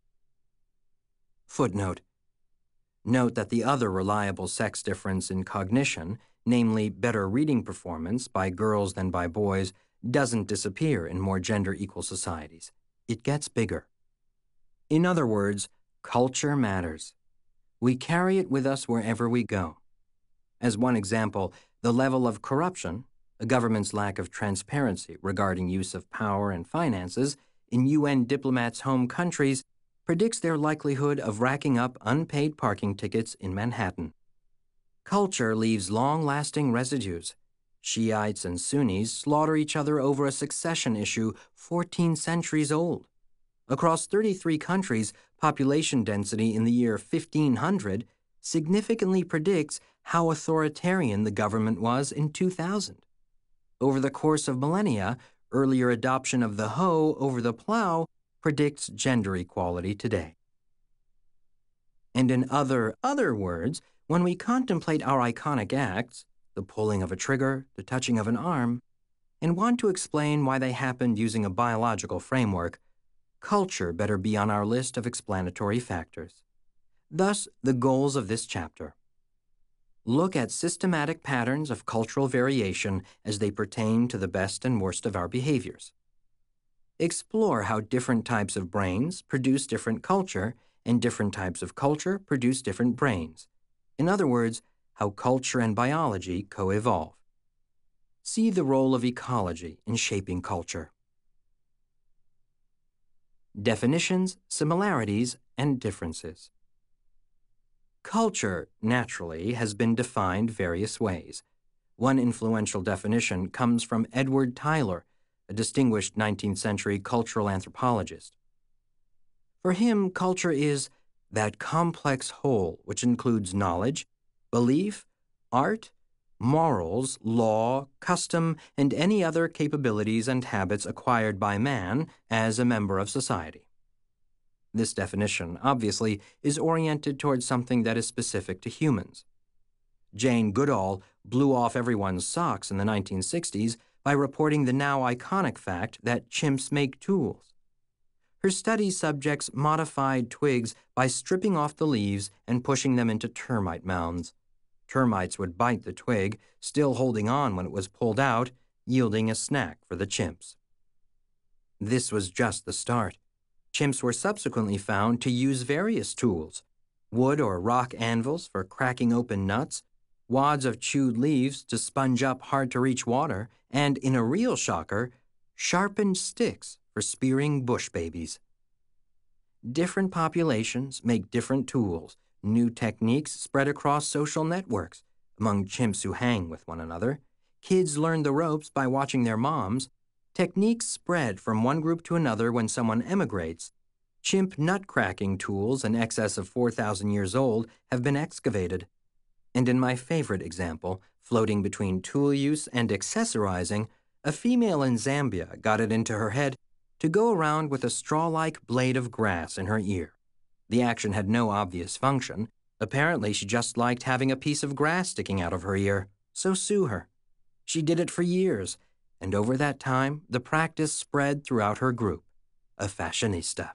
Footnote. Note that the other reliable sex difference in cognition, namely better reading performance by girls than by boys, doesn't disappear in more gender-equal societies. It gets bigger. In other words, culture matters. We carry it with us wherever we go. As one example, the level of corruption, a government's lack of transparency regarding use of power and finances in U N diplomats' home countries predicts their likelihood of racking up unpaid parking tickets in Manhattan. Culture leaves long-lasting residues. Shiites and Sunnis slaughter each other over a succession issue fourteen centuries old. Across thirty-three countries, population density in the year fifteen hundred significantly predicts how authoritarian the government was in two thousand. Over the course of millennia, earlier adoption of the hoe over the plow predicts gender equality today. And in other, other words, when we contemplate our iconic acts, the pulling of a trigger, the touching of an arm, and want to explain why they happened using a biological framework, culture better be on our list of explanatory factors. Thus, the goals of this chapter. Look at systematic patterns of cultural variation as they pertain to the best and worst of our behaviors. Explore how different types of brains produce different culture, and different types of culture produce different brains. In other words, how culture and biology co-evolve. See the role of ecology in shaping culture. Definitions, similarities, and differences. Culture, naturally, has been defined various ways. One influential definition comes from Edward Tyler, a distinguished nineteenth century cultural anthropologist. For him, culture is that complex whole which includes knowledge, belief, art, morals, law, custom, and any other capabilities and habits acquired by man as a member of society. This definition, obviously, is oriented towards something that is specific to humans. Jane Goodall blew off everyone's socks in the nineteen sixties by reporting the now iconic fact that chimps make tools. Her study subjects modified twigs by stripping off the leaves and pushing them into termite mounds. Termites would bite the twig, still holding on when it was pulled out, yielding a snack for the chimps. This was just the start. Chimps were subsequently found to use various tools: wood or rock anvils for cracking open nuts, wads of chewed leaves to sponge up hard-to-reach water, and, in a real shocker, sharpened sticks for spearing bush babies. Different populations make different tools. New techniques spread across social networks. Among chimps who hang with one another, kids learn the ropes by watching their moms. Techniques spread from one group to another when someone emigrates. Chimp nut-cracking tools in excess of four thousand years old have been excavated. And in my favorite example, floating between tool use and accessorizing, a female in Zambia got it into her head to go around with a straw-like blade of grass in her ear. The action had no obvious function. Apparently, she just liked having a piece of grass sticking out of her ear, so sue her. She did it for years, and over that time, the practice spread throughout her group, a fashionista.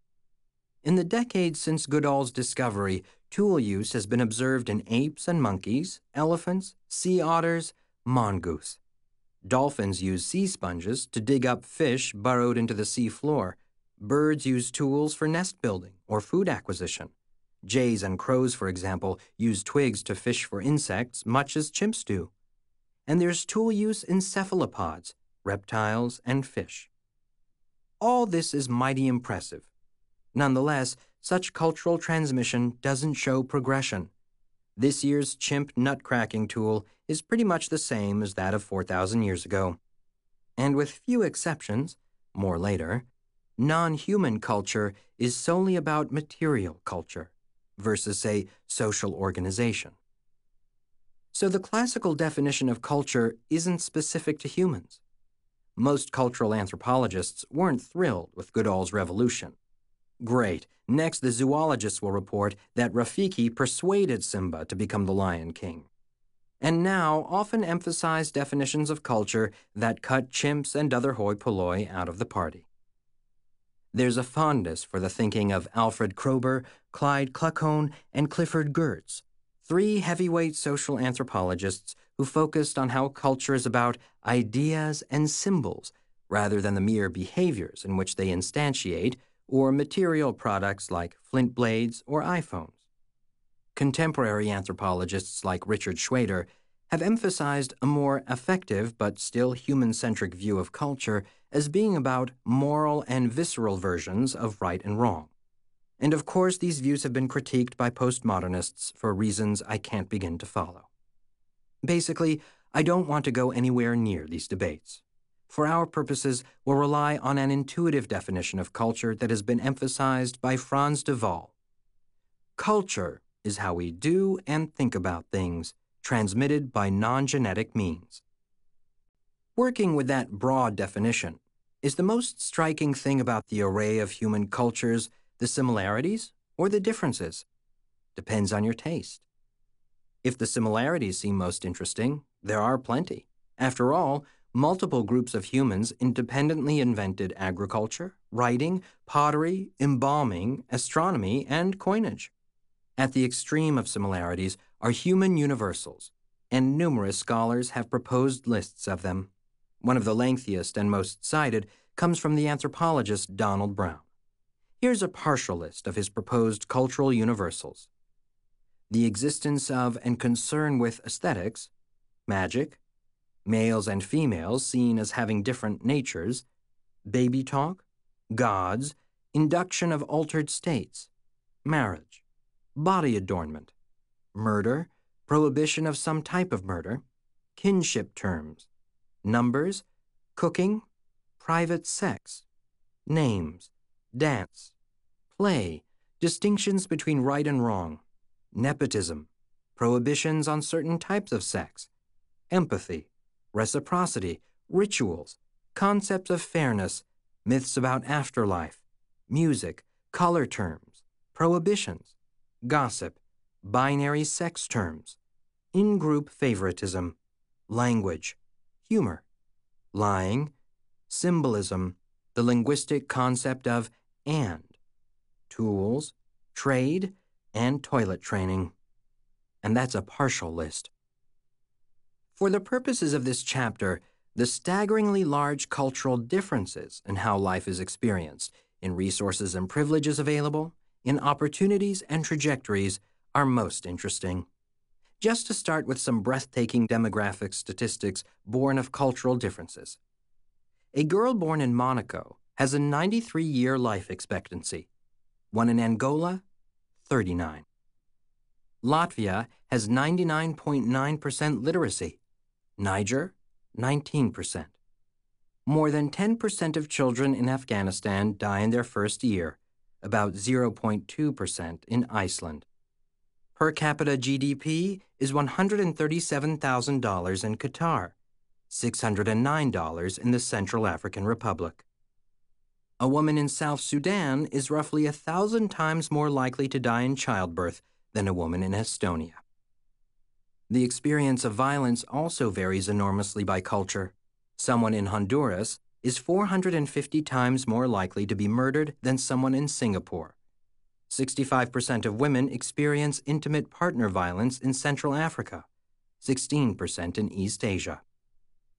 In the decades since Goodall's discovery, tool use has been observed in apes and monkeys, elephants, sea otters, mongoose. Dolphins use sea sponges to dig up fish burrowed into the sea floor. Birds use tools for nest building or food acquisition. Jays and crows, for example, use twigs to fish for insects, much as chimps do. And there's tool use in cephalopods, reptiles, and fish. All this is mighty impressive. Nonetheless, such cultural transmission doesn't show progression. This year's chimp nut-cracking tool is pretty much the same as that of four thousand years ago. And with few exceptions, more later, non-human culture is solely about material culture versus, say, social organization. So the classical definition of culture isn't specific to humans. Most cultural anthropologists weren't thrilled with Goodall's revolution. Great. Next, the zoologists will report that Rafiki persuaded Simba to become the Lion King. And now often emphasize definitions of culture that cut chimps and other hoi polloi out of the party. There's a fondness for the thinking of Alfred Kroeber, Clyde Kluckhohn, and Clifford Geertz, three heavyweight social anthropologists who focused on how culture is about ideas and symbols rather than the mere behaviors in which they instantiate or material products like flint blades or iPhones. Contemporary anthropologists like Richard Schwader have emphasized a more effective but still human-centric view of culture as being about moral and visceral versions of right and wrong. And of course, these views have been critiqued by postmodernists for reasons I can't begin to follow. Basically, I don't want to go anywhere near these debates. For our purposes, we'll rely on an intuitive definition of culture that has been emphasized by Frans de Waal. Culture is how we do and think about things, transmitted by non-genetic means. Working with that broad definition, is the most striking thing about the array of human cultures the similarities or the differences? Depends on your taste. If the similarities seem most interesting, there are plenty. After all, multiple groups of humans independently invented agriculture, writing, pottery, embalming, astronomy, and coinage. At the extreme of similarities are human universals, and numerous scholars have proposed lists of them. One of the lengthiest and most cited comes from the anthropologist Donald Brown. Here's a partial list of his proposed cultural universals. The existence of and concern with aesthetics, magic, males and females seen as having different natures, baby talk, gods, induction of altered states, marriage, body adornment, murder, prohibition of some type of murder, kinship terms, numbers, cooking, private sex, names, dance, play, distinctions between right and wrong, nepotism, prohibitions on certain types of sex, empathy, reciprocity, rituals, concepts of fairness, myths about afterlife, music, color terms, prohibitions, gossip, binary sex terms, in-group favoritism, language, humor, lying, symbolism, the linguistic concept of and, tools, trade, and toilet training. And that's a partial list. For the purposes of this chapter, the staggeringly large cultural differences in how life is experienced, in resources and privileges available, in opportunities and trajectories, are most interesting. Just to start with some breathtaking demographic statistics born of cultural differences. A girl born in Monaco has a ninety-three year life expectancy. One in Angola, thirty-nine. Latvia has ninety-nine point nine percent literacy. Niger, nineteen percent. More than ten percent of children in Afghanistan die in their first year, about zero point two percent in Iceland. Per capita G D P is one hundred thirty-seven thousand dollars in Qatar, six hundred nine dollars in the Central African Republic. A woman in South Sudan is roughly a thousand times more likely to die in childbirth than a woman in Estonia. The experience of violence also varies enormously by culture. Someone in Honduras is four hundred fifty times more likely to be murdered than someone in Singapore. sixty-five percent of women experience intimate partner violence in Central Africa, sixteen percent in East Asia.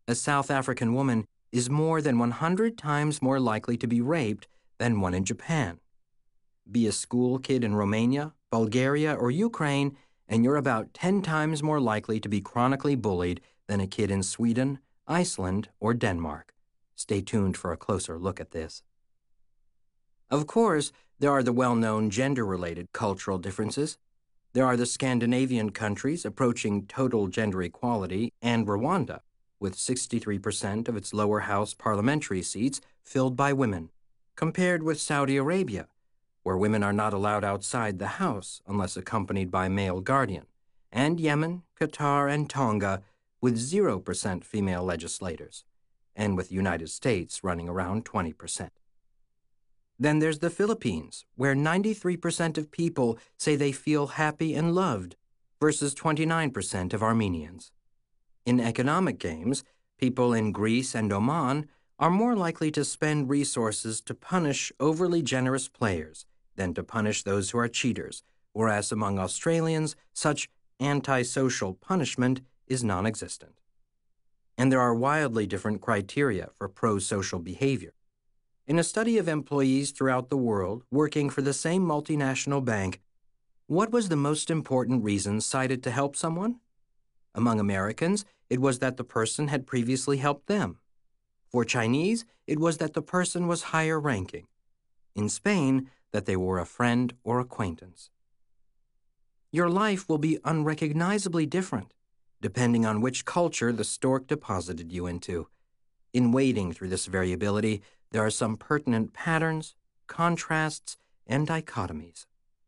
A South African woman is more than one hundred times more likely to be raped than one in Japan. Be a school kid in Romania, Bulgaria, or Ukraine, and you're about ten times more likely to be chronically bullied than a kid in Sweden, Iceland, or Denmark. Stay tuned for a closer look at this. Of course, there are the well-known gender-related cultural differences. There are the Scandinavian countries approaching total gender equality and Rwanda, with sixty-three percent of its lower house parliamentary seats filled by women, compared with Saudi Arabia, where women are not allowed outside the house unless accompanied by male guardian, and Yemen, Qatar, and Tonga, with zero percent female legislators, and with the United States running around twenty percent. Then there's the Philippines, where ninety-three percent of people say they feel happy and loved, versus twenty-nine percent of Armenians. In economic games, people in Greece and Oman are more likely to spend resources to punish overly generous players than to punish those who are cheaters, whereas among Australians, such antisocial punishment is non-existent. And there are wildly different criteria for pro-social behavior. In a study of employees throughout the world working for the same multinational bank, what was the most important reason cited to help someone? Among Americans, it was that the person had previously helped them. For Chinese, it was that the person was higher ranking. In Spain, that they were a friend or acquaintance. Your life will be unrecognizably different, depending on which culture the stork deposited you into. In wading through this variability, there are some pertinent patterns, contrasts, and dichotomies.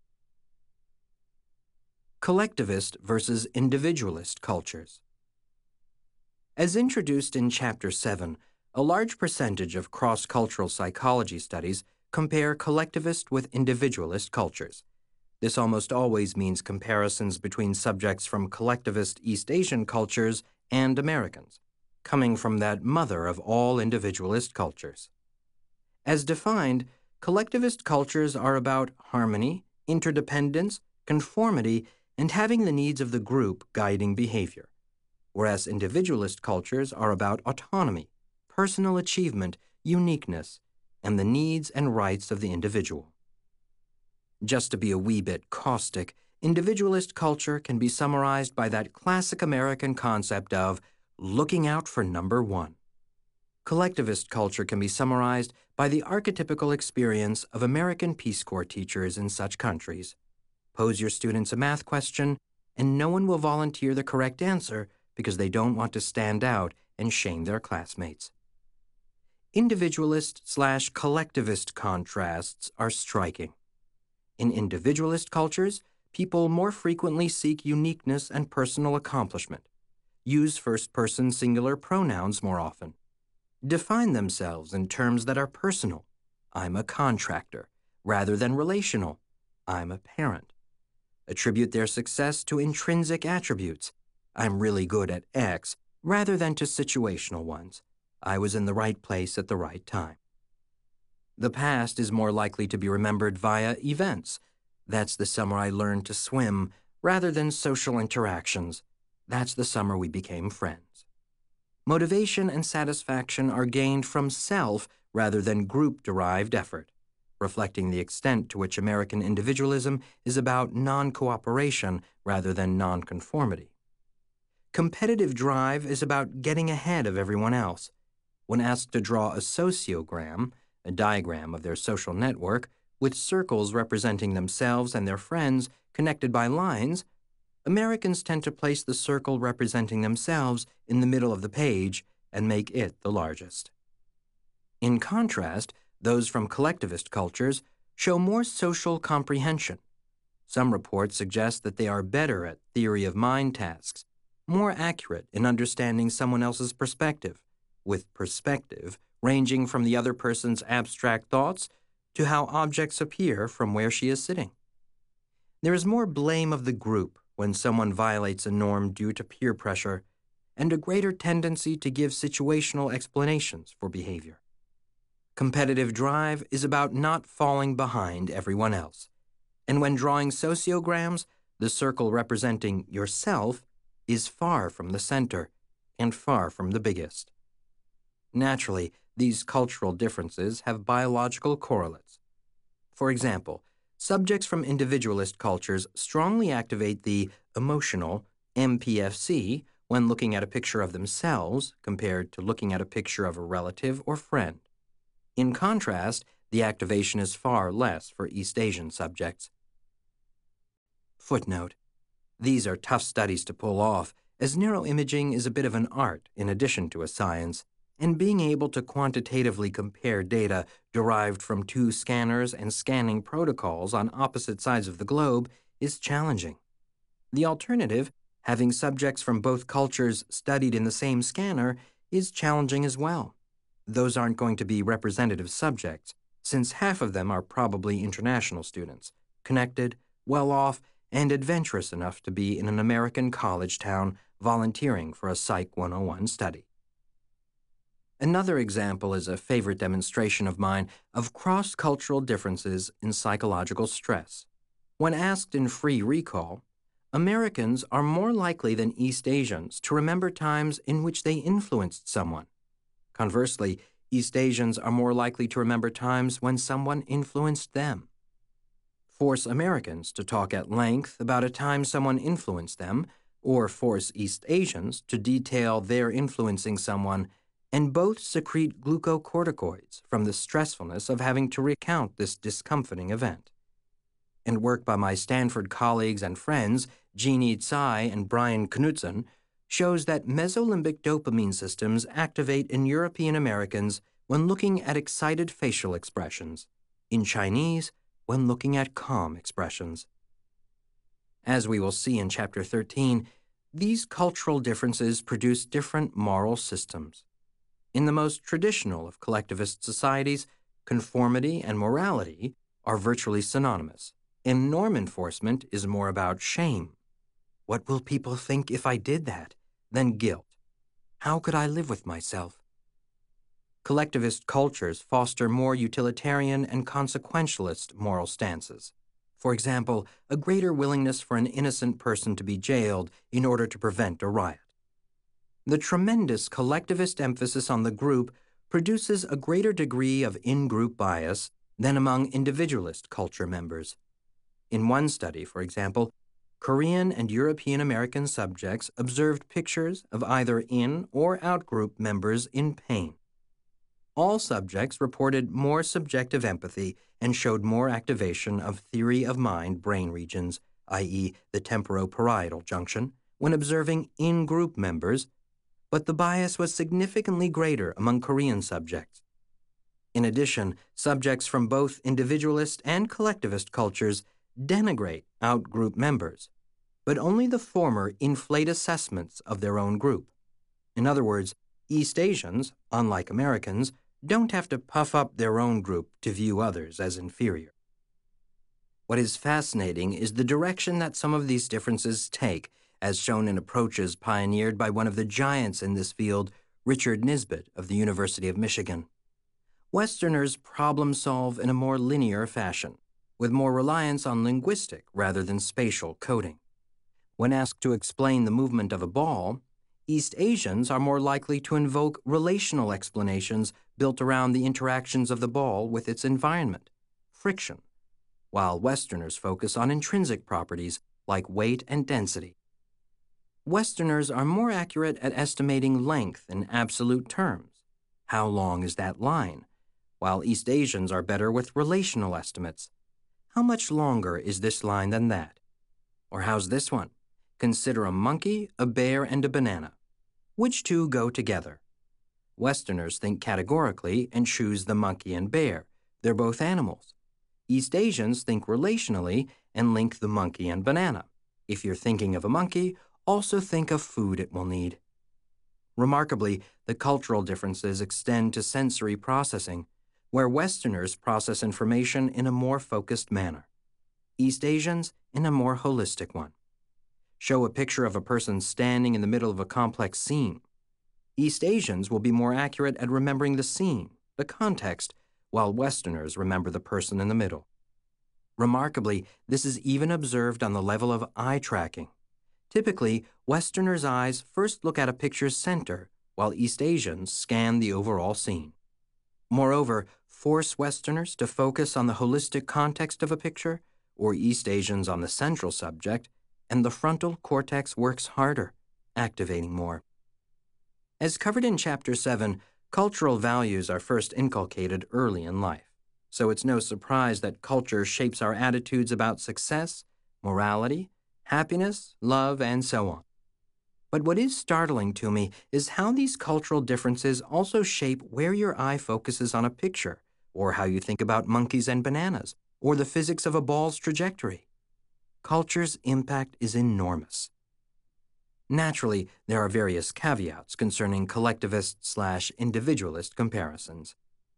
Collectivist versus individualist cultures. As introduced in Chapter seven, a large percentage of cross-cultural psychology studies compare collectivist with individualist cultures. This almost always means comparisons between subjects from collectivist East Asian cultures and Americans, coming from that mother of all individualist cultures. As defined, collectivist cultures are about harmony, interdependence, conformity, and having the needs of the group guiding behavior, whereas individualist cultures are about autonomy, personal achievement, uniqueness, and the needs and rights of the individual. Just to be a wee bit caustic, individualist culture can be summarized by that classic American concept of looking out for number one. Collectivist culture can be summarized by the archetypical experience of American Peace Corps teachers in such countries. Pose your students a math question, and no one will volunteer the correct answer because they don't want to stand out and shame their classmates. Individualist slash collectivist contrasts are striking. In individualist cultures, people more frequently seek uniqueness and personal accomplishment, use first-person singular pronouns more often, define themselves in terms that are personal, I'm a contractor, rather than relational, I'm a parent, attribute their success to intrinsic attributes, I'm really good at X, rather than to situational ones, I was in the right place at the right time. The past is more likely to be remembered via events. That's the summer I learned to swim, rather than social interactions. That's the summer we became friends. Motivation and satisfaction are gained from self rather than group-derived effort, reflecting the extent to which American individualism is about non-cooperation rather than non-conformity. Competitive drive is about getting ahead of everyone else. When asked to draw a sociogram, a diagram of their social network, with circles representing themselves and their friends connected by lines, Americans tend to place the circle representing themselves in the middle of the page and make it the largest. In contrast, those from collectivist cultures show more social comprehension. Some reports suggest that they are better at theory of mind tasks, more accurate in understanding someone else's perspective, with perspective ranging from the other person's abstract thoughts to how objects appear from where she is sitting. There is more blame of the group when someone violates a norm due to peer pressure, and a greater tendency to give situational explanations for behavior. Competitive drive is about not falling behind everyone else, and when drawing sociograms, the circle representing yourself is far from the center, and far from the biggest. Naturally, these cultural differences have biological correlates. For example, subjects from individualist cultures strongly activate the emotional M P F C when looking at a picture of themselves compared to looking at a picture of a relative or friend. In contrast, the activation is far less for East Asian subjects. Footnote: these are tough studies to pull off, as neuroimaging is a bit of an art in addition to a science, and being able to quantitatively compare data derived from two scanners and scanning protocols on opposite sides of the globe is challenging. The alternative, having subjects from both cultures studied in the same scanner, is challenging as well. Those aren't going to be representative subjects, since half of them are probably international students, connected, well-off, and adventurous enough to be in an American college town volunteering for a Psych one oh one study. Another example is a favorite demonstration of mine of cross-cultural differences in psychological stress. When asked in free recall, Americans are more likely than East Asians to remember times in which they influenced someone. Conversely, East Asians are more likely to remember times when someone influenced them. Force Americans to talk at length about a time someone influenced them, or force East Asians to detail their influencing someone, and both secrete glucocorticoids from the stressfulness of having to recount this discomforting event. And work by my Stanford colleagues and friends, Jeannie Tsai and Brian Knudsen, shows that mesolimbic dopamine systems activate in European Americans when looking at excited facial expressions, in Chinese when looking at calm expressions. As we will see in Chapter thirteen, these cultural differences produce different moral systems. In the most traditional of collectivist societies, conformity and morality are virtually synonymous, and norm enforcement is more about shame. What will people think if I did that? Than guilt. How could I live with myself? Collectivist cultures foster more utilitarian and consequentialist moral stances. For example, a greater willingness for an innocent person to be jailed in order to prevent a riot. The tremendous collectivist emphasis on the group produces a greater degree of in-group bias than among individualist culture members. In one study, for example, Korean and European American subjects observed pictures of either in- or out-group members in pain. All subjects reported more subjective empathy and showed more activation of theory of mind brain regions, that is the temporoparietal junction, when observing in-group members, but the bias was significantly greater among Korean subjects. In addition, subjects from both individualist and collectivist cultures denigrate out-group members, but only the former inflate assessments of their own group. In other words, East Asians, unlike Americans, don't have to puff up their own group to view others as inferior. What is fascinating is the direction that some of these differences take, as shown in approaches pioneered by one of the giants in this field, Richard Nisbett of the University of Michigan. Westerners problem solve in a more linear fashion, with more reliance on linguistic rather than spatial coding. When asked to explain the movement of a ball, East Asians are more likely to invoke relational explanations built around the interactions of the ball with its environment, friction, while Westerners focus on intrinsic properties like weight and density. Westerners are more accurate at estimating length in absolute terms. How long is that line? While East Asians are better with relational estimates. How much longer is this line than that? Or how's this one? Consider a monkey, a bear, and a banana. Which two go together? Westerners think categorically and choose the monkey and bear. They're both animals. East Asians think relationally and link the monkey and banana. If you're thinking of a monkey, also think of food it will need. Remarkably, the cultural differences extend to sensory processing, where Westerners process information in a more focused manner. East Asians in a more holistic one. Show a picture of a person standing in the middle of a complex scene. East Asians will be more accurate at remembering the scene, the context, while Westerners remember the person in the middle. Remarkably, this is even observed on the level of eye tracking. Typically, Westerners' eyes first look at a picture's center, while East Asians scan the overall scene. Moreover, force Westerners to focus on the holistic context of a picture, or East Asians on the central subject, and the frontal cortex works harder, activating more. As covered in Chapter seven, cultural values are first inculcated early in life, so it's no surprise that culture shapes our attitudes about success, morality, happiness, love, and so on. But what is startling to me is how these cultural differences also shape where your eye focuses on a picture, or how you think about monkeys and bananas, or the physics of a ball's trajectory. Culture's impact is enormous. Naturally, there are various caveats concerning collectivist slash individualist comparisons.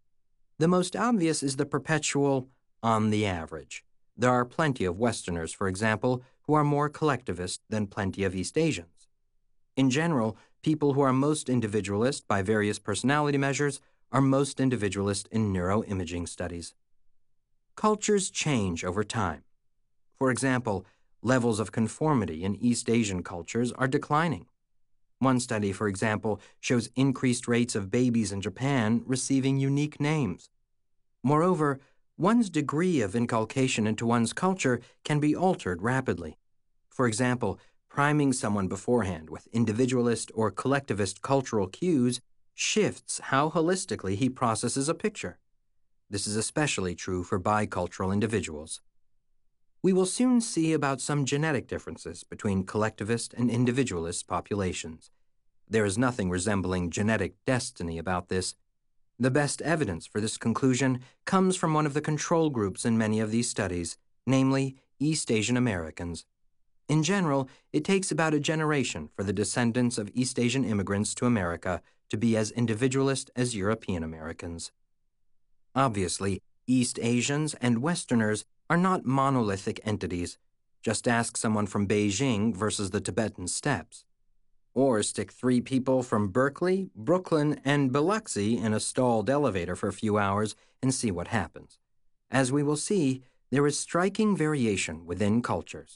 The most obvious is the perpetual on the average. There are plenty of Westerners, for example, who are more collectivist than plenty of East Asians. In general, people who are most individualist by various personality measures are most individualist in neuroimaging studies. Cultures change over time. For example, levels of conformity in East Asian cultures are declining. One study, for example, shows increased rates of babies in Japan receiving unique names. Moreover, one's degree of inculcation into one's culture can be altered rapidly. For example, priming someone beforehand with individualist or collectivist cultural cues shifts how holistically he processes a picture. This is especially true for bicultural individuals. We will soon see about some genetic differences between collectivist and individualist populations. There is nothing resembling genetic destiny about this. The best evidence for this conclusion comes from one of the control groups in many of these studies, namely East Asian Americans. In general, it takes about a generation for the descendants of East Asian immigrants to America to be as individualist as European Americans. Obviously, East Asians and Westerners are not monolithic entities. Just ask someone from Beijing versus the Tibetan steppes. Or stick three people from Berkeley, Brooklyn, and Biloxi in a stalled elevator for a few hours and see what happens. As we will see, there is striking variation within cultures.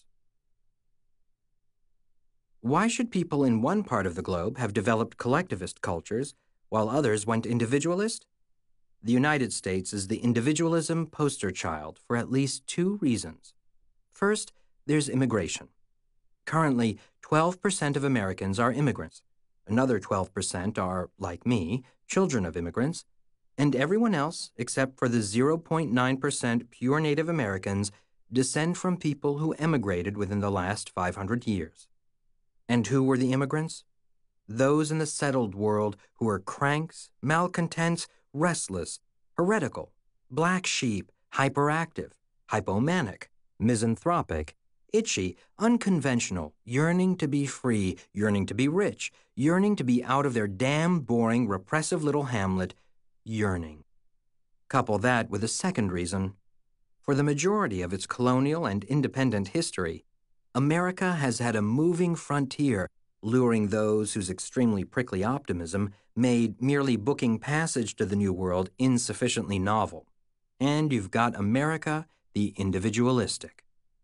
Why should people in one part of the globe have developed collectivist cultures while others went individualist? The United States is the individualism poster child for at least two reasons. First, there's immigration. Currently, twelve percent of Americans are immigrants. Another twelve percent are, like me, children of immigrants. And everyone else, except for the zero point nine percent pure Native Americans, descend from people who emigrated within the last five hundred years. And who were the immigrants? Those in the settled world who were cranks, malcontents, restless, heretical, black sheep, hyperactive, hypomanic, misanthropic, itchy, unconventional, yearning to be free, yearning to be rich, yearning to be out of their damn boring, repressive little hamlet, yearning. Couple that with a second reason. For the majority of its colonial and independent history, America has had a moving frontier, luring those whose extremely prickly optimism made merely booking passage to the New World insufficiently novel. And you've got America, the individualistic.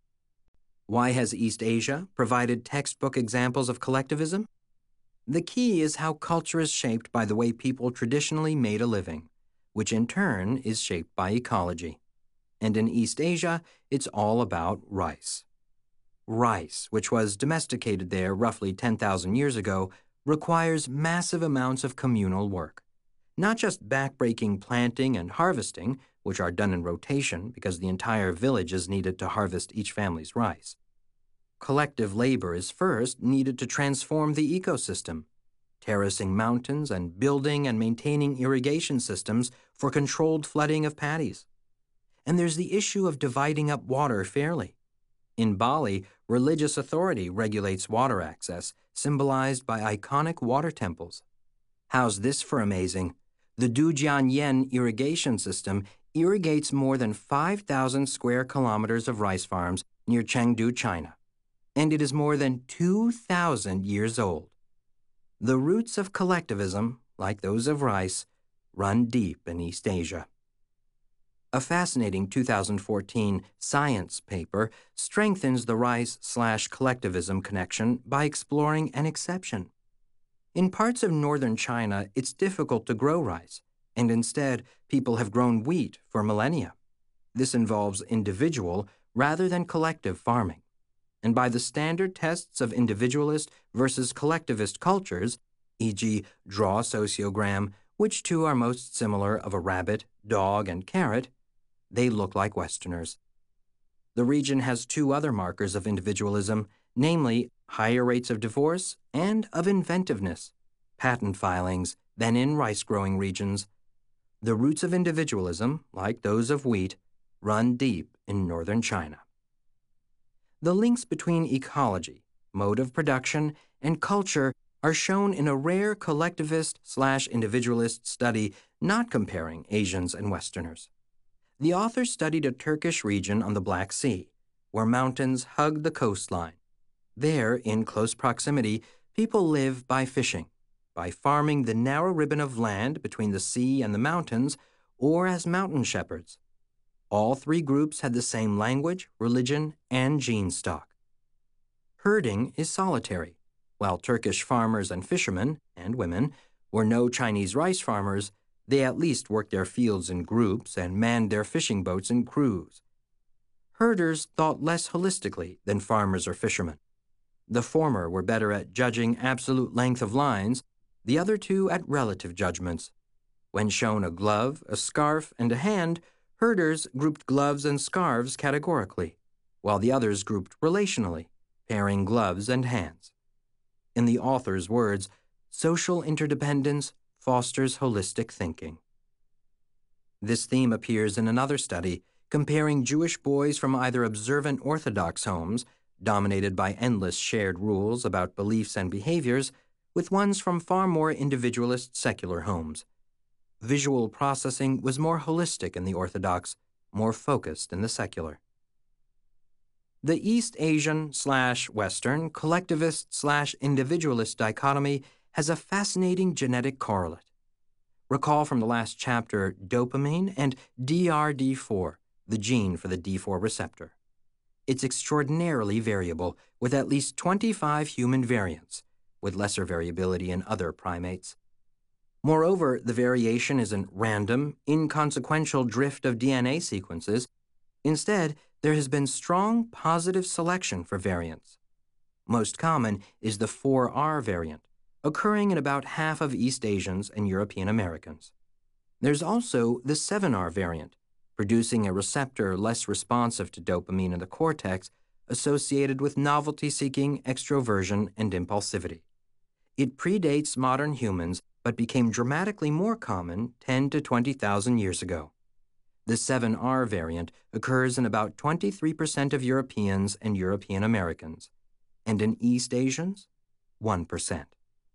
Why has East Asia provided textbook examples of collectivism? The key is how culture is shaped by the way people traditionally made a living, which in turn is shaped by ecology. And in East Asia, it's all about rice. Rice, which was domesticated there roughly ten thousand years ago, requires massive amounts of communal work. Not just backbreaking planting and harvesting, which are done in rotation because the entire village is needed to harvest each family's rice. Collective labor is first needed to transform the ecosystem, terracing mountains and building and maintaining irrigation systems for controlled flooding of paddies. And there's the issue of dividing up water fairly. In Bali, religious authority regulates water access, symbolized by iconic water temples. How's this for amazing? The Dujianyen irrigation system irrigates more than five thousand square kilometers of rice farms near Chengdu, China, and it is more than two thousand years old. The roots of collectivism, like those of rice, run deep in East Asia. A fascinating two thousand fourteen Science paper strengthens the rice-slash-collectivism connection by exploring an exception. In parts of northern China, it's difficult to grow rice, and instead, people have grown wheat for millennia. This involves individual rather than collective farming. And by the standard tests of individualist versus collectivist cultures, for example, draw a sociogram, which two are most similar of a rabbit, dog, and carrot, they look like Westerners. The region has two other markers of individualism, namely higher rates of divorce and of inventiveness, patent filings, than in rice-growing regions. The roots of individualism, like those of wheat, run deep in northern China. The links between ecology, mode of production, and culture are shown in a rare collectivist-slash-individualist study not comparing Asians and Westerners. The authors studied a Turkish region on the Black Sea, where mountains hug the coastline. There, in close proximity, people live by fishing, by farming the narrow ribbon of land between the sea and the mountains, or as mountain shepherds. All three groups had the same language, religion, and gene stock. Herding is solitary. While Turkish farmers and fishermen, and women, were no Chinese rice farmers, they at least worked their fields in groups and manned their fishing boats in crews. Herders thought less holistically than farmers or fishermen. The former were better at judging absolute length of lines, the other two at relative judgments. When shown a glove, a scarf, and a hand, herders grouped gloves and scarves categorically, while the others grouped relationally, pairing gloves and hands. In the author's words, social interdependence fosters holistic thinking. This theme appears in another study comparing Jewish boys from either observant Orthodox homes, dominated by endless shared rules about beliefs and behaviors, with ones from far more individualist secular homes. Visual processing was more holistic in the Orthodox, more focused in the secular. The East Asian slash Western collectivist slash individualist dichotomy has a fascinating genetic correlate. Recall from the last chapter dopamine and D R D four, the gene for the D four receptor. It's extraordinarily variable, with at least twenty-five human variants, with lesser variability in other primates. Moreover, the variation isn't random, inconsequential drift of D N A sequences. Instead, there has been strong positive selection for variants. Most common is the four R variant, occurring in about half of East Asians and European Americans. There's also the seven R variant, producing a receptor less responsive to dopamine in the cortex, associated with novelty-seeking, extroversion, and impulsivity. It predates modern humans, but became dramatically more common ten to twenty thousand years ago. The seven R variant occurs in about twenty-three percent of Europeans and European Americans, and in East Asians, one percent.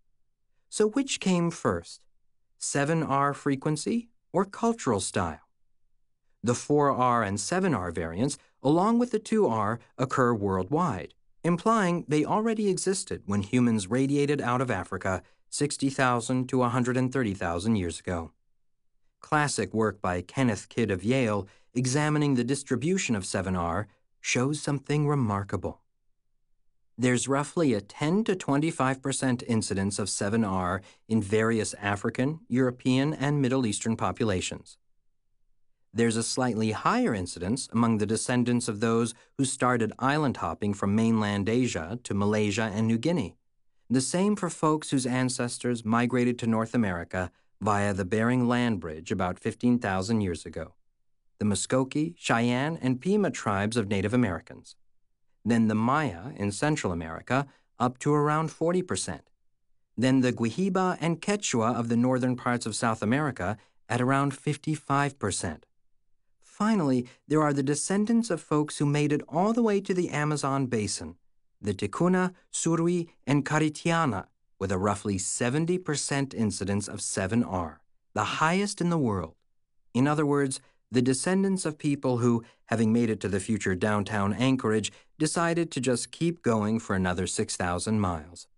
So which came first, seven R frequency or cultural style? The four R and seven R variants, along with the two R, occur worldwide, implying they already existed when humans radiated out of Africa sixty thousand to one hundred thirty thousand years ago. Classic work by Kenneth Kidd of Yale, examining the distribution of seven R, shows something remarkable. There's roughly a ten to twenty-five percent incidence of seven R in various African, European, and Middle Eastern populations. There's a slightly higher incidence among the descendants of those who started island hopping from mainland Asia to Malaysia and New Guinea. The same for folks whose ancestors migrated to North America via the Bering Land Bridge about fifteen thousand years ago, the Muskoke, Cheyenne, and Pima tribes of Native Americans. Then the Maya in Central America, up to around forty percent. Then the Guahiba and Quechua of the northern parts of South America at around fifty-five percent. Finally, there are the descendants of folks who made it all the way to the Amazon basin, the Ticuna, Surui, and Caritiana, with a roughly seventy percent incidence of seven R, the highest in the world. In other words, the descendants of people who, having made it to the future downtown Anchorage, decided to just keep going for another six thousand miles.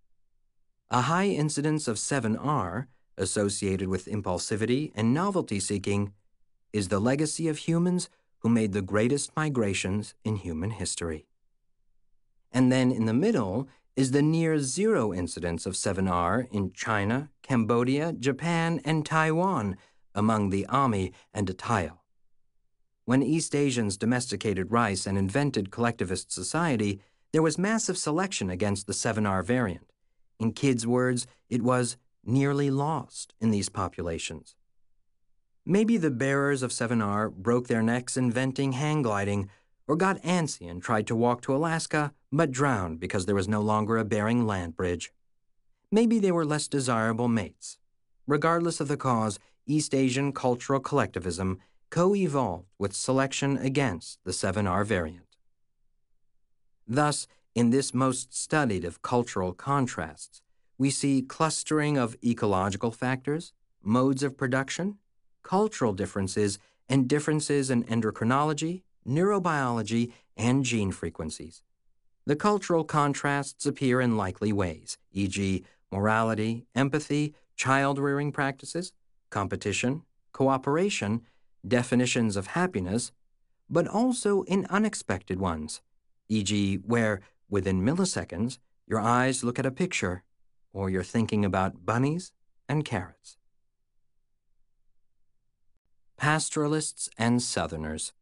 A high incidence of seven R, associated with impulsivity and novelty-seeking, is the legacy of humans who made the greatest migrations in human history. And then in the middle is the near-zero incidence of seven R in China, Cambodia, Japan, and Taiwan among the Ami and Atayal. When East Asians domesticated rice and invented collectivist society, there was massive selection against the seven R variant. In kids' words, it was nearly lost in these populations. Maybe the bearers of seven R broke their necks inventing hang gliding, or got antsy and tried to walk to Alaska, but drowned because there was no longer a Bering land bridge. Maybe they were less desirable mates. Regardless of the cause, East Asian cultural collectivism co-evolved with selection against the seven R variant. Thus, in this most studied of cultural contrasts, we see clustering of ecological factors, modes of production, cultural differences, and differences in endocrinology, neurobiology, and gene frequencies. The cultural contrasts appear in likely ways, for example, morality, empathy, child-rearing practices, competition, cooperation, definitions of happiness, but also in unexpected ones, for example, where, within milliseconds, your eyes look at a picture, or you're thinking about bunnies and carrots. Pastoralists and Southerners.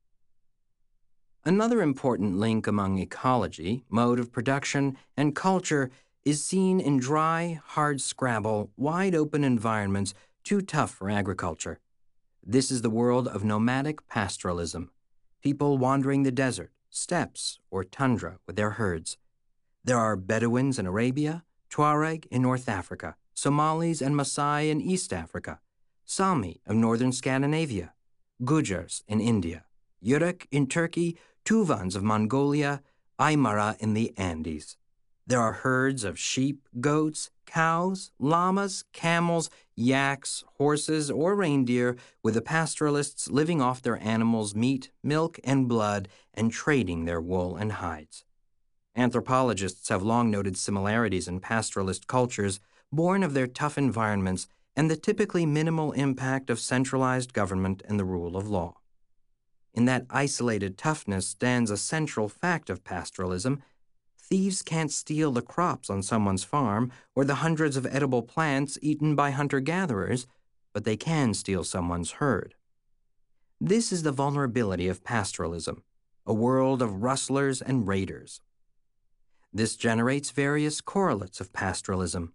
Another important link among ecology, mode of production, and culture is seen in dry, hard-scrabble, wide-open environments too tough for agriculture. This is the world of nomadic pastoralism, people wandering the desert, steppes, or tundra with their herds. There are Bedouins in Arabia, Tuareg in North Africa, Somalis and Maasai in East Africa, Sami of northern Scandinavia, Gujars in India, Yurok in Turkey, Tuvans of Mongolia, Aymara in the Andes. There are herds of sheep, goats, cows, llamas, camels, yaks, horses, or reindeer, with the pastoralists living off their animals' meat, milk, and blood, and trading their wool and hides. Anthropologists have long noted similarities in pastoralist cultures, born of their tough environments and the typically minimal impact of centralized government and the rule of law. In that isolated toughness stands a central fact of pastoralism. Thieves can't steal the crops on someone's farm or the hundreds of edible plants eaten by hunter-gatherers, but they can steal someone's herd. This is the vulnerability of pastoralism, a world of rustlers and raiders. This generates various correlates of pastoralism.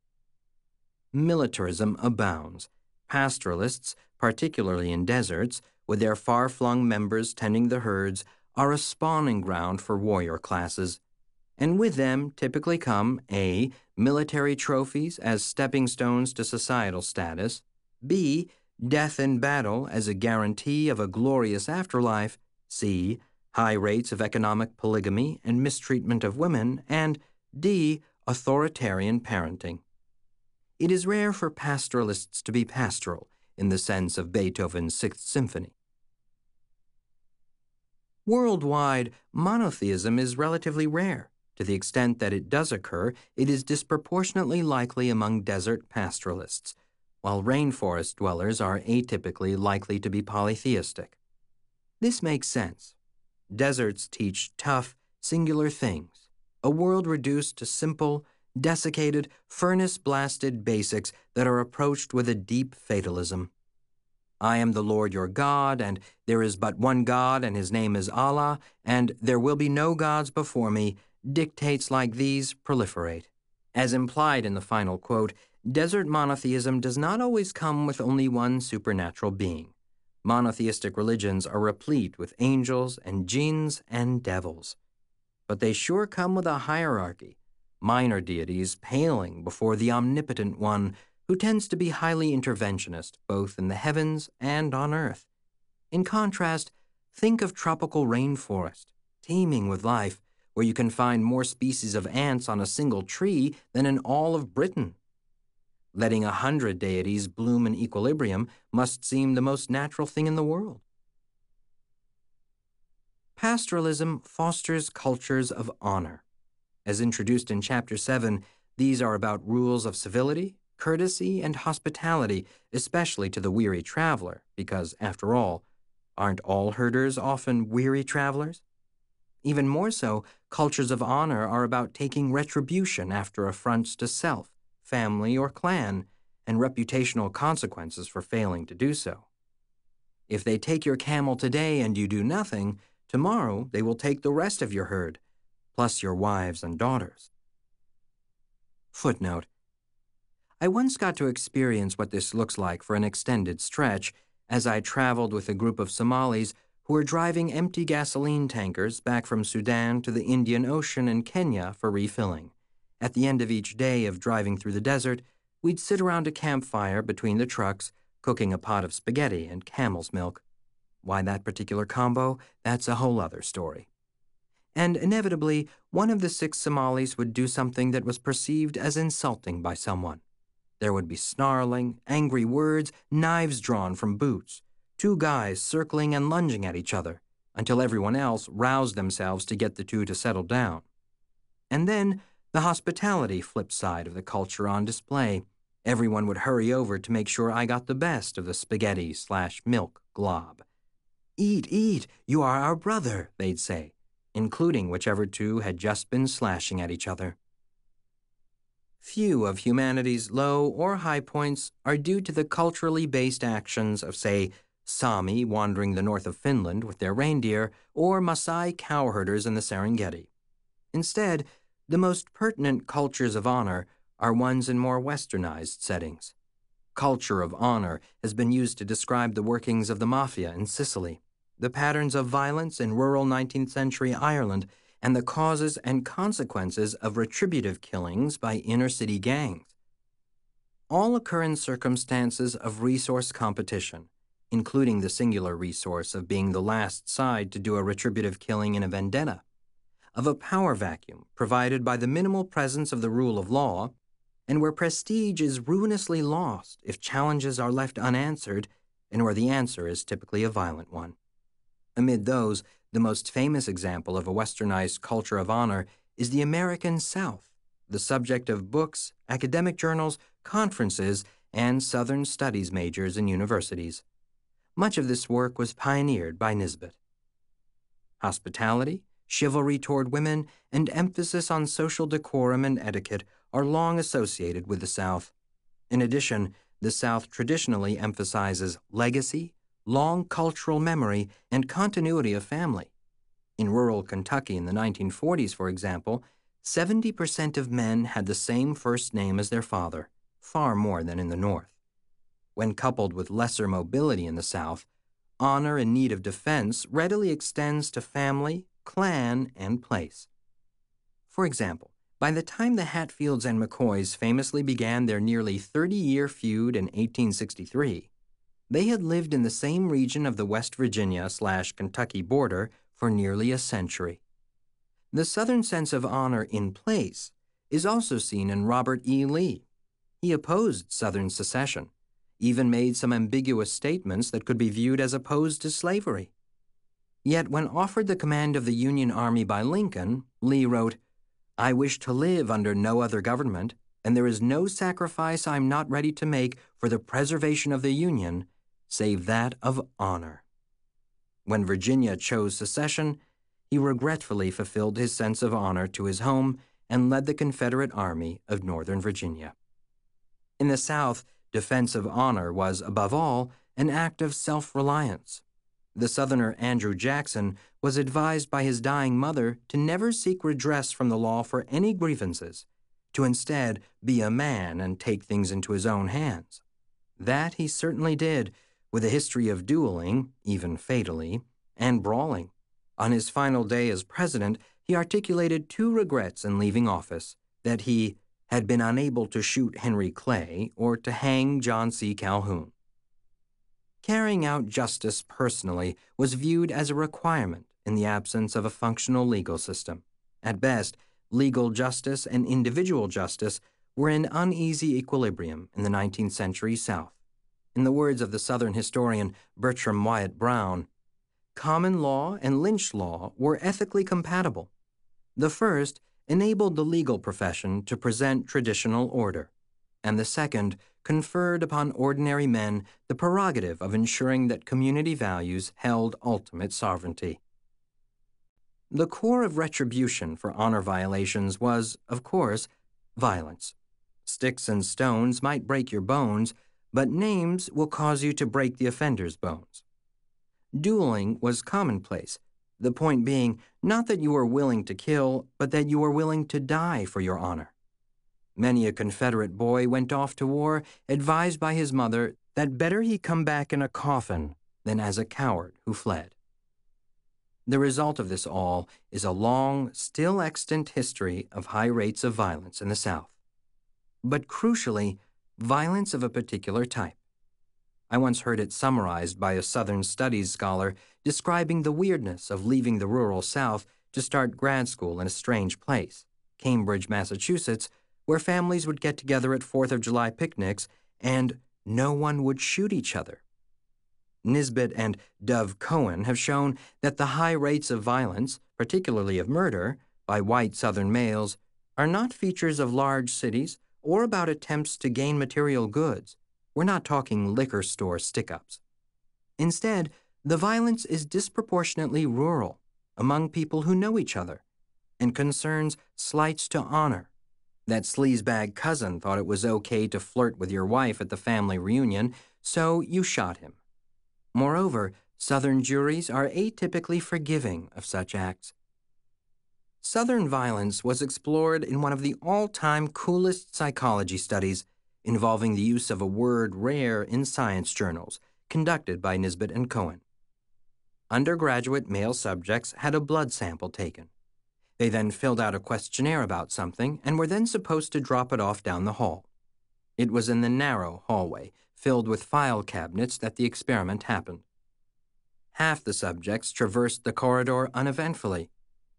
Militarism abounds. Pastoralists, particularly in deserts, with their far-flung members tending the herds, are a spawning ground for warrior classes. And with them typically come A. military trophies as stepping stones to societal status, B. death in battle as a guarantee of a glorious afterlife, C. high rates of economic polygamy and mistreatment of women, and D. authoritarian parenting. It is rare for pastoralists to be pastoral in the sense of Beethoven's Sixth Symphony. Worldwide, monotheism is relatively rare. To the extent that it does occur, it is disproportionately likely among desert pastoralists, while rainforest dwellers are atypically likely to be polytheistic. This makes sense. Deserts teach tough, singular things, a world reduced to simple, desiccated, furnace-blasted basics that are approached with a deep fatalism. I am the Lord your God, and there is but one God, and his name is Allah, and there will be no gods before me. Dictates like these proliferate. As implied in the final quote, desert monotheism does not always come with only one supernatural being. Monotheistic religions are replete with angels and jinns and devils. But they sure come with a hierarchy, minor deities paling before the omnipotent one, who tends to be highly interventionist both in the heavens and on earth. In contrast, think of tropical rainforest, teeming with life, where you can find more species of ants on a single tree than in all of Britain. Letting a hundred deities bloom in equilibrium must seem the most natural thing in the world. Pastoralism fosters cultures of honor. As introduced in Chapter seven, these are about rules of civility, courtesy and hospitality, especially to the weary traveler, because, after all, aren't all herders often weary travelers? Even more so, cultures of honor are about taking retribution after affronts to self, family, or clan, and reputational consequences for failing to do so. If they take your camel today and you do nothing, tomorrow they will take the rest of your herd, plus your wives and daughters. Footnote: I once got to experience what this looks like for an extended stretch as I traveled with a group of Somalis who were driving empty gasoline tankers back from Sudan to the Indian Ocean and Kenya for refilling. At the end of each day of driving through the desert, we'd sit around a campfire between the trucks, cooking a pot of spaghetti and camel's milk. Why that particular combo? That's a whole other story. And inevitably, one of the six Somalis would do something that was perceived as insulting by someone. There would be snarling, angry words, knives drawn from boots, two guys circling and lunging at each other, until everyone else roused themselves to get the two to settle down. And then, the hospitality flip side of the culture on display. Everyone would hurry over to make sure I got the best of the spaghetti slash milk glob. "Eat, eat, you are our brother," they'd say, including whichever two had just been slashing at each other. Few of humanity's low or high points are due to the culturally based actions of, say, Sami wandering the north of Finland with their reindeer, or Maasai cowherders in the Serengeti. Instead, the most pertinent cultures of honor are ones in more westernized settings. Culture of honor has been used to describe the workings of the mafia in Sicily, the patterns of violence in rural nineteenth century Ireland, and the causes and consequences of retributive killings by inner-city gangs. All occur in circumstances of resource competition, including the singular resource of being the last side to do a retributive killing in a vendetta, of a power vacuum provided by the minimal presence of the rule of law, and where prestige is ruinously lost if challenges are left unanswered, and where the answer is typically a violent one. Amid those, the most famous example of a westernized culture of honor is the American South, the subject of books, academic journals, conferences, and Southern studies majors in universities. Much of this work was pioneered by Nisbet. Hospitality, chivalry toward women, and emphasis on social decorum and etiquette are long associated with the South. In addition, the South traditionally emphasizes legacy, long cultural memory, and continuity of family. In rural Kentucky in the nineteen forties, for example, seventy percent of men had the same first name as their father, far more than in the North. When coupled with lesser mobility in the South, honor in need of defense readily extends to family, clan, and place. For example, by the time the Hatfields and McCoys famously began their nearly thirty-year feud in eighteen sixty-three, they had lived in the same region of the West Virginia slash Kentucky border for nearly a century. The Southern sense of honor in place is also seen in Robert E. Lee. He opposed Southern secession, even made some ambiguous statements that could be viewed as opposed to slavery. Yet when offered the command of the Union Army by Lincoln, Lee wrote, "I wish to live under no other government, and there is no sacrifice I am not ready to make for the preservation of the Union, save that of honor." When Virginia chose secession, he regretfully fulfilled his sense of honor to his home and led the Confederate Army of Northern Virginia. In the South, defense of honor was, above all, an act of self-reliance. The Southerner Andrew Jackson was advised by his dying mother to never seek redress from the law for any grievances, to instead be a man and take things into his own hands. That he certainly did, with a history of dueling, even fatally, and brawling. On his final day as president, he articulated two regrets in leaving office: that he had been unable to shoot Henry Clay or to hang John C. Calhoun. Carrying out justice personally was viewed as a requirement in the absence of a functional legal system. At best, legal justice and individual justice were in uneasy equilibrium in the nineteenth century South. In the words of the Southern historian Bertram Wyatt Brown, common law and lynch law were ethically compatible. The first enabled the legal profession to present traditional order. and the second conferred upon ordinary men the prerogative of ensuring that community values held ultimate sovereignty. The core of retribution for honor violations was, of course, violence. Sticks and stones might break your bones, but names will cause you to break the offender's bones. Dueling was commonplace, the point being not that you were willing to kill, but that you were willing to die for your honor. Many a Confederate boy went off to war advised by his mother that better he come back in a coffin than as a coward who fled. The result of this all is a long, still extant history of high rates of violence in the South. But crucially, violence of a particular type. I once heard it summarized by a Southern Studies scholar describing the weirdness of leaving the rural South to start grad school in a strange place, Cambridge, Massachusetts, where families would get together at Fourth of July picnics and no one would shoot each other. Nisbet and Dove Cohen have shown that the high rates of violence, particularly of murder, by white Southern males, are not features of large cities or about attempts to gain material goods. We're not talking liquor store stick-ups. Instead, the violence is disproportionately rural, among people who know each other, and concerns slights to honor. That sleazebag cousin thought it was okay to flirt with your wife at the family reunion, so you shot him. Moreover, Southern juries are atypically forgiving of such acts. Southern violence was explored in one of the all-time coolest psychology studies involving the use of a word rare in science journals, conducted by Nisbet and Cohen. Undergraduate male subjects had a blood sample taken. They then filled out a questionnaire about something and were then supposed to drop it off down the hall. It was in the narrow hallway, filled with file cabinets, that the experiment happened. Half the subjects traversed the corridor uneventfully.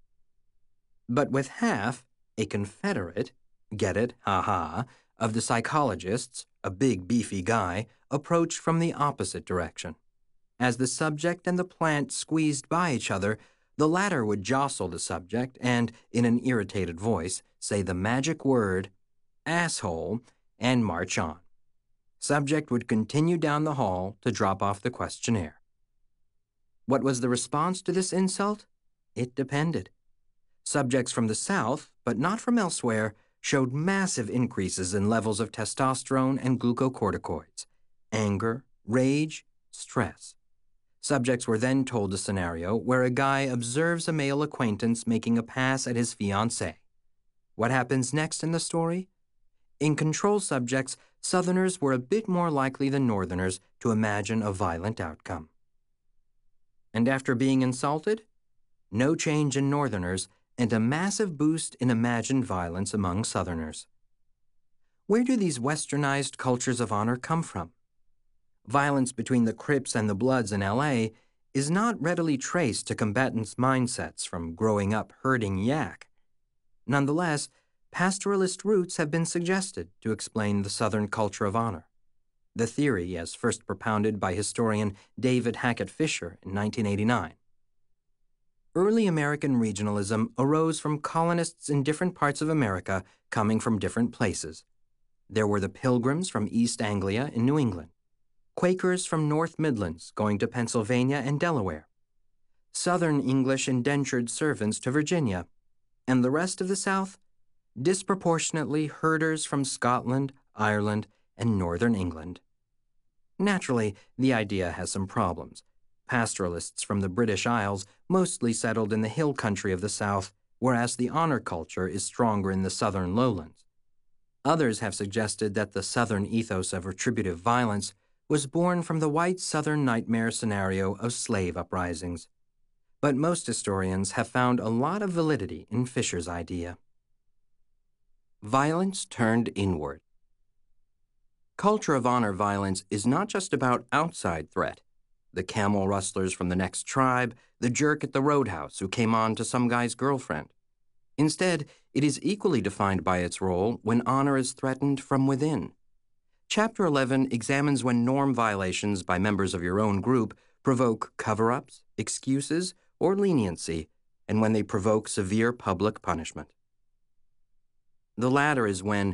But with half, a Confederate, get it, ha-ha, of the psychologists, a big beefy guy, approached from the opposite direction. As the subject and the plant squeezed by each other, the latter would jostle the subject and, in an irritated voice, say the magic word, asshole, and march on. Subject would continue down the hall to drop off the questionnaire. What was the response to this insult? It depended. Subjects from the South, but not from elsewhere, showed massive increases in levels of testosterone and glucocorticoids, anger, rage, stress. Subjects were then told a scenario where a guy observes a male acquaintance making a pass at his fiancée. What happens next in the story? In control subjects, Southerners were a bit more likely than Northerners to imagine a violent outcome. And after being insulted? No change in Northerners and a massive boost in imagined violence among Southerners. Where do these westernized cultures of honor come from? Violence between the Crips and the Bloods in L A is not readily traced to combatants' mindsets from growing up herding yak. Nonetheless, pastoralist roots have been suggested to explain the Southern culture of honor. The theory, as first propounded by historian David Hackett Fisher in nineteen eighty-nine. Early American regionalism arose from colonists in different parts of America coming from different places. There were the Pilgrims from East Anglia in New England, Quakers from North Midlands going to Pennsylvania and Delaware, Southern English indentured servants to Virginia, and the rest of the South, disproportionately herders from Scotland, Ireland, and Northern England. Naturally, the idea has some problems. Pastoralists from the British Isles mostly settled in the hill country of the South, whereas the honor culture is stronger in the southern lowlands. Others have suggested that the Southern ethos of retributive violence was born from the white Southern nightmare scenario of slave uprisings. But most historians have found a lot of validity in Fisher's idea. Violence turned inward. Culture of honor violence is not just about outside threat, the camel rustlers from the next tribe, the jerk at the roadhouse who came on to some guy's girlfriend. Instead, it is equally defined by its role when honor is threatened from within. Chapter eleven examines when norm violations by members of your own group provoke cover-ups, excuses, or leniency, and when they provoke severe public punishment. The latter is when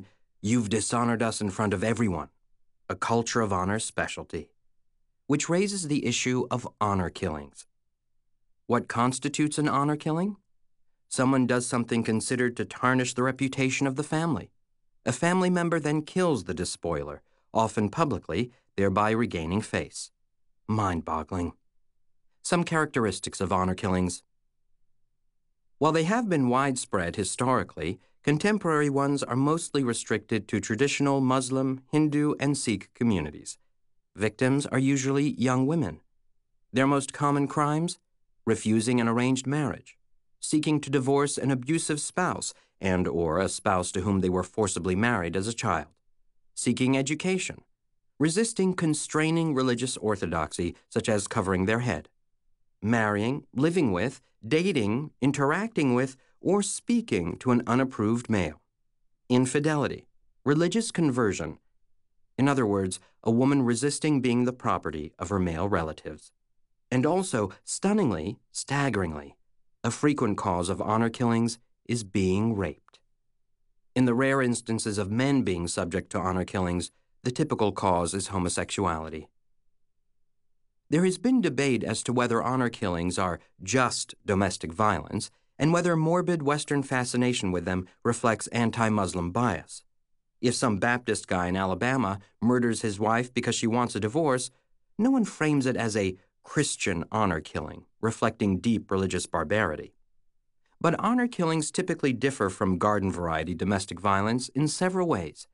"You've dishonored us in front of everyone," a culture of honor specialty, which raises the issue of honor killings. What constitutes an honor killing? Someone does something considered to tarnish the reputation of the family. A family member then kills the despoiler, often publicly, thereby regaining face. Mind-boggling. Some characteristics of honor killings. While they have been widespread historically, contemporary ones are mostly restricted to traditional Muslim, Hindu, and Sikh communities. Victims are usually young women. Their most common crimes? Refusing an arranged marriage, seeking to divorce an abusive spouse and or a spouse to whom they were forcibly married as a child, seeking education, resisting constraining religious orthodoxy such as covering their head, marrying, living with, dating, interacting with, or speaking to an unapproved male, infidelity, religious conversion, in other words, a woman resisting being the property of her male relatives, and also, stunningly, staggeringly, a frequent cause of honor killings is being raped. In the rare instances of men being subject to honor killings, the typical cause is homosexuality. There has been debate as to whether honor killings are just domestic violence and whether morbid Western fascination with them reflects anti-Muslim bias. If some Baptist guy in Alabama murders his wife because she wants a divorce, no one frames it as a Christian honor killing, reflecting deep religious barbarity. But honor killings typically differ from garden-variety domestic violence in several ways.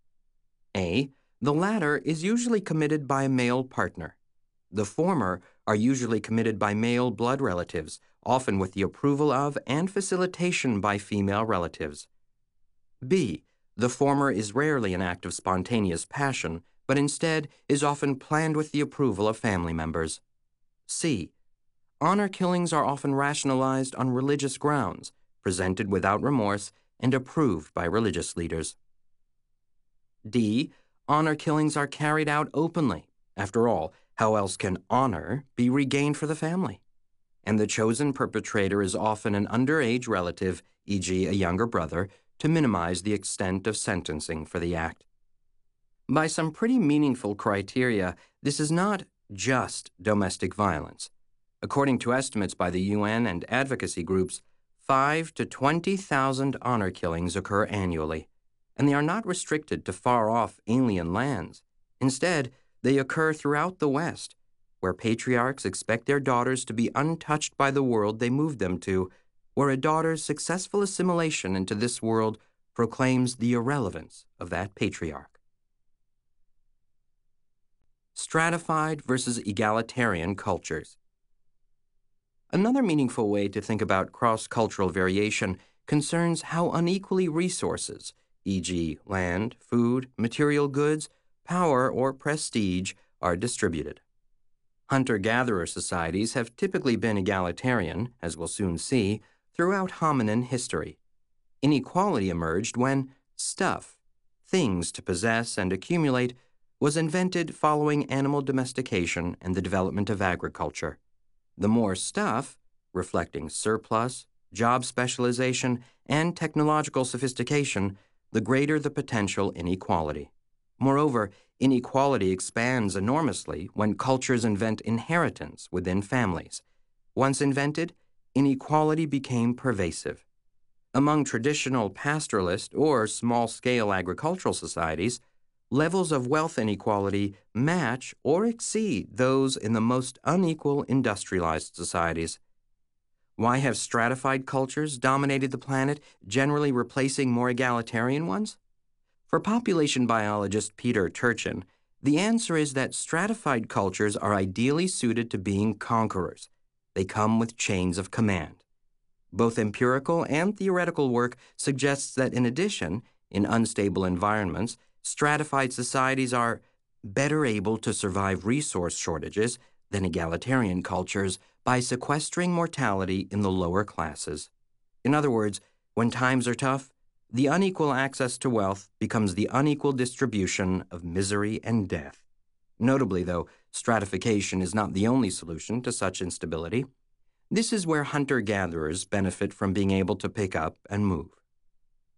A. The latter is usually committed by a male partner. The former are usually committed by male blood relatives, often with the approval of and facilitation by female relatives. B. The former is rarely an act of spontaneous passion, but instead is often planned with the approval of family members. C. Honor killings are often rationalized on religious grounds, presented without remorse, and approved by religious leaders. D. Honor killings are carried out openly. After all, how else can honor be regained for the family? And the chosen perpetrator is often an underage relative, for example a younger brother, to minimize the extent of sentencing for the act. By some pretty meaningful criteria, this is not just domestic violence. According to estimates by the U N and advocacy groups, five to twenty thousand honor killings occur annually, and they are not restricted to far-off alien lands. Instead, they occur throughout the West, where patriarchs expect their daughters to be untouched by the world they moved them to, where a daughter's successful assimilation into this world proclaims the irrelevance of that patriarch. Stratified versus egalitarian cultures. Another meaningful way to think about cross-cultural variation concerns how unequally resources, for example land, food, material goods, power, or prestige, are distributed. Hunter-gatherer societies have typically been egalitarian, as we'll soon see, throughout hominin history. Inequality emerged when stuff, things to possess and accumulate, was invented following animal domestication and the development of agriculture. The more stuff, reflecting surplus, job specialization, and technological sophistication, the greater the potential inequality. Moreover, inequality expands enormously when cultures invent inheritance within families. Once invented, inequality became pervasive. Among traditional pastoralist or small-scale agricultural societies, levels of wealth inequality match or exceed those in the most unequal industrialized societies. Why have stratified cultures dominated the planet, generally replacing more egalitarian ones? For population biologist Peter Turchin, the answer is that stratified cultures are ideally suited to being conquerors. They come with chains of command. Both empirical and theoretical work suggests that in addition, in unstable environments, stratified societies are better able to survive resource shortages than egalitarian cultures by sequestering mortality in the lower classes. In other words, when times are tough, the unequal access to wealth becomes the unequal distribution of misery and death. Notably, though, stratification is not the only solution to such instability. This is where hunter-gatherers benefit from being able to pick up and move.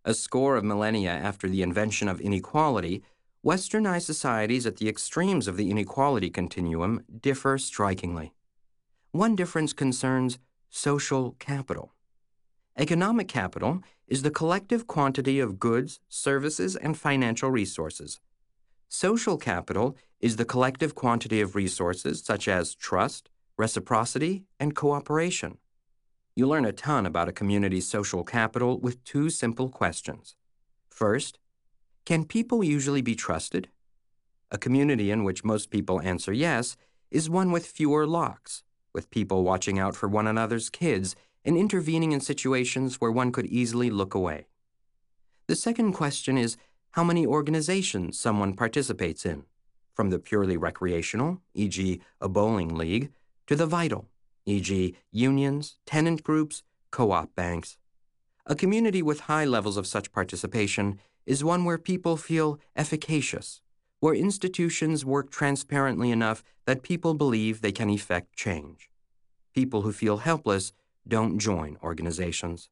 A score of millennia after the invention of inequality, Westernized societies at the extremes of the inequality continuum differ strikingly. One difference concerns social capital. Economic capital is the collective quantity of goods, services, and financial resources. Social capital is the collective quantity of resources such as trust, reciprocity, and cooperation. You learn a ton about a community's social capital with two simple questions. First, can people usually be trusted? A community in which most people answer yes is one with fewer locks, with people watching out for one another's kids and intervening in situations where one could easily look away. The second question is how many organizations someone participates in, from the purely recreational, for example a bowling league, to the vital, for example unions, tenant groups, co-op banks. A community with high levels of such participation is one where people feel efficacious, where institutions work transparently enough that people believe they can effect change. People who feel helpless don't join organizations.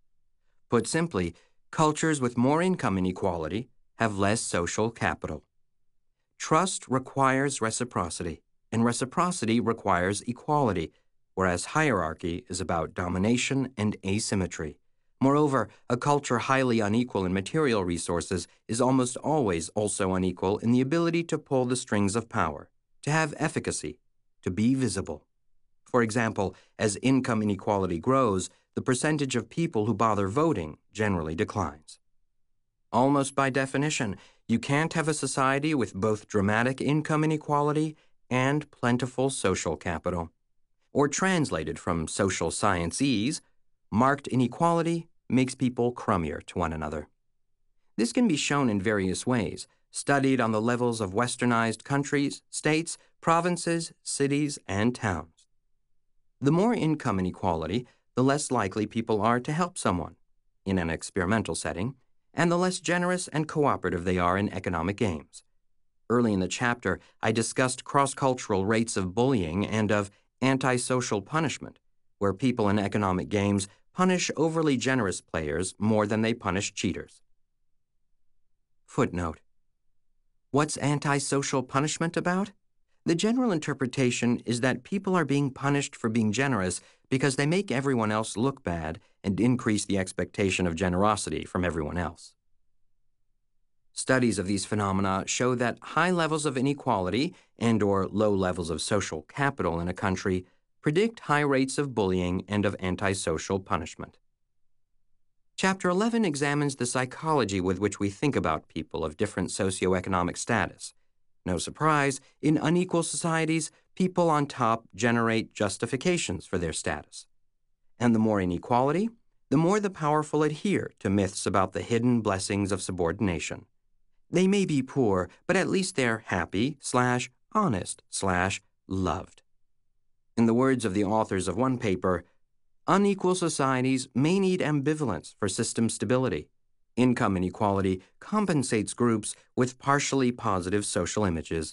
Put simply, cultures with more income inequality have less social capital. Trust requires reciprocity, and reciprocity requires equality, whereas hierarchy is about domination and asymmetry. Moreover, a culture highly unequal in material resources is almost always also unequal in the ability to pull the strings of power, to have efficacy, to be visible. For example, as income inequality grows, the percentage of people who bother voting generally declines. Almost by definition, you can't have a society with both dramatic income inequality and plentiful social capital. Or translated from social sciences, marked inequality makes people crummier to one another. This can be shown in various ways, studied on the levels of westernized countries, states, provinces, cities, and towns. The more income inequality, the less likely people are to help someone, in an experimental setting, and the less generous and cooperative they are in economic games. Early in the chapter, I discussed cross-cultural rates of bullying and of antisocial punishment, where people in economic games punish overly generous players more than they punish cheaters. Footnote. What's antisocial punishment about? The general interpretation is that people are being punished for being generous because they make everyone else look bad and increase the expectation of generosity from everyone else. Studies of these phenomena show that high levels of inequality and or low levels of social capital in a country predict high rates of bullying and of antisocial punishment. Chapter eleven examines the psychology with which we think about people of different socioeconomic status. No surprise, in unequal societies, people on top generate justifications for their status. And the more inequality, the more the powerful adhere to myths about the hidden blessings of subordination. They may be poor, but at least they're happy slash honest slash loved. In the words of the authors of one paper, unequal societies may need ambivalence for system stability. Income inequality compensates groups with partially positive social images.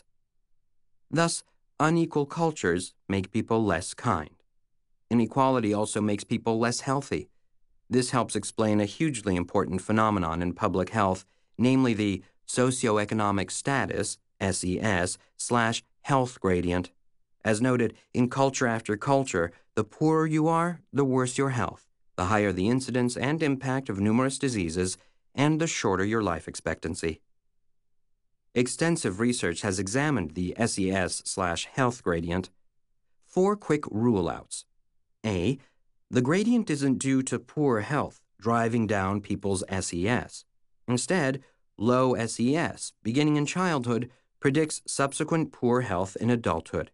Thus, unequal cultures make people less kind. Inequality also makes people less healthy. This helps explain a hugely important phenomenon in public health, namely the socioeconomic status, S E S, slash health gradient. As noted, in culture after culture, the poorer you are, the worse your health, the higher the incidence and impact of numerous diseases, and the shorter your life expectancy. Extensive research has examined the S E S slash health gradient. Four quick rule-outs. A. The gradient isn't due to poor health driving down people's S E S. Instead, low S E S, beginning in childhood, predicts subsequent poor health in adulthood.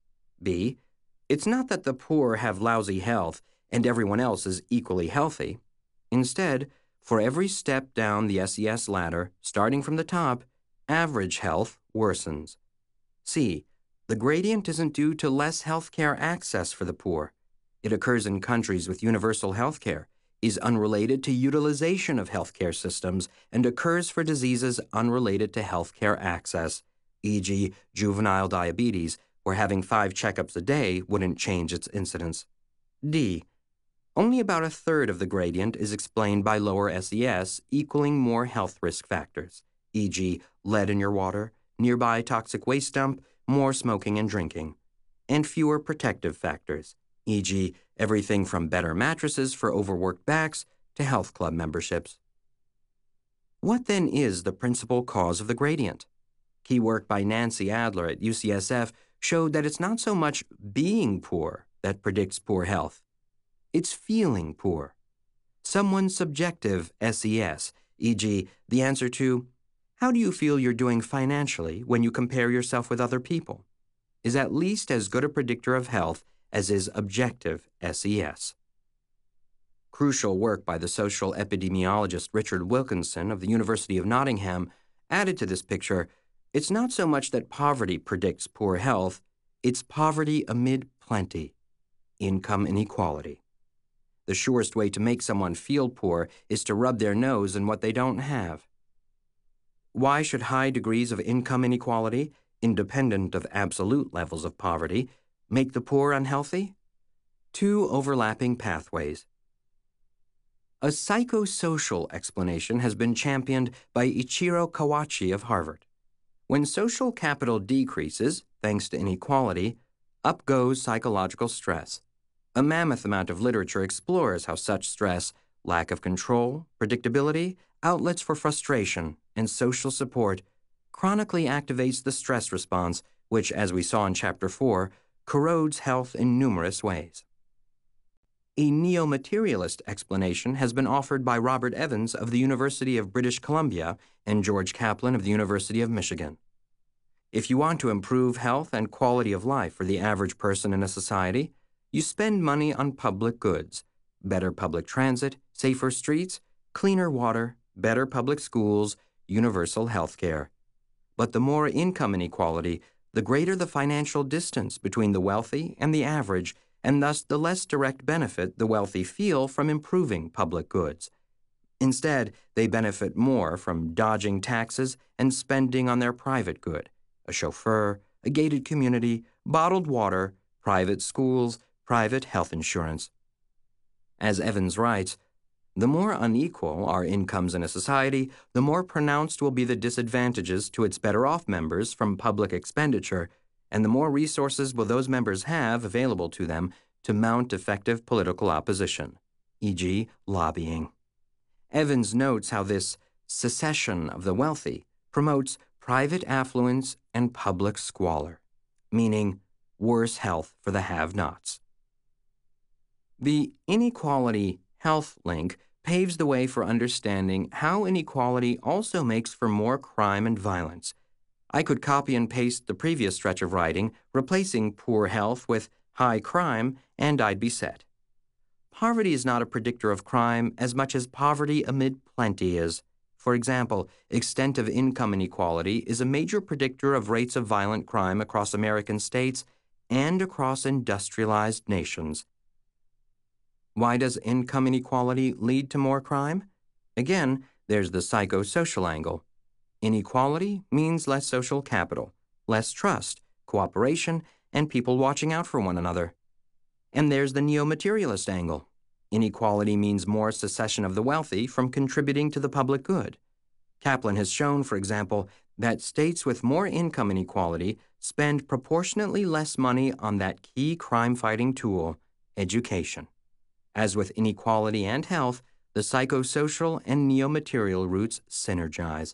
B. It's not that the poor have lousy health and everyone else is equally healthy. Instead, for every step down the S E S ladder, starting from the top, average health worsens. C. The gradient isn't due to less health care access for the poor. It occurs in countries with universal health care, is unrelated to utilization of healthcare systems, and occurs for diseases unrelated to healthcare access, for example juvenile diabetes, where having five checkups a day wouldn't change its incidence. D. Only about a third of the gradient is explained by lower S E S, equaling more health risk factors, for example lead in your water, nearby toxic waste dump, more smoking and drinking, and fewer protective factors, for example everything from better mattresses for overworked backs to health club memberships. What then is the principal cause of the gradient? Key work by Nancy Adler at U C S F showed that it's not so much being poor that predicts poor health. It's feeling poor. Someone's subjective S E S, for example the answer to, how do you feel you're doing financially when you compare yourself with other people, is at least as good a predictor of health as is objective S E S. Crucial work by the social epidemiologist Richard Wilkinson of the University of Nottingham added to this picture, it's not so much that poverty predicts poor health, it's poverty amid plenty, income inequality. The surest way to make someone feel poor is to rub their nose in what they don't have. Why should high degrees of income inequality, independent of absolute levels of poverty, make the poor unhealthy? Two overlapping pathways. A psychosocial explanation has been championed by Ichiro Kawachi of Harvard. When social capital decreases, thanks to inequality, up goes psychological stress. A mammoth amount of literature explores how such stress, lack of control, predictability, outlets for frustration, and social support chronically activates the stress response, which, as we saw in Chapter four, corrodes health in numerous ways. A neo-materialist explanation has been offered by Robert Evans of the University of British Columbia and George Kaplan of the University of Michigan. If you want to improve health and quality of life for the average person in a society, you spend money on public goods, better public transit, safer streets, cleaner water, better public schools, universal health care. But the more income inequality, the greater the financial distance between the wealthy and the average, and thus the less direct benefit the wealthy feel from improving public goods. Instead, they benefit more from dodging taxes and spending on their private good, a chauffeur, a gated community, bottled water, private schools, private health insurance. As Evans writes, the more unequal our incomes in a society, the more pronounced will be the disadvantages to its better-off members from public expenditure, and the more resources will those members have available to them to mount effective political opposition, for example lobbying. Evans notes how this secession of the wealthy promotes private affluence and public squalor, meaning worse health for the have-nots. The inequality-health link paves the way for understanding how inequality also makes for more crime and violence. I could copy and paste the previous stretch of writing, replacing poor health with high crime, and I'd be set. Poverty is not a predictor of crime as much as poverty amid plenty is. For example, extent of income inequality is a major predictor of rates of violent crime across American states and across industrialized nations. Why does income inequality lead to more crime? Again, there's the psychosocial angle. Inequality means less social capital, less trust, cooperation, and people watching out for one another. And there's the neo-materialist angle. Inequality means more secession of the wealthy from contributing to the public good. Kaplan has shown, for example, that states with more income inequality spend proportionately less money on that key crime-fighting tool, education. As with inequality and health, the psychosocial and neo-material roots synergize.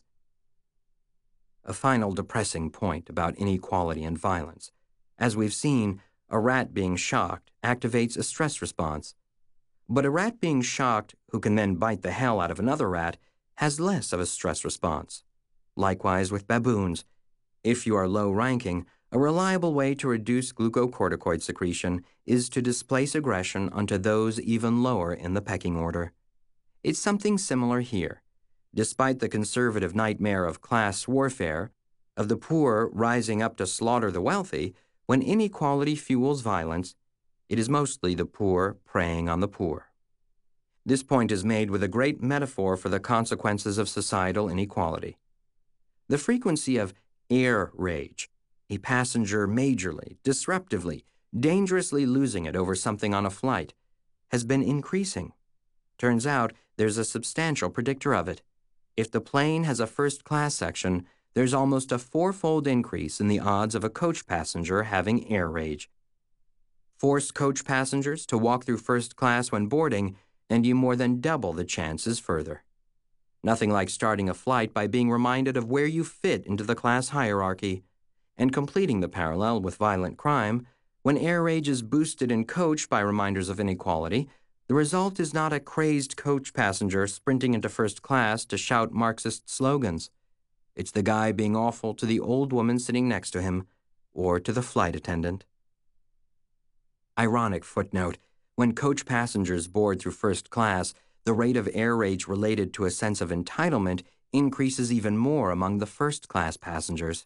A final depressing point about inequality and violence. As we've seen, a rat being shocked activates a stress response. But a rat being shocked, who can then bite the hell out of another rat, has less of a stress response. Likewise with baboons. If you are low-ranking, a reliable way to reduce glucocorticoid secretion is to displace aggression onto those even lower in the pecking order. It's something similar here. Despite the conservative nightmare of class warfare, of the poor rising up to slaughter the wealthy, when inequality fuels violence, it is mostly the poor preying on the poor. This point is made with a great metaphor for the consequences of societal inequality. The frequency of air rage, a passenger majorly, disruptively, dangerously losing it over something on a flight, has been increasing. Turns out there's a substantial predictor of it. If the plane has a first-class section, there's almost a fourfold increase in the odds of a coach passenger having air rage. Force coach passengers to walk through first class when boarding, and you more than double the chances further. Nothing like starting a flight by being reminded of where you fit into the class hierarchy, and completing the parallel with violent crime. When air rage is boosted in coach by reminders of inequality, the result is not a crazed coach passenger sprinting into first class to shout Marxist slogans. It's the guy being awful to the old woman sitting next to him, or to the flight attendant. Ironic footnote: when coach passengers board through first class, the rate of air rage related to a sense of entitlement increases even more among the first-class passengers.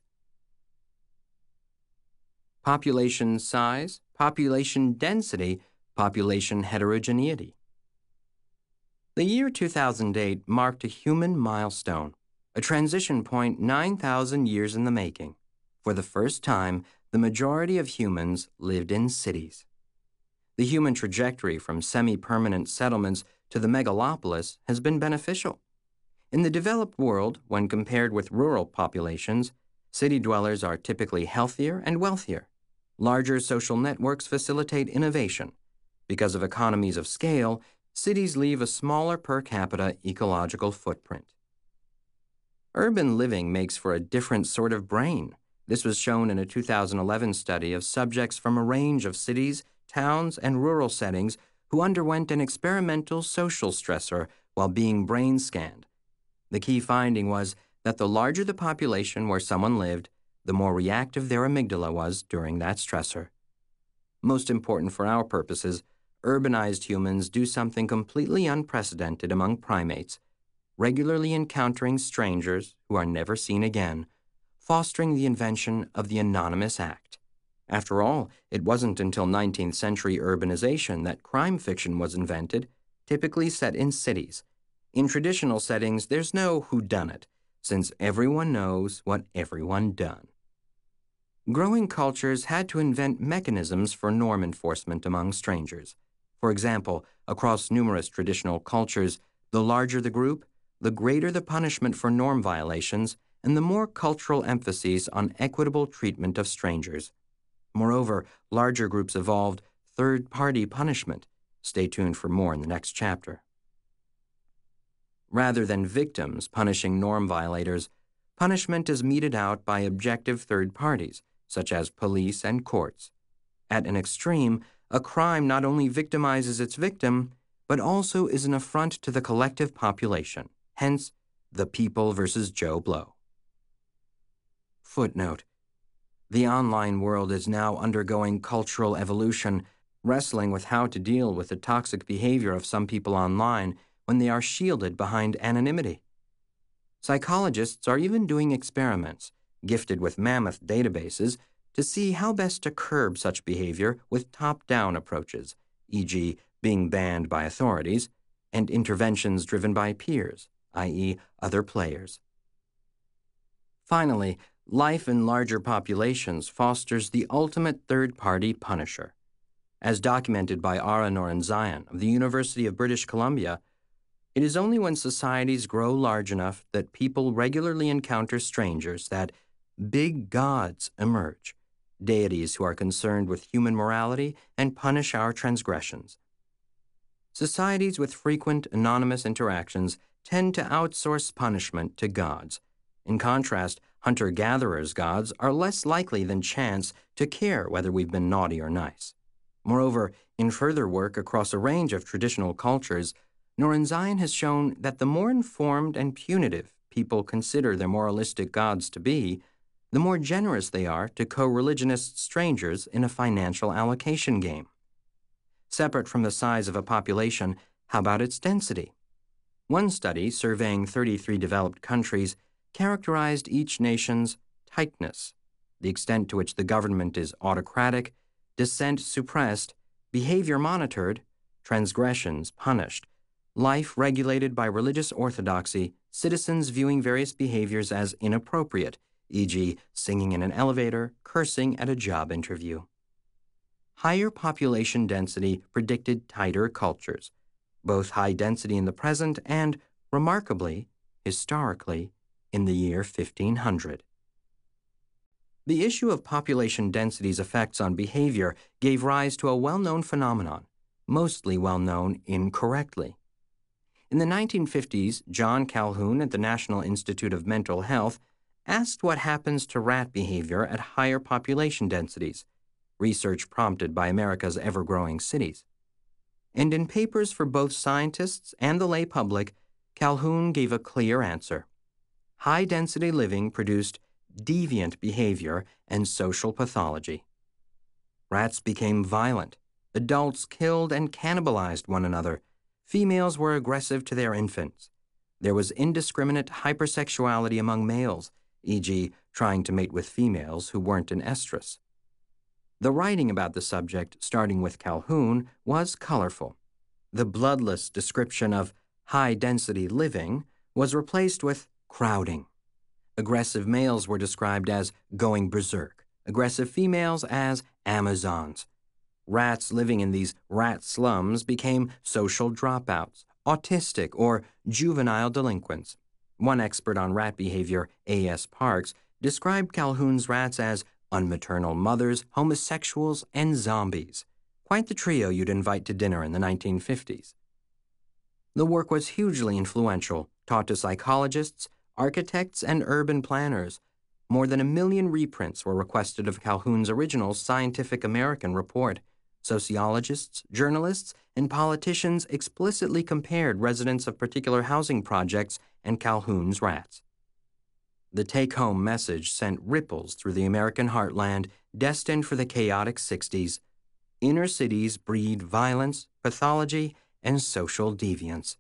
Population size, population density, population heterogeneity. The year two thousand eight marked a human milestone, a transition point nine thousand years in the making. For the first time, the majority of humans lived in cities. The human trajectory from semi-permanent settlements to the megalopolis has been beneficial. In the developed world, when compared with rural populations, city dwellers are typically healthier and wealthier. Larger social networks facilitate innovation. Because of economies of scale, cities leave a smaller per capita ecological footprint. Urban living makes for a different sort of brain. This was shown in a two thousand eleven study of subjects from a range of cities, towns, and rural settings who underwent an experimental social stressor while being brain scanned. The key finding was that the larger the population where someone lived, the more reactive their amygdala was during that stressor. Most important for our purposes, urbanized humans do something completely unprecedented among primates, regularly encountering strangers who are never seen again, fostering the invention of the anonymous act. After all, it wasn't until nineteenth century urbanization that crime fiction was invented, typically set in cities. In traditional settings, there's no whodunit, since everyone knows what everyone done. Growing cultures had to invent mechanisms for norm enforcement among strangers. For example, across numerous traditional cultures, the larger the group, the greater the punishment for norm violations, and the more cultural emphasis on equitable treatment of strangers. Moreover, larger groups evolved third-party punishment. Stay tuned for more in the next chapter. Rather than victims punishing norm violators, punishment is meted out by objective third parties, such as police and courts. At an extreme, a crime not only victimizes its victim, but also is an affront to the collective population, hence, the people versus Joe Blow. Footnote: the online world is now undergoing cultural evolution, wrestling with how to deal with the toxic behavior of some people online when they are shielded behind anonymity. Psychologists are even doing experiments, gifted with mammoth databases, to see how best to curb such behavior with top-down approaches, for example being banned by authorities, and interventions driven by peers, that is other players. Finally, life in larger populations fosters the ultimate third-party punisher. As documented by Ara Norenzayan of the University of British Columbia, it is only when societies grow large enough that people regularly encounter strangers that big gods emerge, deities who are concerned with human morality and punish our transgressions. Societies with frequent anonymous interactions tend to outsource punishment to gods. In contrast, hunter-gatherers' gods are less likely than chance to care whether we've been naughty or nice. Moreover, in further work across a range of traditional cultures, Norenzayan has shown that the more informed and punitive people consider their moralistic gods to be, the more generous they are to co-religionist strangers in a financial allocation game. Separate from the size of a population, how about its density? One study, surveying thirty-three developed countries, characterized each nation's tightness, the extent to which the government is autocratic, dissent suppressed, behavior monitored, transgressions punished, life regulated by religious orthodoxy, citizens viewing various behaviors as inappropriate, for example singing in an elevator, cursing at a job interview. higher population density predicted tighter cultures, both high density in the present and, remarkably, historically, in the year fifteen hundred. The issue of population density's effects on behavior gave rise to a well-known phenomenon, mostly well-known incorrectly. In the nineteen fifties, John Calhoun at the National Institute of Mental Health asked what happens to rat behavior at higher population densities, research prompted by America's ever-growing cities. And in papers for both scientists and the lay public, Calhoun gave a clear answer. High-density living produced deviant behavior and social pathology. Rats became violent. Adults killed and cannibalized one another. Females were aggressive to their infants. There was indiscriminate hypersexuality among males, for example trying to mate with females who weren't in estrus. The writing about the subject, starting with Calhoun, was colorful. The bloodless description of high-density living was replaced with crowding. Aggressive males were described as going berserk, aggressive females as Amazons. Rats living in these rat slums became social dropouts, autistic, or juvenile delinquents. One expert on rat behavior, A S Parks, described Calhoun's rats as unmaternal mothers, homosexuals, and zombies. Quite the trio you'd invite to dinner in the nineteen fifties. The work was hugely influential, taught to psychologists, architects, and urban planners. More than a million reprints were requested of Calhoun's original Scientific American report. Sociologists, journalists, and politicians explicitly compared residents of particular housing projects and Calhoun's rats. The take-home message sent ripples through the American heartland, destined for the chaotic sixties. Inner cities breed violence, pathology, and social deviance.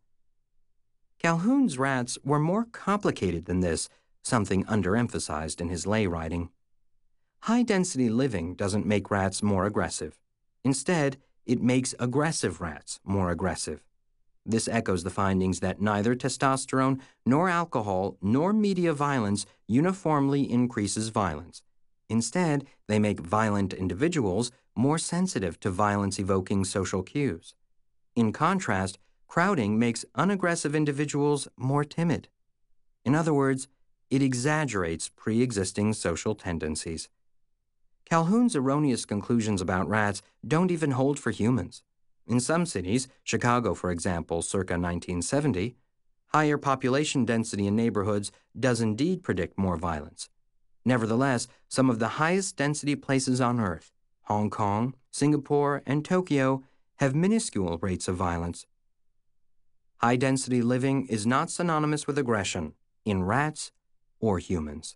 Calhoun's rats were more complicated than this, something underemphasized in his lay writing. High-density living doesn't make rats more aggressive. Instead, it makes aggressive rats more aggressive. This echoes the findings that neither testosterone, nor alcohol, nor media violence uniformly increases violence. Instead, they make violent individuals more sensitive to violence-evoking social cues. In contrast, crowding makes unaggressive individuals more timid. In other words, it exaggerates pre-existing social tendencies. Calhoun's erroneous conclusions about rats don't even hold for humans. In some cities, Chicago for example, circa nineteen seventy, higher population density in neighborhoods does indeed predict more violence. Nevertheless, some of the highest density places on Earth, Hong Kong, Singapore, and Tokyo, have minuscule rates of violence. High-density living is not synonymous with aggression in rats or humans.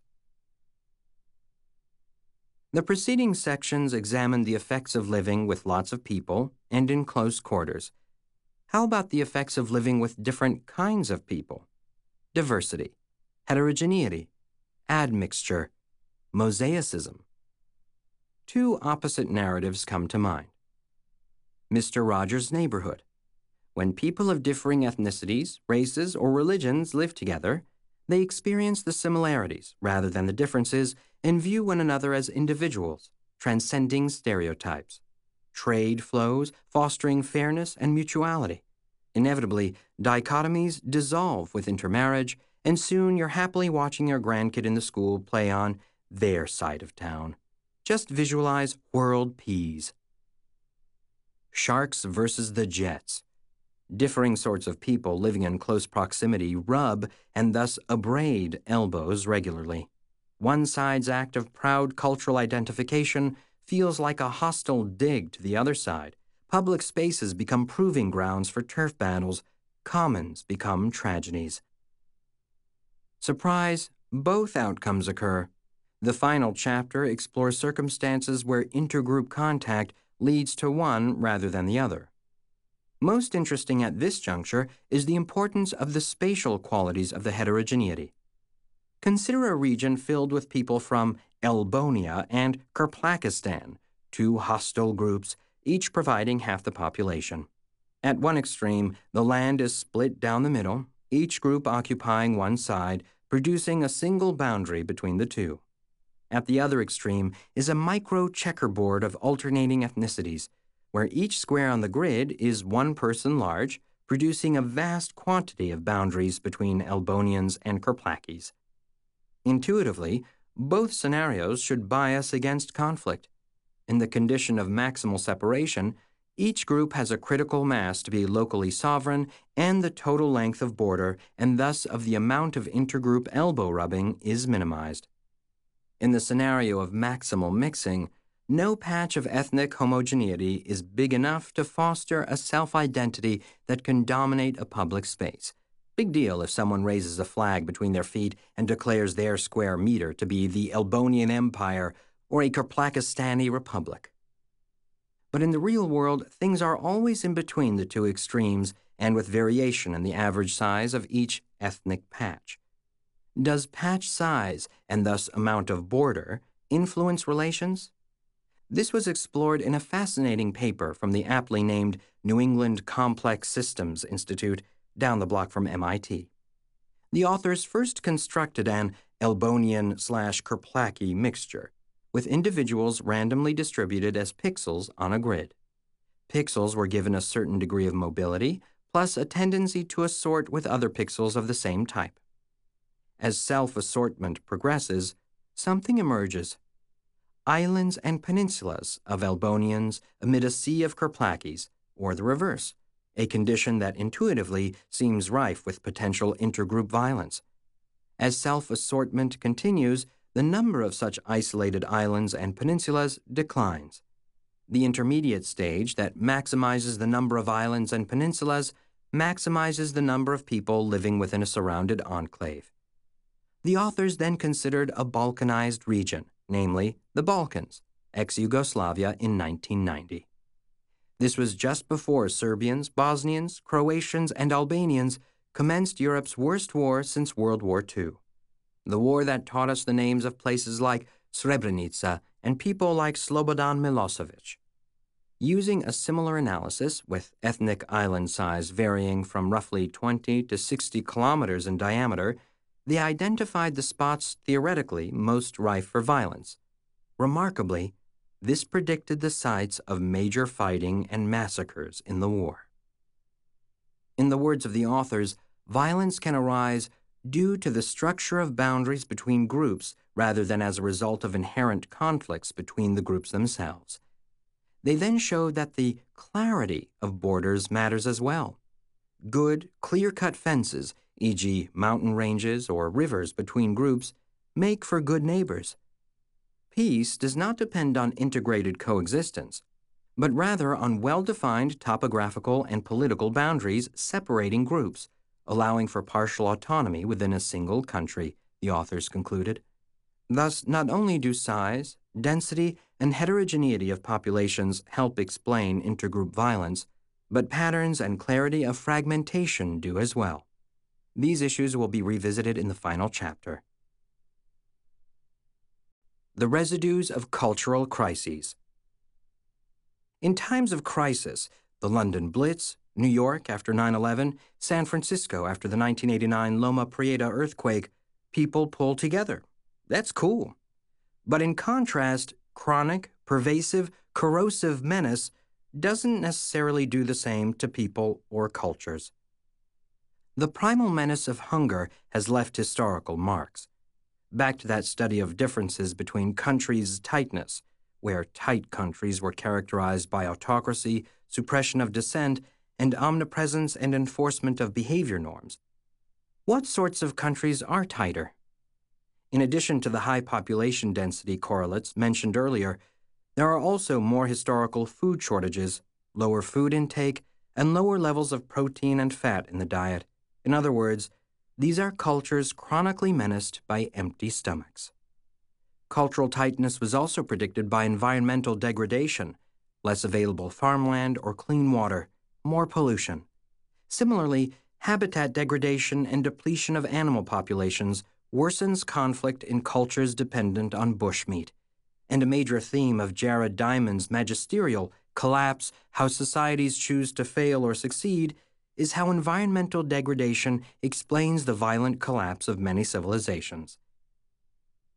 The preceding sections examined the effects of living with lots of people and in close quarters. How about the effects of living with different kinds of people? Diversity, heterogeneity, admixture, mosaicism. Two opposite narratives come to mind. Mister Rogers' Neighborhood. When people of differing ethnicities, races, or religions live together, they experience the similarities rather than the differences and view one another as individuals, transcending stereotypes. Trade flows, fostering fairness and mutuality. Inevitably, dichotomies dissolve with intermarriage, and soon you're happily watching your grandkid in the school play on their side of town. Just visualize world peace. Sharks versus the Jets. Differing sorts of people living in close proximity rub and thus abrade elbows regularly. One side's act of proud cultural identification feels like a hostile dig to the other side. Public spaces become proving grounds for turf battles. Commons become tragedies. Surprise, both outcomes occur. The final chapter explores circumstances where intergroup contact leads to one rather than the other. Most interesting at this juncture is the importance of the spatial qualities of the heterogeneity. Consider a region filled with people from Elbonia and Kirplakistan, two hostile groups, each providing half the population. At one extreme, the land is split down the middle, each group occupying one side, producing a single boundary between the two. At the other extreme is a micro-checkerboard of alternating ethnicities, where each square on the grid is one person large, producing a vast quantity of boundaries between Elbonians and Kerplakis. Intuitively, both scenarios should bias against conflict. In the condition of maximal separation, each group has a critical mass to be locally sovereign and the total length of border and thus of the amount of intergroup elbow rubbing is minimized. In the scenario of maximal mixing, no patch of ethnic homogeneity is big enough to foster a self-identity that can dominate a public space. Big deal if someone raises a flag between their feet and declares their square meter to be the Elbonian Empire or a Kerplakistani Republic. But in the real world, things are always in between the two extremes and with variation in the average size of each ethnic patch. Does patch size, and thus amount of border, influence relations? This was explored in a fascinating paper from the aptly named New England Complex Systems Institute down the block from M I T. The authors first constructed an Elbonian slash Kerplaki mixture, with individuals randomly distributed as pixels on a grid. Pixels were given a certain degree of mobility, plus a tendency to assort with other pixels of the same type. As self-assortment progresses, something emerges. Islands and peninsulas of Elbonians amid a sea of Kerplakis, or the reverse, a condition that intuitively seems rife with potential intergroup violence. As self-assortment continues, the number of such isolated islands and peninsulas declines. The intermediate stage that maximizes the number of islands and peninsulas maximizes the number of people living within a surrounded enclave. The authors then considered a Balkanized region, namely the Balkans, ex-Yugoslavia in nineteen ninety. This was just before Serbians, Bosnians, Croatians, and Albanians commenced Europe's worst war since World War Two. The war that taught us the names of places like Srebrenica and people like Slobodan Milosevic. Using a similar analysis, with ethnic island size varying from roughly twenty to sixty kilometers in diameter, they identified the spots theoretically most rife for violence. Remarkably, this predicted the sites of major fighting and massacres in the war. In the words of the authors, violence can arise due to the structure of boundaries between groups rather than as a result of inherent conflicts between the groups themselves. They then showed that the clarity of borders matters as well. Good, clear-cut fences, for example mountain ranges or rivers between groups, make for good neighbors. Peace does not depend on integrated coexistence, but rather on well-defined topographical and political boundaries separating groups, allowing for partial autonomy within a single country, the authors concluded. Thus, not only do size, density, and heterogeneity of populations help explain intergroup violence, but patterns and clarity of fragmentation do as well. These issues will be revisited in the final chapter. The residues of cultural crises. In times of crisis, the London Blitz, New York after nine eleven, San Francisco after the nineteen eighty-nine Loma Prieta earthquake, people pull together. That's cool. But in contrast, chronic, pervasive, corrosive menace doesn't necessarily do the same to people or cultures. The primal menace of hunger has left historical marks. Back to that study of differences between countries' tightness, where tight countries were characterized by autocracy, suppression of dissent, and omnipresence and enforcement of behavior norms. What sorts of countries are tighter? In addition to the high population density correlates mentioned earlier, there are also more historical food shortages, lower food intake, and lower levels of protein and fat in the diet. In other words, these are cultures chronically menaced by empty stomachs. Cultural tightness was also predicted by environmental degradation, less available farmland or clean water, more pollution. Similarly, habitat degradation and depletion of animal populations worsens conflict in cultures dependent on bushmeat. And a major theme of Jared Diamond's magisterial Collapse: How Societies Choose to Fail or Succeed is how environmental degradation explains the violent collapse of many civilizations.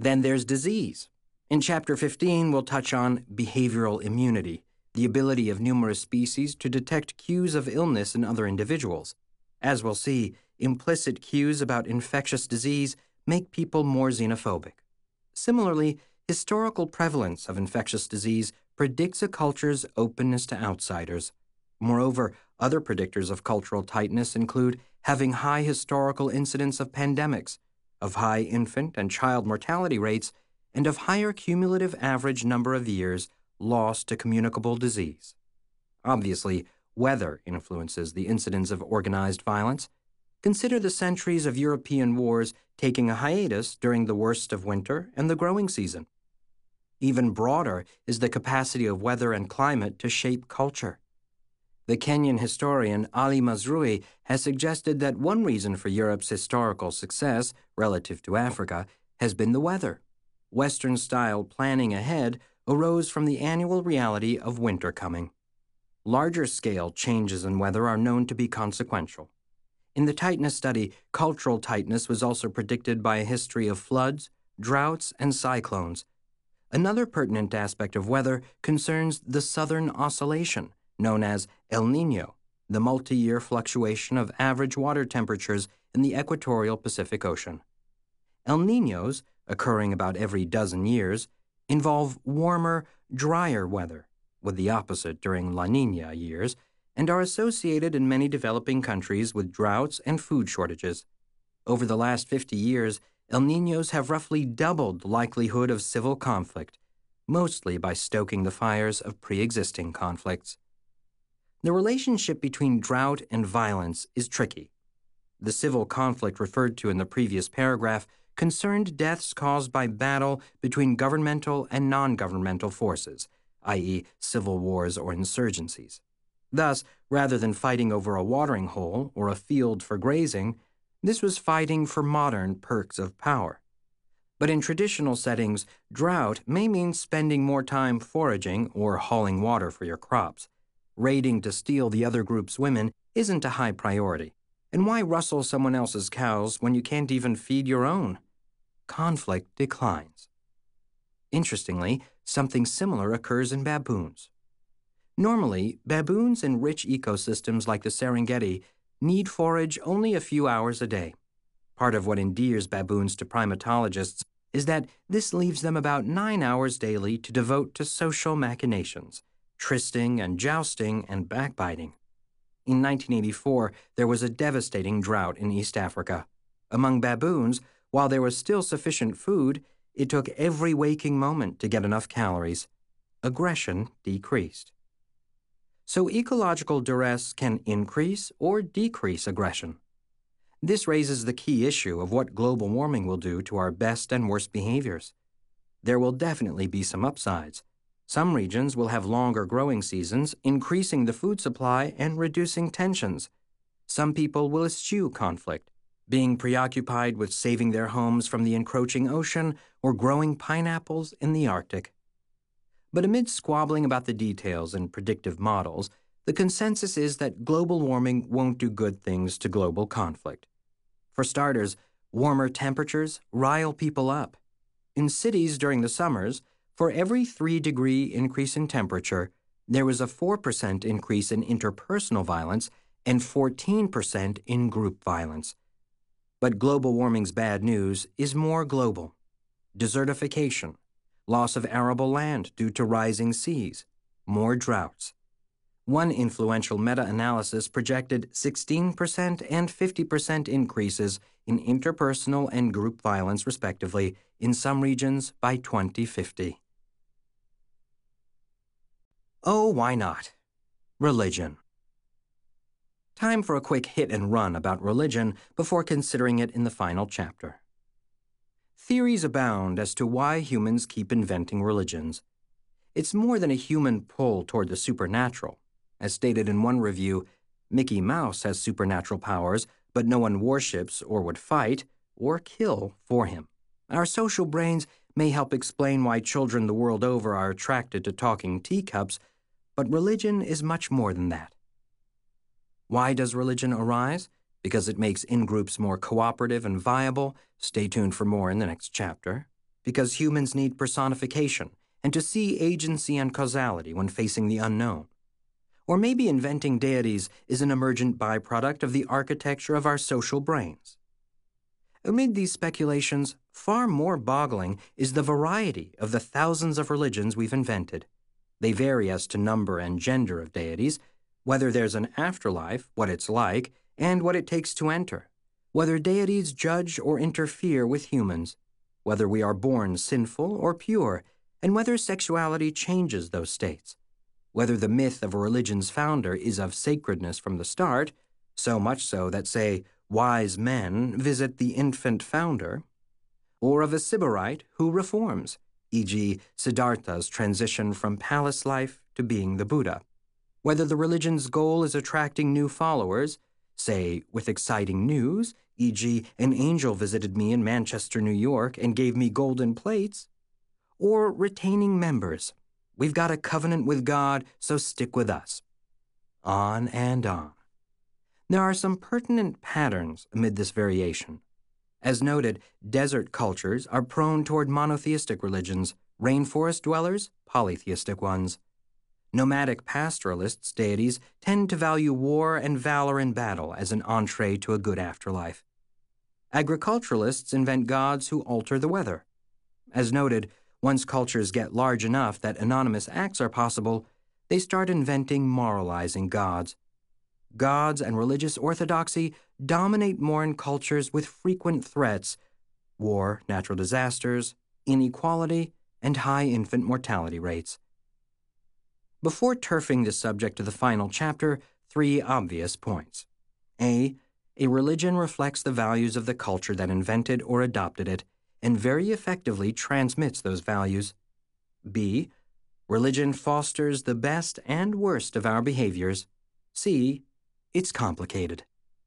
Then there's disease. In Chapter fifteen, we'll touch on behavioral immunity, the ability of numerous species to detect cues of illness in other individuals. As we'll see, implicit cues about infectious disease make people more xenophobic. Similarly, historical prevalence of infectious disease predicts a culture's openness to outsiders. Moreover, other predictors of cultural tightness include having high historical incidence of pandemics, of high infant and child mortality rates, and of higher cumulative average number of years lost to communicable disease. Obviously, weather influences the incidence of organized violence. Consider the centuries of European wars taking a hiatus during the worst of winter and the growing season. Even broader is the capacity of weather and climate to shape culture. The Kenyan historian Ali Mazrui has suggested that one reason for Europe's historical success relative to Africa has been the weather. Western-style planning ahead arose from the annual reality of winter coming. Larger-scale changes in weather are known to be consequential. In the tightness study, cultural tightness was also predicted by a history of floods, droughts, and cyclones. Another pertinent aspect of weather concerns the southern oscillation, known as El Niño, the multi-year fluctuation of average water temperatures in the equatorial Pacific Ocean. El Niños, occurring about every dozen years, involve warmer, drier weather, with the opposite during La Niña years, and are associated in many developing countries with droughts and food shortages. Over the last fifty years, El Niños have roughly doubled the likelihood of civil conflict, mostly by stoking the fires of pre-existing conflicts. The relationship between drought and violence is tricky. The civil conflict referred to in the previous paragraph concerned deaths caused by battle between governmental and non-governmental forces, that is civil wars or insurgencies. Thus, rather than fighting over a watering hole or a field for grazing, this was fighting for modern perks of power. But in traditional settings, drought may mean spending more time foraging or hauling water for your crops. Raiding to steal the other group's women isn't a high priority. And why rustle someone else's cows when you can't even feed your own? Conflict declines. Interestingly, something similar occurs in baboons. Normally, baboons in rich ecosystems like the Serengeti need forage only a few hours a day. Part of what endears baboons to primatologists is that this leaves them about nine hours daily to devote to social machinations, trysting and jousting and backbiting. In nineteen eighty-four, there was a devastating drought in East Africa. Among baboons, while there was still sufficient food, it took every waking moment to get enough calories. Aggression decreased. So ecological duress can increase or decrease aggression. This raises the key issue of what global warming will do to our best and worst behaviors. There will definitely be some upsides. Some regions will have longer growing seasons, increasing the food supply and reducing tensions. Some people will eschew conflict, being preoccupied with saving their homes from the encroaching ocean or growing pineapples in the Arctic. But amid squabbling about the details and predictive models, the consensus is that global warming won't do good things to global conflict. For starters, warmer temperatures rile people up. In cities during the summers, for every three degree increase in temperature, there was a four percent increase in interpersonal violence and fourteen percent in group violence. But global warming's bad news is more global. Desertification, loss of arable land due to rising seas, more droughts. One influential meta-analysis projected sixteen percent and fifty percent increases in interpersonal and group violence, respectively, in some regions by twenty fifty. Oh, why not? Religion. Time for a quick hit and run about religion before considering it in the final chapter. Theories abound as to why humans keep inventing religions. It's more than a human pull toward the supernatural. As stated in one review, Mickey Mouse has supernatural powers, but no one worships or would fight or kill for him. Our social brains may help explain why children the world over are attracted to talking teacups, but religion is much more than that. Why does religion arise? Because it makes in-groups more cooperative and viable. Stay tuned for more in the next chapter. because humans need personification and to see agency and causality when facing the unknown. Or maybe inventing deities is an emergent byproduct of the architecture of our social brains. Amid these speculations, far more boggling is the variety of the thousands of religions we've invented. They vary as to number and gender of deities, whether there's an afterlife, what it's like, and what it takes to enter, whether deities judge or interfere with humans, whether we are born sinful or pure, and whether sexuality changes those states, whether the myth of a religion's founder is of sacredness from the start, so much so that, say, wise men visit the infant founder, or of a sybarite who reforms, for example Siddhartha's transition from palace life to being the Buddha, whether the religion's goal is attracting new followers, say, with exciting news, for example an angel visited me in Manchester, New York, and gave me golden plates, or retaining members. We've got a covenant with God, so stick with us. On and on. There are some pertinent patterns amid this variation. As noted, desert cultures are prone toward monotheistic religions, rainforest dwellers, polytheistic ones. Nomadic pastoralists' deities tend to value war and valor in battle as an entree to a good afterlife. Agriculturalists invent gods who alter the weather. As noted, once cultures get large enough that anonymous acts are possible, they start inventing moralizing gods. Gods and religious orthodoxy dominate more in cultures with frequent threats, war, natural disasters, inequality, and high infant mortality rates. Before turfing this subject to the final chapter, three obvious points. A. A religion reflects the values of the culture that invented or adopted it, and very effectively transmits those values. B. Religion fosters the best and worst of our behaviors. C. It's complicated.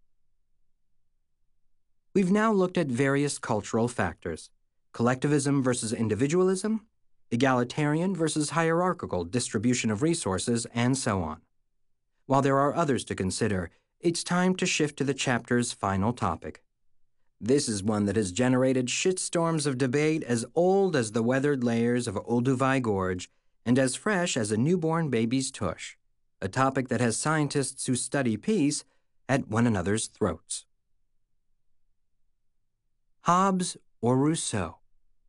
We've now looked at various cultural factors: collectivism versus individualism, egalitarian versus hierarchical distribution of resources, and so on. While there are others to consider, it's time to shift to the chapter's final topic. This is one that has generated shitstorms of debate as old as the weathered layers of Olduvai Gorge and as fresh as a newborn baby's tush, a topic that has scientists who study peace at one another's throats. Hobbes or Rousseau?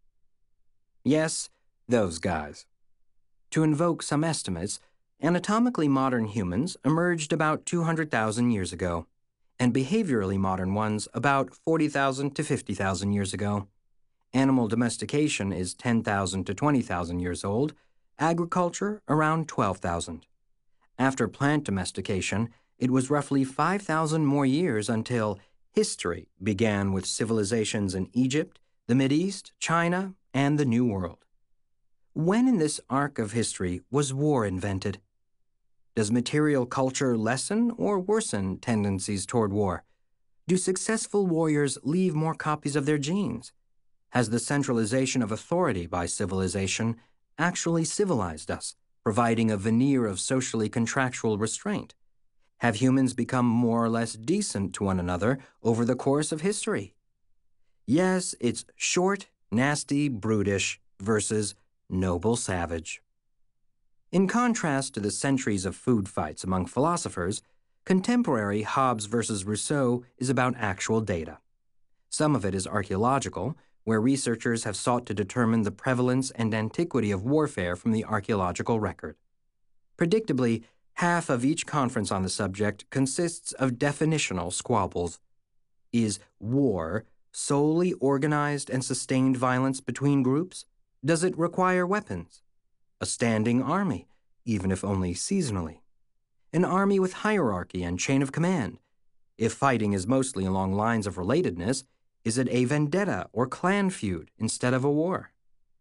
Yes, those guys. To invoke some estimates, anatomically modern humans emerged about two hundred thousand years ago, and behaviorally modern ones about forty thousand to fifty thousand years ago. Animal domestication is ten thousand to twenty thousand years old, agriculture around twelve thousand. After plant domestication, it was roughly five thousand more years until history began with civilizations in Egypt, the Mideast, China, and the New World. When in this arc of history was war invented? Does material culture lessen or worsen tendencies toward war? Do successful warriors leave more copies of their genes? Has the centralization of authority by civilization actually civilized us, providing a veneer of socially contractual restraint? Have humans become more or less decent to one another over the course of history? Yes, it's short, nasty, brutish versus noble savage. In contrast to the centuries of food fights among philosophers, contemporary Hobbes versus Rousseau is about actual data. Some of it is archaeological, where researchers have sought to determine the prevalence and antiquity of warfare from the archaeological record. Predictably, half of each conference on the subject consists of definitional squabbles. Is war solely organized and sustained violence between groups? Does it require weapons? A standing army, even if only seasonally. An army with hierarchy and chain of command. If fighting is mostly along lines of relatedness, is it a vendetta or clan feud instead of a war?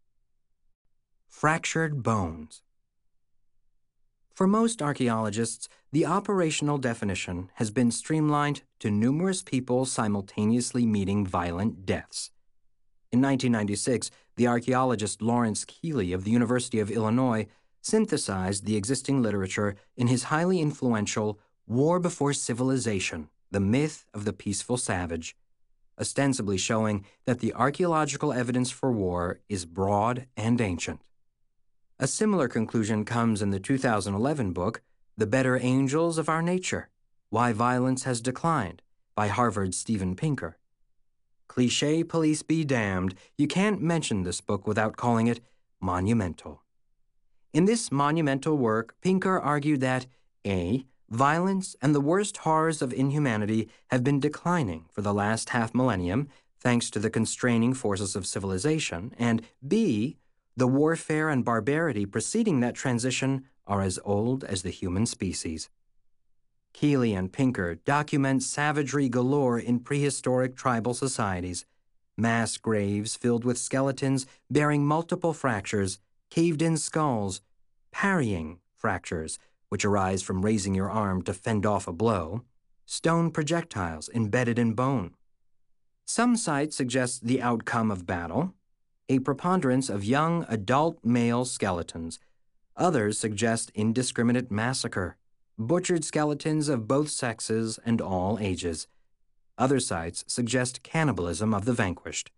Fractured bones. For most archaeologists, the operational definition has been streamlined to numerous people simultaneously meeting violent deaths. In nineteen ninety-six, the archaeologist Lawrence Keeley of the University of Illinois synthesized the existing literature in his highly influential War Before Civilization, The Myth of the Peaceful Savage. ostensibly showing that the archaeological evidence for war is broad and ancient. A similar conclusion comes in the two thousand eleven book, The Better Angels of Our Nature: Why Violence Has Declined, by Harvard's Steven Pinker. Cliché police be damned, you can't mention this book without calling it monumental. In this monumental work, Pinker argued that A. Violence and the worst horrors of inhumanity have been declining for the last half millennium thanks to the constraining forces of civilization, and B. The warfare and barbarity preceding that transition are as old as the human species. Keeley and Pinker document savagery galore in prehistoric tribal societies, mass graves filled with skeletons bearing multiple fractures, caved-in skulls, parrying fractures, which arise from raising your arm to fend off a blow, stone projectiles embedded in bone. Some sites suggest the outcome of battle, a preponderance of young adult male skeletons. Others suggest indiscriminate massacre, butchered skeletons of both sexes and all ages. Other sites suggest cannibalism of the vanquished.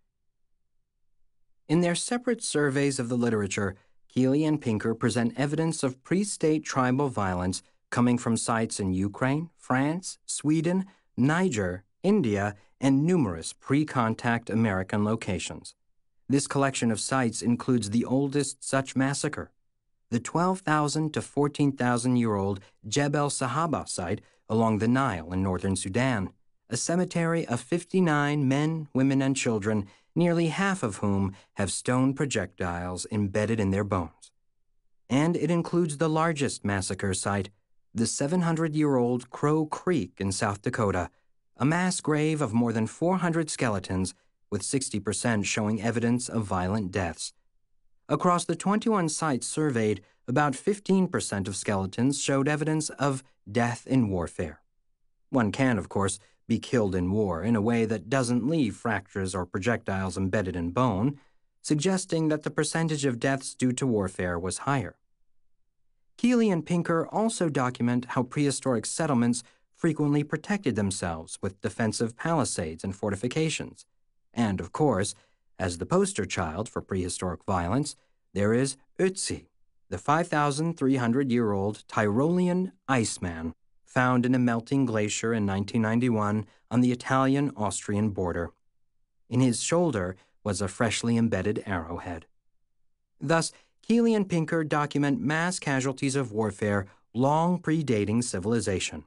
In their separate surveys of the literature, Keeley and Pinker present evidence of pre-state tribal violence coming from sites in Ukraine, France, Sweden, Niger, India, and numerous pre-contact American locations. This collection of sites includes the oldest such massacre, the twelve thousand to fourteen thousand year old Jebel Sahaba site along the Nile in northern Sudan, a cemetery of fifty-nine men, women, and children, nearly half of whom have stone projectiles embedded in their bones. And it includes the largest massacre site, the seven hundred year old Crow Creek in South Dakota, a mass grave of more than four hundred skeletons, with sixty percent showing evidence of violent deaths. Across the twenty-one sites surveyed, about fifteen percent of skeletons showed evidence of death in warfare. One can, of course, be killed in war in a way that doesn't leave fractures or projectiles embedded in bone, suggesting that the percentage of deaths due to warfare was higher. Keeley and Pinker also document how prehistoric settlements frequently protected themselves with defensive palisades and fortifications. And, of course, as the poster child for prehistoric violence, there is Ötzi, the five thousand three hundred year old Tyrolean iceman found in a melting glacier in nineteen ninety-one on the Italian-Austrian border. In his shoulder was a freshly embedded arrowhead. Thus, Keeley and Pinker document mass casualties of warfare long predating civilization.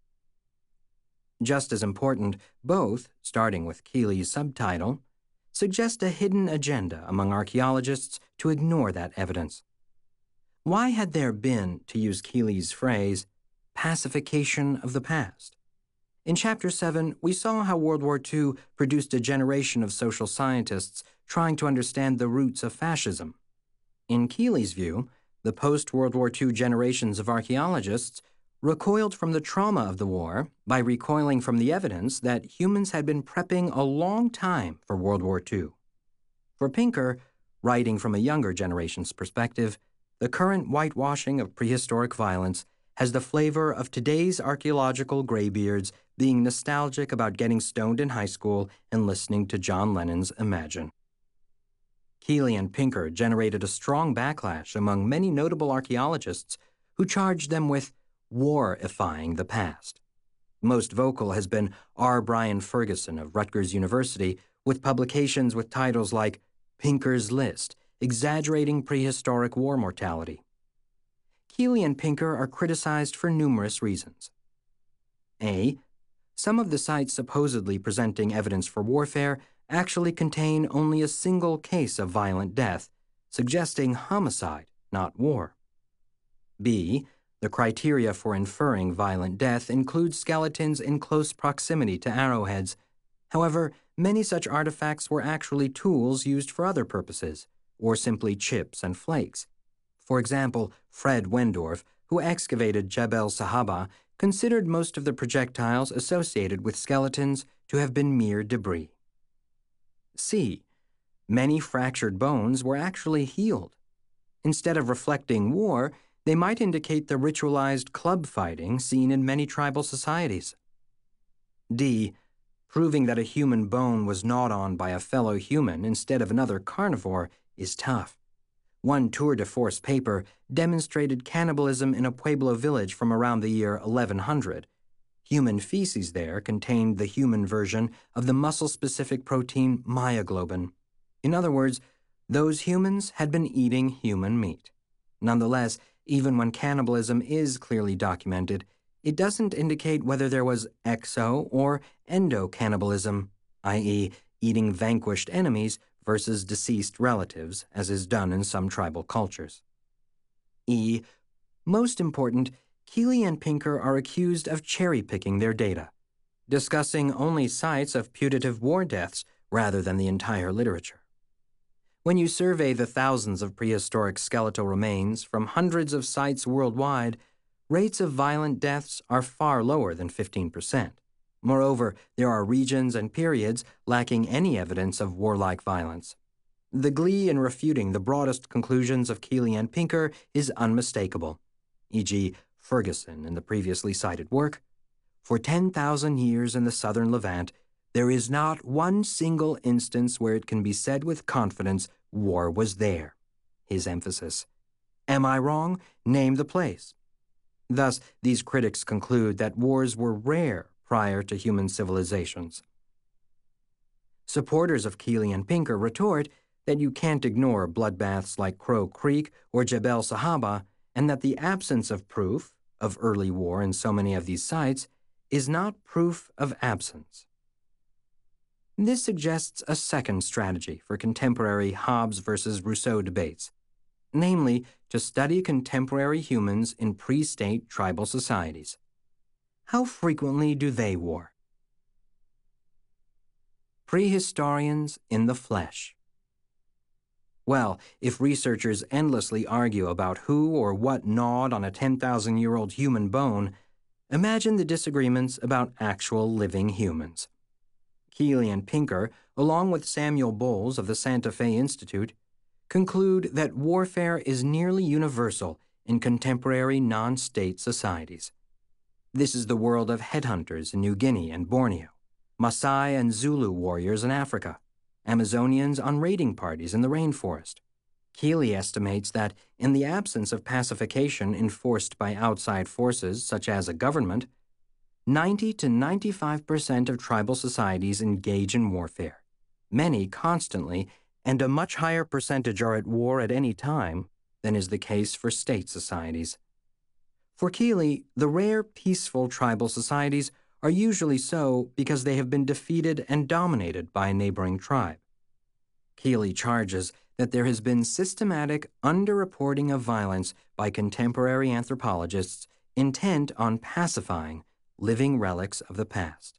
Just as important, both, starting with Keeley's subtitle, suggest a hidden agenda among archaeologists to ignore that evidence. Why had there been, to use Keeley's phrase, pacification of the past? In Chapter seven, we saw how World War Two produced a generation of social scientists trying to understand the roots of fascism. In Keeley's view, the post-World War Two generations of archaeologists recoiled from the trauma of the war by recoiling from the evidence that humans had been prepping a long time for World War Two. For Pinker, writing from a younger generation's perspective, the current whitewashing of prehistoric violence has the flavor of today's archaeological graybeards being nostalgic about getting stoned in high school and listening to John Lennon's Imagine. Keeley and Pinker generated a strong backlash among many notable archaeologists who charged them with war-ifying the past. Most vocal has been R. Brian Ferguson of Rutgers University, with publications with titles like Pinker's List, Exaggerating Prehistoric War Mortality. Keeley and Pinker are criticized for numerous reasons. A. Some of the sites supposedly presenting evidence for warfare actually contain only a single case of violent death, suggesting homicide, not war. B. The criteria for inferring violent death includes skeletons in close proximity to arrowheads. However, many such artifacts were actually tools used for other purposes, or simply chips and flakes. For example, Fred Wendorf, who excavated Jebel Sahaba, considered most of the projectiles associated with skeletons to have been mere debris. C. Many fractured bones were actually healed. Instead of reflecting war, they might indicate the ritualized club fighting seen in many tribal societies. D. Proving that a human bone was gnawed on by a fellow human instead of another carnivore is tough. One tour de force paper demonstrated cannibalism in a Pueblo village from around the year eleven hundred. Human feces there contained the human version of the muscle-specific protein myoglobin. In other words, those humans had been eating human meat. Nonetheless, even when cannibalism is clearly documented, it doesn't indicate whether there was exo- or endocannibalism, that is, eating vanquished enemies versus deceased relatives, as is done in some tribal cultures. E. Most important, Keeley and Pinker are accused of cherry-picking their data, discussing only sites of putative war deaths rather than the entire literature. When you survey the thousands of prehistoric skeletal remains from hundreds of sites worldwide, rates of violent deaths are far lower than fifteen percent. Moreover, there are regions and periods lacking any evidence of warlike violence. The glee in refuting the broadest conclusions of Keeley and Pinker is unmistakable, for example, Ferguson in the previously cited work. For ten thousand years in the southern Levant, there is not one single instance where it can be said with confidence war was there. His emphasis. Am I wrong? Name the place. Thus, these critics conclude that wars were rare prior to human civilizations. Supporters of Keeley and Pinker retort that you can't ignore bloodbaths like Crow Creek or Jebel Sahaba, and that the absence of proof of early war in so many of these sites is not proof of absence. This suggests a second strategy for contemporary Hobbes versus Rousseau debates, namely to study contemporary humans in pre-state tribal societies. How frequently do they war? Prehistorians in the flesh. Well, if researchers endlessly argue about who or what gnawed on a ten thousand year old human bone, imagine the disagreements about actual living humans. Keeley and Pinker, along with Samuel Bowles of the Santa Fe Institute, conclude that warfare is nearly universal in contemporary non-state societies. This is the world of headhunters in New Guinea and Borneo, Maasai and Zulu warriors in Africa, Amazonians on raiding parties in the rainforest. Keeley estimates that, in the absence of pacification enforced by outside forces such as a government, ninety to ninety-five percent of tribal societies engage in warfare, many constantly, and a much higher percentage are at war at any time than is the case for state societies. For Keeley, the rare peaceful tribal societies are usually so because they have been defeated and dominated by a neighboring tribe. Keeley charges that there has been systematic underreporting of violence by contemporary anthropologists intent on pacifying living relics of the past.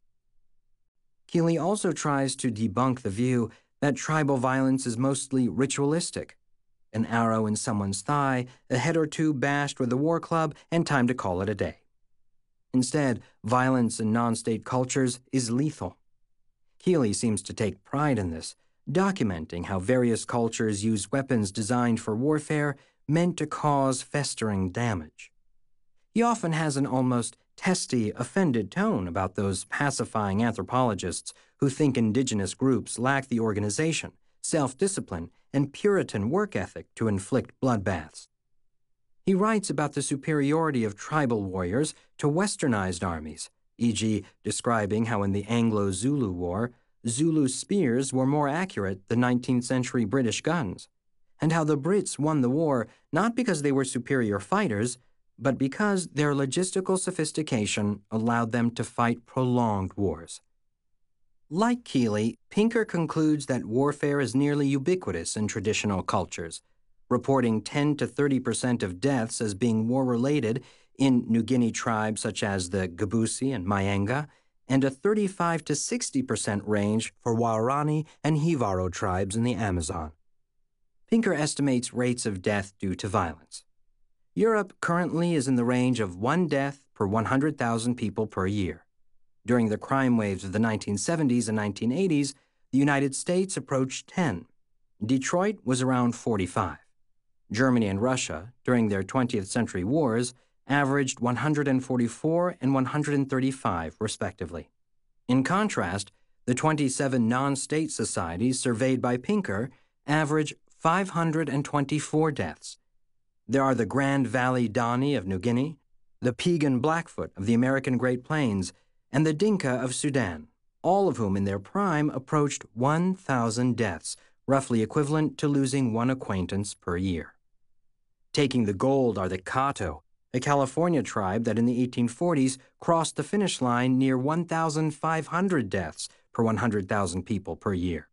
Keeley also tries to debunk the view that tribal violence is mostly ritualistic. An arrow in someone's thigh, a head or two bashed with a war club, and time to call it a day. Instead, violence in non-state cultures is lethal. Keeley seems to take pride in this, documenting how various cultures use weapons designed for warfare meant to cause festering damage. He often has an almost testy, offended tone about those pacifying anthropologists who think indigenous groups lack the organization, self-discipline, and Puritan work ethic to inflict bloodbaths. He writes about the superiority of tribal warriors to westernized armies, for example describing how in the Anglo-Zulu War, Zulu spears were more accurate than nineteenth century British guns, and how the Brits won the war not because they were superior fighters, but because their logistical sophistication allowed them to fight prolonged wars. Like Keeley, Pinker concludes that warfare is nearly ubiquitous in traditional cultures, reporting ten to thirty percent of deaths as being war-related in New Guinea tribes such as the Gabusi and Mayenga, and a thirty-five to sixty percent range for Waorani and Jivaro tribes in the Amazon. Pinker estimates rates of death due to violence. Europe currently is in the range of one death per one hundred thousand people per year. During the crime waves of the nineteen seventies and nineteen eighties, the United States approached ten. Detroit was around forty-five. Germany and Russia, during their twentieth century wars, averaged one hundred forty-four and one hundred thirty-five, respectively. In contrast, The twenty-seven non-state societies surveyed by Pinker average five hundred twenty-four deaths. There are the Grand Valley Dani of New Guinea, the Piegan Blackfoot of the American Great Plains, and the Dinka of Sudan, all of whom in their prime approached one thousand deaths, roughly equivalent to losing one acquaintance per year. Taking the gold are the Kato, a California tribe that in the eighteen forties crossed the finish line near one thousand five hundred deaths per one hundred thousand people per year.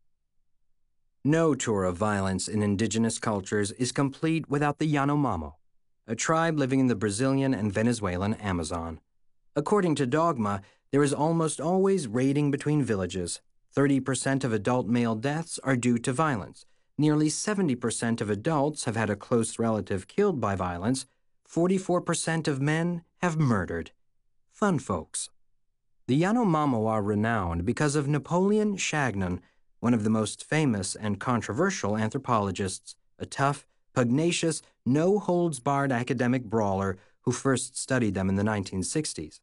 No tour of violence in indigenous cultures is complete without the Yanomamo, a tribe living in the Brazilian and Venezuelan Amazon. According to dogma, there is almost always raiding between villages. thirty percent of adult male deaths are due to violence. Nearly seventy percent of adults have had a close relative killed by violence. forty-four percent of men have murdered. Fun folks. The Yanomamo are renowned because of Napoleon Chagnon, one of the most famous and controversial anthropologists, a tough, pugnacious, no-holds-barred academic brawler who first studied them in the nineteen sixties.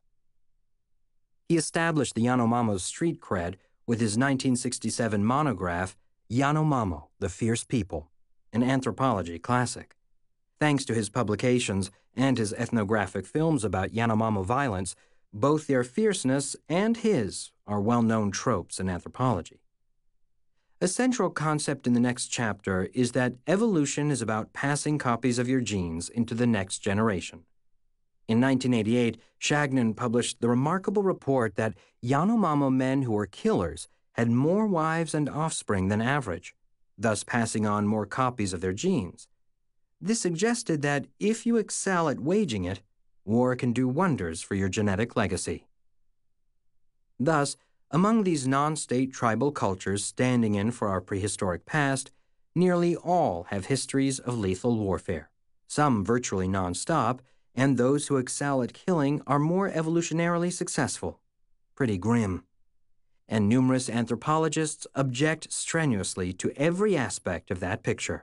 He established the Yanomamo's street cred with his nineteen sixty-seven monograph, Yanomamo, the Fierce People, an anthropology classic. Thanks to his publications and his ethnographic films about Yanomamo violence, both their fierceness and his are well-known tropes in anthropology. A central concept in the next chapter is that evolution is about passing copies of your genes into the next generation. In nineteen eighty-eight, Chagnon published the remarkable report that Yanomamo men who were killers had more wives and offspring than average, thus passing on more copies of their genes. This suggested that if you excel at waging it, war can do wonders for your genetic legacy. Thus, among these non-state tribal cultures standing in for our prehistoric past, nearly all have histories of lethal warfare, some virtually non-stop, and those who excel at killing are more evolutionarily successful. Pretty grim. And numerous anthropologists object strenuously to every aspect of that picture.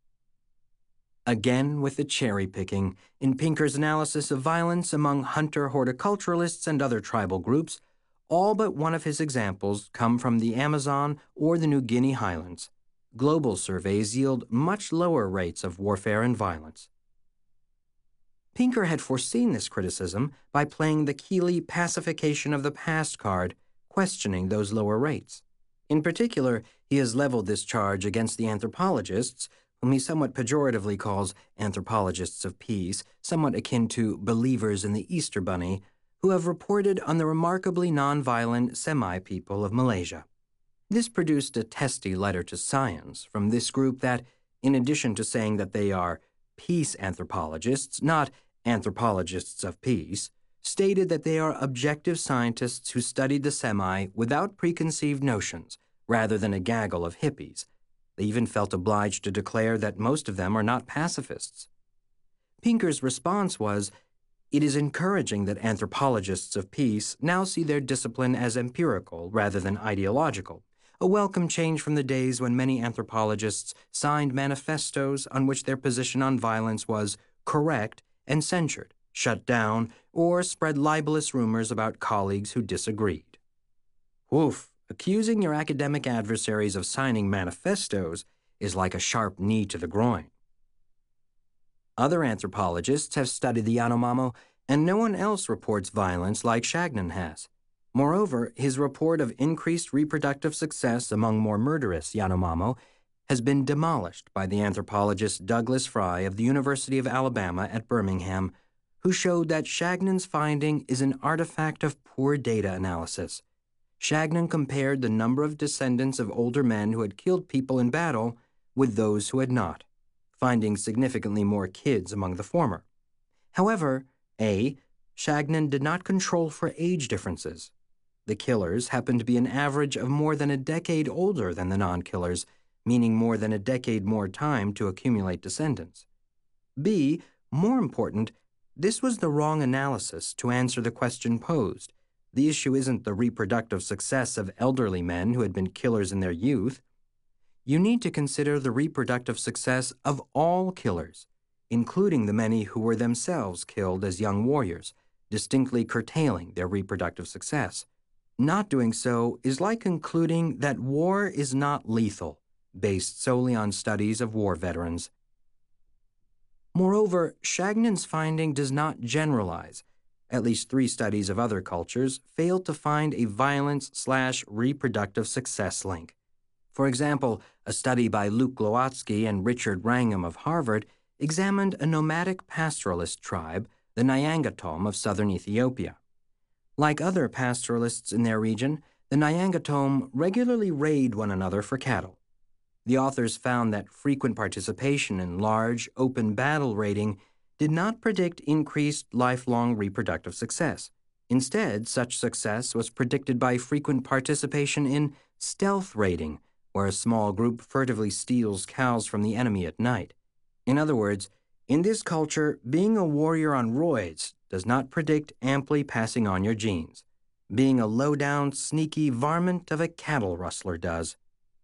Again with the cherry-picking, in Pinker's analysis of violence among hunter-horticulturalists and other tribal groups, all but one of his examples come from the Amazon or the New Guinea highlands. Global surveys yield much lower rates of warfare and violence. Pinker had foreseen this criticism by playing the Keeley pacification of the past card, questioning those lower rates. In particular, he has leveled this charge against the anthropologists, whom he somewhat pejoratively calls anthropologists of peace, somewhat akin to believers in the Easter Bunny, who have reported on the remarkably nonviolent Semai people of Malaysia. This produced a testy letter to Science from this group that, in addition to saying that they are peace anthropologists, not anthropologists of peace, stated that they are objective scientists who studied the Semai without preconceived notions, rather than a gaggle of hippies. They even felt obliged to declare that most of them are not pacifists. Pinker's response was, "It is encouraging that anthropologists of peace now see their discipline as empirical rather than ideological, a welcome change from the days when many anthropologists signed manifestos on which their position on violence was correct and censured, shut down, or spread libelous rumors about colleagues who disagreed." Woof, accusing your academic adversaries of signing manifestos is like a sharp knee to the groin. Other anthropologists have studied the Yanomamo, and no one else reports violence like Chagnon has. Moreover, his report of increased reproductive success among more murderous Yanomamo has been demolished by the anthropologist Douglas Fry of the University of Alabama at Birmingham, who showed that Chagnon's finding is an artifact of poor data analysis. Chagnon compared the number of descendants of older men who had killed people in battle with those who had not, finding significantly more kids among the former. However, A. Chagnon did not control for age differences. The killers happened to be an average of more than a decade older than the non-killers, meaning more than a decade more time to accumulate descendants. B. More important, this was the wrong analysis to answer the question posed. The issue isn't the reproductive success of elderly men who had been killers in their youth. You need to consider the reproductive success of all killers, including the many who were themselves killed as young warriors, distinctly curtailing their reproductive success. Not doing so is like concluding that war is not lethal, based solely on studies of war veterans. Moreover, Shagnan's finding does not generalize. At least three studies of other cultures failed to find a violence slash reproductive success link. For example, a study by Luke Glowatsky and Richard Wrangham of Harvard examined a nomadic pastoralist tribe, the Nyangatom of southern Ethiopia. Like other pastoralists in their region, the Nyangatom regularly raid one another for cattle. The authors found that frequent participation in large, open battle raiding did not predict increased lifelong reproductive success. Instead, such success was predicted by frequent participation in stealth raiding, where a small group furtively steals cows from the enemy at night. In other words, in this culture, being a warrior on roids does not predict amply passing on your genes. Being a low-down, sneaky varmint of a cattle rustler does.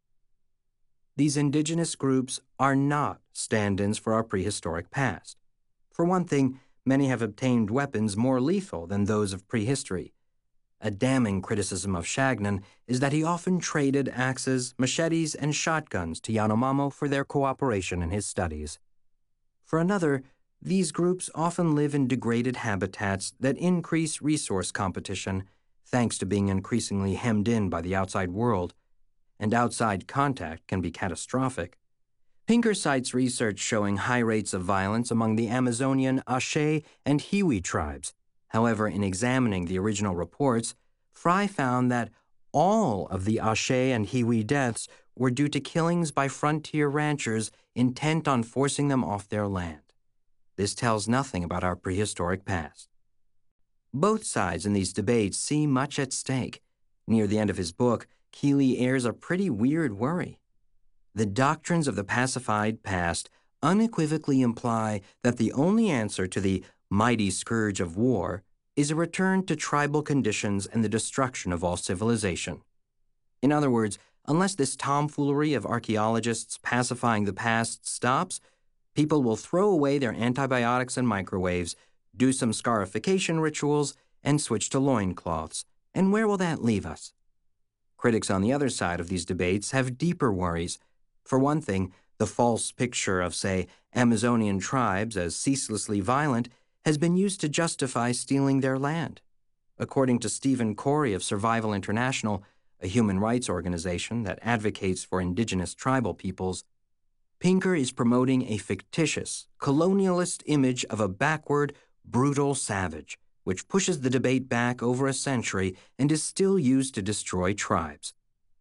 These indigenous groups are not stand-ins for our prehistoric past. For one thing, many have obtained weapons more lethal than those of prehistory. A damning criticism of Shagnan is that he often traded axes, machetes, and shotguns to Yanomamo for their cooperation in his studies. For another, these groups often live in degraded habitats that increase resource competition, thanks to being increasingly hemmed in by the outside world, and outside contact can be catastrophic. Pinker cites research showing high rates of violence among the Amazonian Ashe and Hiwi tribes. However, in examining the original reports, Fry found that all of the Ashe and Hiwi deaths were due to killings by frontier ranchers intent on forcing them off their land. This tells nothing about our prehistoric past. Both sides in these debates see much at stake. Near the end of his book, Keeley airs a pretty weird worry. The doctrines of the pacified past unequivocally imply that the only answer to the mighty scourge of war is a return to tribal conditions and the destruction of all civilization. In other words, unless this tomfoolery of archaeologists pacifying the past stops, people will throw away their antibiotics and microwaves, do some scarification rituals, and switch to loincloths. And where will that leave us? Critics on the other side of these debates have deeper worries. For one thing, the false picture of, say, Amazonian tribes as ceaselessly violent has been used to justify stealing their land. According to Stephen Corey of Survival International, a human rights organization that advocates for indigenous tribal peoples, Pinker is promoting a fictitious, colonialist image of a backward, brutal savage, which pushes the debate back over a century and is still used to destroy tribes.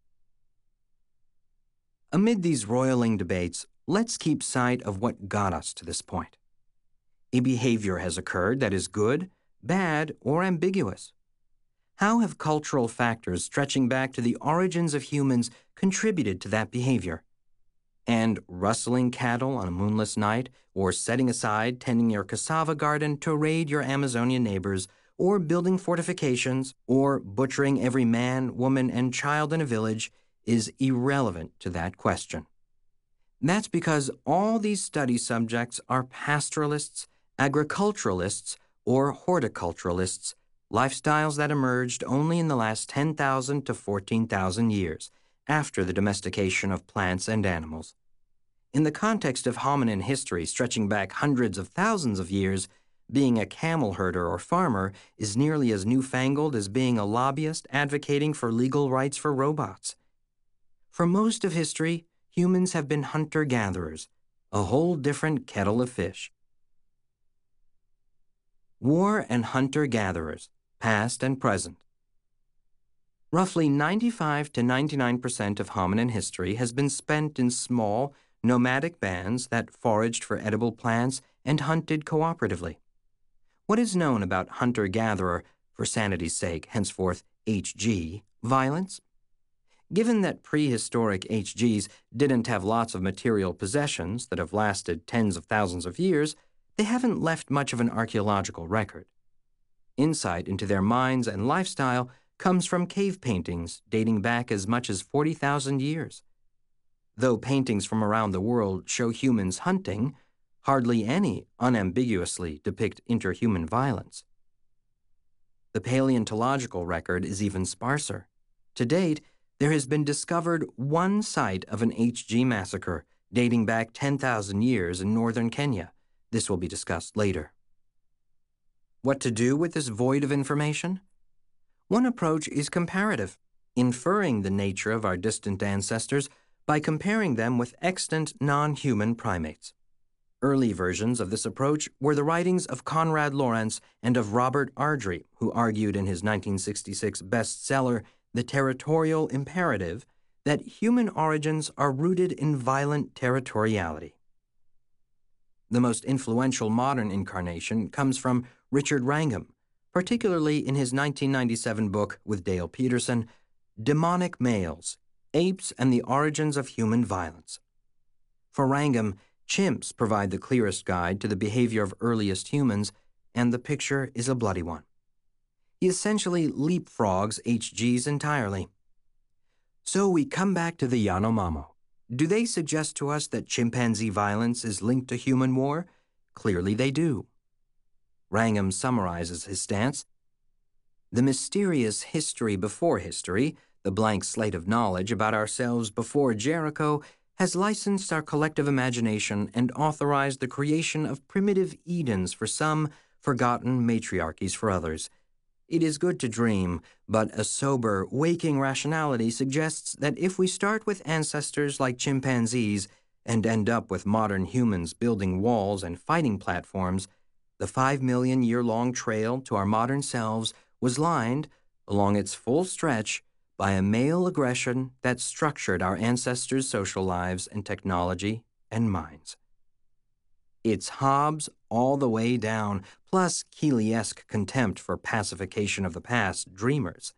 Amid these roiling debates, let's keep sight of what got us to this point. A behavior has occurred that is good, bad, or ambiguous. How have cultural factors stretching back to the origins of humans contributed to that behavior? And rustling cattle on a moonless night, or setting aside tending your cassava garden to raid your Amazonian neighbors, or building fortifications, or butchering every man, woman, and child in a village is irrelevant to that question. That's because all these study subjects are pastoralists, agriculturalists, or horticulturalists, lifestyles that emerged only in the last ten thousand to fourteen thousand years, after the domestication of plants and animals. In the context of hominin history stretching back hundreds of thousands of years, being a camel herder or farmer is nearly as newfangled as being a lobbyist advocating for legal rights for robots. For most of history, humans have been hunter-gatherers, a whole different kettle of fish. War and hunter-gatherers, past and present. Roughly ninety-five to ninety-nine percent of hominin history has been spent in small, nomadic bands that foraged for edible plants and hunted cooperatively. What is known about hunter-gatherer, for sanity's sake, henceforth H G, violence? Given that prehistoric H Gs didn't have lots of material possessions that have lasted tens of thousands of years, they haven't left much of an archaeological record. Insight into their minds and lifestyle comes from cave paintings dating back as much as forty thousand years. Though paintings from around the world show humans hunting, hardly any unambiguously depict interhuman violence. The paleontological record is even sparser. To date, there has been discovered one site of an H G massacre dating back ten thousand years in northern Kenya. This will be discussed later. What to do with this void of information? One approach is comparative, inferring the nature of our distant ancestors by comparing them with extant non-human primates. Early versions of this approach were the writings of Konrad Lorenz and of Robert Ardrey, who argued in his nineteen sixty-six bestseller, The Territorial Imperative, that human origins are rooted in violent territoriality. The most influential modern incarnation comes from Richard Wrangham, particularly in his nineteen ninety-seven book with Dale Peterson, Demonic Males, Apes and the Origins of Human Violence. For Wrangham, chimps provide the clearest guide to the behavior of earliest humans, and the picture is a bloody one. He essentially leapfrogs H Gs entirely. So we come back to the Yanomamo. Do they suggest to us that chimpanzee violence is linked to human war? Clearly they do. Wrangham summarizes his stance. The mysterious history before history, the blank slate of knowledge about ourselves before Jericho, has licensed our collective imagination and authorized the creation of primitive Edens for some, forgotten matriarchies for others. It is good to dream, but a sober, waking rationality suggests that if we start with ancestors like chimpanzees and end up with modern humans building walls and fighting platforms, the five million year long trail to our modern selves was lined, along its full stretch, by a male aggression that structured our ancestors' social lives and technology and minds. It's Hobbes all the way down, plus Keeley-esque contempt for pacification of the past dreamers.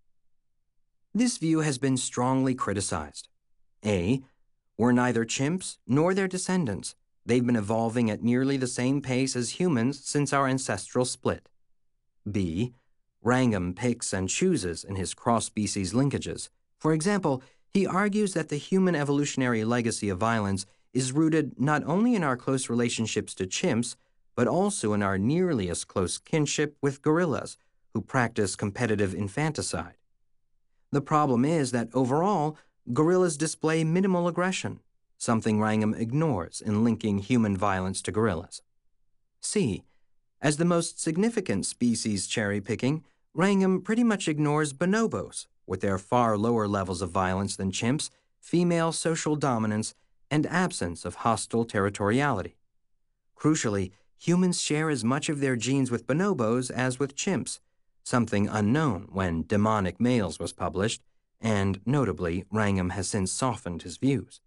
This view has been strongly criticized. A. We're neither chimps nor their descendants. They've been evolving at nearly the same pace as humans since our ancestral split. B. Wrangham picks and chooses in his cross-species linkages. For example, he argues that the human evolutionary legacy of violence is rooted not only in our close relationships to chimps, but also in our nearly as close kinship with gorillas, who practice competitive infanticide. The problem is that overall, gorillas display minimal aggression, something Wrangham ignores in linking human violence to gorillas. C. As the most significant species cherry-picking, Wrangham pretty much ignores bonobos, with their far lower levels of violence than chimps, female social dominance, and absence of hostile territoriality. Crucially, humans share as much of their genes with bonobos as with chimps, something unknown when Demonic Males was published, and notably, Wrangham has since softened his views.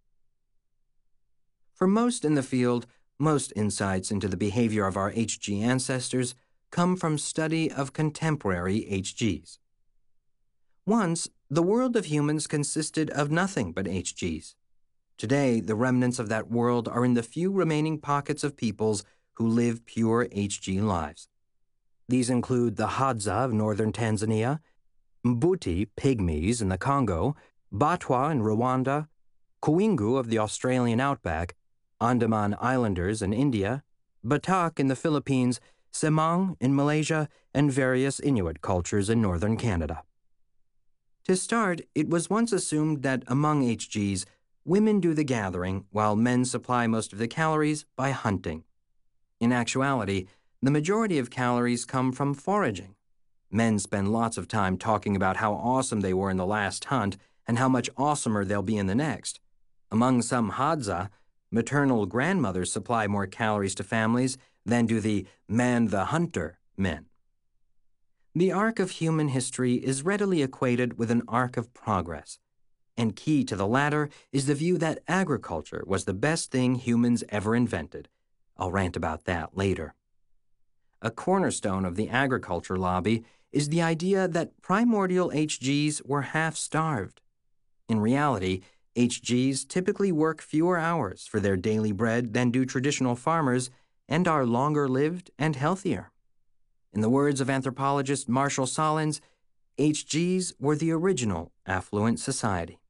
For most in the field, most insights into the behavior of our H G ancestors come from study of contemporary H Gs. Once, the world of humans consisted of nothing but H Gs. Today, the remnants of that world are in the few remaining pockets of peoples who live pure H G lives. These include the Hadza of northern Tanzania, Mbuti Pygmies in the Congo, Batwa in Rwanda, Kuingu of the Australian outback, Andaman Islanders in India, Batak in the Philippines, Semang in Malaysia, and various Inuit cultures in northern Canada. To start, it was once assumed that among H Gs, women do the gathering while men supply most of the calories by hunting. In actuality, the majority of calories come from foraging. Men spend lots of time talking about how awesome they were in the last hunt and how much awesomer they'll be in the next. Among some Hadza, maternal grandmothers supply more calories to families than do the man-the-hunter men. The arc of human history is readily equated with an arc of progress, and key to the latter is the view that agriculture was the best thing humans ever invented. I'll rant about that later. A cornerstone of the agriculture lobby is the idea that primordial H Gs were half-starved. In reality, H Gs typically work fewer hours for their daily bread than do traditional farmers and are longer-lived and healthier. In the words of anthropologist Marshall Solins, H Gs were the original affluent society.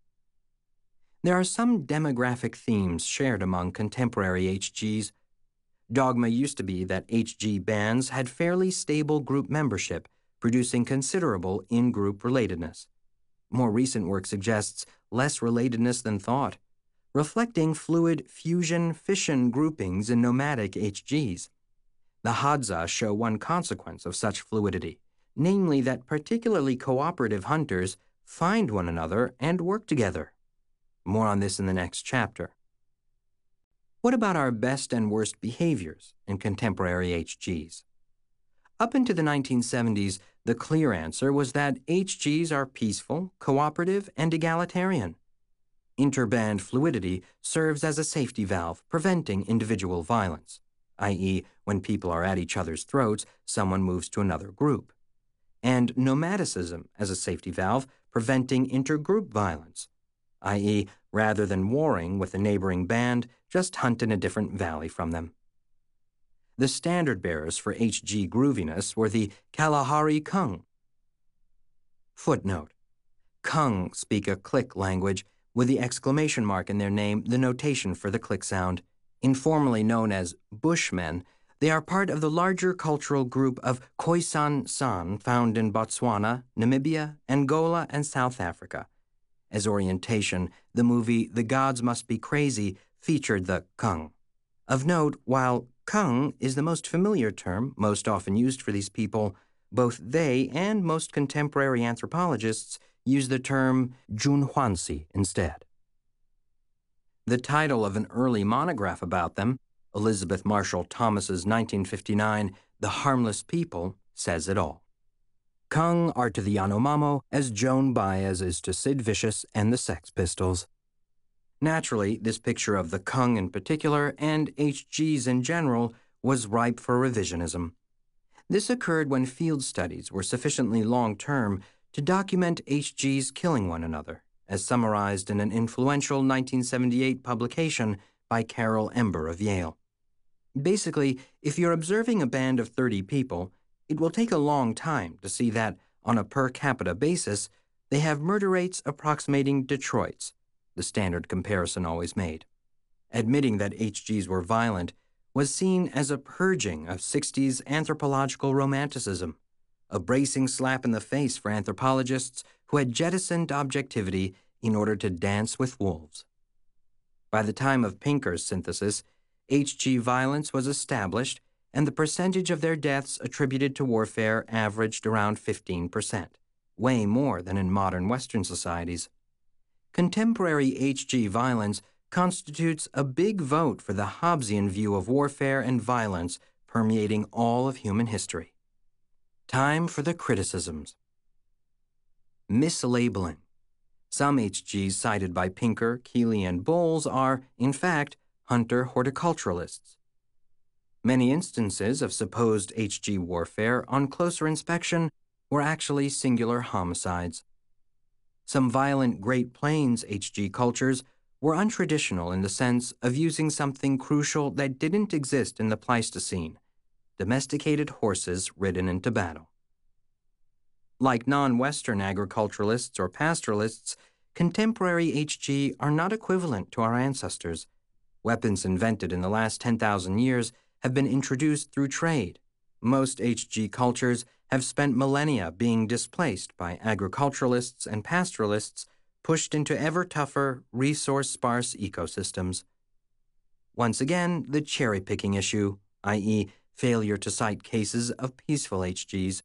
There are some demographic themes shared among contemporary H Gs. Dogma used to be that H G bands had fairly stable group membership, producing considerable in-group relatedness. More recent work suggests less relatedness than thought, reflecting fluid fusion-fission groupings in nomadic H Gs. The Hadza show one consequence of such fluidity, namely that particularly cooperative hunters find one another and work together. More on this in the next chapter. What about our best and worst behaviors in contemporary H Gs? Up into the nineteen seventies, the clear answer was that H Gs are peaceful, cooperative, and egalitarian. Interband fluidity serves as a safety valve, preventing individual violence, that is, when people are at each other's throats, someone moves to another group. And nomadicism as a safety valve, preventing intergroup violence, that is, rather than warring with a neighboring band, just hunt in a different valley from them. The standard bearers for H G grooviness were the Kalahari Kung. Footnote: Kung speak a click language with the exclamation mark in their name, the notation for the click sound. Informally known as Bushmen, they are part of the larger cultural group of Khoisan San found in Botswana, Namibia, Angola, and South Africa. As orientation, the movie The Gods Must Be Crazy featured the Kung. Of note, while Kung is the most familiar term most often used for these people, both they and most contemporary anthropologists use the term Junhuansi instead. The title of an early monograph about them, Elizabeth Marshall Thomas's nineteen fifty-nine The Harmless People, says it all. Kung are to the Yanomamo as Joan Baez is to Sid Vicious and the Sex Pistols. Naturally, this picture of the Kung in particular, and H Gs in general, was ripe for revisionism. This occurred when field studies were sufficiently long-term to document H Gs killing one another, as summarized in an influential nineteen seventy-eight publication by Carol Ember of Yale. Basically, if you're observing a band of thirty people, it will take a long time to see that, on a per capita basis, they have murder rates approximating Detroit's, the standard comparison always made. Admitting that H Gs were violent was seen as a purging of sixties anthropological romanticism, a bracing slap in the face for anthropologists who had jettisoned objectivity in order to dance with wolves. By the time of Pinker's synthesis, H G violence was established, and the percentage of their deaths attributed to warfare averaged around fifteen percent, way more than in modern Western societies. Contemporary H G violence constitutes a big vote for the Hobbesian view of warfare and violence permeating all of human history. Time for the criticisms. Mislabeling. Some H Gs cited by Pinker, Keeley, and Bowles are, in fact, hunter-horticulturalists. Many instances of supposed H G warfare, on closer inspection, were actually singular homicides. Some violent Great Plains H G cultures were untraditional in the sense of using something crucial that didn't exist in the Pleistocene: domesticated horses ridden into battle. Like non-Western agriculturalists or pastoralists, contemporary H G are not equivalent to our ancestors. Weapons invented in the last ten thousand years have been introduced through trade. Most H G cultures have spent millennia being displaced by agriculturalists and pastoralists, pushed into ever-tougher, resource-sparse ecosystems. Once again, the cherry-picking issue, that is, failure to cite cases of peaceful H Gs.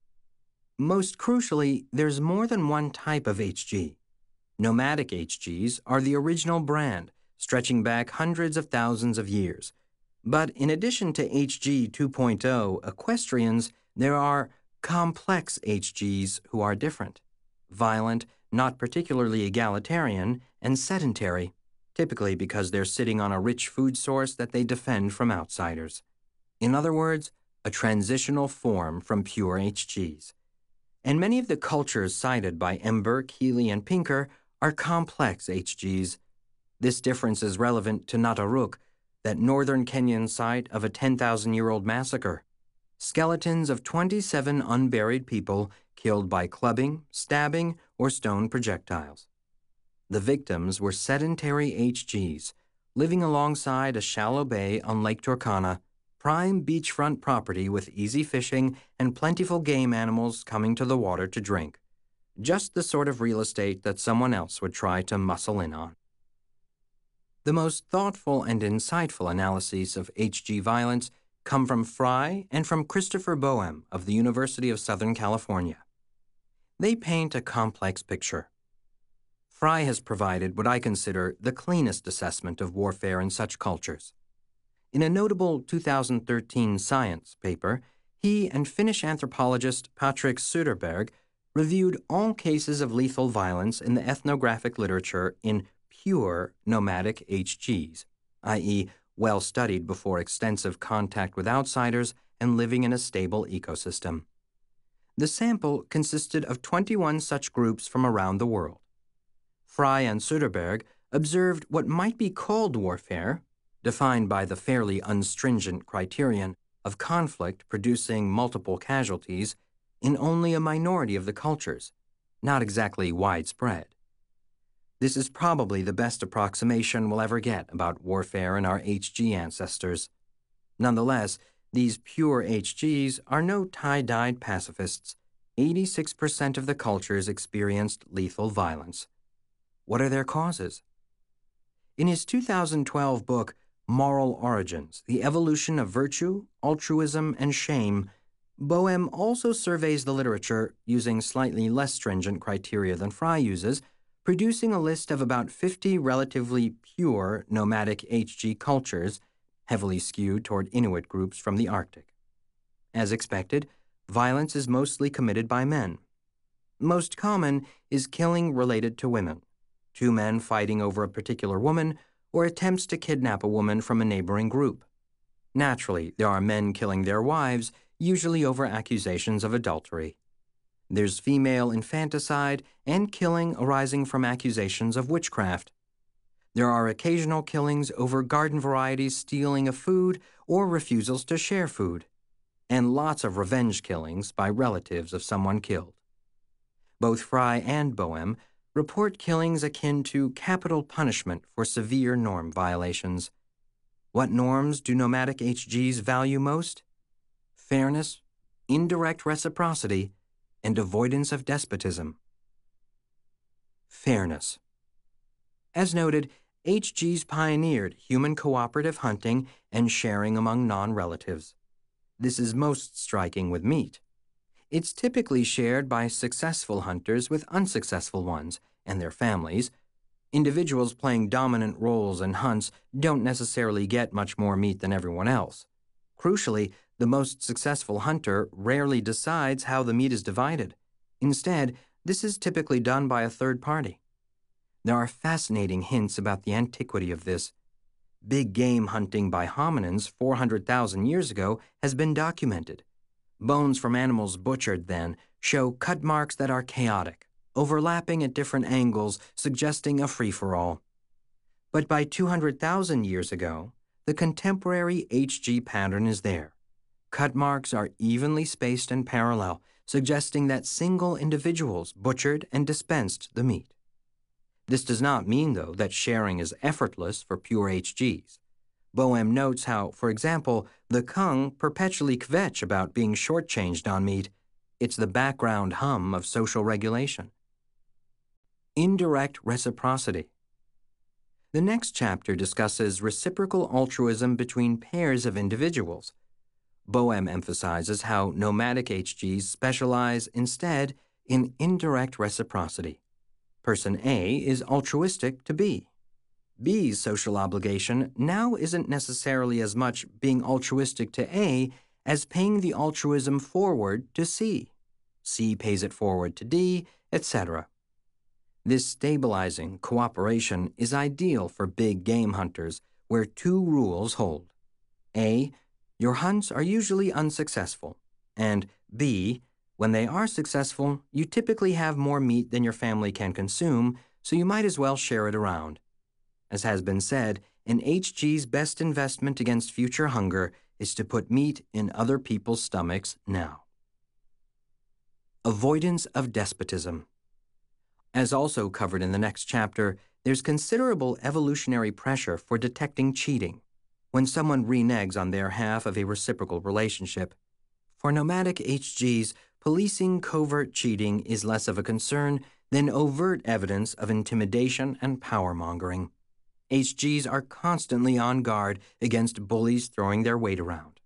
Most crucially, there's more than one type of H G. Nomadic H Gs are the original brand, stretching back hundreds of thousands of years. But in addition to H G two point oh equestrians, there are complex H Gs who are different, violent, not particularly egalitarian, and sedentary, typically because they're sitting on a rich food source that they defend from outsiders. In other words, a transitional form from pure H Gs. And many of the cultures cited by Ember, Keeley, and Pinker are complex H Gs. This difference is relevant to Nataruk, that northern Kenyan site of a ten thousand year old massacre. Skeletons of twenty-seven unburied people killed by clubbing, stabbing, or stone projectiles. The victims were sedentary H Gs, living alongside a shallow bay on Lake Turkana, prime beachfront property with easy fishing and plentiful game animals coming to the water to drink. Just the sort of real estate that someone else would try to muscle in on. The most thoughtful and insightful analyses of H G violence come from Fry and from Christopher Boehm of the University of Southern California. They paint a complex picture. Fry has provided what I consider the cleanest assessment of warfare in such cultures. In a notable two thousand thirteen Science paper, he and Finnish anthropologist Patrik Söderberg reviewed all cases of lethal violence in the ethnographic literature in pure nomadic H Gs, that is, well studied before extensive contact with outsiders and living in a stable ecosystem. The sample consisted of twenty-one such groups from around the world. Fry and Söderberg observed what might be called warfare, defined by the fairly unstringent criterion of conflict producing multiple casualties, in only a minority of the cultures, not exactly widespread. This is probably the best approximation we'll ever get about warfare in our H G ancestors. Nonetheless, these pure H Gs are no tie-dyed pacifists. eighty-six percent of the cultures experienced lethal violence. What are their causes? In his two thousand twelve book, Moral Origins, The Evolution of Virtue, Altruism, and Shame, Boehm also surveys the literature using slightly less stringent criteria than Fry uses, producing a list of about fifty relatively pure nomadic H G cultures, heavily skewed toward Inuit groups from the Arctic. As expected, violence is mostly committed by men. Most common is killing related to women, two men fighting over a particular woman, or attempts to kidnap a woman from a neighboring group. Naturally, there are men killing their wives, usually over accusations of adultery. There's female infanticide and killing arising from accusations of witchcraft. There are occasional killings over garden varieties stealing of food or refusals to share food, and lots of revenge killings by relatives of someone killed. Both Fry and Boehm report killings akin to capital punishment for severe norm violations. What norms do nomadic H Gs value most? Fairness, indirect reciprocity, and avoidance of despotism. Fairness. As noted, H Gs pioneered human cooperative hunting and sharing among non-relatives. This is most striking with meat. It's typically shared by successful hunters with unsuccessful ones and their families. Individuals playing dominant roles in hunts don't necessarily get much more meat than everyone else. Crucially, the most successful hunter rarely decides how the meat is divided. Instead, this is typically done by a third party. There are fascinating hints about the antiquity of this. Big game hunting by hominins four hundred thousand years ago has been documented. Bones from animals butchered then show cut marks that are chaotic, overlapping at different angles, suggesting a free-for-all. But by two hundred thousand years ago, the contemporary H G pattern is there. Cut marks are evenly spaced and parallel, suggesting that single individuals butchered and dispensed the meat. This does not mean, though, that sharing is effortless for pure H Gs. Boehm notes how, for example, the Kung perpetually kvetch about being shortchanged on meat. It's the background hum of social regulation. Indirect reciprocity. The next chapter discusses reciprocal altruism between pairs of individuals. Boehm emphasizes how nomadic H Gs specialize instead in indirect reciprocity. Person A is altruistic to B. B's social obligation now isn't necessarily as much being altruistic to A as paying the altruism forward to C. C pays it forward to D, et cetera. This stabilizing cooperation is ideal for big game hunters where two rules hold. A, your hunts are usually unsuccessful, and B, when they are successful, you typically have more meat than your family can consume, so you might as well share it around. As has been said, an H G's best investment against future hunger is to put meat in other people's stomachs now. Avoidance of despotism. As also covered in the next chapter, there's considerable evolutionary pressure for detecting cheating. when someone reneges on their half of a reciprocal relationship. For nomadic H Gs, policing covert cheating is less of a concern than overt evidence of intimidation and power-mongering. H Gs are constantly on guard against bullies throwing their weight around.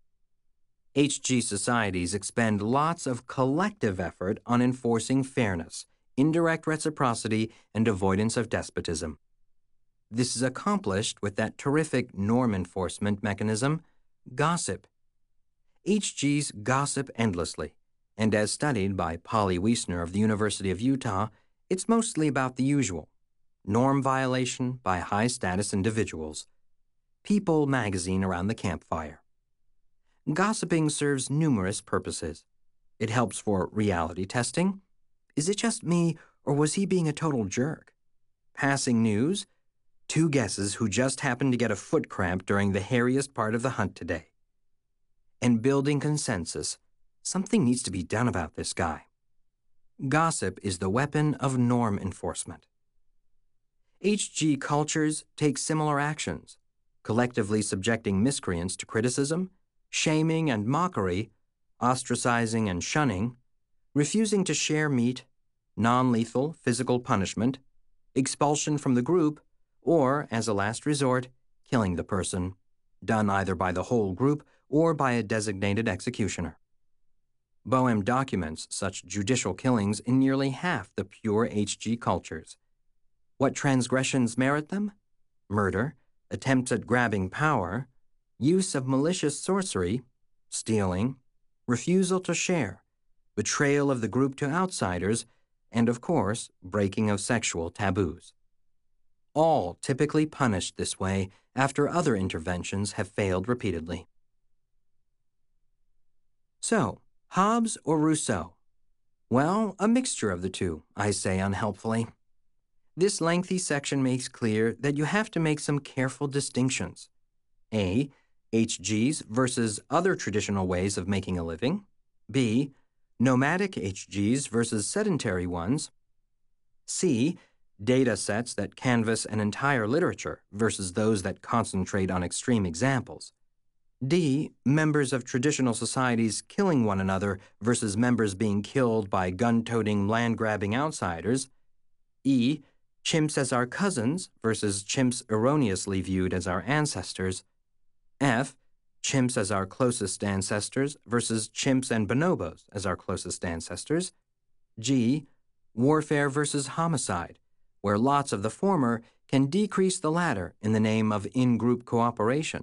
H G societies expend lots of collective effort on enforcing fairness, indirect reciprocity, and avoidance of despotism. This is accomplished with that terrific norm enforcement mechanism, gossip. H Gs gossip endlessly, and as studied by Polly Wiesner of the University of Utah, it's mostly about the usual: norm violation by high-status individuals. People magazine around the campfire. Gossiping serves numerous purposes. It helps for reality testing. Is it just me, or was he being a total jerk? Passing news. Two guesses who just happened to get a foot cramp during the hairiest part of the hunt today. And building consensus. Something needs to be done about this guy. Gossip is the weapon of norm enforcement. H G cultures take similar actions, collectively subjecting miscreants to criticism, shaming and mockery, ostracizing and shunning, refusing to share meat, non-lethal physical punishment, expulsion from the group, or, as a last resort, killing the person, done either by the whole group or by a designated executioner. Boehm documents such judicial killings in nearly half the pure H G cultures. What transgressions merit them? Murder, attempts at grabbing power, use of malicious sorcery, stealing, refusal to share, betrayal of the group to outsiders, and, of course, breaking of sexual taboos. All typically punished this way after other interventions have failed repeatedly. So, Hobbes or Rousseau? Well, a mixture of the two, I say unhelpfully. This lengthy section makes clear that you have to make some careful distinctions. A. H Gs versus other traditional ways of making a living. B. Nomadic H Gs versus sedentary ones. C. Data sets that canvass an entire literature versus those that concentrate on extreme examples. D. Members of traditional societies killing one another versus members being killed by gun-toting, land-grabbing outsiders. E. Chimps as our cousins versus chimps erroneously viewed as our ancestors. F. Chimps as our closest ancestors versus chimps and bonobos as our closest ancestors. G. Warfare versus homicide, where lots of the former can decrease the latter in the name of in-group cooperation.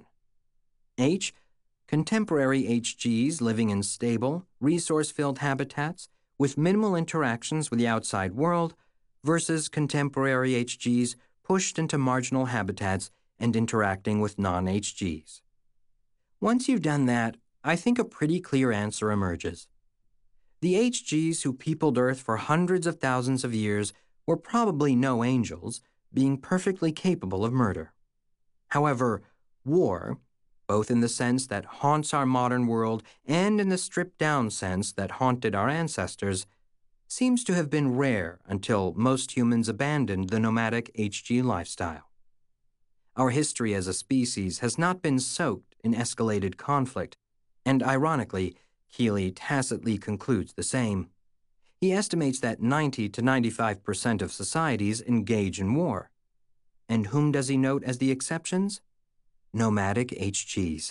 H. Contemporary H Gs living in stable, resource-filled habitats with minimal interactions with the outside world versus contemporary H Gs pushed into marginal habitats and interacting with non-H Gs. Once you've done that, I think a pretty clear answer emerges. The H Gs who peopled Earth for hundreds of thousands of years were probably no angels, being perfectly capable of murder. However, war, both in the sense that haunts our modern world and in the stripped-down sense that haunted our ancestors, seems to have been rare until most humans abandoned the nomadic H G lifestyle. Our history as a species has not been soaked in escalated conflict, and ironically, Keeley tacitly concludes the same. He estimates that ninety to ninety-five percent of societies engage in war. And whom does he note as the exceptions? Nomadic H Gs.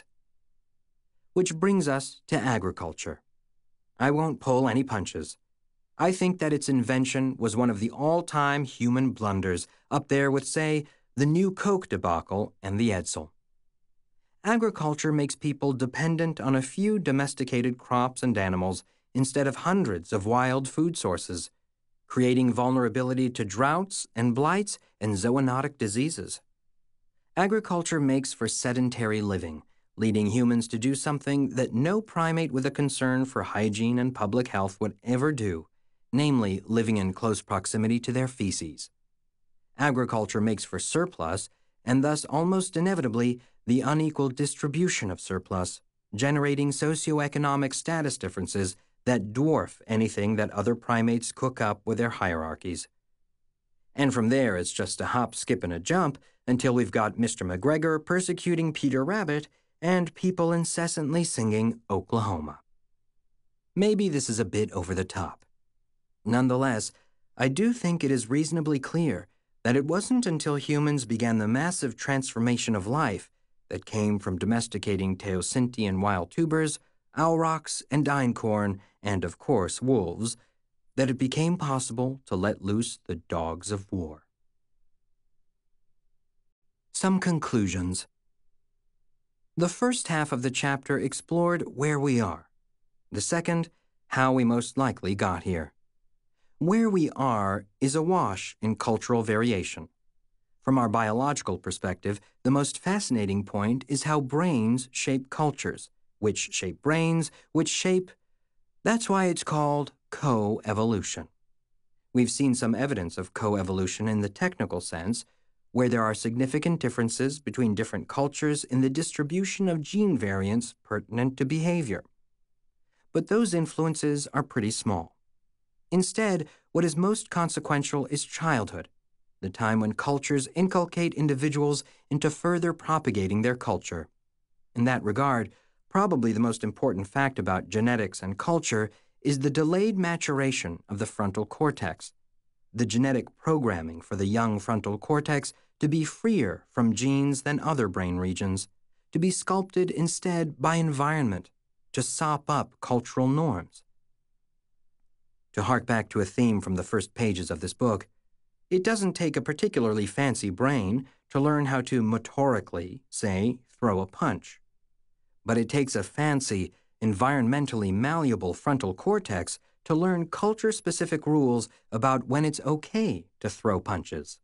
Which brings us to agriculture. I won't pull any punches. I think that its invention was one of the all-time human blunders, up there with, say, the new Coke debacle and the Edsel. Agriculture makes people dependent on a few domesticated crops and animals instead of hundreds of wild food sources, creating vulnerability to droughts and blights and zoonotic diseases. Agriculture makes for sedentary living, leading humans to do something that no primate with a concern for hygiene and public health would ever do, namely living in close proximity to their feces. Agriculture makes for surplus, and thus almost inevitably the unequal distribution of surplus, generating socioeconomic status differences that dwarf anything that other primates cook up with their hierarchies. And from there, it's just a hop, skip, and a jump until we've got Mister McGregor persecuting Peter Rabbit and people incessantly singing Oklahoma. Maybe this is a bit over the top. Nonetheless, I do think it is reasonably clear that it wasn't until humans began the massive transformation of life that came from domesticating Teosinte wild tubers, aurochs, and einkorn, and of course wolves, that it became possible to let loose the dogs of war. Some conclusions. The first half of the chapter explored where we are. The second, how we most likely got here. Where we are is awash in cultural variation. From our biological perspective, the most fascinating point is how brains shape cultures, which shape brains, which shape... That's why it's called co-evolution. We've seen some evidence of co-evolution in the technical sense, where there are significant differences between different cultures in the distribution of gene variants pertinent to behavior. But those influences are pretty small. Instead, what is most consequential is childhood, the time when cultures inculcate individuals into further propagating their culture. In that regard, probably the most important fact about genetics and culture is the delayed maturation of the frontal cortex, the genetic programming for the young frontal cortex to be freer from genes than other brain regions, to be sculpted instead by environment, to sop up cultural norms. To hark back to a theme from the first pages of this book, it doesn't take a particularly fancy brain to learn how to motorically, say, throw a punch. But it takes a fancy, environmentally malleable frontal cortex to learn culture-specific rules about when it's okay to throw punches.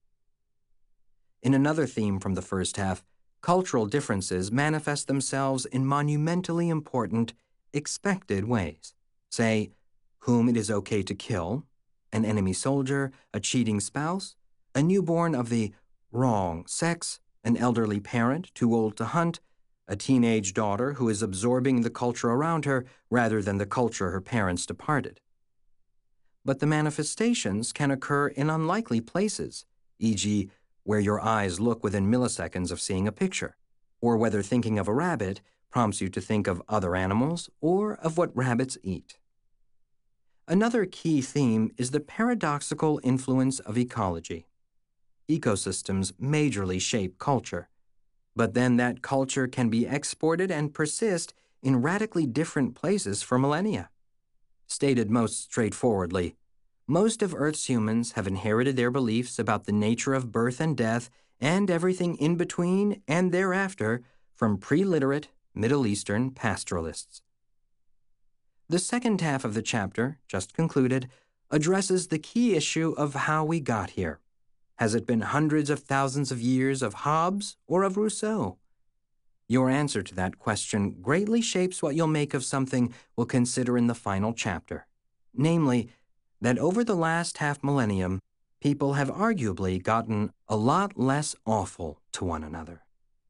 In another theme from the first half, cultural differences manifest themselves in monumentally important, expected ways. Say, whom it is okay to kill, an enemy soldier, a cheating spouse, a newborn of the wrong sex, an elderly parent too old to hunt, a teenage daughter who is absorbing the culture around her rather than the culture her parents departed. But the manifestations can occur in unlikely places, for example, where your eyes look within milliseconds of seeing a picture, or whether thinking of a rabbit prompts you to think of other animals or of what rabbits eat. Another key theme is the paradoxical influence of ecology. Ecosystems majorly shape culture, but then that culture can be exported and persist in radically different places for millennia. Stated most straightforwardly, most of Earth's humans have inherited their beliefs about the nature of birth and death and everything in between and thereafter from pre-literate Middle Eastern pastoralists. The second half of the chapter, just concluded, addresses the key issue of how we got here. Has it been hundreds of thousands of years of Hobbes or of Rousseau? Your answer to that question greatly shapes what you'll make of something we'll consider in the final chapter, namely, that over the last half millennium, people have arguably gotten a lot less awful to one another.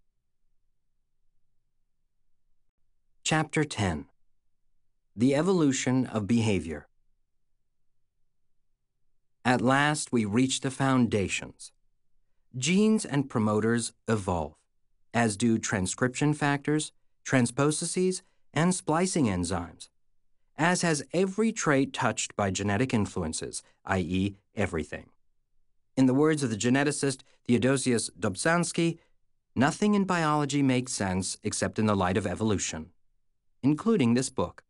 Chapter ten. The Evolution of Behavior. At last, we reach the foundations. Genes and promoters evolve, as do transcription factors, transpososes, and splicing enzymes, as has every trait touched by genetic influences, that is, everything. In the words of the geneticist Theodosius Dobzhansky, nothing in biology makes sense except in the light of evolution, including this book.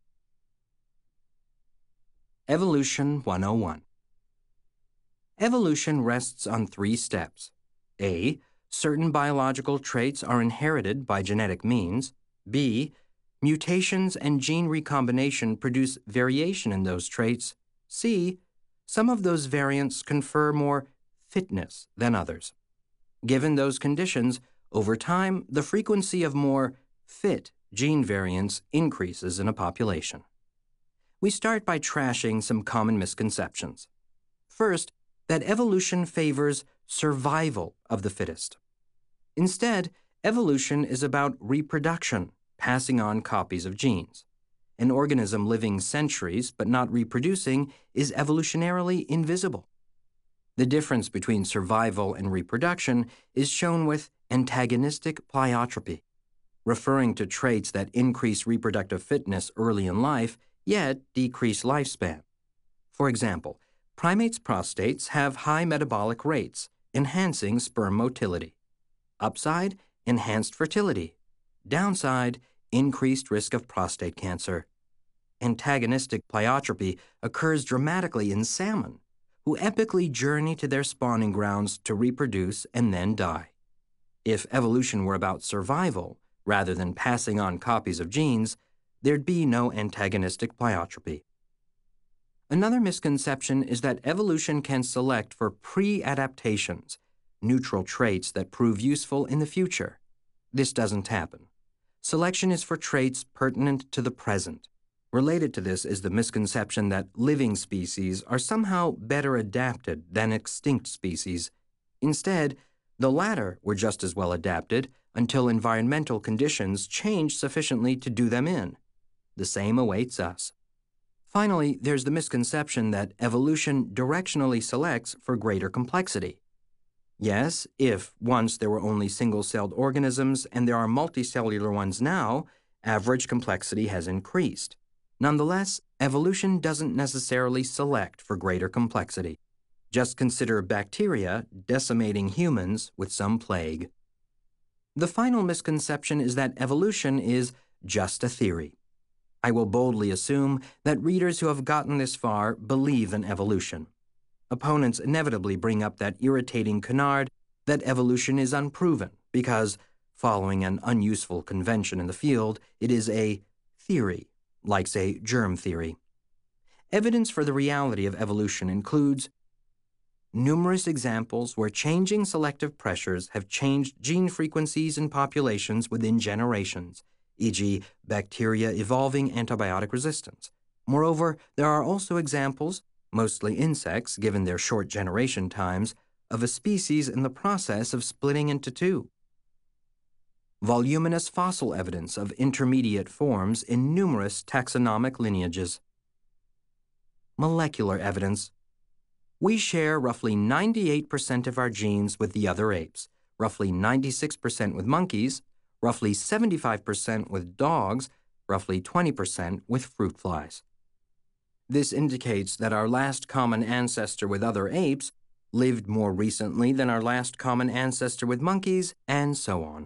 Evolution one oh one. Evolution rests on three steps. A. Certain biological traits are inherited by genetic means. B. Mutations and gene recombination produce variation in those traits. C. Some of those variants confer more fitness than others. Given those conditions, over time, the frequency of more fit gene variants increases in a population. We start by trashing some common misconceptions. First, that evolution favors survival of the fittest. Instead, evolution is about reproduction, passing on copies of genes. An organism living centuries but not reproducing is evolutionarily invisible. The difference between survival and reproduction is shown with antagonistic pleiotropy, referring to traits that increase reproductive fitness early in life, yet decrease lifespan. For example, primates' prostates have high metabolic rates, enhancing sperm motility. Upside, enhanced fertility. Downside, increased risk of prostate cancer. Antagonistic pleiotropy occurs dramatically in salmon, who epically journey to their spawning grounds to reproduce and then die. If evolution were about survival, rather than passing on copies of genes, there'd be no antagonistic pleiotropy. Another misconception is that evolution can select for pre-adaptations, neutral traits that prove useful in the future. This doesn't happen. Selection is for traits pertinent to the present. Related to this is the misconception that living species are somehow better adapted than extinct species. Instead, the latter were just as well adapted until environmental conditions changed sufficiently to do them in. The same awaits us. Finally, there's the misconception that evolution directionally selects for greater complexity. Yes, if once there were only single-celled organisms and there are multicellular ones now, average complexity has increased. Nonetheless, evolution doesn't necessarily select for greater complexity. Just consider bacteria decimating humans with some plague. The final misconception is that evolution is just a theory. I will boldly assume that readers who have gotten this far believe in evolution. Opponents inevitably bring up that irritating canard that evolution is unproven because, following an unuseful convention in the field, it is a theory, like, say, germ theory. Evidence for the reality of evolution includes numerous examples where changing selective pressures have changed gene frequencies in populations within generations, for example, bacteria evolving antibiotic resistance. Moreover, there are also examples, mostly insects given their short generation times, of a species in the process of splitting into two. Voluminous fossil evidence of intermediate forms in numerous taxonomic lineages. Molecular evidence. We share roughly ninety-eight percent of our genes with the other apes, roughly ninety-six percent with monkeys, roughly seventy-five percent with dogs, roughly twenty percent with fruit flies. This indicates that our last common ancestor with other apes lived more recently than our last common ancestor with monkeys, and so on.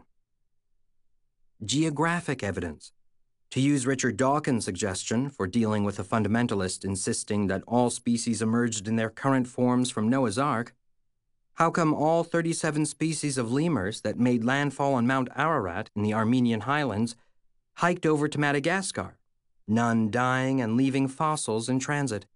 Geographic evidence. To use Richard Dawkins' suggestion for dealing with a fundamentalist insisting that all species emerged in their current forms from Noah's Ark, how come all thirty-seven species of lemurs that made landfall on Mount Ararat in the Armenian highlands hiked over to Madagascar, none dying and leaving fossils in transit?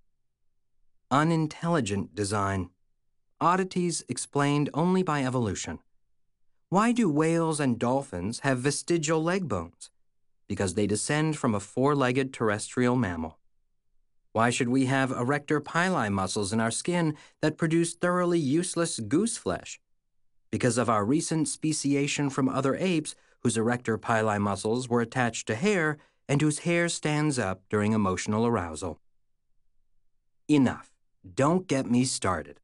Unintelligent design. Oddities explained only by evolution. Why do whales and dolphins have vestigial leg bones? Because they descend from a four-legged terrestrial mammal. Why should we have erector pili muscles in our skin that produce thoroughly useless goose flesh? Because of our recent speciation from other apes whose erector pili muscles were attached to hair and whose hair stands up during emotional arousal. Enough. Don't get me started.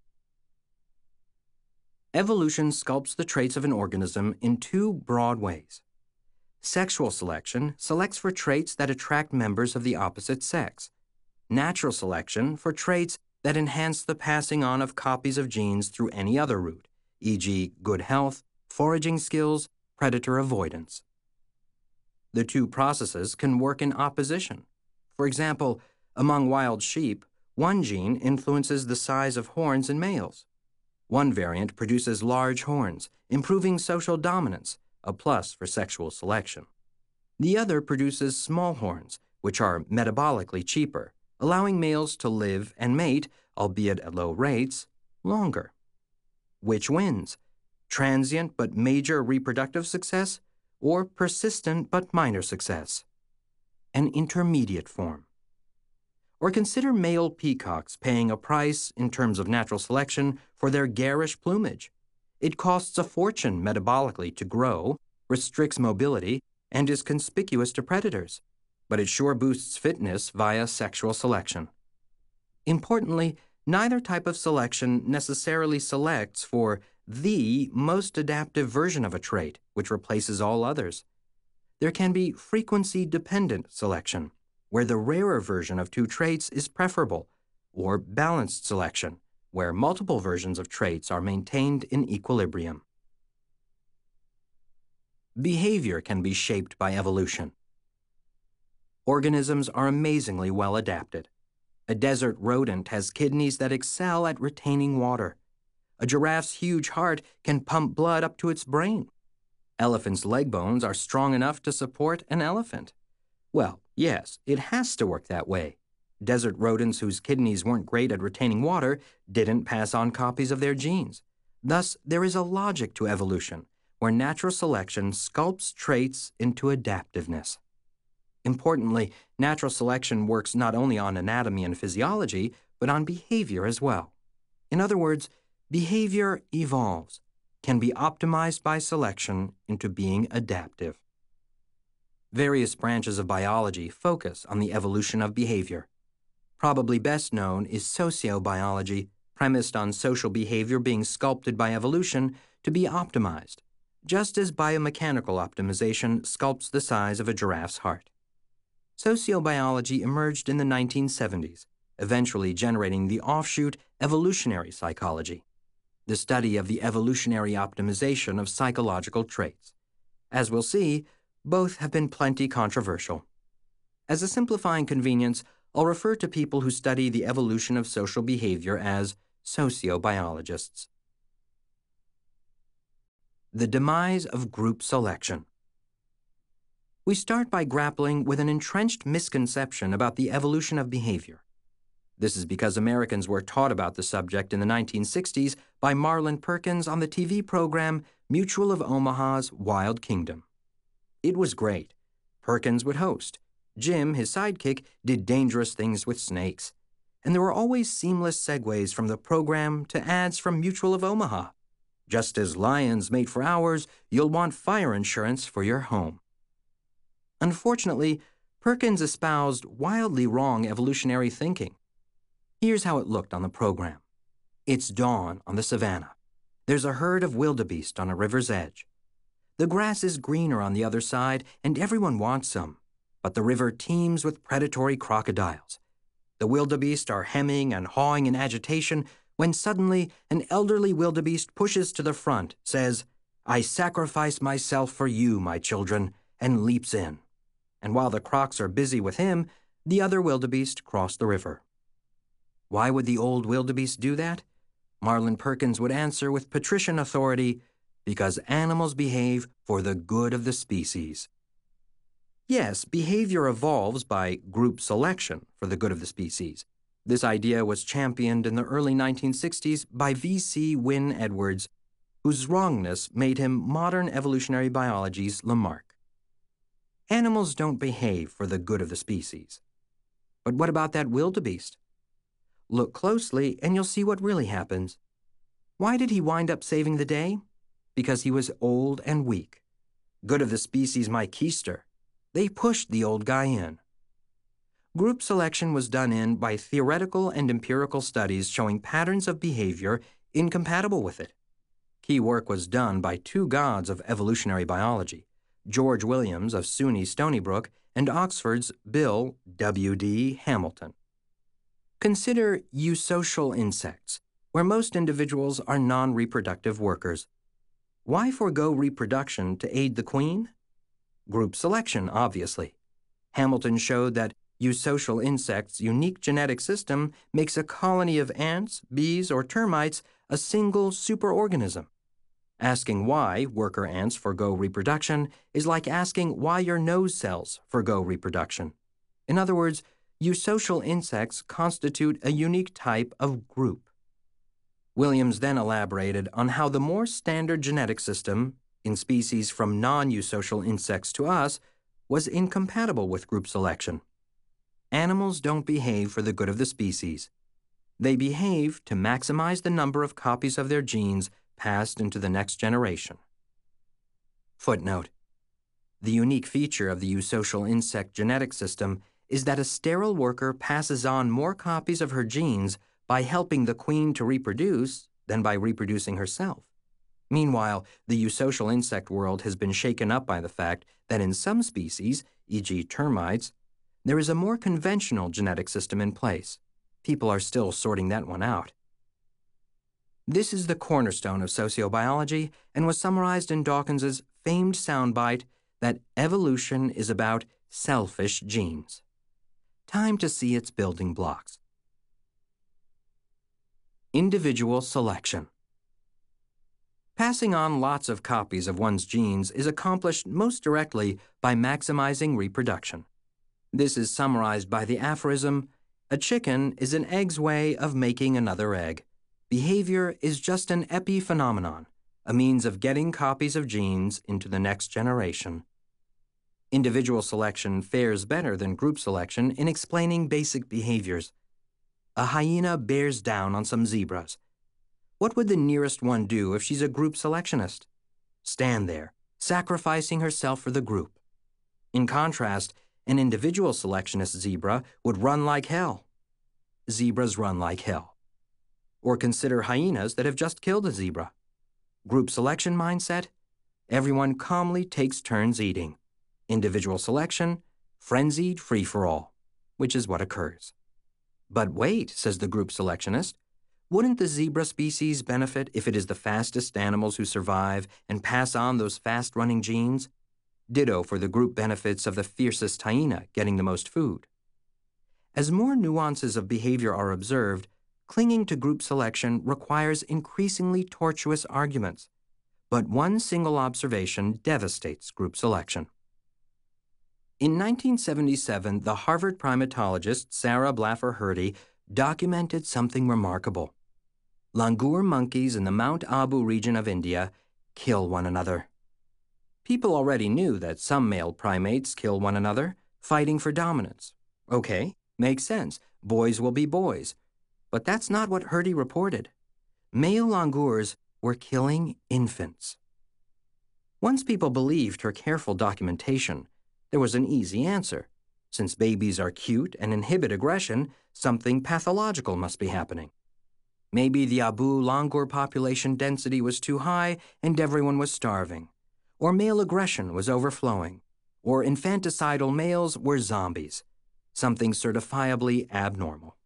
Evolution sculpts the traits of an organism in two broad ways. Sexual selection selects for traits that attract members of the opposite sex. Natural selection for traits that enhance the passing on of copies of genes through any other route, for example, good health, foraging skills, predator avoidance. The two processes can work in opposition. For example, among wild sheep, one gene influences the size of horns in males. One variant produces large horns, improving social dominance, a plus for sexual selection. The other produces small horns, which are metabolically cheaper, allowing males to live and mate, albeit at low rates, longer. Which wins? Transient but major reproductive success, or persistent but minor success? An intermediate form. Or consider male peacocks paying a price, in terms of natural selection, for their garish plumage. It costs a fortune metabolically to grow, restricts mobility, and is conspicuous to predators, but it sure boosts fitness via sexual selection. Importantly, neither type of selection necessarily selects for the most adaptive version of a trait, which replaces all others. There can be frequency-dependent selection, where the rarer version of two traits is preferable, or balanced selection, where multiple versions of traits are maintained in equilibrium. Behavior can be shaped by evolution. Organisms are amazingly well adapted. A desert rodent has kidneys that excel at retaining water. A giraffe's huge heart can pump blood up to its brain. Elephants' leg bones are strong enough to support an elephant. Well, yes, it has to work that way. Desert rodents whose kidneys weren't great at retaining water didn't pass on copies of their genes. Thus, there is a logic to evolution, where natural selection sculpts traits into adaptiveness. Importantly, natural selection works not only on anatomy and physiology, but on behavior as well. In other words, behavior evolves, can be optimized by selection into being adaptive. Various branches of biology focus on the evolution of behavior. Probably best known is sociobiology, premised on social behavior being sculpted by evolution to be optimized, just as biomechanical optimization sculpts the size of a giraffe's heart. Sociobiology emerged in the nineteen seventies, eventually generating the offshoot evolutionary psychology, the study of the evolutionary optimization of psychological traits. As we'll see, both have been plenty controversial. As a simplifying convenience, I'll refer to people who study the evolution of social behavior as sociobiologists. The demise of group selection. We start by grappling with an entrenched misconception about the evolution of behavior. This is because Americans were taught about the subject in the nineteen sixties by Marlin Perkins on the T V program Mutual of Omaha's Wild Kingdom. It was great. Perkins would host. Jim, his sidekick, did dangerous things with snakes. And there were always seamless segues from the program to ads from Mutual of Omaha. Just as lions mate for ours, you'll want fire insurance for your home. Unfortunately, Perkins espoused wildly wrong evolutionary thinking. Here's how it looked on the program. It's dawn on the savannah. There's a herd of wildebeest on a river's edge. The grass is greener on the other side, and everyone wants some. But the river teems with predatory crocodiles. The wildebeest are hemming and hawing in agitation when suddenly an elderly wildebeest pushes to the front, says, "I sacrifice myself for you, my children," and leaps in. And while the crocs are busy with him, the other wildebeest cross the river. Why would the old wildebeest do that? Marlin Perkins would answer with patrician authority, because animals behave for the good of the species. Yes, behavior evolves by group selection for the good of the species. This idea was championed in the early nineteen sixties by V C Wynne Edwards, whose wrongness made him modern evolutionary biology's Lamarck. Animals don't behave for the good of the species. But what about that wildebeest? Look closely and you'll see what really happens. Why did he wind up saving the day? Because he was old and weak. Good of the species my keister. They pushed the old guy in. Group selection was done in by theoretical and empirical studies showing patterns of behavior incompatible with it. Key work was done by two gods of evolutionary biology, George Williams of SUNY Stony Brook and Oxford's Bill W D Hamilton. Consider eusocial insects, where most individuals are non-reproductive workers. Why forego reproduction to aid the queen? Group selection, obviously. Hamilton showed that eusocial insects' unique genetic system makes a colony of ants, bees, or termites a single superorganism. Asking why worker ants forego reproduction is like asking why your nose cells forego reproduction. In other words, eusocial insects constitute a unique type of group. Williams then elaborated on how the more standard genetic system, in species from non-eusocial insects to us, was incompatible with group selection. Animals don't behave for the good of the species. They behave to maximize the number of copies of their genes passed into the next generation. Footnote: the unique feature of the eusocial insect genetic system is that a sterile worker passes on more copies of her genes by helping the queen to reproduce than by reproducing herself. Meanwhile, the eusocial insect world has been shaken up by the fact that in some species, for example termites, there is a more conventional genetic system in place. People are still sorting that one out. This is the cornerstone of sociobiology and was summarized in Dawkins's famed soundbite that evolution is about selfish genes. Time to see its building blocks. Individual selection. Passing on lots of copies of one's genes is accomplished most directly by maximizing reproduction. This is summarized by the aphorism, "A chicken is an egg's way of making another egg. Behavior is just an epiphenomenon, a means of getting copies of genes into the next generation." Individual selection fares better than group selection in explaining basic behaviors. A hyena bears down on some zebras. What would the nearest one do if she's a group selectionist? Stand there, sacrificing herself for the group. In contrast, an individual selectionist zebra would run like hell. Zebras run like hell. Or consider hyenas that have just killed a zebra. Group selection mindset, everyone calmly takes turns eating. Individual selection, frenzied free-for-all, which is what occurs. But wait, says the group selectionist, wouldn't the zebra species benefit if it is the fastest animals who survive and pass on those fast-running genes? Ditto for the group benefits of the fiercest hyena getting the most food. As more nuances of behavior are observed, clinging to group selection requires increasingly tortuous arguments. But one single observation devastates group selection. In nineteen seventy-seven, the Harvard primatologist Sarah Blaffer Hrdy documented something remarkable. Langur monkeys in the Mount Abu region of India kill one another. People already knew that some male primates kill one another, fighting for dominance. Okay, makes sense. Boys will be boys. But that's not what Hrdy reported. Male langurs were killing infants. Once people believed her careful documentation, there was an easy answer. Since babies are cute and inhibit aggression, something pathological must be happening. Maybe the Abu langur population density was too high and everyone was starving. Or male aggression was overflowing. Or infanticidal males were zombies. Something certifiably abnormal.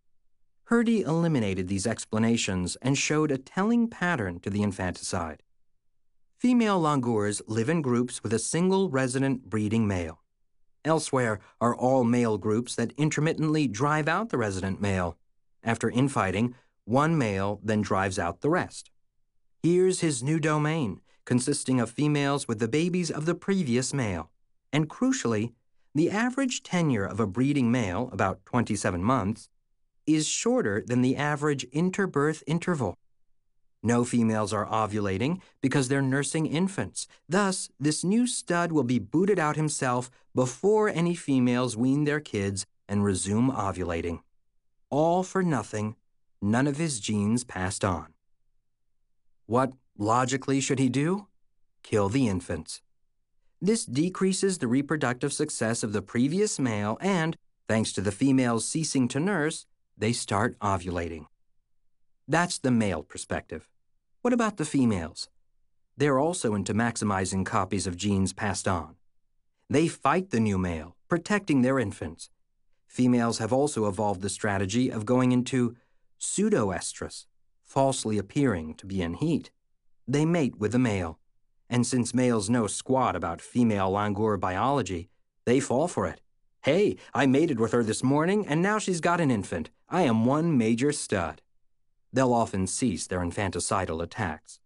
Hrdy eliminated these explanations and showed a telling pattern to the infanticide. Female langurs live in groups with a single resident breeding male. Elsewhere are all male groups that intermittently drive out the resident male. After infighting, one male then drives out the rest. Here's his new domain, consisting of females with the babies of the previous male. And crucially, the average tenure of a breeding male, about twenty-seven months, is shorter than the average interbirth interval. No females are ovulating because they're nursing infants. Thus, this new stud will be booted out himself before any females wean their kids and resume ovulating. All for nothing, none of his genes passed on. What, logically, should he do? Kill the infants. This decreases the reproductive success of the previous male and, thanks to the females ceasing to nurse, they start ovulating. That's the male perspective. What about the females? They're also into maximizing copies of genes passed on. They fight the new male, protecting their infants. Females have also evolved the strategy of going into pseudoestrus, falsely appearing to be in heat. They mate with the male. And since males know squat about female langur biology, they fall for it. Hey, I mated with her this morning, and now she's got an infant. I am one major stud. They'll often cease their infanticidal attacks.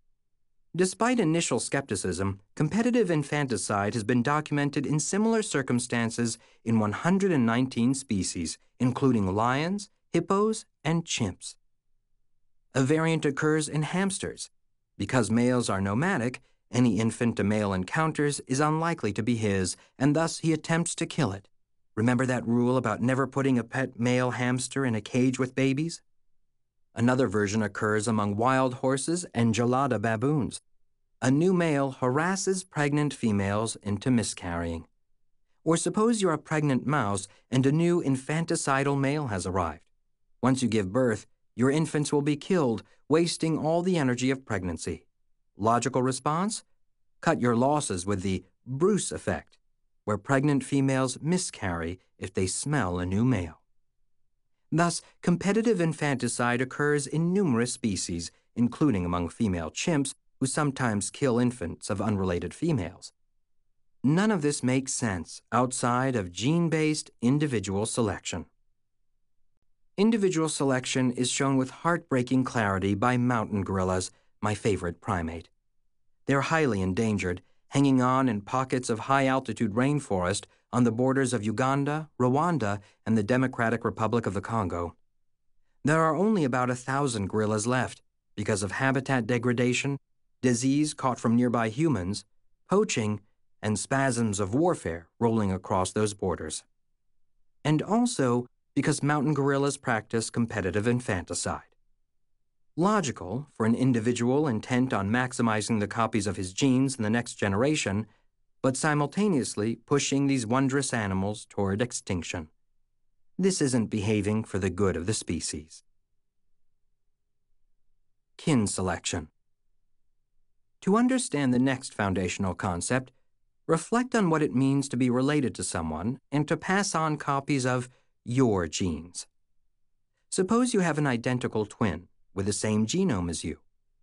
Despite initial skepticism, competitive infanticide has been documented in similar circumstances in one hundred nineteen species, including lions, hippos, and chimps. A variant occurs in hamsters. Because males are nomadic, any infant a male encounters is unlikely to be his, and thus he attempts to kill it. Remember that rule about never putting a pet male hamster in a cage with babies? Another version occurs among wild horses and gelada baboons. A new male harasses pregnant females into miscarrying. Or suppose you're a pregnant mouse and a new infanticidal male has arrived. Once you give birth, your infants will be killed, wasting all the energy of pregnancy. Logical response? Cut your losses with the Bruce effect, where pregnant females miscarry if they smell a new male. Thus, competitive infanticide occurs in numerous species, including among female chimps, who sometimes kill infants of unrelated females. None of this makes sense outside of gene-based individual selection. Individual selection is shown with heartbreaking clarity by mountain gorillas, my favorite primate. They're highly endangered, hanging on in pockets of high-altitude rainforest on the borders of Uganda, Rwanda, and the Democratic Republic of the Congo. There are only about a thousand gorillas left because of habitat degradation, disease caught from nearby humans, poaching, and spasms of warfare rolling across those borders. And also because mountain gorillas practice competitive infanticide. Logical for an individual intent on maximizing the copies of his genes in the next generation, but simultaneously pushing these wondrous animals toward extinction. This isn't behaving for the good of the species. Kin selection. To understand the next foundational concept, reflect on what it means to be related to someone and to pass on copies of your genes. Suppose you have an identical twin with the same genome as you.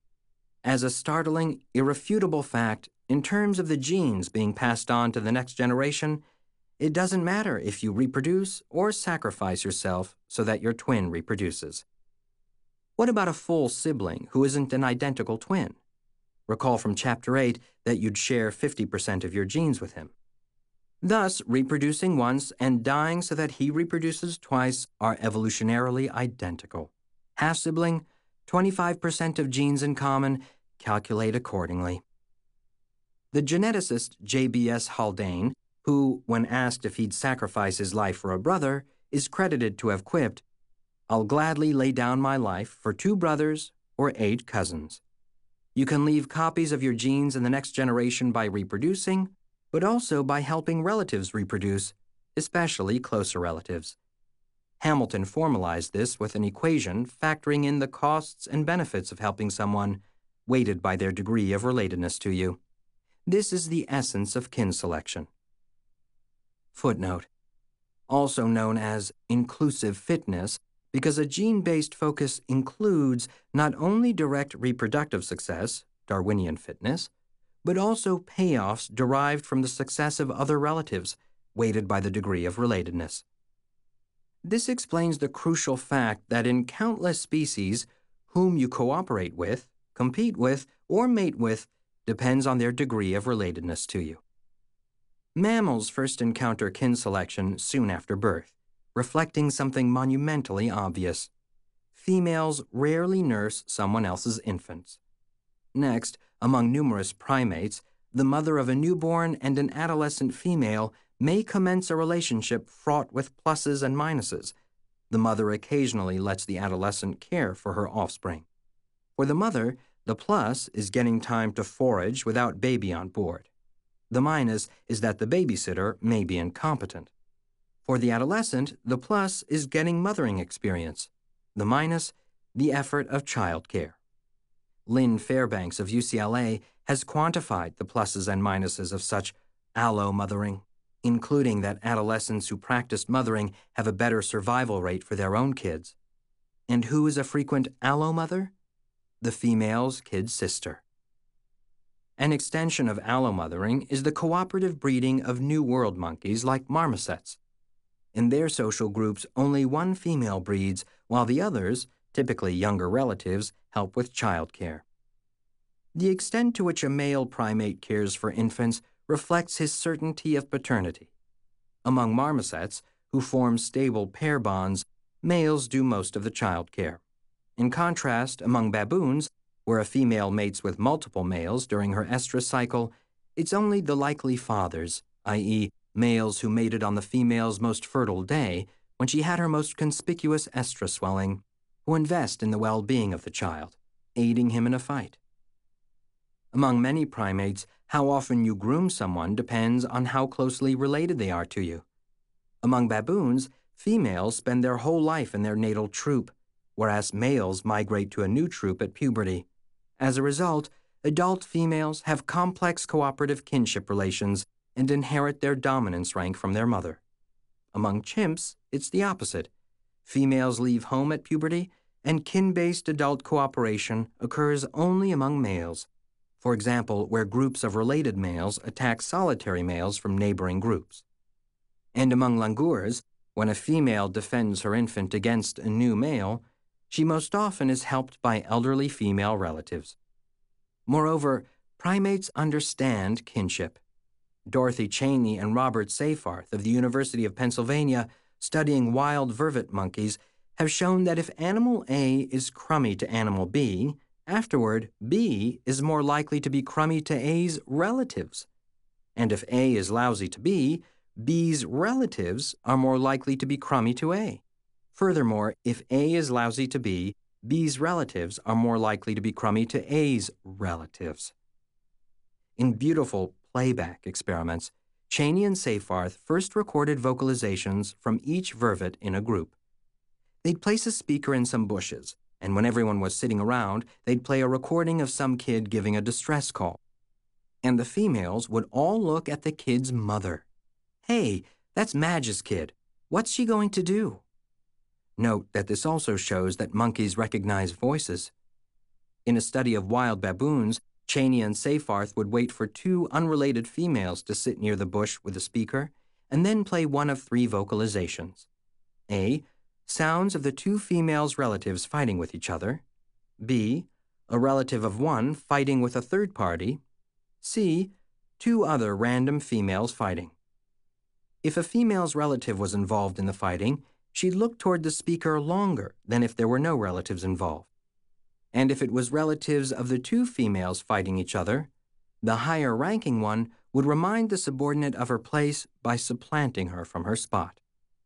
As a startling, irrefutable fact, in terms of the genes being passed on to the next generation, it doesn't matter if you reproduce or sacrifice yourself so that your twin reproduces. What about a full sibling who isn't an identical twin? Recall from Chapter eight that you'd share fifty percent of your genes with him. Thus, reproducing once and dying so that he reproduces twice are evolutionarily identical. Half-sibling, twenty-five percent of genes in common, calculate accordingly. The geneticist J B S Haldane, who, when asked if he'd sacrifice his life for a brother, is credited to have quipped, "I'll gladly lay down my life for two brothers or eight cousins." You can leave copies of your genes in the next generation by reproducing, but also by helping relatives reproduce, especially closer relatives. Hamilton formalized this with an equation factoring in the costs and benefits of helping someone, weighted by their degree of relatedness to you. This is the essence of kin selection. Footnote. Also known as inclusive fitness, because a gene-based focus includes not only direct reproductive success, Darwinian fitness, but also payoffs derived from the success of other relatives, weighted by the degree of relatedness. This explains the crucial fact that in countless species, whom you cooperate with, compete with, or mate with depends on their degree of relatedness to you. Mammals first encounter kin selection soon after birth, reflecting something monumentally obvious. Females rarely nurse someone else's infants. Next, among numerous primates, the mother of a newborn and an adolescent female may commence a relationship fraught with pluses and minuses. The mother occasionally lets the adolescent care for her offspring. For the mother, the plus is getting time to forage without baby on board. The minus is that the babysitter may be incompetent. For the adolescent, the plus is getting mothering experience. The minus, the effort of childcare. Lynn Fairbanks of U C L A has quantified the pluses and minuses of such allo-mothering, including that adolescents who practiced mothering have a better survival rate for their own kids. And who is a frequent allo-mother? The female's kid sister. An extension of allo-mothering is the cooperative breeding of New World monkeys like marmosets. In their social groups, only one female breeds, while the others, typically younger relatives, help with childcare. The extent to which a male primate cares for infants reflects his certainty of paternity. Among marmosets, who form stable pair bonds, males do most of the childcare. In contrast, among baboons, where a female mates with multiple males during her estrus cycle, it's only the likely fathers, that is, males who mated on the female's most fertile day when she had her most conspicuous estrus swelling, who invest in the well-being of the child, aiding him in a fight. Among many primates, how often you groom someone depends on how closely related they are to you. Among baboons, Females spend their whole life in their natal troop, whereas males migrate to a new troop at puberty. As a result, adult females have complex cooperative kinship relations and inherit their dominance rank from their mother. Among chimps, it's the opposite. Females leave home at puberty, and kin-based adult cooperation occurs only among males. For example, where groups of related males attack solitary males from neighboring groups. And among langurs, when a female defends her infant against a new male, she most often is helped by elderly female relatives. Moreover, primates understand kinship. Dorothy Cheney and Robert Seyfarth of the University of Pennsylvania, studying wild vervet monkeys, have shown that if animal A is crummy to animal B, afterward, B is more likely to be crummy to A's relatives. And if A is lousy to B, B's relatives are more likely to be crummy to A. Furthermore, if A is lousy to B, B's relatives are more likely to be crummy to A's relatives. In beautiful playback experiments, Cheney and Seyfarth first recorded vocalizations from each vervet in a group. They'd place a speaker in some bushes, and when everyone was sitting around, they'd play a recording of some kid giving a distress call. And the females would all look at the kid's mother. Hey, that's Madge's kid. What's she going to do? Note that this also shows that monkeys recognize voices. In a study of wild baboons, Cheney and Seyfarth would wait for two unrelated females to sit near the bush with a speaker, and then play one of three vocalizations. A. Sounds of the two females' relatives fighting with each other. B. A relative of one fighting with a third party. C. Two other random females fighting. If a female's relative was involved in the fighting, she'd look toward the speaker longer than if there were no relatives involved. And if it was relatives of the two females fighting each other, the higher-ranking one would remind the subordinate of her place by supplanting her from her spot.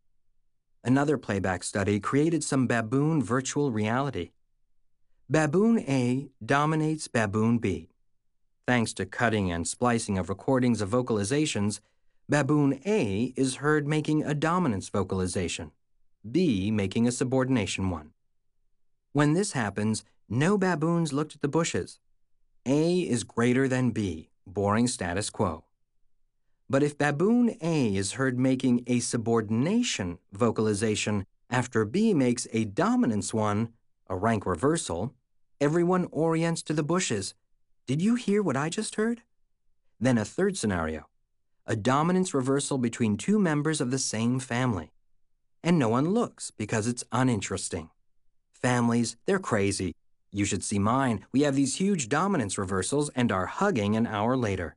Another playback study created some baboon virtual reality. Baboon A dominates Baboon B. Thanks to cutting and splicing of recordings of vocalizations, Baboon A is heard making a dominance vocalization, B making a subordination one. When this happens, no baboons looked at the bushes. A is greater than B, boring status quo. But if Baboon A is heard making a subordination vocalization after B makes a dominance one, a rank reversal, everyone orients to the bushes. Did you hear what I just heard? Then a third scenario, a dominance reversal between two members of the same family. And no one looks because it's uninteresting. Families, they're crazy. You should see mine. We have these huge dominance reversals and are hugging an hour later.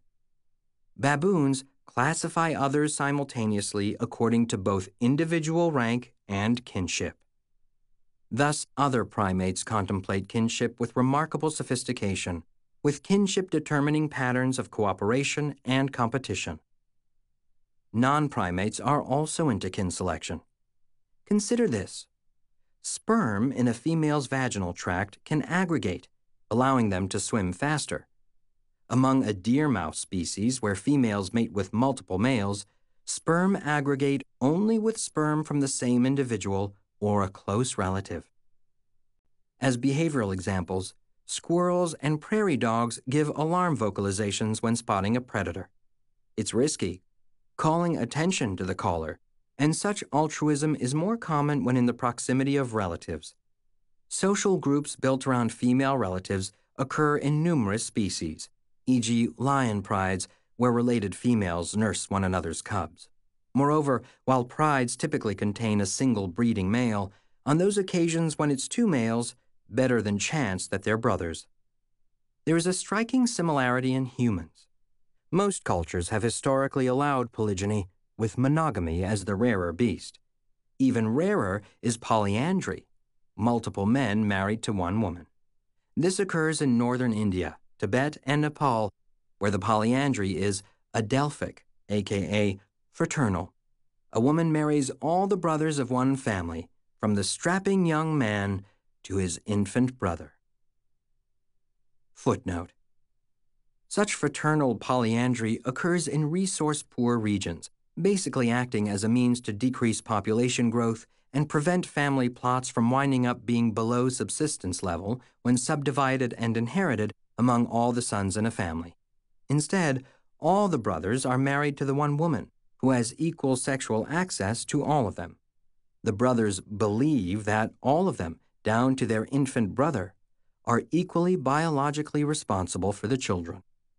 Baboons classify others simultaneously according to both individual rank and kinship. Thus, other primates contemplate kinship with remarkable sophistication, with kinship determining patterns of cooperation and competition. Non-primates are also into kin selection. Consider this. Sperm in a female's vaginal tract can aggregate, allowing them to swim faster. Among a deer mouse species where females mate with multiple males, sperm aggregate only with sperm from the same individual or a close relative. As behavioral examples, squirrels and prairie dogs give alarm vocalizations when spotting a predator. It's risky, calling attention to the caller, and such altruism is more common when in the proximity of relatives. Social groups built around female relatives occur in numerous species, for example lion prides, where related females nurse one another's cubs. Moreover, while prides typically contain a single breeding male, on those occasions when it's two males, better than chance that they're brothers. There is a striking similarity in humans. Most cultures have historically allowed polygyny, with monogamy as the rarer beast. Even rarer is polyandry, multiple men married to one woman. This occurs in northern India, Tibet, and Nepal, where the polyandry is adelphic, aka fraternal. A woman marries all the brothers of one family, from the strapping young man to his infant brother. Footnote. Such fraternal polyandry occurs in resource-poor regions, basically acting as a means to decrease population growth and prevent family plots from winding up being below subsistence level when subdivided and inherited among all the sons in a family. Instead, all the brothers are married to the one woman, who has equal sexual access to all of them. The brothers believe that all of them, down to their infant brother, are equally biologically responsible for the children.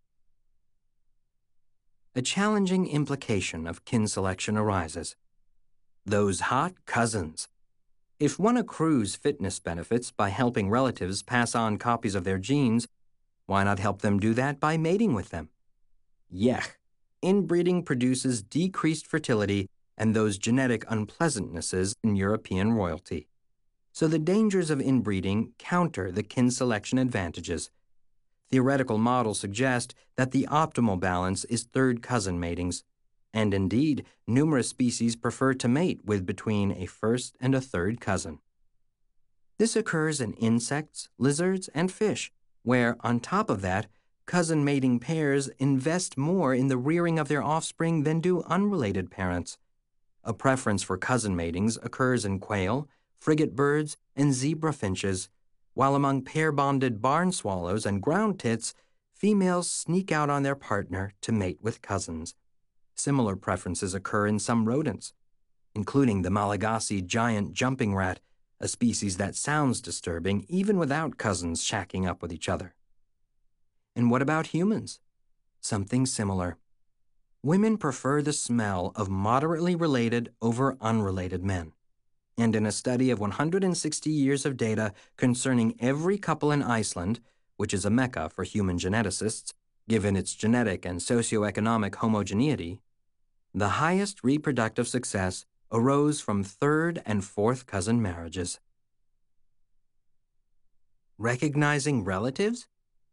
A challenging implication of kin selection arises. Those hot cousins. If one accrues fitness benefits by helping relatives pass on copies of their genes, why not help them do that by mating with them? Yech, inbreeding produces decreased fertility and those genetic unpleasantnesses in European royalty. So the dangers of inbreeding counter the kin selection advantages. Theoretical models suggest that the optimal balance is third cousin matings, and indeed, numerous species prefer to mate with between a first and a third cousin. This occurs in insects, lizards, and fish, where, on top of that, cousin mating pairs invest more in the rearing of their offspring than do unrelated parents. A preference for cousin matings occurs in quail, frigate birds, and zebra finches, while among pair-bonded barn swallows and ground tits, females sneak out on their partner to mate with cousins. Similar preferences occur in some rodents, including the Malagasy giant jumping rat, a species that sounds disturbing even without cousins shacking up with each other. And what about humans? Something similar. Women prefer the smell of moderately related over unrelated men. And in a study of one hundred sixty years of data concerning every couple in Iceland, which is a mecca for human geneticists, given its genetic and socioeconomic homogeneity, the highest reproductive success arose from third and fourth cousin marriages. Recognizing relatives?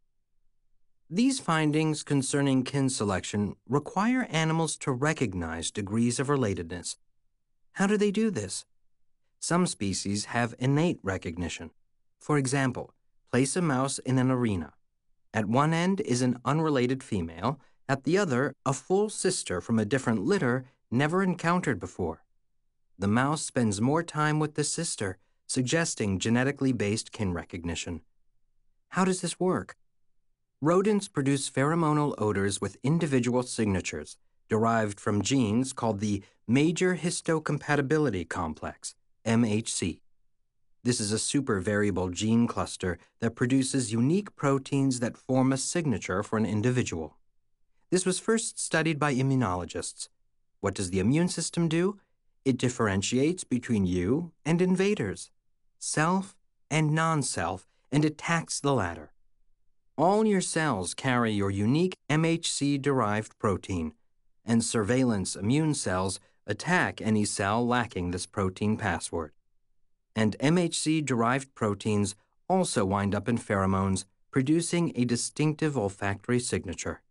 These findings concerning kin selection require animals to recognize degrees of relatedness. How do they do this? Some species have innate recognition. For example, place a mouse in an arena. At one end is an unrelated female, at the other a full sister from a different litter never encountered before. The mouse spends more time with the sister, suggesting genetically based kin recognition. How does this work? Rodents produce pheromonal odors with individual signatures, derived from genes called the Major Histocompatibility Complex, M H C. This is a supervariable gene cluster that produces unique proteins that form a signature for an individual. This was first studied by immunologists. What does the immune system do? It differentiates between you and invaders, self and non-self, and attacks the latter. All your cells carry your unique M H C-derived protein, and surveillance immune cells attack any cell lacking this protein password. And M H C-derived proteins also wind up in pheromones, producing a distinctive olfactory signature.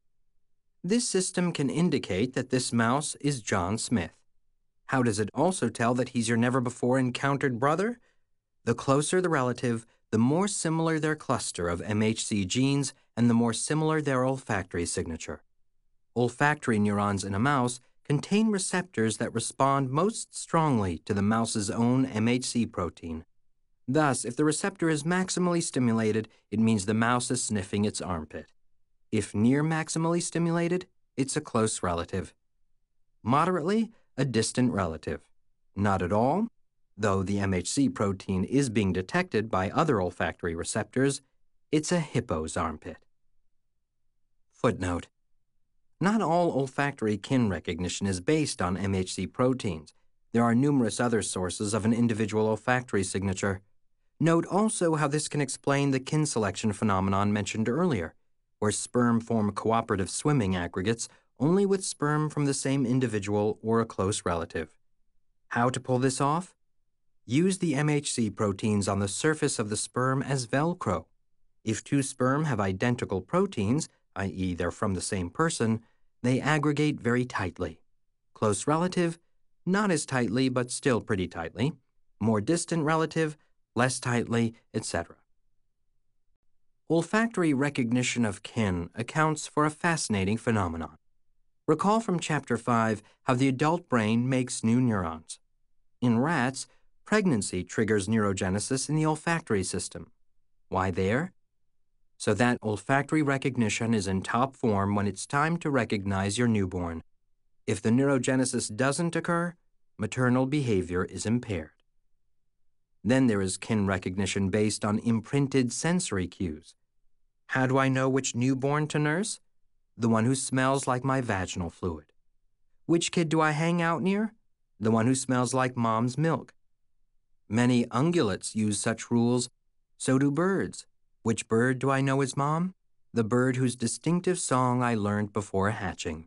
This system can indicate that this mouse is John Smith. How does it also tell that he's your never-before-encountered brother? The closer the relative, the more similar their cluster of M H C genes and the more similar their olfactory signature. Olfactory neurons in a mouse contain receptors that respond most strongly to the mouse's own M H C protein. Thus, if the receptor is maximally stimulated, it means the mouse is sniffing its armpit. If near maximally stimulated, it's a close relative. Moderately, a distant relative. Not at all, though the M H C protein is being detected by other olfactory receptors, it's a hippo's armpit. Footnote: not all olfactory kin recognition is based on M H C proteins. There are numerous other sources of an individual olfactory signature. Note also how this can explain the kin selection phenomenon mentioned earlier, where sperm form cooperative swimming aggregates only with sperm from the same individual or a close relative. How to pull this off? Use the M H C proteins on the surface of the sperm as Velcro. If two sperm have identical proteins, that is they're from the same person, they aggregate very tightly. Close relative, not as tightly but still pretty tightly. More distant relative, less tightly, et cetera. Olfactory recognition of kin accounts for a fascinating phenomenon. Recall from Chapter five how the adult brain makes new neurons. In rats, pregnancy triggers neurogenesis in the olfactory system. Why there? So that olfactory recognition is in top form when it's time to recognize your newborn. If the neurogenesis doesn't occur, maternal behavior is impaired. Then there is kin recognition based on imprinted sensory cues. How do I know which newborn to nurse? The one who smells like my vaginal fluid. Which kid do I hang out near? The one who smells like mom's milk. Many ungulates use such rules. So do birds. Which bird do I know is mom? The bird whose distinctive song I learned before hatching.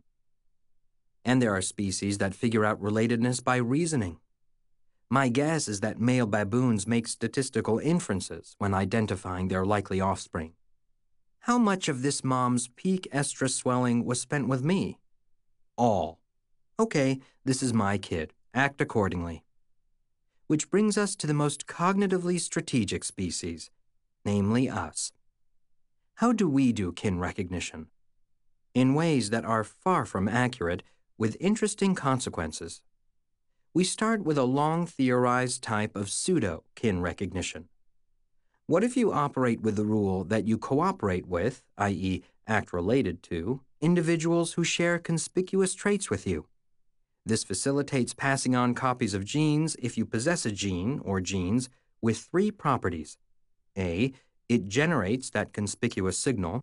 And there are species that figure out relatedness by reasoning. My guess is that male baboons make statistical inferences when identifying their likely offspring. How much of this mom's peak estrus swelling was spent with me? All. Okay, this is my kid. Act accordingly. Which brings us to the most cognitively strategic species, namely us. How do we do kin recognition? In ways that are far from accurate, with interesting consequences. We start with a long theorized type of pseudo-kin recognition. What if you operate with the rule that you cooperate with, that is, act related to, individuals who share conspicuous traits with you? This facilitates passing on copies of genes if you possess a gene or genes with three properties. A. It generates that conspicuous signal.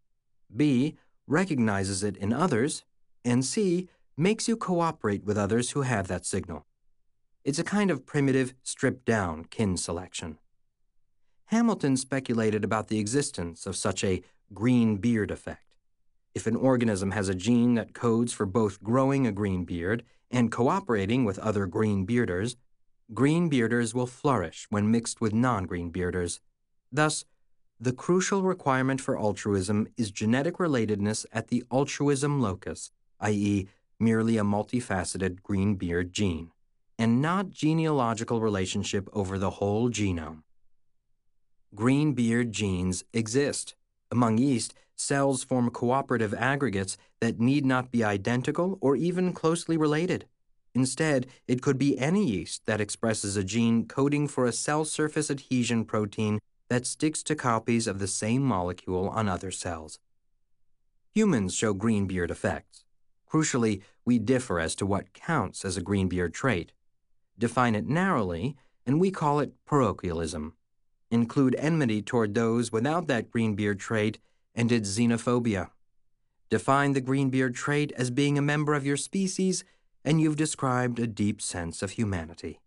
B. Recognizes it in others. And C. Makes you cooperate with others who have that signal. It's a kind of primitive, stripped-down kin selection. Hamilton speculated about the existence of such a green beard effect. If an organism has a gene that codes for both growing a green beard and cooperating with other green bearders, green bearders will flourish when mixed with non-green bearders. Thus, the crucial requirement for altruism is genetic relatedness at the altruism locus, that is, merely a multifaceted green beard gene, and not genealogical relationship over the whole genome. Green beard genes exist. Among yeast, cells form cooperative aggregates that need not be identical or even closely related. Instead, it could be any yeast that expresses a gene coding for a cell surface adhesion protein that sticks to copies of the same molecule on other cells. Humans show green beard effects. Crucially, we differ as to what counts as a green beard trait. Define it narrowly, and we call it parochialism. Include enmity toward those without that green beard trait, and it's xenophobia. Define the green beard trait as being a member of your species, and you've described a deep sense of humanity.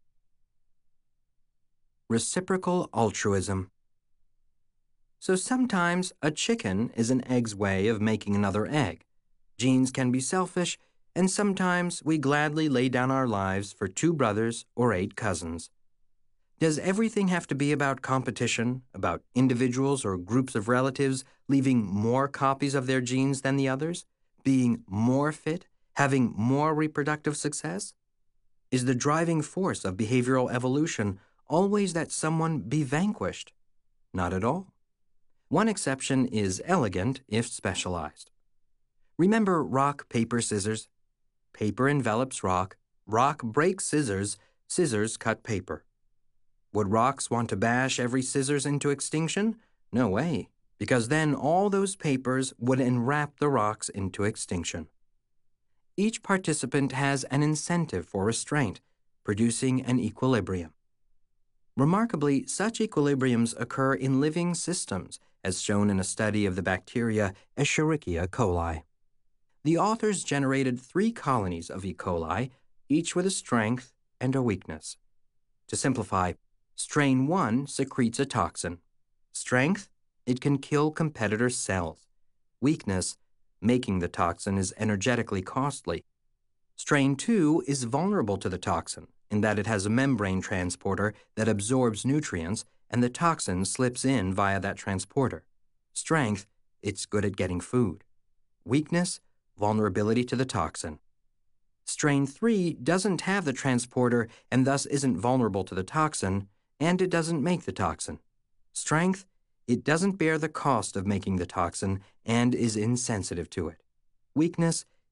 Reciprocal altruism. So sometimes a chicken is an egg's way of making another egg. Genes can be selfish, and sometimes we gladly lay down our lives for two brothers or eight cousins. Does everything have to be about competition, about individuals or groups of relatives leaving more copies of their genes than the others, being more fit, having more reproductive success? Is the driving force of behavioral evolution always that someone be vanquished? Not at all. One exception is elegant if specialized. Remember rock, paper, scissors? Paper envelops rock, rock breaks scissors, scissors cut paper. Would rocks want to bash every scissors into extinction? No way, because then all those papers would enwrap the rocks into extinction. Each participant has an incentive for restraint, producing an equilibrium. Remarkably, such equilibriums occur in living systems, as shown in a study of the bacteria Escherichia coli. The authors generated three colonies of E. coli, each with a strength and a weakness. To simplify, strain one secretes a toxin. Strength, it can kill competitor cells. Weakness, making the toxin is energetically costly. Strain two is vulnerable to the toxin in that it has a membrane transporter that absorbs nutrients and the toxin slips in via that transporter. Strength, it's good at getting food. Weakness, vulnerability to the toxin. Strain three doesn't have the transporter and thus isn't vulnerable to the toxin, and it doesn't make the toxin. Strength, it doesn't bear the cost of making the toxin and is insensitive to it. Weakness,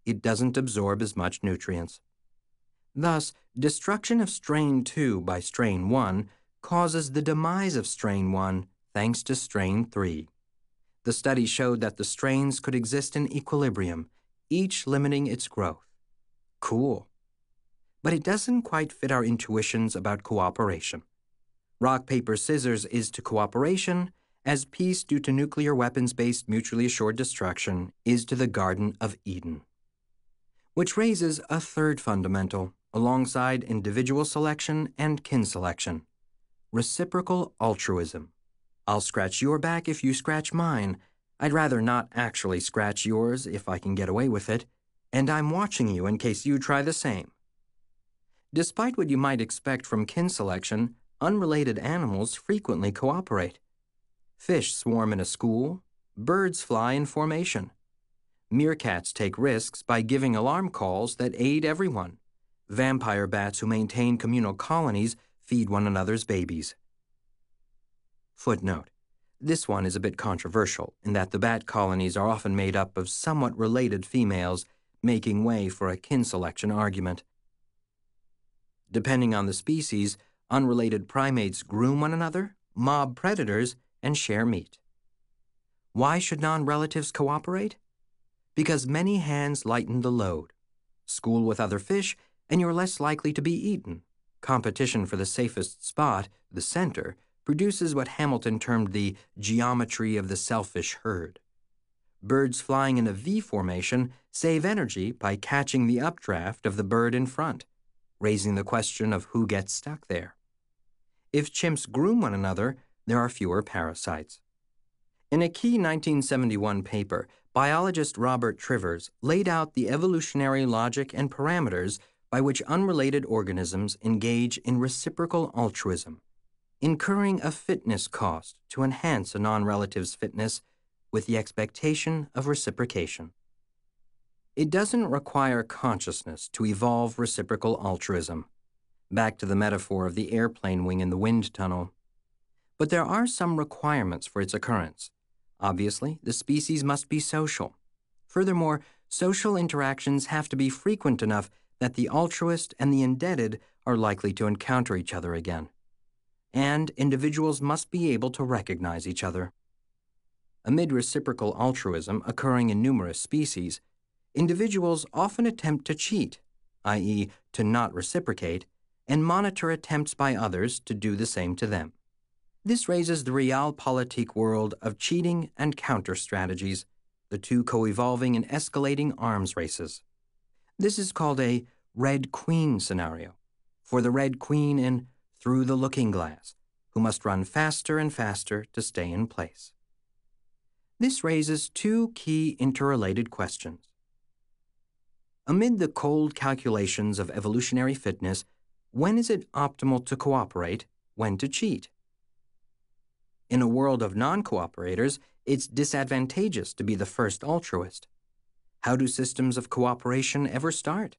it doesn't absorb as much nutrients. Thus, destruction of strain two by strain one causes the demise of strain one thanks to strain three. The study showed that the strains could exist in equilibrium, each limiting its growth. Cool. But it doesn't quite fit our intuitions about cooperation. Rock, paper, scissors is to cooperation as peace due to nuclear weapons-based mutually assured destruction is to the Garden of Eden. Which raises a third fundamental, alongside individual selection and kin selection: reciprocal altruism. I'll scratch your back if you scratch mine. I'd rather not actually scratch yours if I can get away with it, and I'm watching you in case you try the same. Despite what you might expect from kin selection, unrelated animals frequently cooperate. Fish swarm in a school, birds fly in formation. Meerkats take risks by giving alarm calls that aid everyone. Vampire bats who maintain communal colonies feed one another's babies. Footnote: this one is a bit controversial in that the bat colonies are often made up of somewhat related females, making way for a kin selection argument. Depending on the species, unrelated primates groom one another, mob predators, and share meat. Why should non-relatives cooperate? Because many hands lighten the load. School with other fish, and you're less likely to be eaten. Competition for the safest spot, the center, produces what Hamilton termed the geometry of the selfish herd. Birds flying in a V formation save energy by catching the updraft of the bird in front, raising the question of who gets stuck there. If chimps groom one another, there are fewer parasites. In a key nineteen seventy-one paper, biologist Robert Trivers laid out the evolutionary logic and parameters by which unrelated organisms engage in reciprocal altruism, incurring a fitness cost to enhance a non-relative's fitness with the expectation of reciprocation. It doesn't require consciousness to evolve reciprocal altruism. Back to the metaphor of the airplane wing in the wind tunnel. But there are some requirements for its occurrence. Obviously, the species must be social. Furthermore, social interactions have to be frequent enough that the altruist and the indebted are likely to encounter each other again. And individuals must be able to recognize each other. Amid reciprocal altruism occurring in numerous species, individuals often attempt to cheat, that is, to not reciprocate, and monitor attempts by others to do the same to them. This raises the realpolitik world of cheating and counter-strategies, the two co-evolving in escalating arms races. This is called a Red Queen scenario, for the Red Queen in Through the Looking Glass, who must run faster and faster to stay in place. This raises two key interrelated questions. Amid the cold calculations of evolutionary fitness, when is it optimal to cooperate, when to cheat? In a world of non-cooperators, it's disadvantageous to be the first altruist. How do systems of cooperation ever start?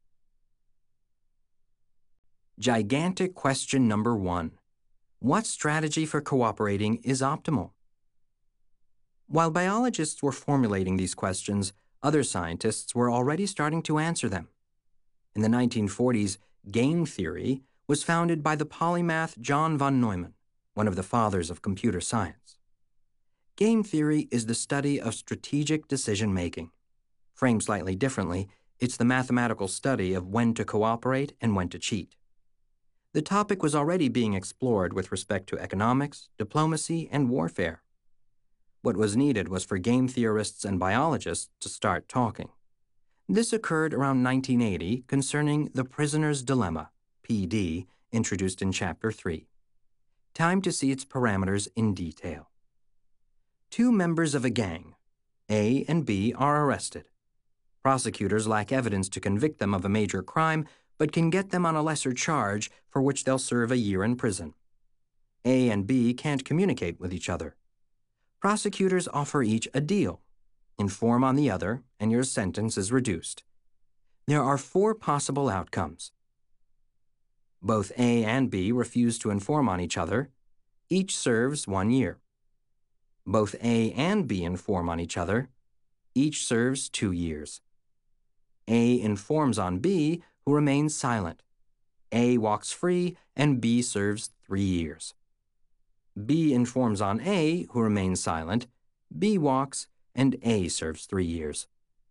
Gigantic question number one. What strategy for cooperating is optimal? While biologists were formulating these questions, other scientists were already starting to answer them. In the nineteen forties, game theory was founded by the polymath John von Neumann, one of the fathers of computer science. Game theory is the study of strategic decision-making. Framed slightly differently, it's the mathematical study of when to cooperate and when to cheat. The topic was already being explored with respect to economics, diplomacy, and warfare. What was needed was for game theorists and biologists to start talking. This occurred around nineteen eighty concerning the prisoner's dilemma, P D, introduced in Chapter three. Time to see its parameters in detail. Two members of a gang, A and B, are arrested. Prosecutors lack evidence to convict them of a major crime, but can get them on a lesser charge for which they'll serve a year in prison. A and B can't communicate with each other. Prosecutors offer each a deal. Inform on the other, and your sentence is reduced. There are four possible outcomes. Both A and B refuse to inform on each other. Each serves one year. Both A and B inform on each other. Each serves two years. A informs on B, who remains silent. A walks free, and B serves three years. B informs on A, who remains silent. B walks, and A serves three years.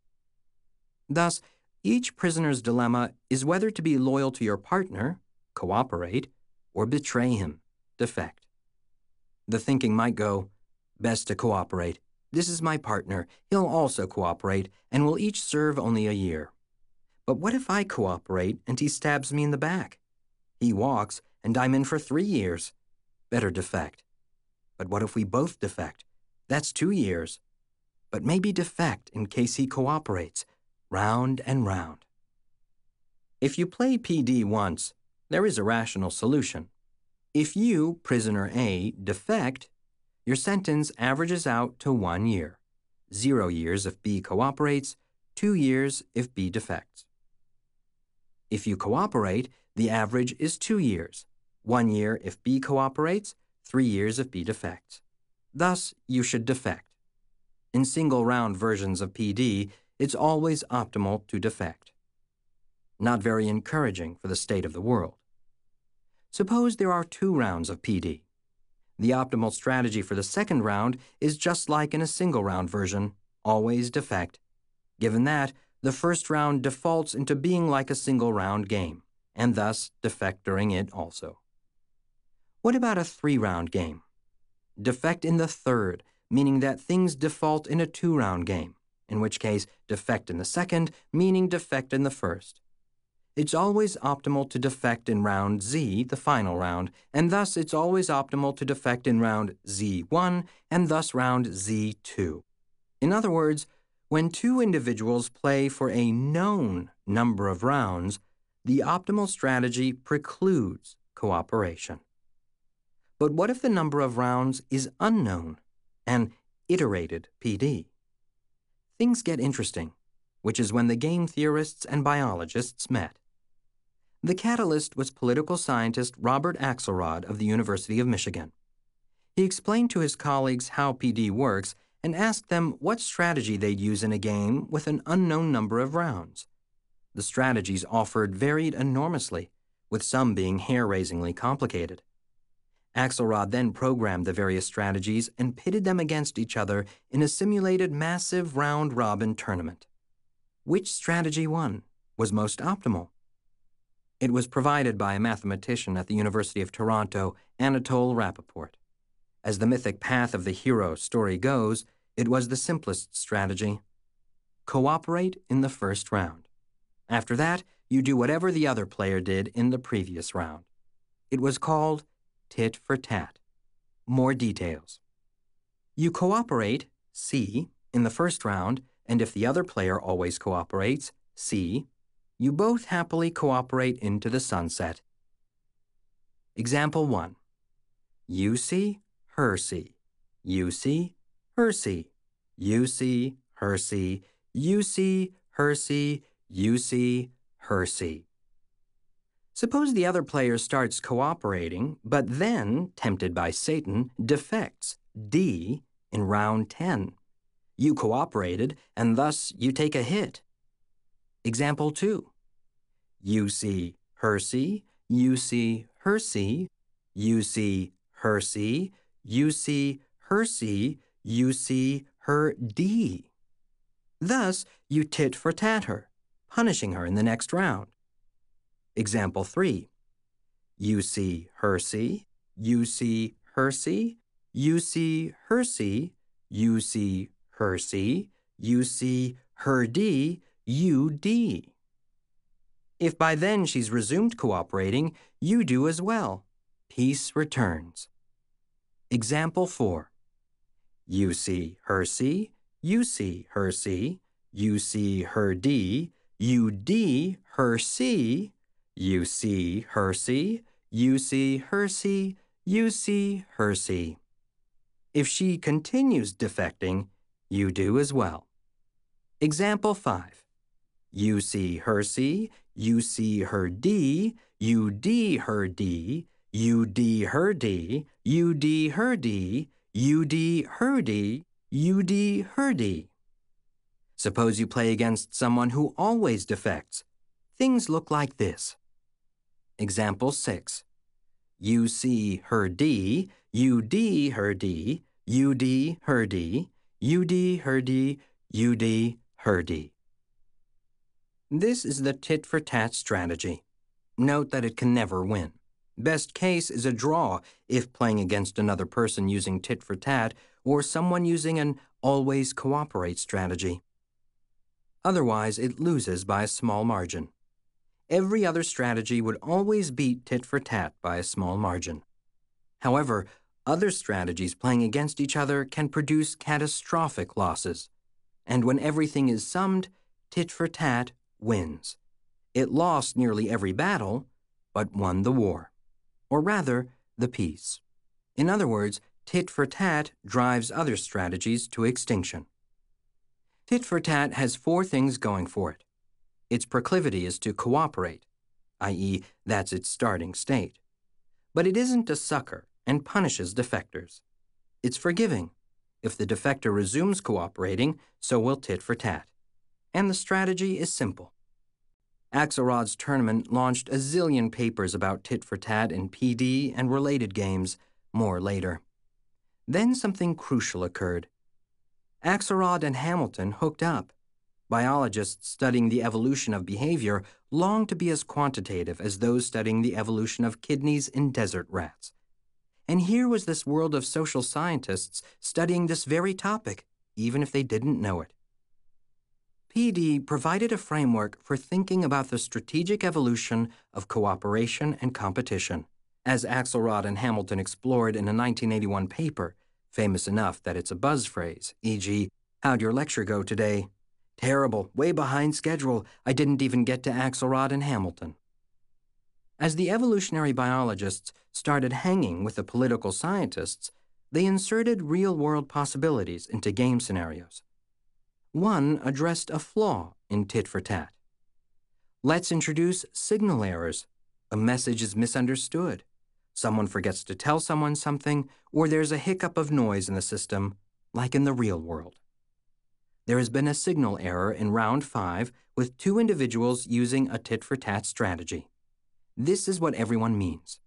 Thus, each prisoner's dilemma is whether to be loyal to your partner, cooperate, or betray him, defect. The thinking might go, best to cooperate. This is my partner. He'll also cooperate, and we'll each serve only a year. But what if I cooperate and he stabs me in the back? He walks, and I'm in for three years. Better defect. But what if we both defect? That's two years. But maybe defect in case he cooperates. Round and round. If you play P D once, there is a rational solution. If you, prisoner A, defect, your sentence averages out to one year. Zero years if B cooperates, two years if B defects. If you cooperate, the average is two years. One year if B cooperates, three years if B defects. Thus, you should defect. In single-round versions of P D, it's always optimal to defect. Not very encouraging for the state of the world. Suppose there are two rounds of P D. The optimal strategy for the second round is just like in a single-round version, always defect. Given that, the first round defaults into being like a single-round game, and thus defect during it also. What about a three-round game? Defect in the third, meaning that things default in a two-round game, in which case defect in the second, meaning defect in the first. It's always optimal to defect in round Z, the final round, and thus it's always optimal to defect in round Z one and thus round Z two. In other words, when two individuals play for a known number of rounds, the optimal strategy precludes cooperation. But what if the number of rounds is unknown, an iterated P D? Things get interesting, which is when the game theorists and biologists met. The catalyst was political scientist Robert Axelrod of the University of Michigan. He explained to his colleagues how P D works and asked them what strategy they'd use in a game with an unknown number of rounds. The strategies offered varied enormously, with some being hair-raisingly complicated. Axelrod then programmed the various strategies and pitted them against each other in a simulated massive round-robin tournament. Which strategy won, was most optimal? It was provided by a mathematician at the University of Toronto, Anatole Rappaport. As the mythic path of the hero story goes, it was the simplest strategy. Cooperate in the first round. After that, you do whatever the other player did in the previous round. It was called tit for tat. More details. You cooperate, C, in the first round, and if the other player always cooperates, C, you both happily cooperate into the sunset. Example one. You see, her see. You see, her see. You see, her see. You see, her see. You see, her see. Suppose the other player starts cooperating, but then, tempted by Satan, defects, D, in round ten. You cooperated, and thus you take a hit. Example two. You see, her see. You see, her see. You see, her see. You see, her see. You see, her D. Thus, you tit for tat her, punishing her in the next round. Example three. You see, her see. You see, her see. You see, her see. You see, her see. You see, her D. You D. If by then she's resumed cooperating, you do as well. Peace returns. Example four. You see, her see. You see, her see. You see, her D. You D, her see. You see, her see. You see, her see. You see, her see. If she continues defecting, you do as well. Example five. You see, her see. You see, her D. You D, her D. You D, her D. You D, her D. You D, her D. You D, her D. Suppose you play against someone who always defects. Things look like this. Example six. You see her D, you D her D, you D her D, you D her D, you D her D. This is the tit-for-tat strategy. Note that it can never win. Best case is a draw if playing against another person using tit-for-tat or someone using an always cooperate strategy. Otherwise, it loses by a small margin. Every other strategy would always beat tit-for-tat by a small margin. However, other strategies playing against each other can produce catastrophic losses. And when everything is summed, tit-for-tat wins. It lost nearly every battle, but won the war. Or rather, the peace. In other words, tit-for-tat drives other strategies to extinction. Tit-for-tat has four things going for it. Its proclivity is to cooperate, that is, that's its starting state. But it isn't a sucker and punishes defectors. It's forgiving. If the defector resumes cooperating, so will tit-for-tat. And the strategy is simple. Axelrod's tournament launched a zillion papers about tit-for-tat in P D and related games, more later. Then something crucial occurred. Axelrod and Hamilton hooked up. Biologists studying the evolution of behavior long to be as quantitative as those studying the evolution of kidneys in desert rats. And here was this world of social scientists studying this very topic, even if they didn't know it. P D provided a framework for thinking about the strategic evolution of cooperation and competition, as Axelrod and Hamilton explored in a nineteen eighty-one paper, famous enough that it's a buzz phrase, for example, "How'd your lecture go today?" "Terrible, way behind schedule. I didn't even get to Axelrod and Hamilton." As the evolutionary biologists started hanging with the political scientists, they inserted real-world possibilities into game scenarios. One addressed a flaw in tit-for-tat. Let's introduce signal errors. A message is misunderstood. Someone forgets to tell someone something, or there's a hiccup of noise in the system, like in the real world. There has been a signal error in round five with two individuals using a tit-for-tat strategy. This is what everyone means.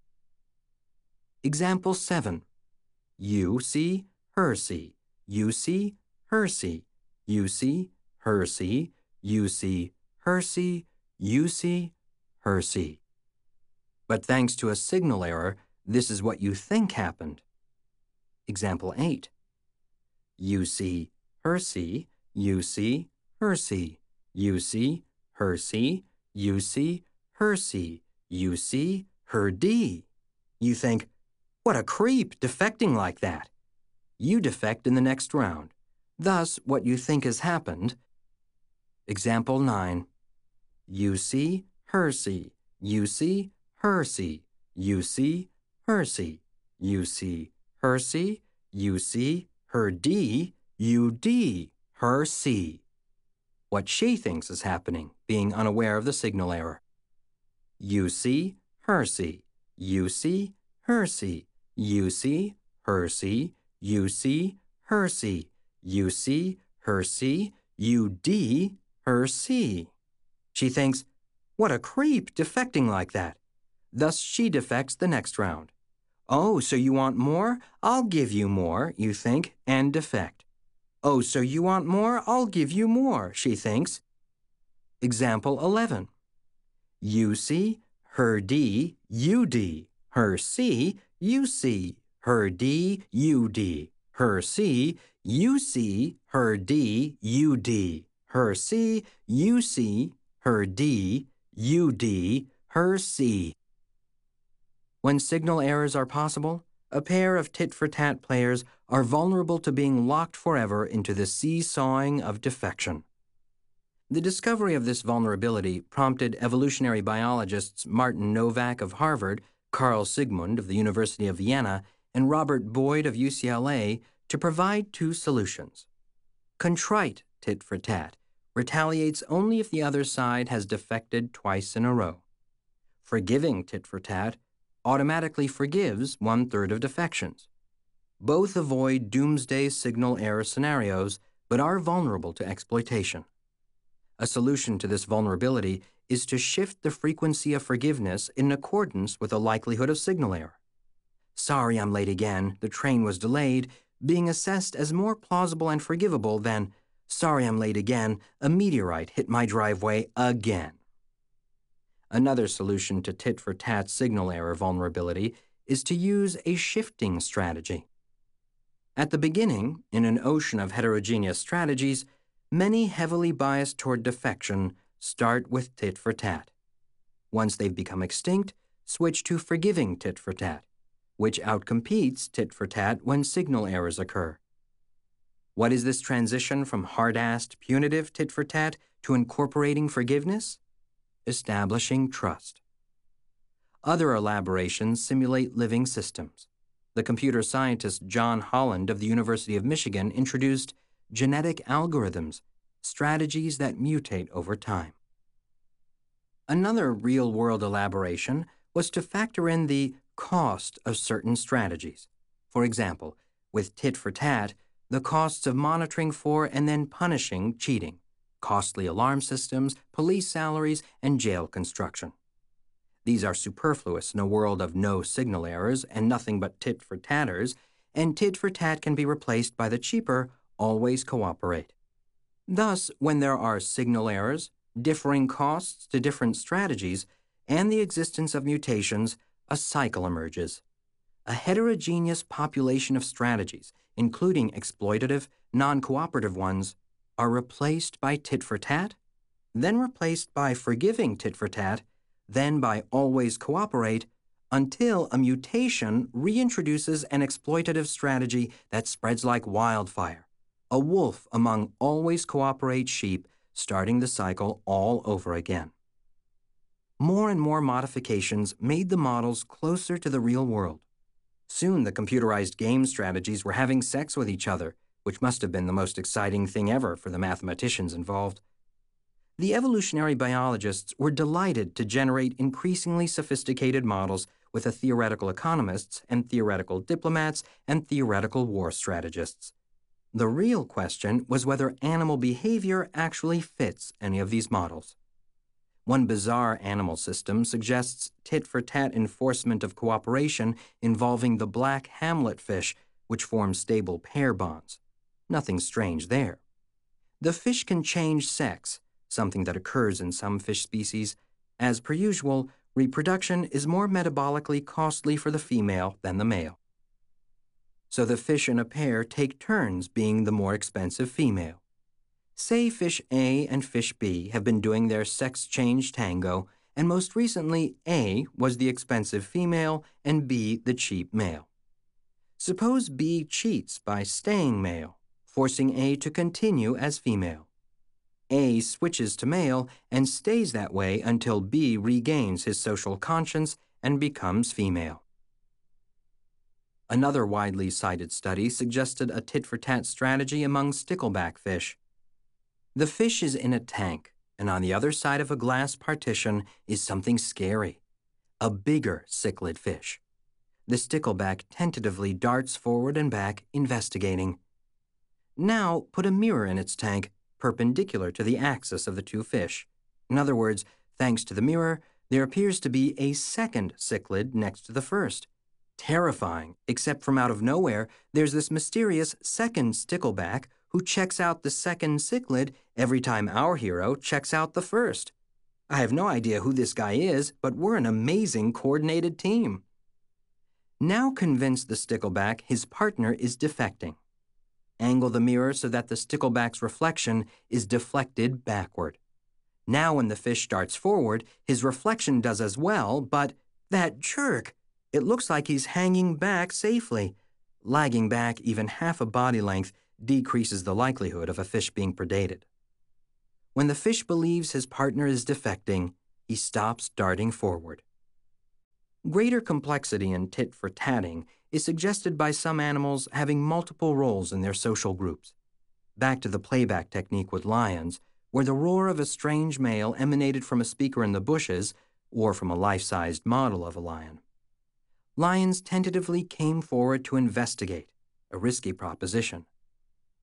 Example seven. You see, her see. You see, her see. You see, her see. You see, her see. You see, her see. But thanks to a signal error, this is what you think happened. Example eight. You see, her see. You see, her see. You see, her see. You see, her see. You see, her D. You think, what a creep defecting like that. You defect in the next round. Thus, what you think has happened. Example nine. You see, her see. You see, her see. You see, her see. You see, her see. You see, her D. You D. Her see. What she thinks is happening, being unaware of the signal error. You see, her see. You see, her see. You see, her see. You see, her see. You see, her see. You D, her see. She thinks, what a creep defecting like that. Thus she defects the next round. Oh, so you want more? I'll give you more, you think, and defect. Oh, so you want more? I'll give you more, she thinks. Example eleven. You see, her D, you D. Her C, you see. Her D, you D. Her C, you see. Her D, you D. Her C, you see. Her D, you D. Her C. When signal errors are possible, a pair of tit-for-tat players are vulnerable to being locked forever into the seesawing of defection. The discovery of this vulnerability prompted evolutionary biologists Martin Nowak of Harvard, Carl Sigmund of the University of Vienna, and Robert Boyd of U C L A to provide two solutions. Contrite tit-for-tat retaliates only if the other side has defected twice in a row. Forgiving tit-for-tat automatically forgives one-third of defections. Both avoid doomsday signal error scenarios, but are vulnerable to exploitation. A solution to this vulnerability is to shift the frequency of forgiveness in accordance with the likelihood of signal error. Sorry I'm late again, the train was delayed, being assessed as more plausible and forgivable than, sorry I'm late again, a meteorite hit my driveway again. Another solution to tit-for-tat signal error vulnerability is to use a shifting strategy. At the beginning, in an ocean of heterogeneous strategies, many heavily biased toward defection start with tit-for-tat. Once they've become extinct, switch to forgiving tit-for-tat, which outcompetes tit-for-tat when signal errors occur. What is this transition from hard-assed, punitive tit-for-tat to incorporating forgiveness? Establishing trust. Other elaborations simulate living systems. The computer scientist John Holland of the University of Michigan introduced genetic algorithms, strategies that mutate over time. Another real-world elaboration was to factor in the cost of certain strategies. For example, with tit-for-tat, the costs of monitoring for and then punishing cheating, costly alarm systems, police salaries, and jail construction. These are superfluous in a world of no signal errors and nothing but tit-for-tatters, and tit-for-tat can be replaced by the cheaper always cooperate. Thus, when there are signal errors, differing costs to different strategies, and the existence of mutations, a cycle emerges. A heterogeneous population of strategies, including exploitative, non-cooperative ones, are replaced by tit-for-tat, then replaced by forgiving tit-for-tat, then by always cooperate, until a mutation reintroduces an exploitative strategy that spreads like wildfire, a wolf among always cooperate sheep, starting the cycle all over again. More and more modifications made the models closer to the real world. Soon the computerized game strategies were having sex with each other, which must have been the most exciting thing ever for the mathematicians involved. The evolutionary biologists were delighted to generate increasingly sophisticated models with the theoretical economists and theoretical diplomats and theoretical war strategists. The real question was whether animal behavior actually fits any of these models. One bizarre animal system suggests tit-for-tat enforcement of cooperation involving the black hamlet fish, which form stable pair bonds. Nothing strange there. The fish can change sex, something that occurs in some fish species. As per usual, reproduction is more metabolically costly for the female than the male. So the fish in a pair take turns being the more expensive female. Say fish A and fish B have been doing their sex change tango, and most recently A was the expensive female and B the cheap male. Suppose B cheats by staying male, forcing A to continue as female. A switches to male and stays that way until B regains his social conscience and becomes female. Another widely cited study suggested a tit-for-tat strategy among stickleback fish. The fish is in a tank, and on the other side of a glass partition is something scary, a bigger cichlid fish. The stickleback tentatively darts forward and back, investigating. Now put a mirror in its tank, perpendicular to the axis of the two fish. In other words, thanks to the mirror, there appears to be a second cichlid next to the first. Terrifying, except from out of nowhere, there's this mysterious second stickleback who checks out the second cichlid every time our hero checks out the first. I have no idea who this guy is, but we're an amazing coordinated team. Now convince the stickleback his partner is defecting. Angle the mirror so that the stickleback's reflection is deflected backward. Now when the fish darts forward, his reflection does as well, but that jerk! It looks like he's hanging back safely. Lagging back even half a body length decreases the likelihood of a fish being predated. When the fish believes his partner is defecting, he stops darting forward. Greater complexity in tit-for-tatting is suggested by some animals having multiple roles in their social groups. Back to the playback technique with lions, where the roar of a strange male emanated from a speaker in the bushes or from a life-sized model of a lion. Lions tentatively came forward to investigate, a risky proposition.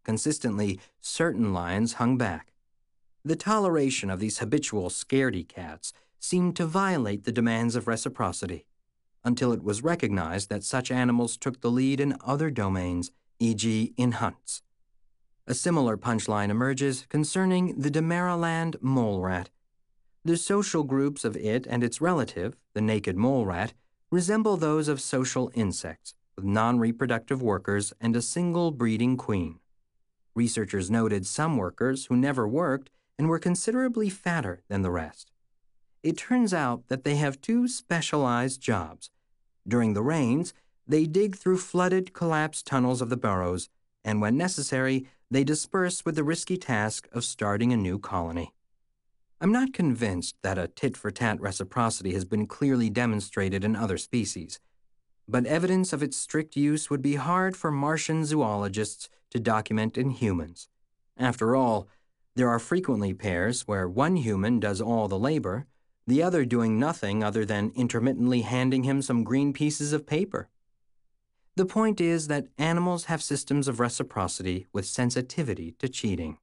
consistently, certain lions hung back. The toleration of these habitual scaredy cats seemed to violate the demands of reciprocity, until it was recognized that such animals took the lead in other domains, for example in hunts. A similar punchline emerges concerning the Damaraland mole rat. The social groups of it and its relative, the naked mole rat, resemble those of social insects, with non-reproductive workers and a single breeding queen. Researchers noted some workers who never worked and were considerably fatter than the rest. It turns out that they have two specialized jobs. During the rains, they dig through flooded, collapsed tunnels of the burrows, and when necessary, they disperse with the risky task of starting a new colony. I'm not convinced that a tit-for-tat reciprocity has been clearly demonstrated in other species, but evidence of its strict use would be hard for Martian zoologists to document in humans. After all, there are frequently pairs where one human does all the labor, the other doing nothing other than intermittently handing him some green pieces of paper. The point is that animals have systems of reciprocity with sensitivity to cheating.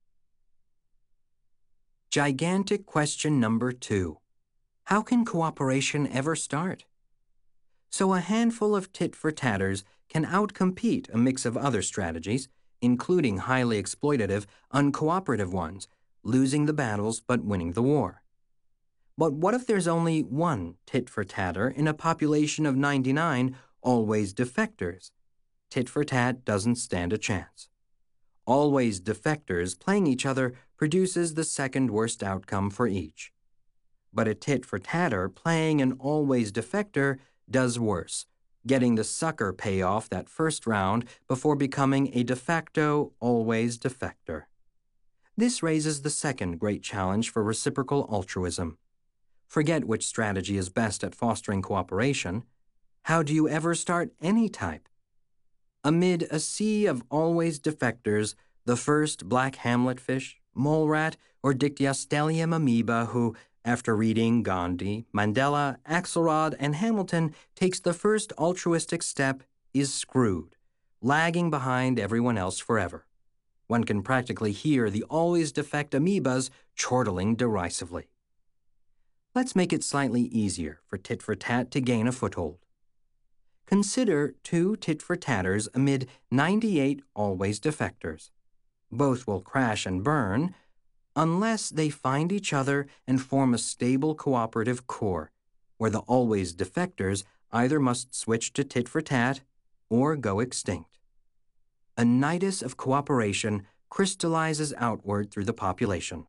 Gigantic question number two. How can cooperation ever start? So a handful of tit-for-tatters can outcompete a mix of other strategies, including highly exploitative, uncooperative ones, losing the battles but winning the war. But what if there's only one tit-for-tatter in a population of ninety-nine always defectors? Tit-for-tat doesn't stand a chance. Always defectors playing each other produces the second worst outcome for each. But a tit-for-tatter playing an always defector does worse, getting the sucker payoff that first round before becoming a de facto always defector. This raises the second great challenge for reciprocal altruism. Forget which strategy is best at fostering cooperation. How do you ever start any type? Amid a sea of always defectors, the first black hamletfish, mole rat, or Dictyostelium amoeba who, after reading Gandhi, Mandela, Axelrod, and Hamilton, takes the first altruistic step is screwed, lagging behind everyone else forever. One can practically hear the always defect amoebas chortling derisively. Let's make it slightly easier for tit-for-tat to gain a foothold. Consider two tit-for-tatters amid ninety-eight always defectors. Both will crash and burn unless they find each other and form a stable cooperative core, where the always defectors either must switch to tit-for-tat or go extinct. A nidus of cooperation crystallizes outward through the population.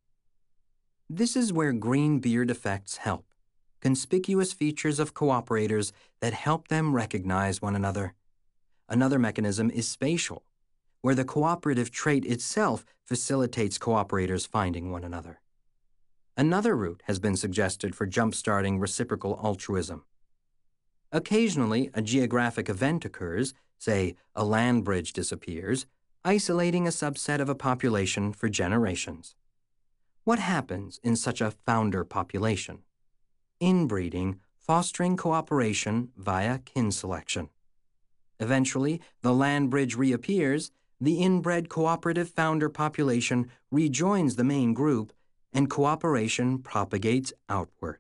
This is where green beard effects help, conspicuous features of cooperators that help them recognize one another. Another mechanism is spatial, where the cooperative trait itself facilitates cooperators finding one another. Another route has been suggested for jump-starting reciprocal altruism. Occasionally, a geographic event occurs, say a land bridge disappears, isolating a subset of a population for generations. What happens in such a founder population? Inbreeding, fostering cooperation via kin selection. Eventually, the land bridge reappears, the inbred cooperative founder population rejoins the main group, and cooperation propagates outward.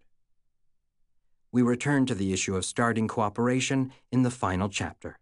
We return to the issue of starting cooperation in the final chapter.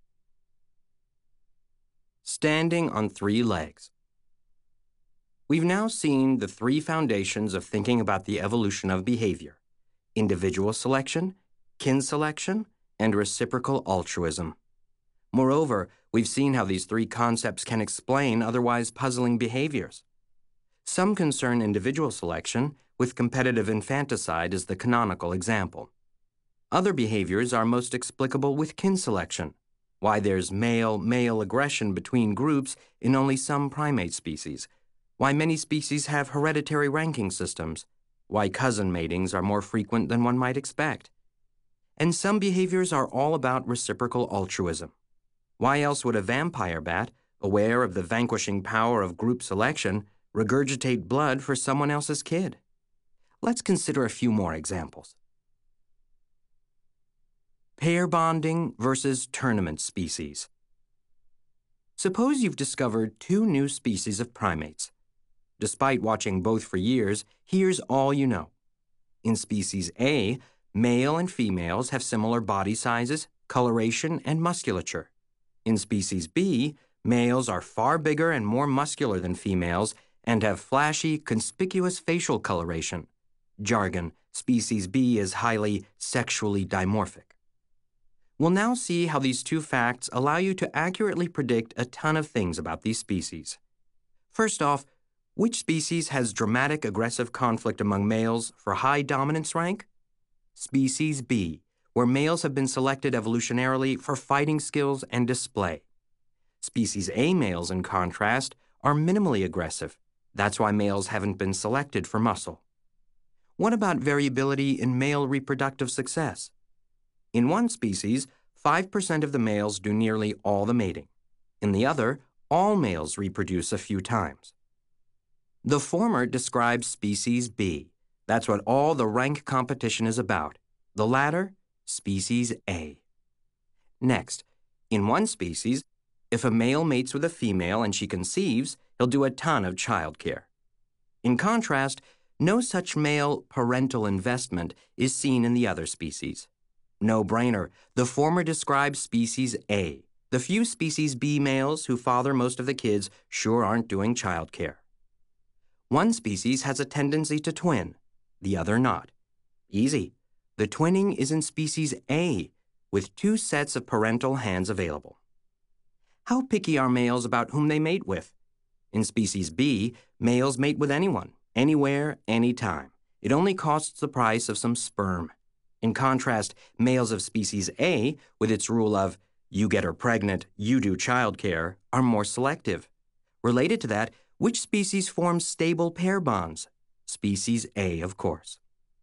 Standing on three legs. We've now seen the three foundations of thinking about the evolution of behavior: individual selection, kin selection, and reciprocal altruism. Moreover, we've seen how these three concepts can explain otherwise puzzling behaviors. Some concern individual selection, with competitive infanticide as the canonical example. Other behaviors are most explicable with kin selection, why there's male-male aggression between groups in only some primate species, why many species have hereditary ranking systems, why cousin matings are more frequent than one might expect. And some behaviors are all about reciprocal altruism. Why else would a vampire bat, aware of the vanquishing power of group selection, regurgitate blood for someone else's kid? Let's consider a few more examples. Pair bonding versus tournament species. Suppose you've discovered two new species of primates. Despite watching both for years, here's all you know. In species A, male and females have similar body sizes, coloration, and musculature. In species B, males are far bigger and more muscular than females and have flashy, conspicuous facial coloration. Jargon, species B is highly sexually dimorphic. We'll now see how these two facts allow you to accurately predict a ton of things about these species. First off, which species has dramatic aggressive conflict among males for high dominance rank? Species B, where males have been selected evolutionarily for fighting skills and display. Species A males, in contrast, are minimally aggressive. That's why males haven't been selected for muscle. What about variability in male reproductive success? In one species, five percent of the males do nearly all the mating. In the other, all males reproduce a few times. The former describes species B. That's what all the rank competition is about. The latter, species A. Next, in one species, if a male mates with a female and she conceives, he'll do a ton of childcare. In contrast, no such male parental investment is seen in the other species. No brainer, the former describes species A. The few species B males who father most of the kids sure aren't doing childcare. One species has a tendency to twin, the other not. Easy. The twinning is in species A, with two sets of parental hands available. How picky are males about whom they mate with? In species B, males mate with anyone, anywhere, anytime. It only costs the price of some sperm. In contrast, males of species A, with its rule of, you get her pregnant, you do childcare, are more selective. Related to that, which species forms stable pair bonds? Species A, of course.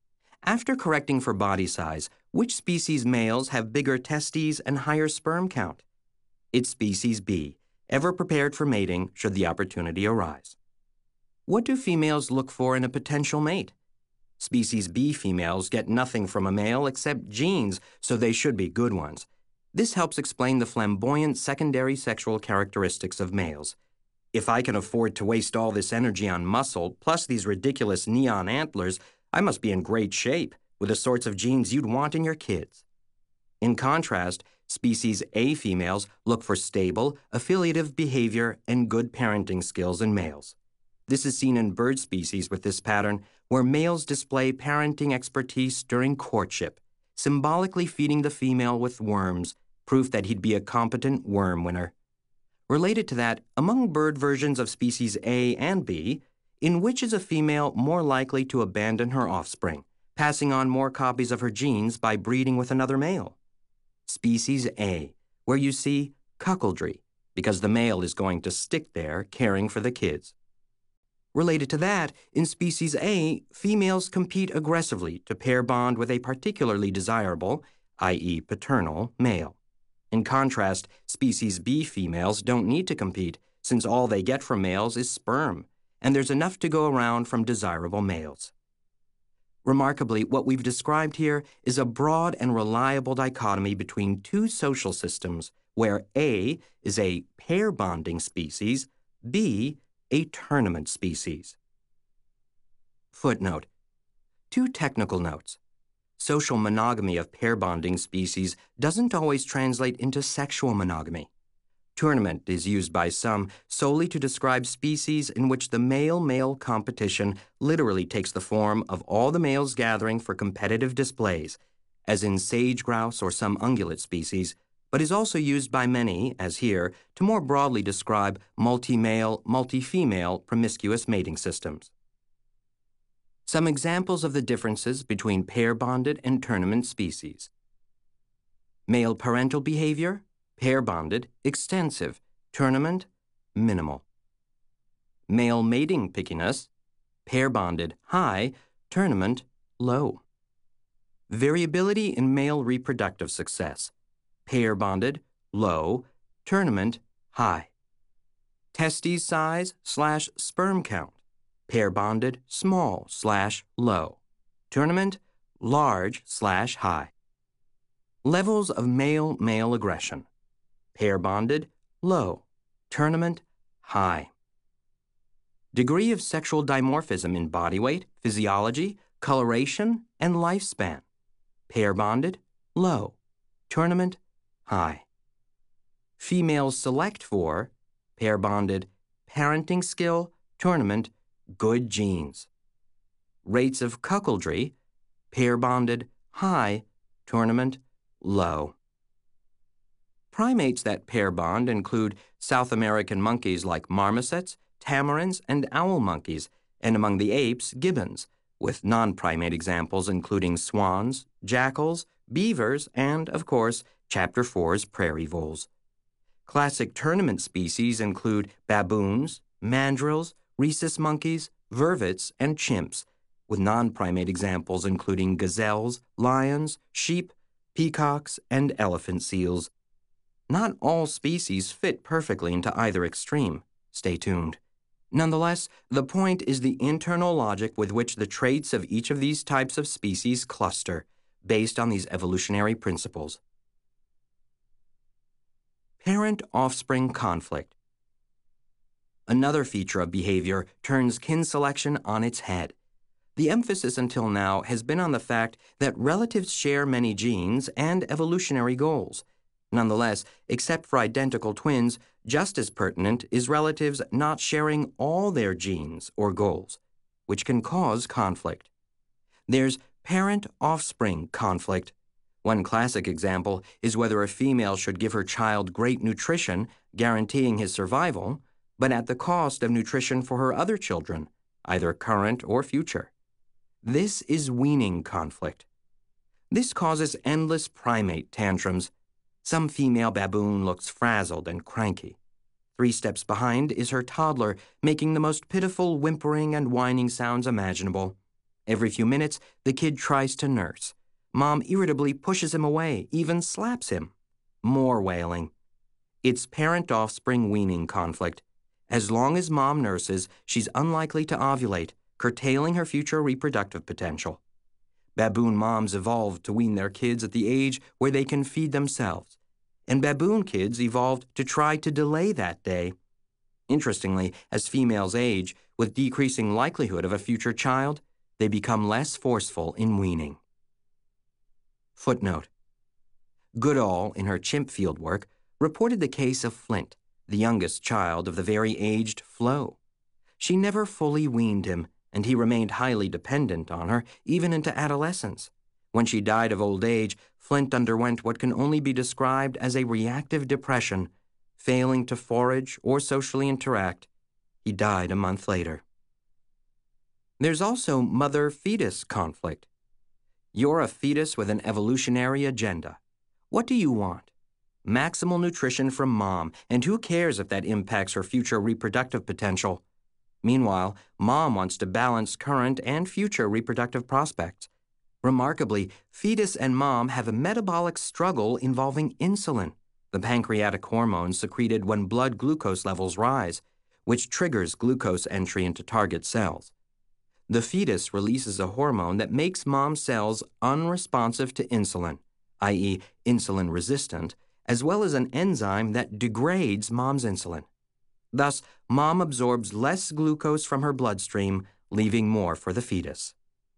After correcting for body size, which species males have bigger testes and higher sperm count? It's species B, ever prepared for mating should the opportunity arise. What do females look for in a potential mate? Species B females get nothing from a male except genes, so they should be good ones. This helps explain the flamboyant secondary sexual characteristics of males. If I can afford to waste all this energy on muscle, plus these ridiculous neon antlers, I must be in great shape, with the sorts of genes you'd want in your kids. In contrast, species A females look for stable, affiliative behavior and good parenting skills in males. This is seen in bird species with this pattern, where males display parenting expertise during courtship, symbolically feeding the female with worms, proof that he'd be a competent worm winner. Related to that, among bird versions of species A and B, in which is a female more likely to abandon her offspring, passing on more copies of her genes by breeding with another male? Species A, where you see cuckoldry, because the male is going to stick there caring for the kids. Related to that, in species A, females compete aggressively to pair bond with a particularly desirable, that is paternal, male. In contrast, species B females don't need to compete, since all they get from males is sperm, and there's enough to go around from desirable males. Remarkably, what we've described here is a broad and reliable dichotomy between two social systems, where A is a pair-bonding species, B a tournament species. Footnote. Two technical notes. Social monogamy of pair-bonding species doesn't always translate into sexual monogamy. Tournament is used by some solely to describe species in which the male-male competition literally takes the form of all the males gathering for competitive displays, as in sage grouse or some ungulate species, but is also used by many, as here, to more broadly describe multi-male, multi-female promiscuous mating systems. Some examples of the differences between pair-bonded and tournament species. Male parental behavior, pair-bonded, extensive, tournament, minimal. Male mating pickiness, pair-bonded, high, tournament, low. Variability in male reproductive success, pair-bonded, low, tournament, high. Testes size slash sperm count, pair-bonded, small slash low. Tournament, large slash high. Levels of male-male aggression, pair-bonded, low. tournament, high. Degree of sexual dimorphism in body weight, physiology, coloration, and lifespan. Pair bonded, low. Tournament, high. Females select for, pair bonded, parenting skill, tournament, good genes. Rates of cuckoldry, pair bonded, high. Tournament, low. Primates that pair bond include South American monkeys like marmosets, tamarins, and owl monkeys, and among the apes, gibbons, with non-primate examples including swans, jackals, beavers, and, of course, Chapter four's prairie voles. Classic tournament species include baboons, mandrills, rhesus monkeys, vervets, and chimps, with non-primate examples including gazelles, lions, sheep, peacocks, and elephant seals. Not all species fit perfectly into either extreme. Stay tuned. Nonetheless, the point is the internal logic with which the traits of each of these types of species cluster, based on these evolutionary principles. Parent-offspring conflict. Another feature of behavior turns kin selection on its head. The emphasis until now has been on the fact that relatives share many genes and evolutionary goals. Nonetheless, except for identical twins, just as pertinent is relatives not sharing all their genes or goals, which can cause conflict. There's parent-offspring conflict. One classic example is whether a female should give her child great nutrition, guaranteeing his survival, but at the cost of nutrition for her other children, either current or future. This is weaning conflict. This causes endless primate tantrums. Some female baboon looks frazzled and cranky. Three steps behind is her toddler, making the most pitiful whimpering and whining sounds imaginable. Every few minutes, the kid tries to nurse. Mom irritably pushes him away, even slaps him. More wailing. It's parent-offspring weaning conflict. As long as mom nurses, she's unlikely to ovulate, curtailing her future reproductive potential. Baboon moms evolved to wean their kids at the age where they can feed themselves, and baboon kids evolved to try to delay that day. Interestingly, as females age, with decreasing likelihood of a future child, they become less forceful in weaning. Footnote. Goodall, in her chimp fieldwork, reported the case of Flint, the youngest child of the very aged Flo. She never fully weaned him, and he remained highly dependent on her even into adolescence. When she died of old age, Flint underwent what can only be described as a reactive depression, failing to forage or socially interact. He died a month later. There's also mother-fetus conflict. You're a fetus with an evolutionary agenda. What do you want? Maximal nutrition from mom, and who cares if that impacts her future reproductive potential? Meanwhile, mom wants to balance current and future reproductive prospects. Remarkably, fetus and mom have a metabolic struggle involving insulin, the pancreatic hormone secreted when blood glucose levels rise, which triggers glucose entry into target cells. The fetus releases a hormone that makes mom's cells unresponsive to insulin, that is insulin resistant, as well as an enzyme that degrades mom's insulin. Thus, mom absorbs less glucose from her bloodstream, leaving more for the fetus.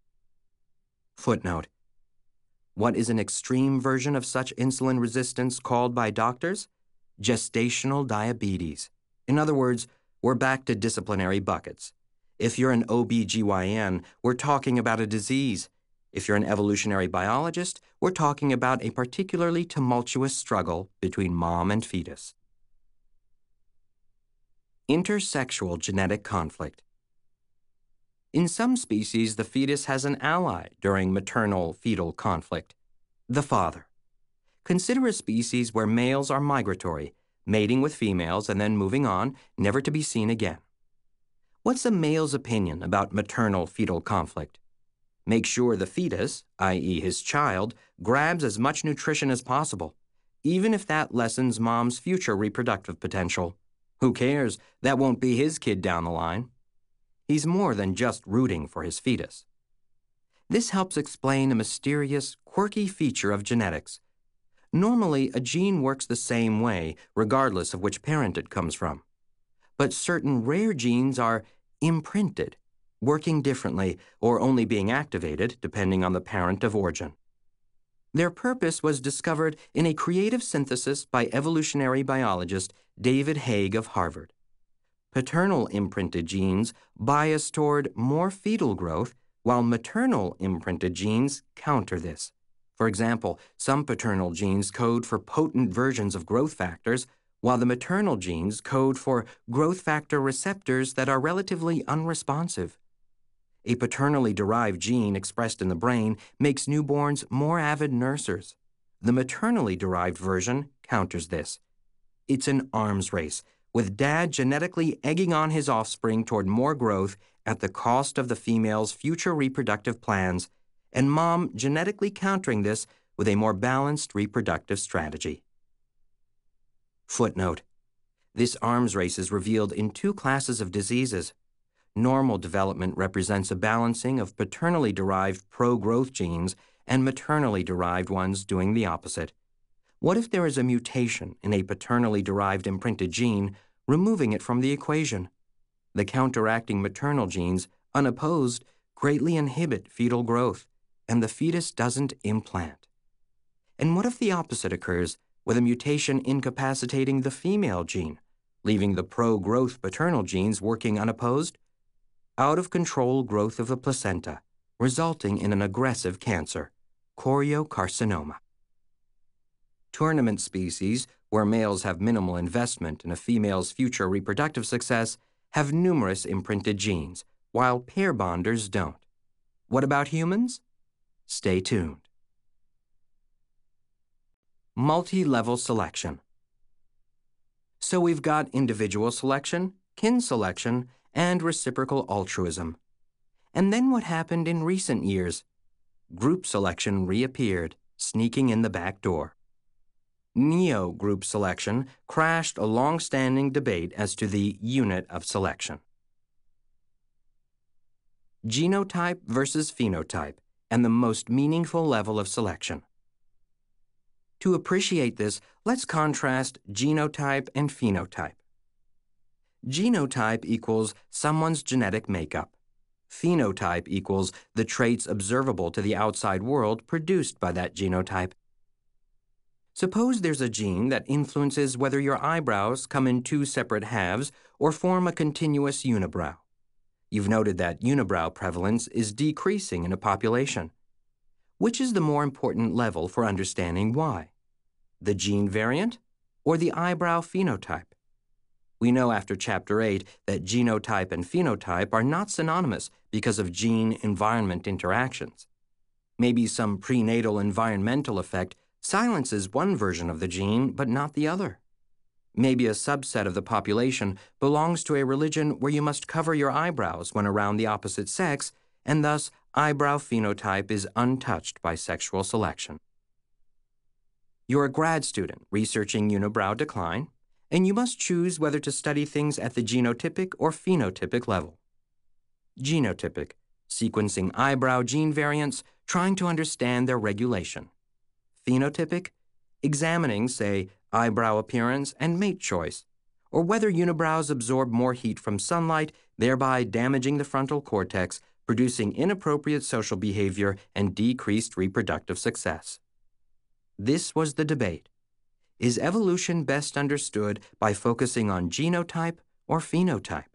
Footnote. What is an extreme version of such insulin resistance called by doctors? Gestational diabetes. In other words, we're back to disciplinary buckets. If you're an O B G Y N, we're talking about a disease. If you're an evolutionary biologist, we're talking about a particularly tumultuous struggle between mom and fetus. Intersexual genetic conflict. In some species, the fetus has an ally during maternal-fetal conflict, the father. Consider a species where males are migratory, mating with females and then moving on, never to be seen again. What's a male's opinion about maternal-fetal conflict? Make sure the fetus, that is his child, grabs as much nutrition as possible, even if that lessens mom's future reproductive potential. Who cares? That won't be his kid down the line. He's more than just rooting for his fetus. This helps explain a mysterious, quirky feature of genetics. Normally, a gene works the same way, regardless of which parent it comes from. But certain rare genes are imprinted, working differently or only being activated depending on the parent of origin. Their purpose was discovered in a creative synthesis by evolutionary biologist David Haig of Harvard. Paternal imprinted genes bias toward more fetal growth, while maternal imprinted genes counter this. For example, some paternal genes code for potent versions of growth factors, while the maternal genes code for growth factor receptors that are relatively unresponsive. A paternally derived gene expressed in the brain makes newborns more avid nursers. The maternally derived version counters this. It's an arms race, with dad genetically egging on his offspring toward more growth at the cost of the female's future reproductive plans, and mom genetically countering this with a more balanced reproductive strategy. Footnote: this arms race is revealed in two classes of diseases. Normal development represents a balancing of paternally derived pro-growth genes and maternally derived ones doing the opposite. What if there is a mutation in a paternally derived imprinted gene, removing it from the equation? The counteracting maternal genes, unopposed, greatly inhibit fetal growth, and the fetus doesn't implant. And what if the opposite occurs, with a mutation incapacitating the female gene, leaving the pro-growth paternal genes working unopposed? Out-of-control growth of the placenta, resulting in an aggressive cancer, choriocarcinoma. Tournament species, where males have minimal investment in a female's future reproductive success, have numerous imprinted genes, while pair bonders don't. What about humans? Stay tuned. Multi-level selection. So we've got individual selection, kin selection, and reciprocal altruism. And then what happened in recent years? Group selection reappeared, sneaking in the back door. Neo-group selection crashed a long-standing debate as to the unit of selection. Genotype versus phenotype, and the most meaningful level of selection. To appreciate this, let's contrast genotype and phenotype. Genotype equals someone's genetic makeup. Phenotype equals the traits observable to the outside world produced by that genotype. Suppose there's a gene that influences whether your eyebrows come in two separate halves or form a continuous unibrow. You've noted that unibrow prevalence is decreasing in a population. Which is the more important level for understanding why? The gene variant or the eyebrow phenotype? We know after Chapter eight that genotype and phenotype are not synonymous because of gene-environment interactions. Maybe some prenatal environmental effect silences one version of the gene but not the other. Maybe a subset of the population belongs to a religion where you must cover your eyebrows when around the opposite sex, and thus eyebrow phenotype is untouched by sexual selection. You're a grad student researching unibrow decline, and you must choose whether to study things at the genotypic or phenotypic level. Genotypic, sequencing eyebrow gene variants, trying to understand their regulation. Phenotypic, examining, say, eyebrow appearance and mate choice, or whether unibrows absorb more heat from sunlight, thereby damaging the frontal cortex, producing inappropriate social behavior and decreased reproductive success. This was the debate. Is evolution best understood by focusing on genotype or phenotype?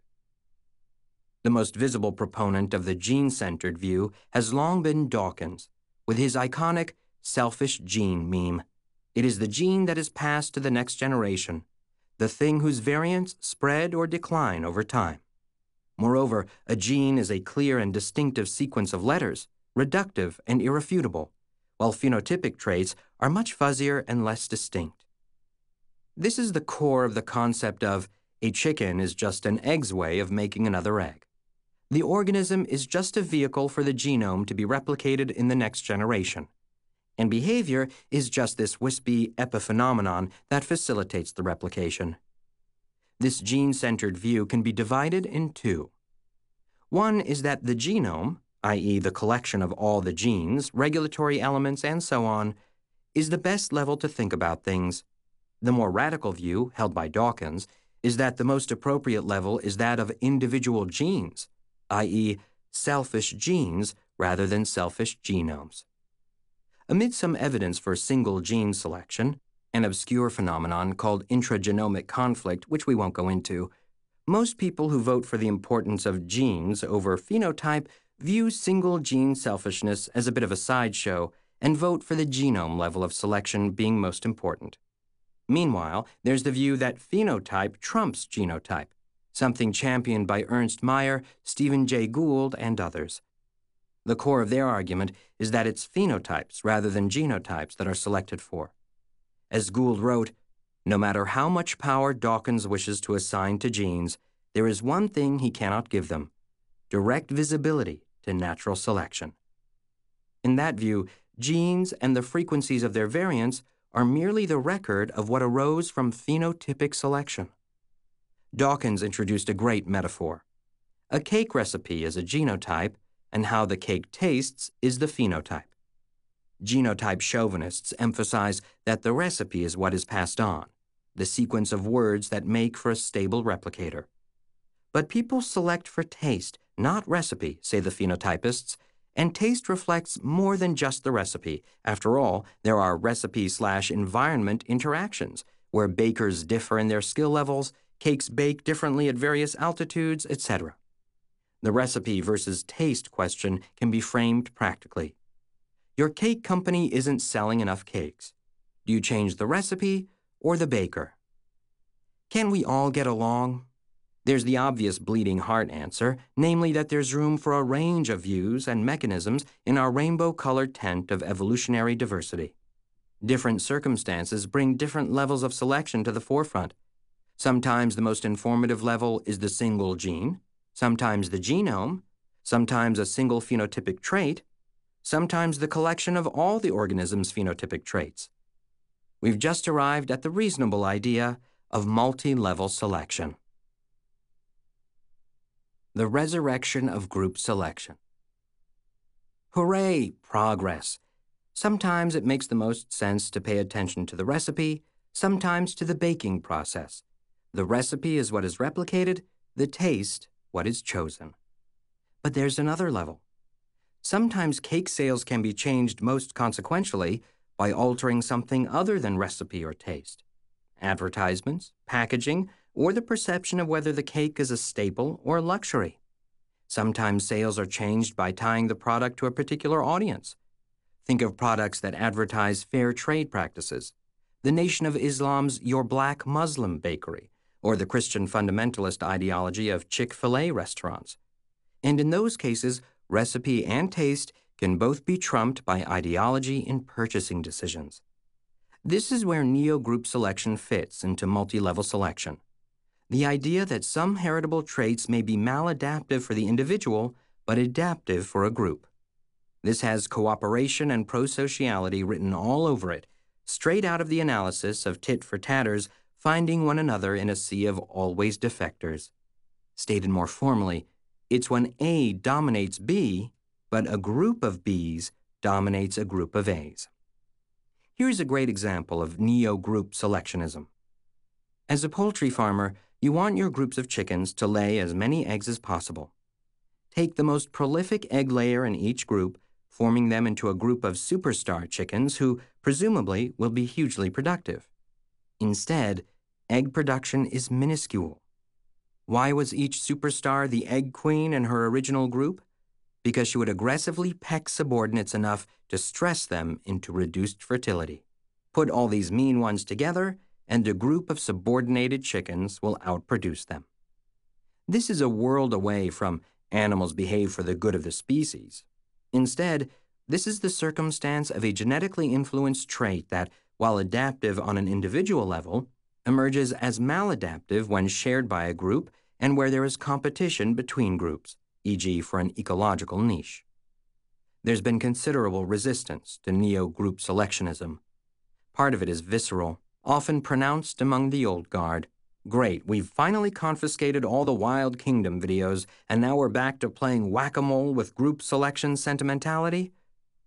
The most visible proponent of the gene-centered view has long been Dawkins, with his iconic selfish gene meme. It is the gene that is passed to the next generation, the thing whose variants spread or decline over time. Moreover, a gene is a clear and distinctive sequence of letters, reductive and irrefutable, while phenotypic traits are much fuzzier and less distinct. This is the core of the concept of a chicken is just an egg's way of making another egg. The organism is just a vehicle for the genome to be replicated in the next generation, and behavior is just this wispy epiphenomenon that facilitates the replication. This gene-centered view can be divided in two. One is that the genome, that is the collection of all the genes, regulatory elements, and so on, is the best level to think about things. The more radical view, held by Dawkins, is that the most appropriate level is that of individual genes, that is, selfish genes rather than selfish genomes. Amid some evidence for single gene selection, an obscure phenomenon called intragenomic conflict, which we won't go into, most people who vote for the importance of genes over phenotype view single gene selfishness as a bit of a sideshow and vote for the genome level of selection being most important. Meanwhile, there's the view that phenotype trumps genotype, something championed by Ernst Mayr, Stephen Jay Gould, and others. The core of their argument is that it's phenotypes rather than genotypes that are selected for. As Gould wrote, no matter how much power Dawkins wishes to assign to genes, there is one thing he cannot give them: direct visibility to natural selection. In that view, genes and the frequencies of their variants are merely the record of what arose from phenotypic selection. Dawkins introduced a great metaphor. A cake recipe is a genotype, and how the cake tastes is the phenotype. Genotype chauvinists emphasize that the recipe is what is passed on, the sequence of words that make for a stable replicator. But people select for taste, not recipe, say the phenotypists, and taste reflects more than just the recipe. After all, there are recipe-slash-environment interactions, where bakers differ in their skill levels, cakes bake differently at various altitudes, et cetera. The recipe versus taste question can be framed practically. Your cake company isn't selling enough cakes. Do you change the recipe or the baker? Can we all get along? There's the obvious bleeding heart answer, namely that there's room for a range of views and mechanisms in our rainbow-colored tent of evolutionary diversity. Different circumstances bring different levels of selection to the forefront. Sometimes the most informative level is the single gene, sometimes the genome, sometimes a single phenotypic trait, sometimes the collection of all the organism's phenotypic traits. We've just arrived at the reasonable idea of multi-level selection. The resurrection of group selection. Hooray, progress! Sometimes it makes the most sense to pay attention to the recipe, sometimes to the baking process. The recipe is what is replicated, the taste what is chosen. But there's another level. Sometimes cake sales can be changed most consequentially by altering something other than recipe or taste. Advertisements, packaging, or the perception of whether the cake is a staple or a luxury. Sometimes sales are changed by tying the product to a particular audience. Think of products that advertise fair trade practices, the Nation of Islam's Your Black Muslim Bakery, or the Christian fundamentalist ideology of Chick-fil-A restaurants. And in those cases, recipe and taste can both be trumped by ideology in purchasing decisions. This is where neo-group selection fits into multi-level selection. The idea that some heritable traits may be maladaptive for the individual, but adaptive for a group. This has cooperation and prosociality written all over it, straight out of the analysis of tit for tatters finding one another in a sea of always defectors. Stated more formally, it's when A dominates B, but a group of Bs dominates a group of As. Here's a great example of neo-group selectionism. As a poultry farmer, you want your groups of chickens to lay as many eggs as possible. Take the most prolific egg layer in each group, forming them into a group of superstar chickens who, presumably, will be hugely productive. Instead, egg production is minuscule. Why was each superstar the egg queen in her original group? Because she would aggressively peck subordinates enough to stress them into reduced fertility. Put all these mean ones together, and a group of subordinated chickens will outproduce them. This is a world away from animals behave for the good of the species. Instead, this is the circumstance of a genetically influenced trait that, while adaptive on an individual level, emerges as maladaptive when shared by a group and where there is competition between groups, for example for an ecological niche. There's been considerable resistance to neo-group selectionism. Part of it is visceral, often pronounced among the old guard. Great, we've finally confiscated all the Wild Kingdom videos, and now we're back to playing whack-a-mole with group selection sentimentality?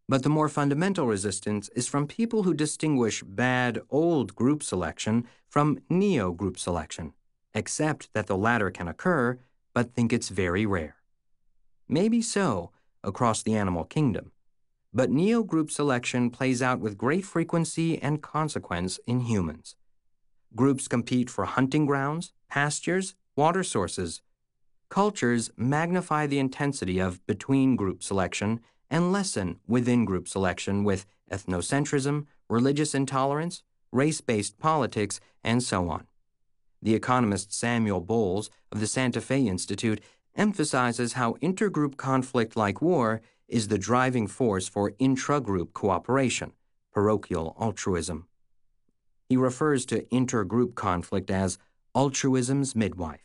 But the more fundamental resistance is from people who distinguish bad old group selection from neo-group selection, accept that the latter can occur, but think it's very rare. Maybe so across the animal kingdom, but neo-group selection plays out with great frequency and consequence in humans. Groups compete for hunting grounds, pastures, water sources. Cultures magnify the intensity of between-group selection and lessen within-group selection with ethnocentrism, religious intolerance, race-based politics, and so on. The economist Samuel Bowles of the Santa Fe Institute emphasizes how intergroup conflict like war is the driving force for intra-group cooperation, parochial altruism. He refers to intergroup conflict as altruism's midwife.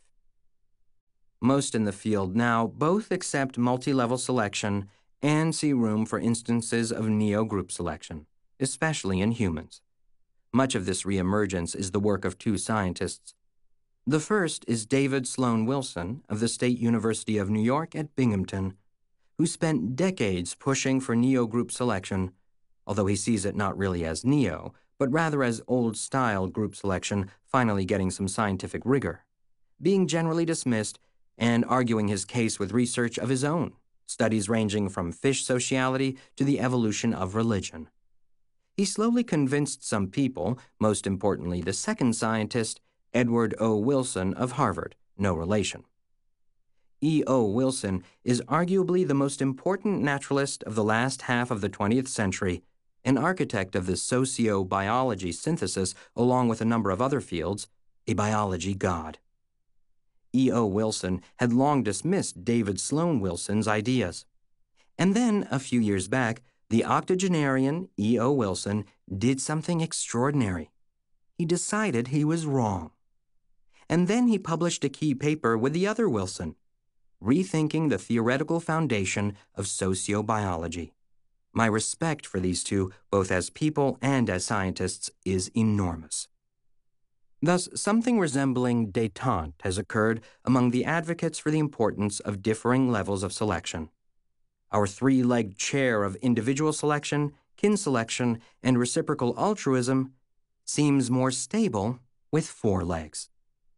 Most in the field now both accept multi-level selection and see room for instances of neo-group selection, especially in humans. Much of this reemergence is the work of two scientists. The first is David Sloan Wilson of the State University of New York at Binghamton, who spent decades pushing for neo-group selection, although he sees it not really as neo, but rather as old-style group selection finally getting some scientific rigor, being generally dismissed and arguing his case with research of his own, studies ranging from fish sociality to the evolution of religion. He slowly convinced some people, most importantly the second scientist, Edward O. Wilson of Harvard, no relation. E O. Wilson is arguably the most important naturalist of the last half of the twentieth century, an architect of the socio-biology synthesis along with a number of other fields, a biology god. E O. Wilson had long dismissed David Sloan Wilson's ideas. And then, a few years back, the octogenarian E O. Wilson did something extraordinary. He decided he was wrong. And then he published a key paper with the other Wilson, Rethinking the Theoretical Foundation of Sociobiology. My respect for these two, both as people and as scientists, is enormous. Thus, something resembling détente has occurred among the advocates for the importance of differing levels of selection. Our three-legged chair of individual selection, kin selection, and reciprocal altruism seems more stable with four legs.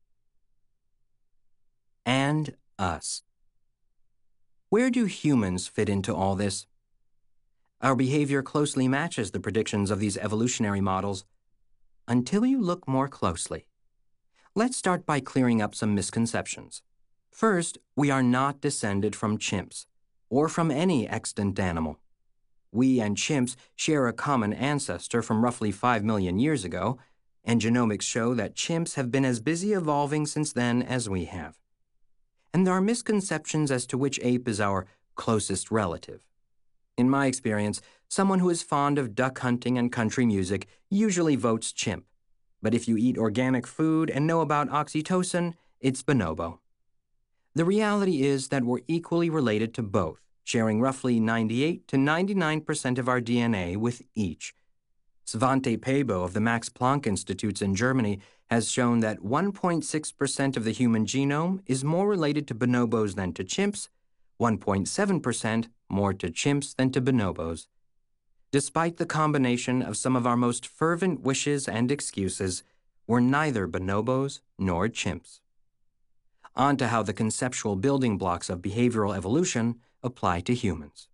And us. Where do humans fit into all this? Our behavior closely matches the predictions of these evolutionary models, until you look more closely. Let's start by clearing up some misconceptions. First, we are not descended from chimps, or from any extant animal. We and chimps share a common ancestor from roughly five million years ago, and genomics show that chimps have been as busy evolving since then as we have. And there are misconceptions as to which ape is our closest relative. In my experience, someone who is fond of duck hunting and country music usually votes chimp. But if you eat organic food and know about oxytocin, it's bonobo. The reality is that we're equally related to both, sharing roughly ninety-eight to ninety-nine percent of our D N A with each. Svante Pääbo of the Max Planck Institutes in Germany has shown that one point six percent of the human genome is more related to bonobos than to chimps, one point seven percent more to chimps than to bonobos. Despite the combination of some of our most fervent wishes and excuses, we're neither bonobos nor chimps. On to how the conceptual building blocks of behavioral evolution apply to humans.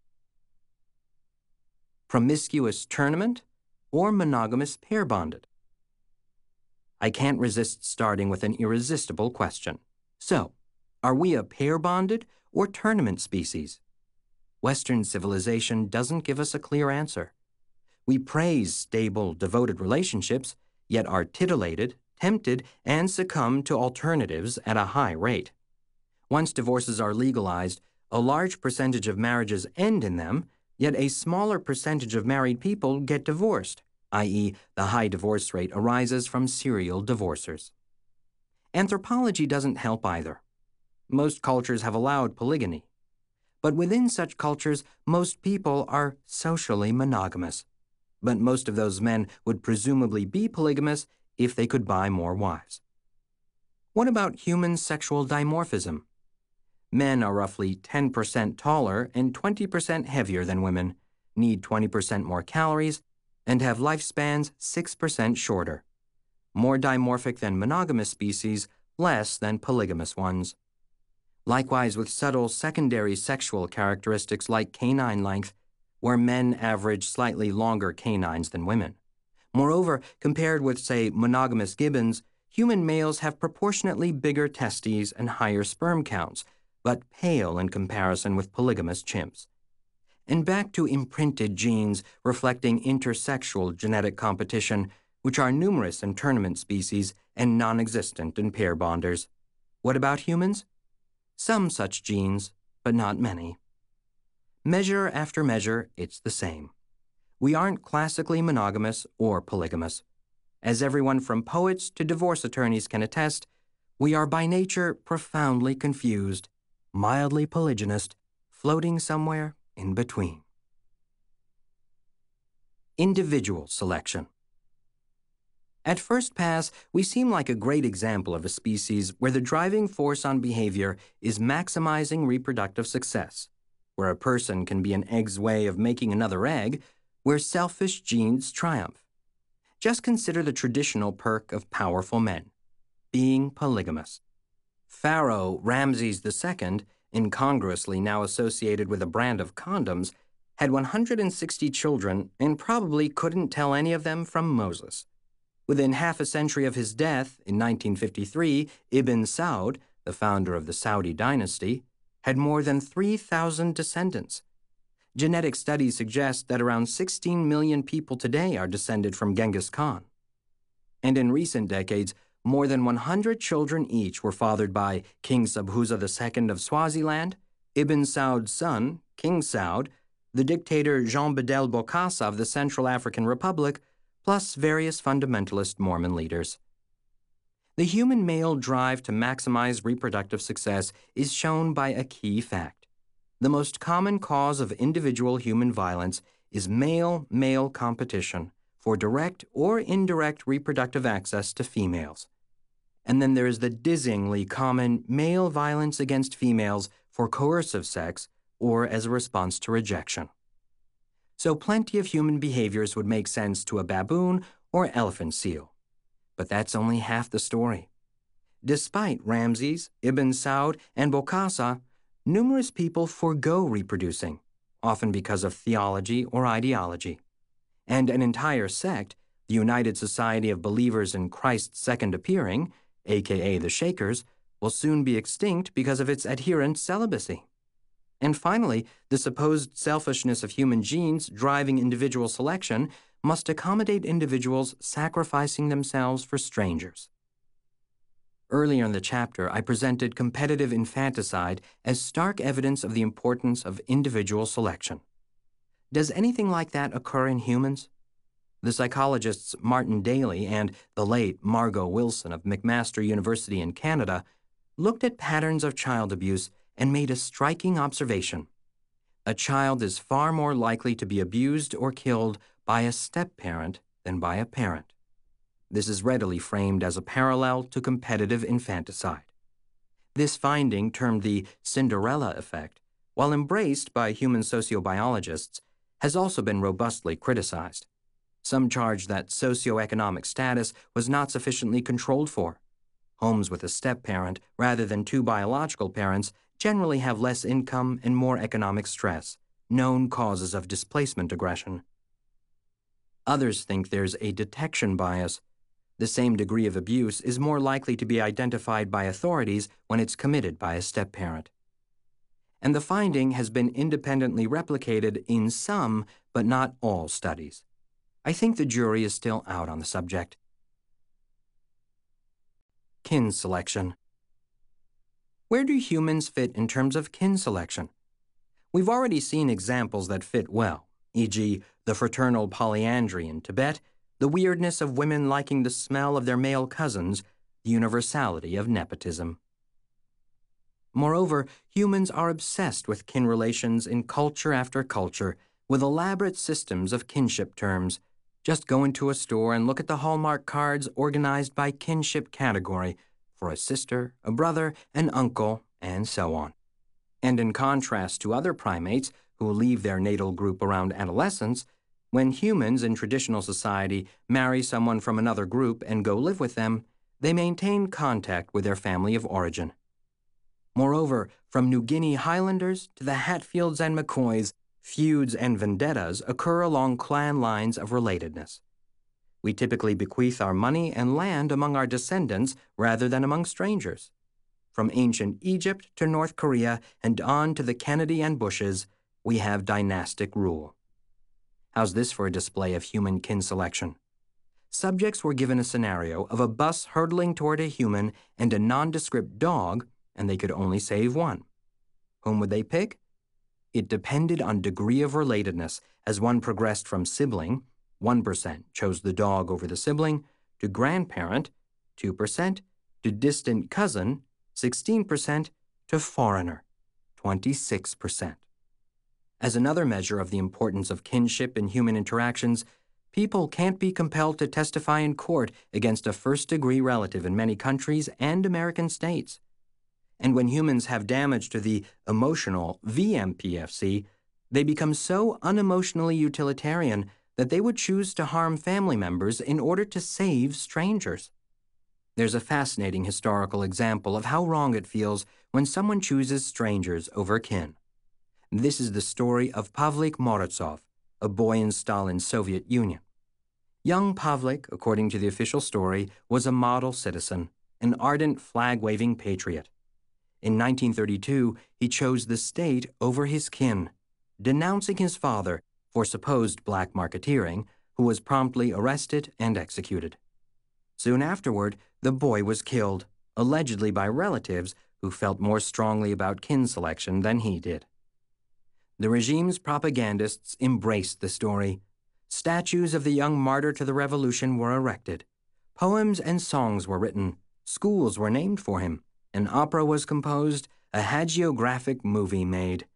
Promiscuous tournament or monogamous pair-bonded? I can't resist starting with an irresistible question. So, are we a pair-bonded or tournament species? Western civilization doesn't give us a clear answer. We praise stable, devoted relationships, yet are titillated, tempted, and succumb to alternatives at a high rate. Once divorces are legalized, a large percentage of marriages end in them, yet a smaller percentage of married people get divorced, that is, the high divorce rate arises from serial divorcers. Anthropology doesn't help either. Most cultures have allowed polygamy. But within such cultures, most people are socially monogamous. But most of those men would presumably be polygamous if they could buy more wives. What about human sexual dimorphism? Men are roughly ten percent taller and twenty percent heavier than women, need twenty percent more calories, and have lifespans six percent shorter. More dimorphic than monogamous species, less than polygamous ones. Likewise with subtle secondary sexual characteristics like canine length, where men average slightly longer canines than women. Moreover, compared with, say, monogamous gibbons, human males have proportionately bigger testes and higher sperm counts, but pale in comparison with polygamous chimps. And back to imprinted genes reflecting intersexual genetic competition, which are numerous in tournament species and non-existent in pair bonders. What about humans? Some such genes, but not many. Measure after measure, it's the same. We aren't classically monogamous or polygamous. As everyone from poets to divorce attorneys can attest, we are by nature profoundly confused, mildly polygynist, floating somewhere in between. Individual selection. At first pass, we seem like a great example of a species where the driving force on behavior is maximizing reproductive success, where a person can be an egg's way of making another egg, where selfish genes triumph. Just consider the traditional perk of powerful men, being polygamous. Pharaoh Ramses the Second, incongruously now associated with a brand of condoms, had one hundred sixty children and probably couldn't tell any of them from Moses. Within half a century of his death, in nineteen fifty-three, Ibn Saud, the founder of the Saudi dynasty, had more than three thousand descendants. Genetic studies suggest that around sixteen million people today are descended from Genghis Khan. And in recent decades, more than one hundred children each were fathered by King Sabhuza the Second of Swaziland, Ibn Saud's son, King Saud, the dictator Jean Bedel Bokassa of the Central African Republic, plus various fundamentalist Mormon leaders. The human male drive to maximize reproductive success is shown by a key fact. The most common cause of individual human violence is male-male competition for direct or indirect reproductive access to females. And then there is the dizzyingly common male violence against females for coercive sex or as a response to rejection. So plenty of human behaviors would make sense to a baboon or elephant seal. But that's only half the story. Despite Ramses, Ibn Saud, and Bokassa, numerous people forego reproducing, often because of theology or ideology. And an entire sect, the United Society of Believers in Christ's Second Appearing, aka the Shakers, will soon be extinct because of its adherent celibacy. And finally, the supposed selfishness of human genes driving individual selection must accommodate individuals sacrificing themselves for strangers. Earlier in the chapter, I presented competitive infanticide as stark evidence of the importance of individual selection. Does anything like that occur in humans? The psychologists Martin Daly and the late Margot Wilson of McMaster University in Canada looked at patterns of child abuse and made a striking observation. A child is far more likely to be abused or killed by a step-parent than by a parent. This is readily framed as a parallel to competitive infanticide. This finding, termed the Cinderella effect, while embraced by human sociobiologists, has also been robustly criticized. Some charge that socioeconomic status was not sufficiently controlled for. Homes with a step-parent rather than two biological parents generally have less income and more economic stress, known causes of displacement aggression. Others think there's a detection bias. The same degree of abuse is more likely to be identified by authorities when it's committed by a step-parent. And the finding has been independently replicated in some, but not all, studies. I think the jury is still out on the subject. Kin selection. Where do humans fit in terms of kin selection? We've already seen examples that fit well, for example, the fraternal polyandry in Tibet, the weirdness of women liking the smell of their male cousins, the universality of nepotism. Moreover, humans are obsessed with kin relations in culture after culture, with elaborate systems of kinship terms. Just go into a store and look at the Hallmark cards organized by kinship category, for a sister, a brother, an uncle, and so on. And in contrast to other primates, who leave their natal group around adolescence, when humans in traditional society marry someone from another group and go live with them, they maintain contact with their family of origin. Moreover, from New Guinea Highlanders to the Hatfields and McCoys, feuds and vendettas occur along clan lines of relatedness. We typically bequeath our money and land among our descendants rather than among strangers. From ancient Egypt to North Korea and on to the Kennedy and Bushes, we have dynastic rule. How's this for a display of human kin selection? Subjects were given a scenario of a bus hurtling toward a human and a nondescript dog, and they could only save one. Whom would they pick? It depended on degree of relatedness as one progressed from sibling, one percent chose the dog over the sibling, to grandparent, two percent, to distant cousin, sixteen percent, to foreigner, twenty-six percent. As another measure of the importance of kinship in human interactions, people can't be compelled to testify in court against a first-degree relative in many countries and American states. And when humans have damage to the emotional V M P F C, they become so unemotionally utilitarian that they would choose to harm family members in order to save strangers. There's a fascinating historical example of how wrong it feels when someone chooses strangers over kin. This is the story of Pavlik Morozov, a boy in Stalin's Soviet Union. Young Pavlik, according to the official story, was a model citizen, an ardent flag-waving patriot. In nineteen thirty-two, he chose the state over his kin, denouncing his father for supposed black marketeering, who was promptly arrested and executed. Soon afterward, the boy was killed, allegedly by relatives who felt more strongly about kin selection than he did. The regime's propagandists embraced the story. Statues of the young martyr to the revolution were erected. Poems and songs were written. Schools were named for him. An opera was composed, a hagiographic movie made.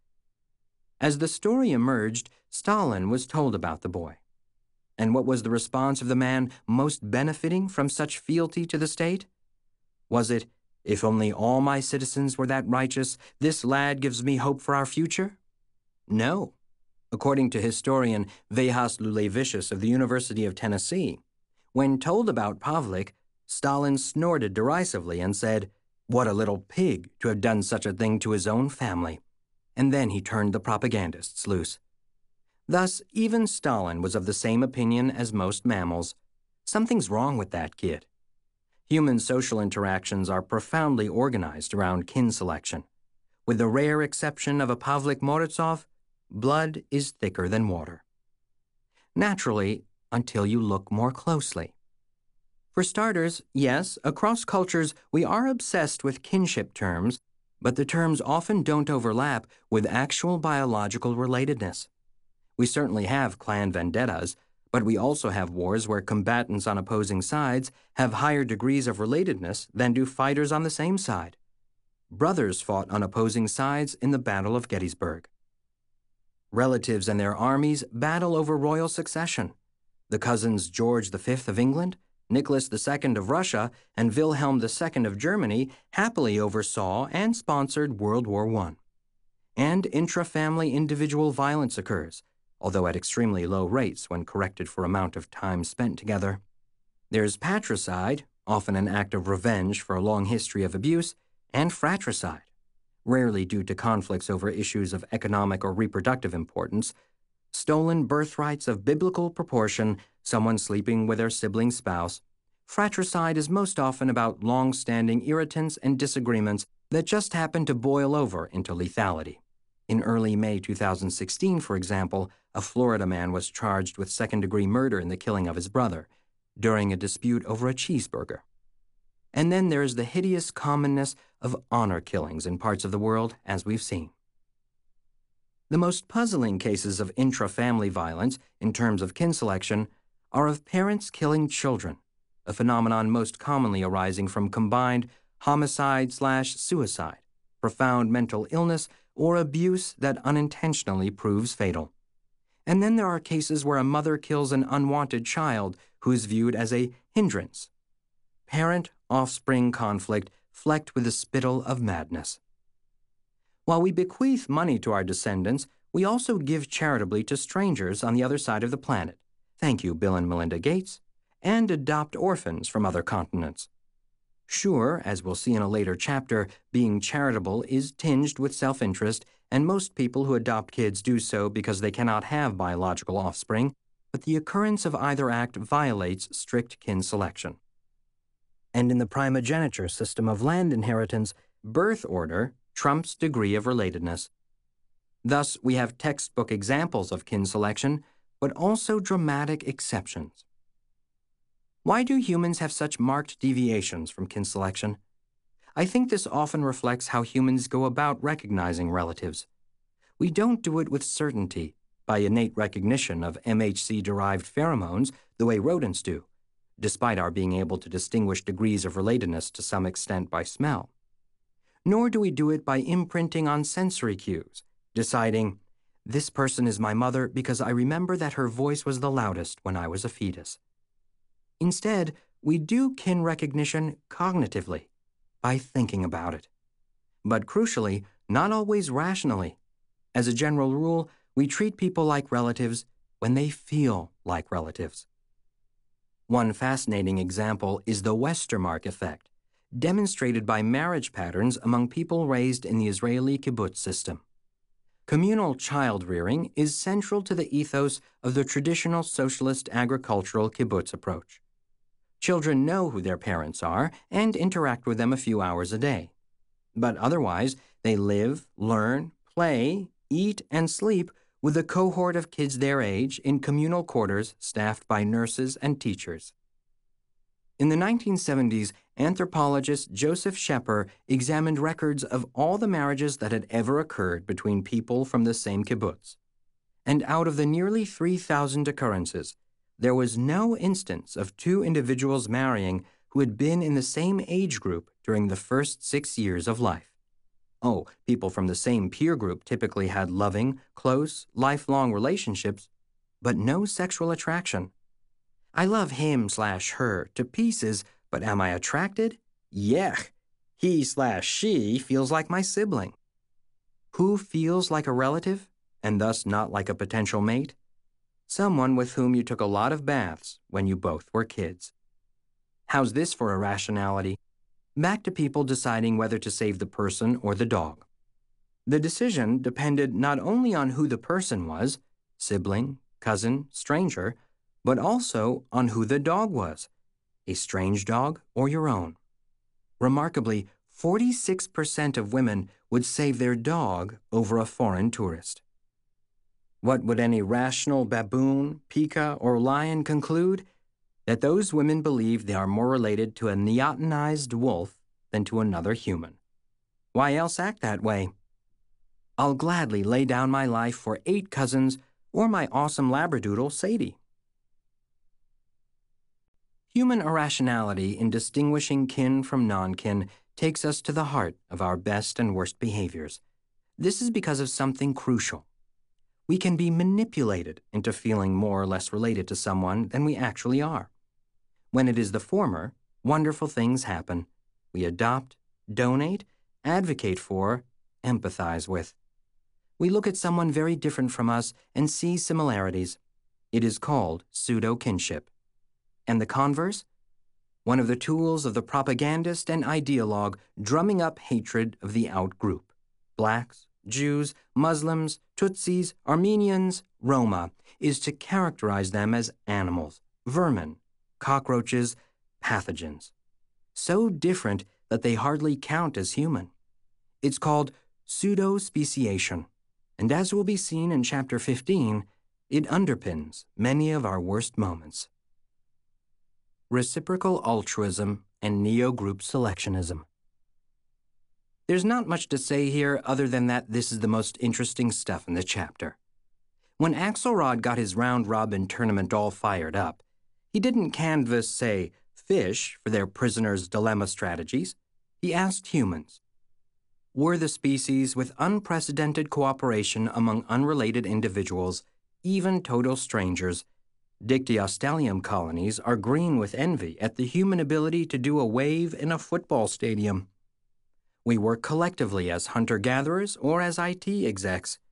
As the story emerged, Stalin was told about the boy. And what was the response of the man most benefiting from such fealty to the state? Was it, "If only all my citizens were that righteous, this lad gives me hope for our future"? No. According to historian Vehas Lulevicius of the University of Tennessee, when told about Pavlik, Stalin snorted derisively and said, "What a little pig to have done such a thing to his own family." And then he turned the propagandists loose. Thus, even Stalin was of the same opinion as most mammals. Something's wrong with that kid. Human social interactions are profoundly organized around kin selection. With the rare exception of a Pavlik Morozov, blood is thicker than water. Naturally, until you look more closely. For starters, yes, across cultures we are obsessed with kinship terms, but the terms often don't overlap with actual biological relatedness. We certainly have clan vendettas, but we also have wars where combatants on opposing sides have higher degrees of relatedness than do fighters on the same side. Brothers fought on opposing sides in the Battle of Gettysburg. Relatives and their armies battle over royal succession. The cousins George the Fifth of England, Nicholas the Second of Russia, and Wilhelm the Second of Germany happily oversaw and sponsored World War One. And intra-family individual violence occurs, although at extremely low rates when corrected for amount of time spent together. There's patricide, often an act of revenge for a long history of abuse, and fratricide, rarely due to conflicts over issues of economic or reproductive importance, stolen birthrights of biblical proportion, someone sleeping with their sibling spouse. Fratricide is most often about long-standing irritants and disagreements that just happen to boil over into lethality. In early May two thousand sixteen, for example, a Florida man was charged with second-degree murder in the killing of his brother during a dispute over a cheeseburger. And then there is the hideous commonness of honor killings in parts of the world, as we've seen. The most puzzling cases of intra-family violence, in terms of kin selection, are of parents killing children, a phenomenon most commonly arising from combined homicide slash suicide, profound mental illness, or abuse that unintentionally proves fatal. And then there are cases where a mother kills an unwanted child who is viewed as a hindrance. Parent-offspring conflict flecked with the spittle of madness. While we bequeath money to our descendants, We also give charitably to strangers on the other side of the planet. Thank you, Bill and Melinda Gates. And adopt orphans from other continents. Sure, as we'll see in a later chapter, being charitable is tinged with self-interest, and most people who adopt kids do so because they cannot have biological offspring, but the occurrence of either act violates strict kin selection. And in the primogeniture system of land inheritance, birth order trumps degree of relatedness. Thus, we have textbook examples of kin selection, but also dramatic exceptions. Why do humans have such marked deviations from kin selection? I think this often reflects how humans go about recognizing relatives. We don't do it with certainty, by innate recognition of M H C-derived pheromones the way rodents do, despite our being able to distinguish degrees of relatedness to some extent by smell. Nor do we do it by imprinting on sensory cues, deciding, this person is my mother because I remember that her voice was the loudest when I was a fetus. Instead, we do kin recognition cognitively, by thinking about it. But crucially, not always rationally. As a general rule, we treat people like relatives when they feel like relatives. One fascinating example is the Westermark effect, demonstrated by marriage patterns among people raised in the Israeli kibbutz system. Communal child-rearing is central to the ethos of the traditional socialist agricultural kibbutz approach. Children know who their parents are and interact with them a few hours a day. But otherwise, they live, learn, play, eat, and sleep with a cohort of kids their age in communal quarters staffed by nurses and teachers. In the nineteen seventies, anthropologist Joseph Schepper examined records of all the marriages that had ever occurred between people from the same kibbutz. And out of the nearly three thousand occurrences, there was no instance of two individuals marrying who had been in the same age group during the first six years of life. Oh, people from the same peer group typically had loving, close, lifelong relationships, but no sexual attraction. I love him slash her to pieces, but am I attracted? Yech. He slash she feels like my sibling. Who feels like a relative, and thus not like a potential mate? Someone with whom you took a lot of baths when you both were kids. How's this for irrationality? Back to people deciding whether to save the person or the dog. The decision depended not only on who the person was, sibling, cousin, stranger, but also on who the dog was, a strange dog or your own. Remarkably, forty-six percent of women would save their dog over a foreign tourist. What would any rational baboon, pika, or lion conclude? That those women believe they are more related to a neotenized wolf than to another human. Why else act that way? I'll gladly lay down my life for eight cousins or my awesome labradoodle, Sadie. Human irrationality in distinguishing kin from non-kin takes us to the heart of our best and worst behaviors. This is because of something crucial. We can be manipulated into feeling more or less related to someone than we actually are. When it is the former, wonderful things happen. We adopt, donate, advocate for, empathize with. We look at someone very different from us and see similarities. It is called pseudo-kinship. And the converse? One of the tools of the propagandist and ideologue drumming up hatred of the out-group. Blacks, Jews, Muslims, Tutsis, Armenians, Roma, is to characterize them as animals, vermin, cockroaches, pathogens. So different that they hardly count as human. It's called pseudo-speciation, and as will be seen in Chapter fifteen, it underpins many of our worst moments. Reciprocal altruism and neo-group selectionism. There's not much to say here other than that this is the most interesting stuff in the chapter. When Axelrod got his round-robin tournament all fired up, he didn't canvass, say, fish for their prisoner's dilemma strategies. He asked humans. Were the species with unprecedented cooperation among unrelated individuals, even total strangers, Dictyostelium colonies are green with envy at the human ability to do a wave in a football stadium. We work collectively as hunter-gatherers or as I T execs.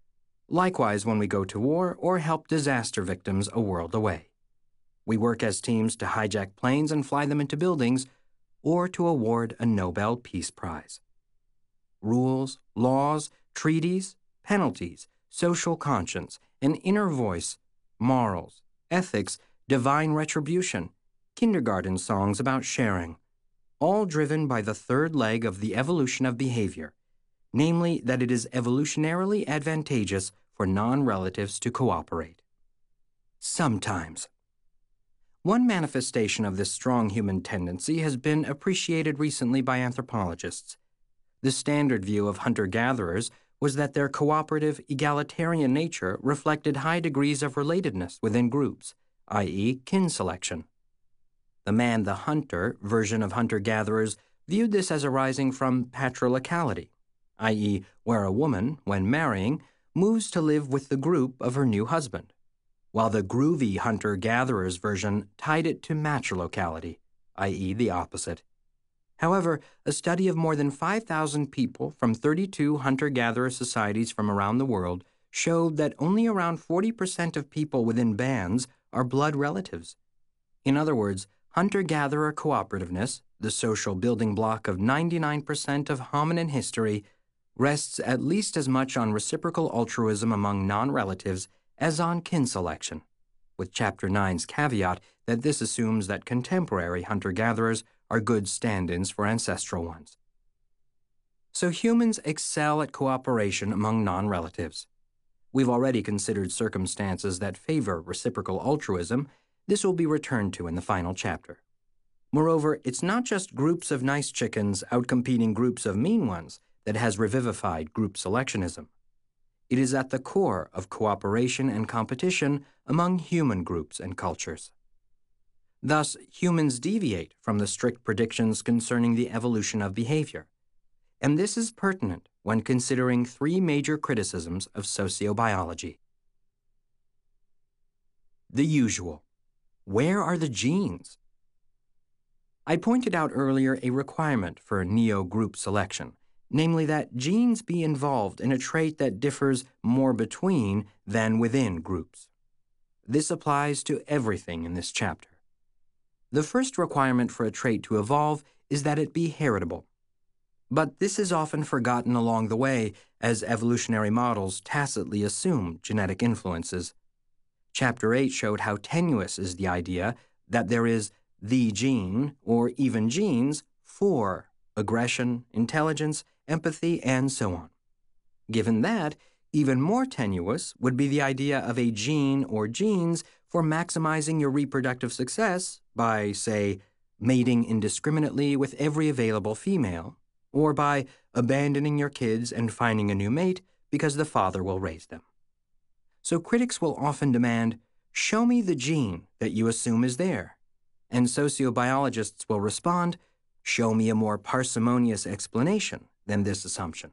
Likewise when we go to war or help disaster victims a world away. We work as teams to hijack planes and fly them into buildings, or to award a Nobel Peace Prize. Rules, laws, treaties, penalties, social conscience, an inner voice, morals, ethics, divine retribution, kindergarten songs about sharing, all driven by the third leg of the evolution of behavior, namely that it is evolutionarily advantageous for non-relatives to cooperate. Sometimes. One manifestation of this strong human tendency has been appreciated recently by anthropologists. The standard view of hunter-gatherers was that their cooperative, egalitarian nature reflected high degrees of relatedness within groups, that is, kin selection. The man-the-hunter version of hunter-gatherers viewed this as arising from patriarchality, that is, where a woman, when marrying, moves to live with the group of her new husband, while the groovy hunter-gatherers version tied it to matrilocality, that is, the opposite. However, a study of more than five thousand people from thirty-two hunter-gatherer societies from around the world showed that only around forty percent of people within bands are blood relatives. In other words, hunter-gatherer cooperativeness, the social building block of ninety-nine percent of hominin history, rests at least as much on reciprocal altruism among non-relatives as on kin selection, with Chapter nine's caveat that this assumes that contemporary hunter-gatherers are good stand-ins for ancestral ones. So humans excel at cooperation among non-relatives. We've already considered circumstances that favor reciprocal altruism. This will be returned to in the final chapter. Moreover, it's not just groups of nice chickens outcompeting groups of mean ones that has revivified group selectionism. It is at the core of cooperation and competition among human groups and cultures. Thus, humans deviate from the strict predictions concerning the evolution of behavior. And this is pertinent when considering three major criticisms of sociobiology. The usual. Where are the genes? I pointed out earlier a requirement for neo-group selection, namely that genes be involved in a trait that differs more between than within groups. This applies to everything in this chapter. The first requirement for a trait to evolve is that it be heritable. But this is often forgotten along the way as evolutionary models tacitly assume genetic influences. Chapter eight showed how tenuous is the idea that there is the gene, or even genes, for aggression, intelligence, empathy, and so on. Given that, even more tenuous would be the idea of a gene or genes for maximizing your reproductive success by, say, mating indiscriminately with every available female, or by abandoning your kids and finding a new mate because the father will raise them. So critics will often demand, show me the gene that you assume is there. And sociobiologists will respond, show me a more parsimonious explanation than this assumption.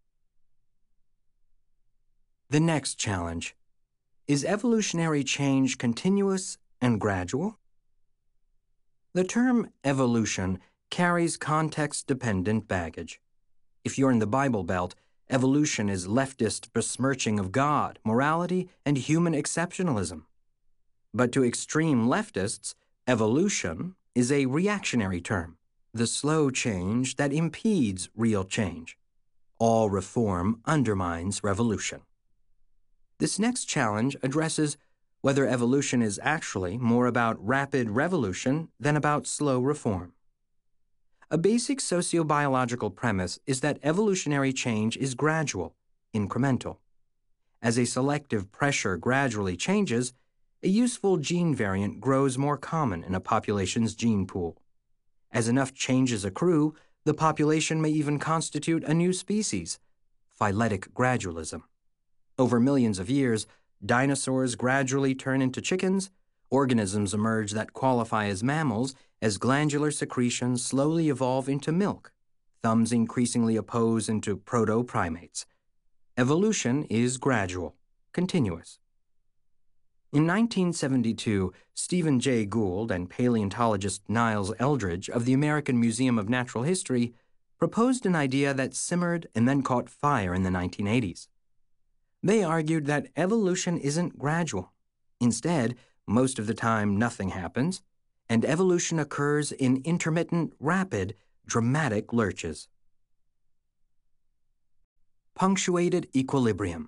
The next challenge. Is evolutionary change continuous and gradual? The term evolution carries context-dependent baggage. If you're in the Bible Belt, evolution is leftist besmirching of God, morality, and human exceptionalism. But to extreme leftists, evolution is a reactionary term, the slow change that impedes real change. All reform undermines revolution. This next challenge addresses whether evolution is actually more about rapid revolution than about slow reform. A basic sociobiological premise is that evolutionary change is gradual, incremental. As a selective pressure gradually changes, a useful gene variant grows more common in a population's gene pool. As enough changes accrue, the population may even constitute a new species, phyletic gradualism. Over millions of years, dinosaurs gradually turn into chickens, organisms emerge that qualify as mammals as glandular secretions slowly evolve into milk, thumbs increasingly oppose into proto-primates. Evolution is gradual, continuous. In nineteen seventy-two, Stephen Jay Gould and paleontologist Niles Eldredge of the American Museum of Natural History proposed an idea that simmered and then caught fire in the nineteen eighties. They argued that evolution isn't gradual. Instead, most of the time nothing happens, and evolution occurs in intermittent, rapid, dramatic lurches. Punctuated equilibrium.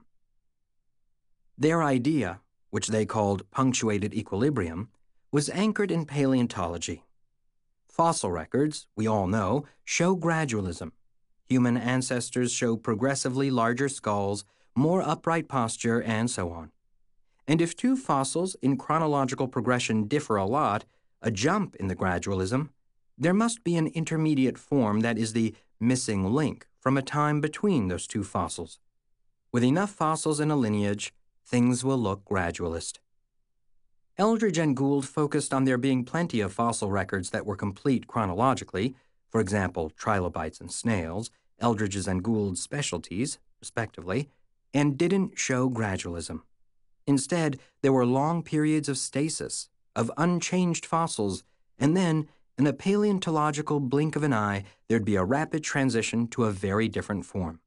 Their idea, which they called punctuated equilibrium, was anchored in paleontology. Fossil records, we all know, show gradualism. Human ancestors show progressively larger skulls, more upright posture, and so on. And if two fossils in chronological progression differ a lot, a jump in the gradualism, there must be an intermediate form that is the missing link from a time between those two fossils. With enough fossils in a lineage, things will look gradualist. Eldredge and Gould focused on there being plenty of fossil records that were complete chronologically, for example, trilobites and snails, Eldredge's and Gould's specialties, respectively, and didn't show gradualism. Instead, there were long periods of stasis, of unchanged fossils, and then, in a paleontological blink of an eye, there'd be a rapid transition to a very different form.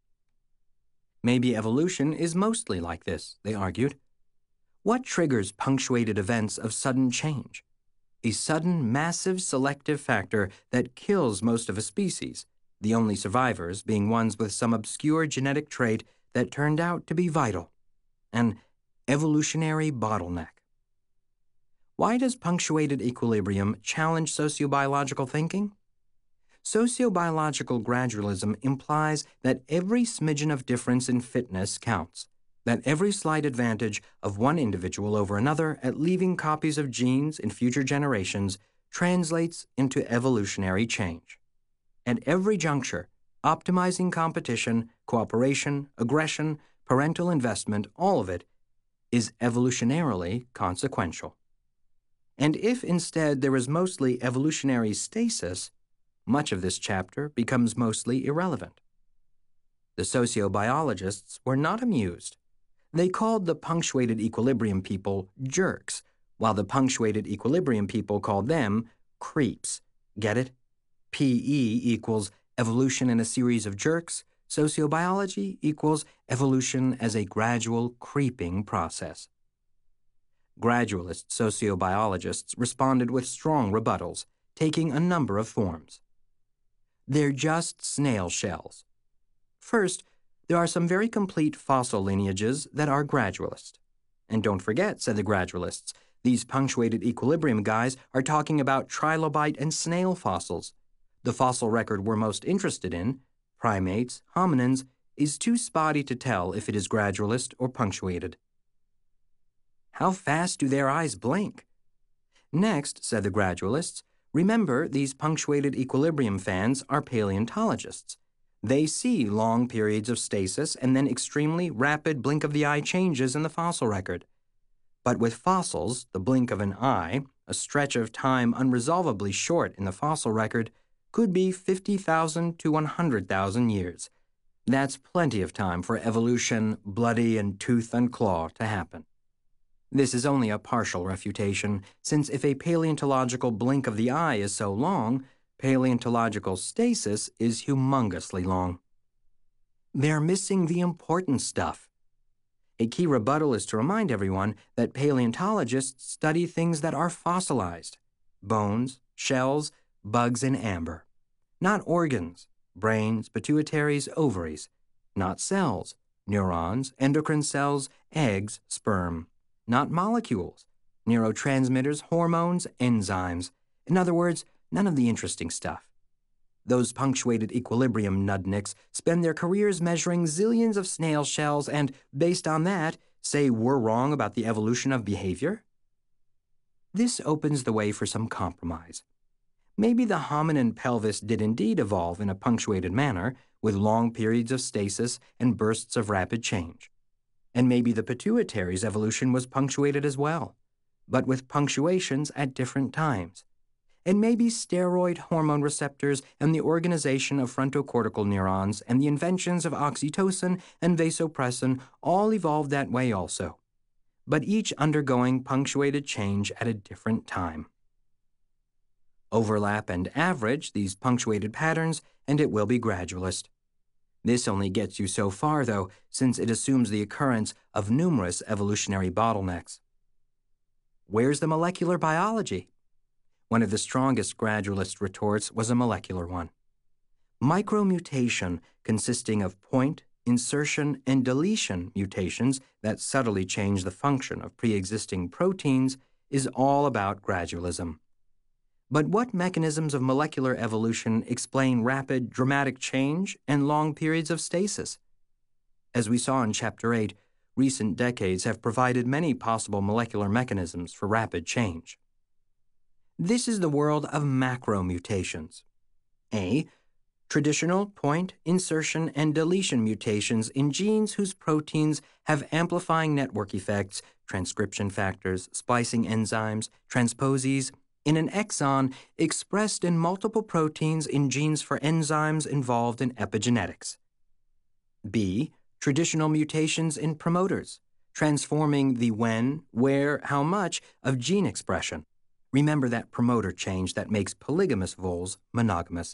Maybe evolution is mostly like this, they argued. What triggers punctuated events of sudden change? A sudden, massive selective factor that kills most of a species, the only survivors being ones with some obscure genetic trait that turned out to be vital. An evolutionary bottleneck. Why does punctuated equilibrium challenge sociobiological thinking? Sociobiological gradualism implies that every smidgen of difference in fitness counts, that every slight advantage of one individual over another at leaving copies of genes in future generations translates into evolutionary change. At every juncture, optimizing competition, cooperation, aggression, parental investment, all of it, is evolutionarily consequential. And if instead there is mostly evolutionary stasis, much of this chapter becomes mostly irrelevant. The sociobiologists were not amused. They called the punctuated equilibrium people jerks, while the punctuated equilibrium people called them creeps. Get it? P E equals evolution in a series of jerks. Sociobiology equals evolution as a gradual, creeping process. Gradualist sociobiologists responded with strong rebuttals, taking a number of forms. They're just snail shells. First, there are some very complete fossil lineages that are gradualist. And don't forget, said the gradualists, these punctuated equilibrium guys are talking about trilobite and snail fossils. The fossil record we're most interested in, primates, hominins, is too spotty to tell if it is gradualist or punctuated. How fast do their eyes blink? Next, said the gradualists, remember these punctuated equilibrium fans are paleontologists. They see long periods of stasis and then extremely rapid blink-of-the-eye changes in the fossil record. But with fossils, the blink of an eye, a stretch of time unresolvably short in the fossil record, could be fifty thousand to one hundred thousand years. That's plenty of time for evolution, bloody and tooth and claw, to happen. This is only a partial refutation, since if a paleontological blink of the eye is so long, paleontological stasis is humongously long. They're missing the important stuff. A key rebuttal is to remind everyone that paleontologists study things that are fossilized: bones, shells, bugs, and amber. Not organs, brains, pituitaries, ovaries. Not cells, neurons, endocrine cells, eggs, sperm. Not molecules, neurotransmitters, hormones, enzymes. In other words, none of the interesting stuff. Those punctuated equilibrium nudniks spend their careers measuring zillions of snail shells and, based on that, say we're wrong about the evolution of behavior? This opens the way for some compromise. Maybe the hominin pelvis did indeed evolve in a punctuated manner, with long periods of stasis and bursts of rapid change. And maybe the pituitary's evolution was punctuated as well, but with punctuations at different times. And maybe steroid hormone receptors and the organization of frontocortical neurons and the inventions of oxytocin and vasopressin all evolved that way also, but each undergoing punctuated change at a different time. Overlap and average these punctuated patterns, and it will be gradualist. This only gets you so far, though, since it assumes the occurrence of numerous evolutionary bottlenecks. Where's the molecular biology? One of the strongest gradualist retorts was a molecular one. Micromutation, consisting of point, insertion, and deletion mutations that subtly change the function of pre-existing proteins, is all about gradualism. But what mechanisms of molecular evolution explain rapid, dramatic change and long periods of stasis? As we saw in Chapter eight, recent decades have provided many possible molecular mechanisms for rapid change. This is the world of macromutations. A. Traditional point, insertion, and deletion mutations in genes whose proteins have amplifying network effects, transcription factors, splicing enzymes, transposase, in an exon expressed in multiple proteins in genes for enzymes involved in epigenetics. B. Traditional mutations in promoters, transforming the when, where, how much of gene expression. Remember that promoter change that makes polygamous voles monogamous.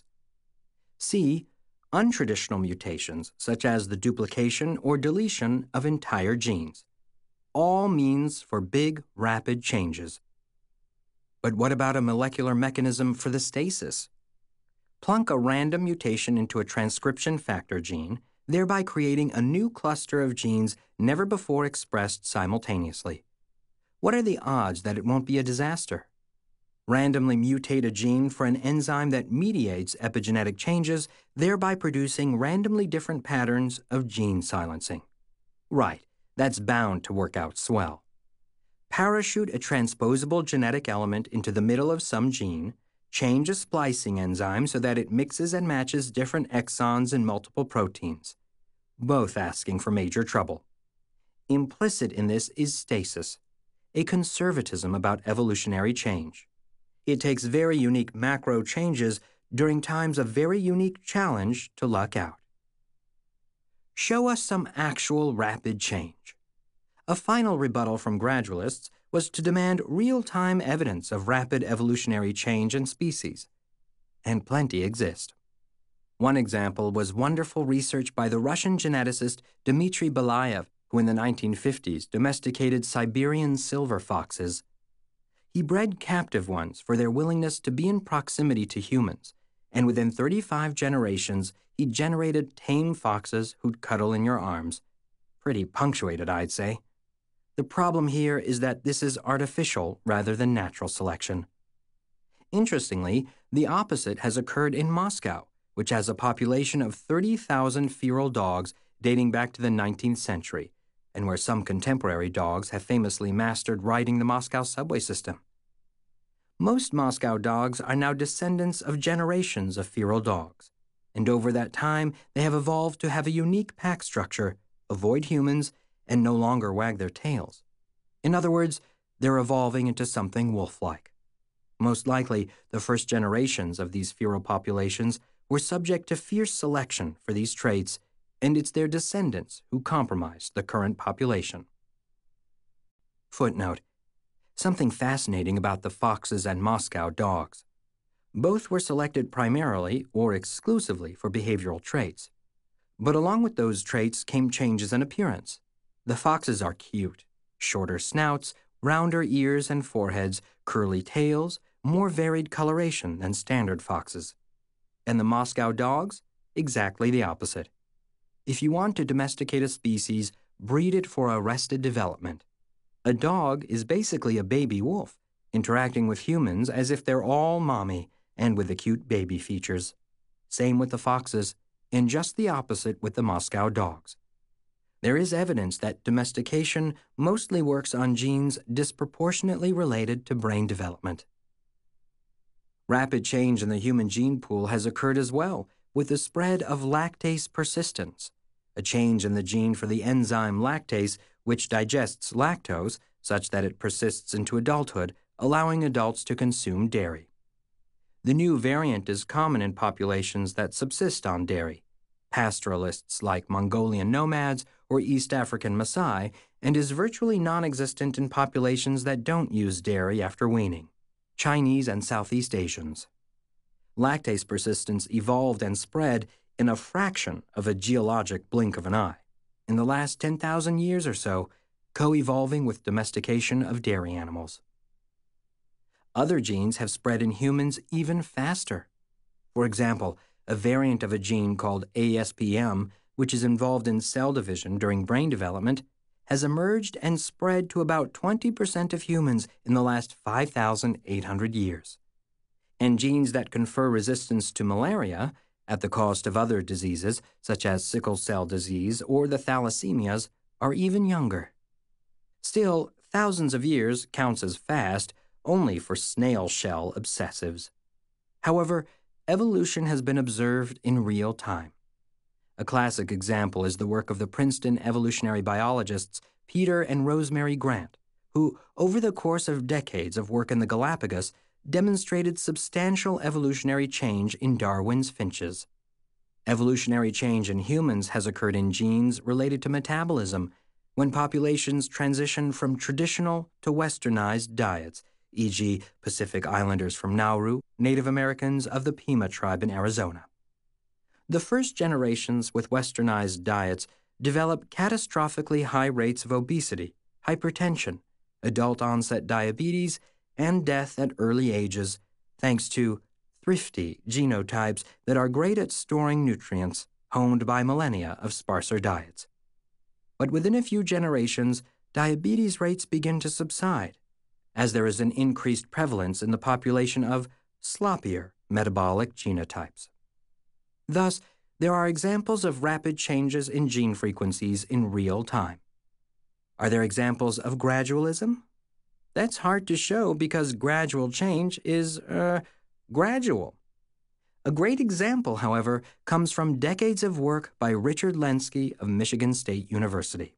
C. Untraditional mutations, such as the duplication or deletion of entire genes. All means for big, rapid changes. But what about a molecular mechanism for the stasis? Plunk a random mutation into a transcription factor gene, thereby creating a new cluster of genes never before expressed simultaneously. What are the odds that it won't be a disaster? Randomly mutate a gene for an enzyme that mediates epigenetic changes, thereby producing randomly different patterns of gene silencing. Right, that's bound to work out swell. Parachute a transposable genetic element into the middle of some gene, change a splicing enzyme so that it mixes and matches different exons in multiple proteins, both asking for major trouble. Implicit in this is stasis, a conservatism about evolutionary change. It takes very unique macro changes during times of very unique challenge to luck out. Show us some actual rapid change. A final rebuttal from gradualists was to demand real-time evidence of rapid evolutionary change in species, and plenty exist. One example was wonderful research by the Russian geneticist Dmitry Belayev, who in the nineteen fifties domesticated Siberian silver foxes. He bred captive ones for their willingness to be in proximity to humans, and within thirty-five generations, he generated tame foxes who'd cuddle in your arms. Pretty punctuated, I'd say. The problem here is that this is artificial rather than natural selection. Interestingly, the opposite has occurred in Moscow, which has a population of thirty thousand feral dogs dating back to the nineteenth century, and where some contemporary dogs have famously mastered riding the Moscow subway system. Most Moscow dogs are now descendants of generations of feral dogs, and over that time they have evolved to have a unique pack structure, avoid humans, and no longer wag their tails. In other words, they're evolving into something wolf-like. Most likely, the first generations of these feral populations were subject to fierce selection for these traits, and it's their descendants who compromised the current population. Footnote: something fascinating about the foxes and Moscow dogs. Both were selected primarily or exclusively for behavioral traits. But along with those traits came changes in appearance. The foxes are cute, shorter snouts, rounder ears and foreheads, curly tails, more varied coloration than standard foxes. And the Moscow dogs? Exactly the opposite. If you want to domesticate a species, breed it for arrested development. A dog is basically a baby wolf, interacting with humans as if they're all mommy and with the cute baby features. Same with the foxes, and just the opposite with the Moscow dogs. There is evidence that domestication mostly works on genes disproportionately related to brain development. Rapid change in the human gene pool has occurred as well, with the spread of lactase persistence, a change in the gene for the enzyme lactase, which digests lactose such that it persists into adulthood, allowing adults to consume dairy. The new variant is common in populations that subsist on dairy, pastoralists like Mongolian nomads or East African Maasai, and is virtually non-existent in populations that don't use dairy after weaning, Chinese and Southeast Asians. Lactase persistence evolved and spread in a fraction of a geologic blink of an eye, in the last ten thousand years or so, co-evolving with domestication of dairy animals. Other genes have spread in humans even faster. For example, a variant of a gene called A S P M, which is involved in cell division during brain development, has emerged and spread to about twenty percent of humans in the last five thousand eight hundred years. And genes that confer resistance to malaria, at the cost of other diseases such as sickle cell disease or the thalassemias, are even younger. Still, thousands of years counts as fast only for snail shell obsessives. However, evolution has been observed in real time. A classic example is the work of the Princeton evolutionary biologists Peter and Rosemary Grant, who, over the course of decades of work in the Galapagos, demonstrated substantial evolutionary change in Darwin's finches. Evolutionary change in humans has occurred in genes related to metabolism when populations transition from traditional to westernized diets, for example Pacific Islanders from Nauru, Native Americans of the Pima tribe in Arizona. The first generations with westernized diets develop catastrophically high rates of obesity, hypertension, adult-onset diabetes, and death at early ages, thanks to thrifty genotypes that are great at storing nutrients, honed by millennia of sparser diets. But within a few generations, diabetes rates begin to subside, as there is an increased prevalence in the population of sloppier metabolic genotypes. Thus, there are examples of rapid changes in gene frequencies in real time. Are there examples of gradualism? That's hard to show because gradual change is, uh, gradual. A great example, however, comes from decades of work by Richard Lenski of Michigan State University.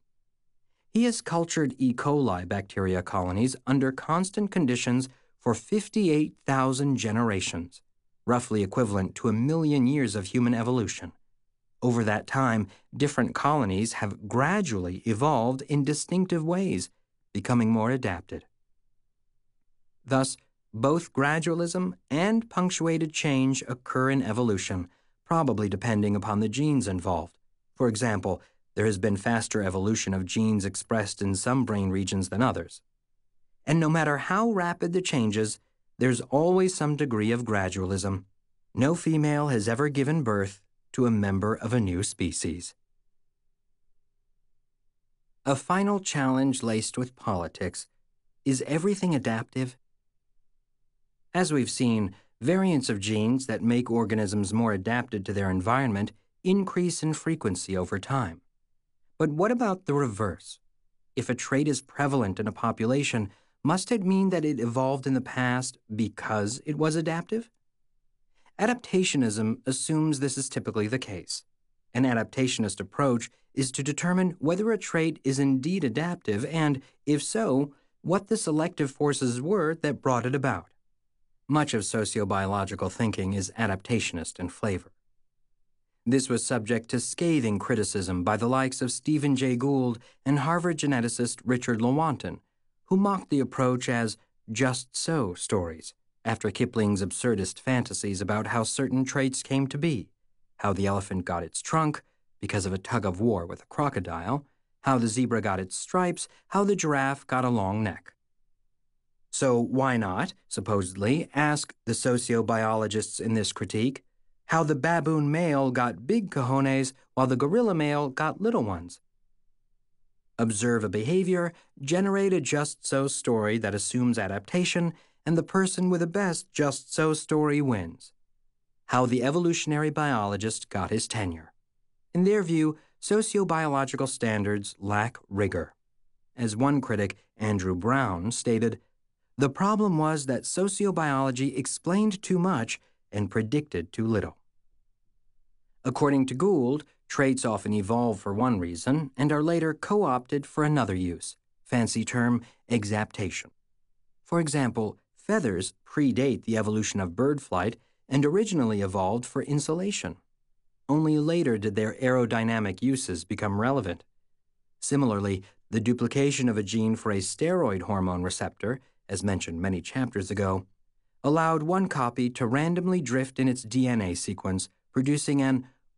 He has cultured E. coli bacteria colonies under constant conditions for fifty-eight thousand generations, roughly equivalent to a million years of human evolution. Over that time, different colonies have gradually evolved in distinctive ways, becoming more adapted. Thus, both gradualism and punctuated change occur in evolution, probably depending upon the genes involved. For example, there has been faster evolution of genes expressed in some brain regions than others. And no matter how rapid the changes, there's always some degree of gradualism. No female has ever given birth to a member of a new species. A final challenge laced with politics: is everything adaptive? As we've seen, variants of genes that make organisms more adapted to their environment increase in frequency over time. But what about the reverse? If a trait is prevalent in a population, must it mean that it evolved in the past because it was adaptive? Adaptationism assumes this is typically the case. An adaptationist approach is to determine whether a trait is indeed adaptive and, if so, what the selective forces were that brought it about. Much of sociobiological thinking is adaptationist in flavor. This was subject to scathing criticism by the likes of Stephen Jay Gould and Harvard geneticist Richard Lewontin, who mocked the approach as just-so stories, after Kipling's absurdist fantasies about how certain traits came to be, how the elephant got its trunk because of a tug-of-war with a crocodile, how the zebra got its stripes, how the giraffe got a long neck. So why not, supposedly, ask the sociobiologists in this critique how the baboon male got big cojones while the gorilla male got little ones? Observe a behavior, generate a just-so story that assumes adaptation, and the person with the best just-so story wins. How the evolutionary biologist got his tenure. In their view, sociobiological standards lack rigor. As one critic, Andrew Brown, stated, "The problem was that sociobiology explained too much and predicted too little." According to Gould, traits often evolve for one reason and are later co-opted for another use, fancy term exaptation. For example, feathers predate the evolution of bird flight and originally evolved for insulation. Only later did their aerodynamic uses become relevant. Similarly, the duplication of a gene for a steroid hormone receptor, as mentioned many chapters ago, allowed one copy to randomly drift in its D N A sequence, producing an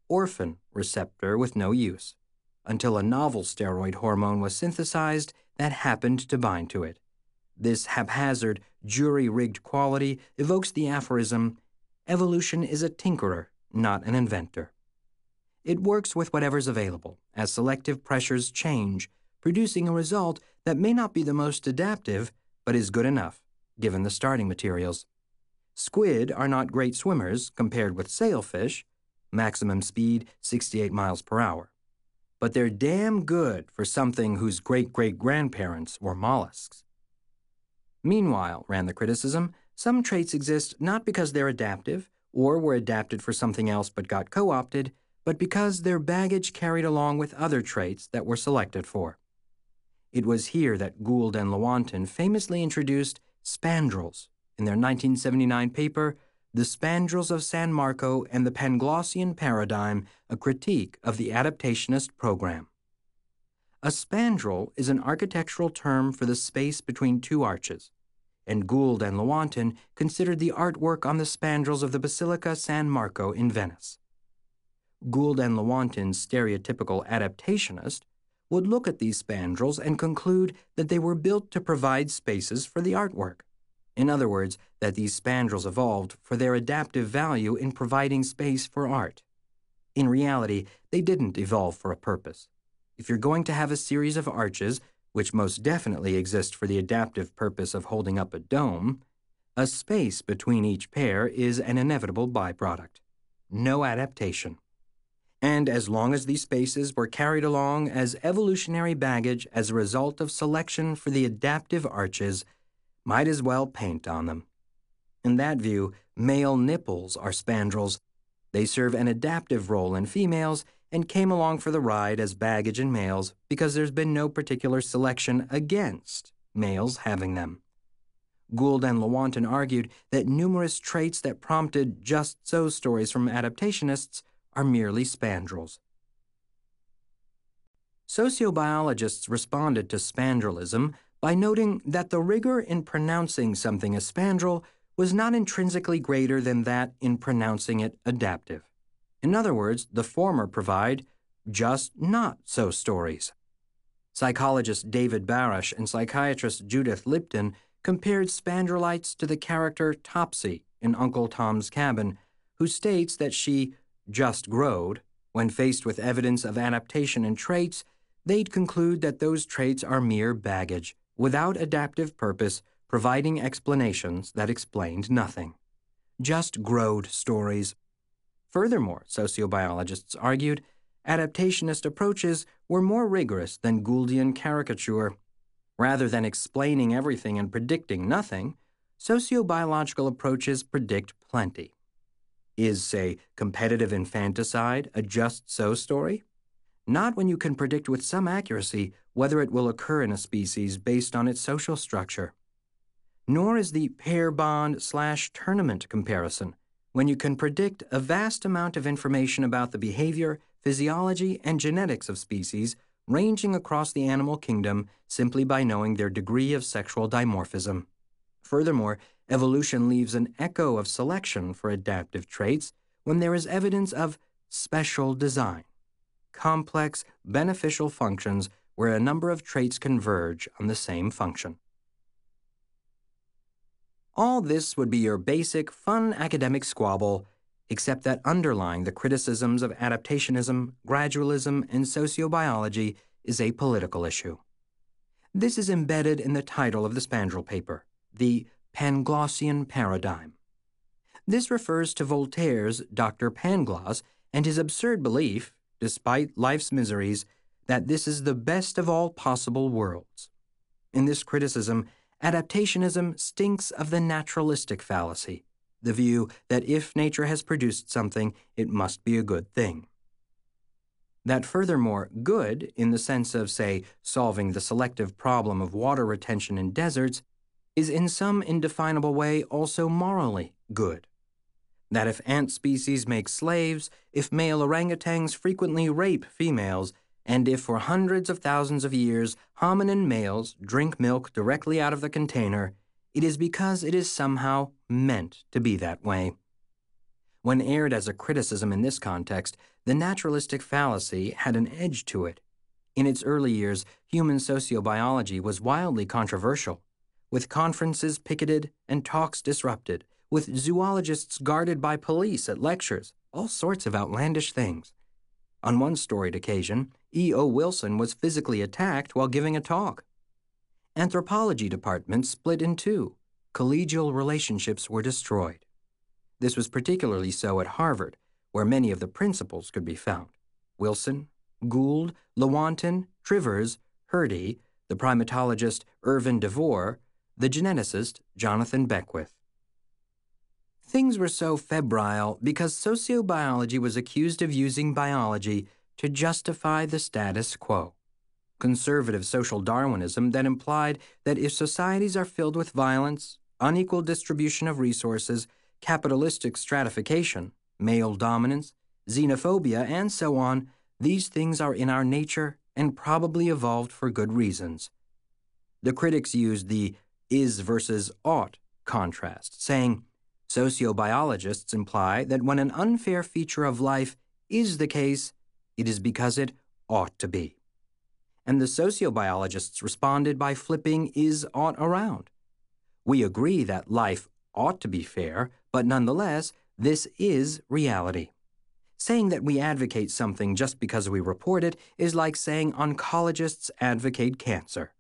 orphan receptor with no use, until a novel steroid hormone was synthesized that happened to bind to it. This haphazard, jury-rigged quality evokes the aphorism, "Evolution is a tinkerer, not an inventor." It works with whatever's available, as selective pressures change, producing a result that may not be the most adaptive, but is good enough, given the starting materials. Squid are not great swimmers compared with sailfish, maximum speed sixty-eight miles per hour. But they're damn good for something whose great-great-grandparents were mollusks. Meanwhile, ran the criticism, some traits exist not because they're adaptive or were adapted for something else but got co-opted, but because they're baggage carried along with other traits that were selected for. It was here that Gould and Lewontin famously introduced spandrels in their nineteen seventy-nine paper, The Spandrels of San Marco and the Panglossian Paradigm, a Critique of the Adaptationist Program. A spandrel is an architectural term for the space between two arches, and Gould and Lewontin considered the artwork on the spandrels of the Basilica San Marco in Venice. Gould and Lewontin's stereotypical adaptationist would look at these spandrels and conclude that they were built to provide spaces for the artwork. In other words, that these spandrels evolved for their adaptive value in providing space for art. In reality, they didn't evolve for a purpose. If you're going to have a series of arches, which most definitely exist for the adaptive purpose of holding up a dome, a space between each pair is an inevitable byproduct. No adaptation. And as long as these spaces were carried along as evolutionary baggage as a result of selection for the adaptive arches, might as well paint on them. In that view, male nipples are spandrels. They serve an adaptive role in females and came along for the ride as baggage in males because there's been no particular selection against males having them. Gould and Lewontin argued that numerous traits that prompted just-so stories from adaptationists are merely spandrels. Sociobiologists responded to spandrelism by noting that the rigor in pronouncing something a spandrel was not intrinsically greater than that in pronouncing it adaptive. In other words, the former provide just not-so stories. Psychologist David Barash and psychiatrist Judith Lipton compared spandrelites to the character Topsy in Uncle Tom's Cabin, who states that she just growed. When faced with evidence of adaptation and traits, they'd conclude that those traits are mere baggage, without adaptive purpose, providing explanations that explained nothing. Just growed stories. Furthermore, sociobiologists argued, adaptationist approaches were more rigorous than Gouldian caricature. Rather than explaining everything and predicting nothing, sociobiological approaches predict plenty. Is, say, competitive infanticide a just-so story? Not when you can predict with some accuracy whether it will occur in a species based on its social structure. Nor is the pair bond slash tournament comparison when you can predict a vast amount of information about the behavior, physiology, and genetics of species ranging across the animal kingdom simply by knowing their degree of sexual dimorphism. Furthermore, evolution leaves an echo of selection for adaptive traits when there is evidence of special design, complex, beneficial functions where a number of traits converge on the same function. All this would be your basic, fun academic squabble, except that underlying the criticisms of adaptationism, gradualism, and sociobiology is a political issue. This is embedded in the title of the Spandrel paper, the Panglossian Paradigm. This refers to Voltaire's Doctor Pangloss and his absurd belief, despite life's miseries, that this is the best of all possible worlds. In this criticism, adaptationism stinks of the naturalistic fallacy, the view that if nature has produced something, it must be a good thing. That furthermore, good, in the sense of, say, solving the selective problem of water retention in deserts, is in some indefinable way also morally good. That if ant species make slaves, if male orangutans frequently rape females, and if for hundreds of thousands of years hominin males drink milk directly out of the container, it is because it is somehow meant to be that way. When aired as a criticism in this context, the naturalistic fallacy had an edge to it. In its early years, human sociobiology was wildly controversial, with conferences picketed and talks disrupted, with zoologists guarded by police at lectures, all sorts of outlandish things. On one storied occasion, E O Wilson was physically attacked while giving a talk. Anthropology departments split in two. Collegial relationships were destroyed. This was particularly so at Harvard, where many of the principals could be found. Wilson, Gould, Lewontin, Trivers, Hurdy, the primatologist Irvin DeVore, the geneticist Jonathan Beckwith. Things were so febrile because sociobiology was accused of using biology to justify the status quo. Conservative social Darwinism that implied that if societies are filled with violence, unequal distribution of resources, capitalistic stratification, male dominance, xenophobia, and so on, these things are in our nature and probably evolved for good reasons. The critics used the is versus ought contrast, saying, sociobiologists imply that when an unfair feature of life is the case, it is because it ought to be. And the sociobiologists responded by flipping is ought around. We agree that life ought to be fair, but nonetheless, this is reality. Saying that we advocate something just because we report it is like saying oncologists advocate cancer.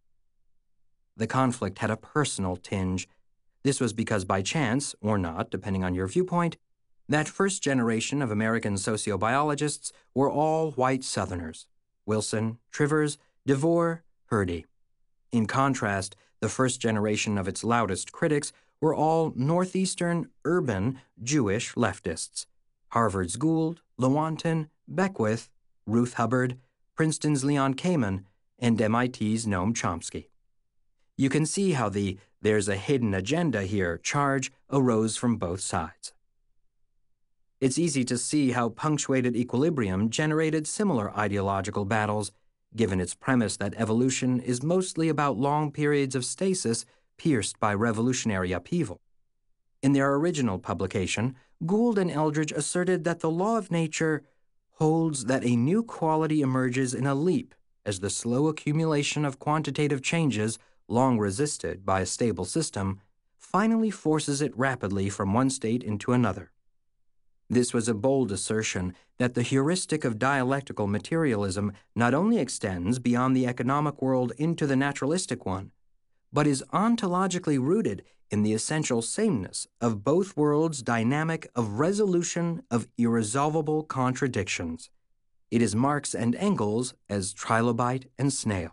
The conflict had a personal tinge. This was because by chance, or not, depending on your viewpoint, that first generation of American sociobiologists were all white Southerners: Wilson, Trivers, DeVore, Hurdy. In contrast, the first generation of its loudest critics were all Northeastern, urban, Jewish leftists: Harvard's Gould, Lewontin, Beckwith, Ruth Hubbard, Princeton's Leon Kamin, and M I T's Noam Chomsky. You can see how the "there's a hidden agenda here" charge arose from both sides. It's easy to see how punctuated equilibrium generated similar ideological battles, given its premise that evolution is mostly about long periods of stasis pierced by revolutionary upheaval. In their original publication, Gould and Eldridge asserted that the law of nature holds that a new quality emerges in a leap as the slow accumulation of quantitative changes long resisted by a stable system finally forces it rapidly from one state into another. This was a bold assertion that the heuristic of dialectical materialism not only extends beyond the economic world into the naturalistic one, but is ontologically rooted in the essential sameness of both worlds' dynamic of resolution of irresolvable contradictions. It is Marx and Engels as trilobite and snail.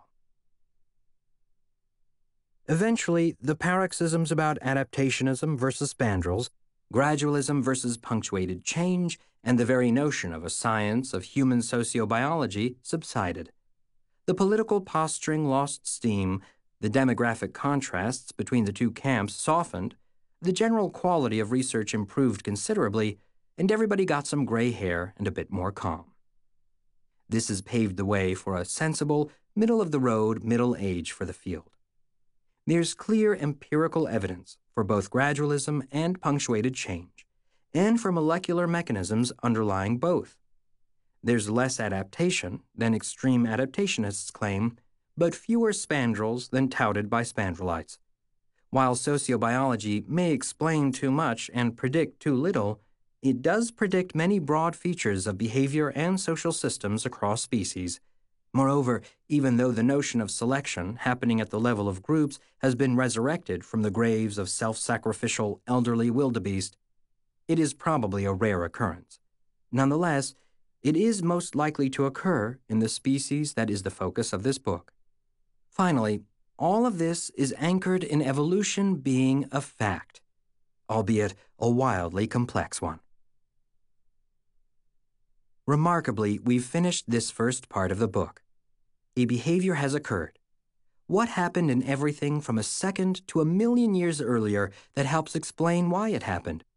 Eventually, the paroxysms about adaptationism versus spandrels, gradualism versus punctuated change, and the very notion of a science of human sociobiology subsided. The political posturing lost steam, the demographic contrasts between the two camps softened, the general quality of research improved considerably, and everybody got some gray hair and a bit more calm. This has paved the way for a sensible, middle-of-the-road middle age for the field. There's clear empirical evidence for both gradualism and punctuated change, and for molecular mechanisms underlying both. There's less adaptation than extreme adaptationists claim, but fewer spandrels than touted by spandrelites. While sociobiology may explain too much and predict too little, it does predict many broad features of behavior and social systems across species. Moreover, even though the notion of selection happening at the level of groups has been resurrected from the graves of self-sacrificial elderly wildebeest, it is probably a rare occurrence. Nonetheless, it is most likely to occur in the species that is the focus of this book. Finally, all of this is anchored in evolution being a fact, albeit a wildly complex one. Remarkably, we've finished this first part of the book. A behavior has occurred. What happened in everything from a second to a million years earlier that helps explain why it happened?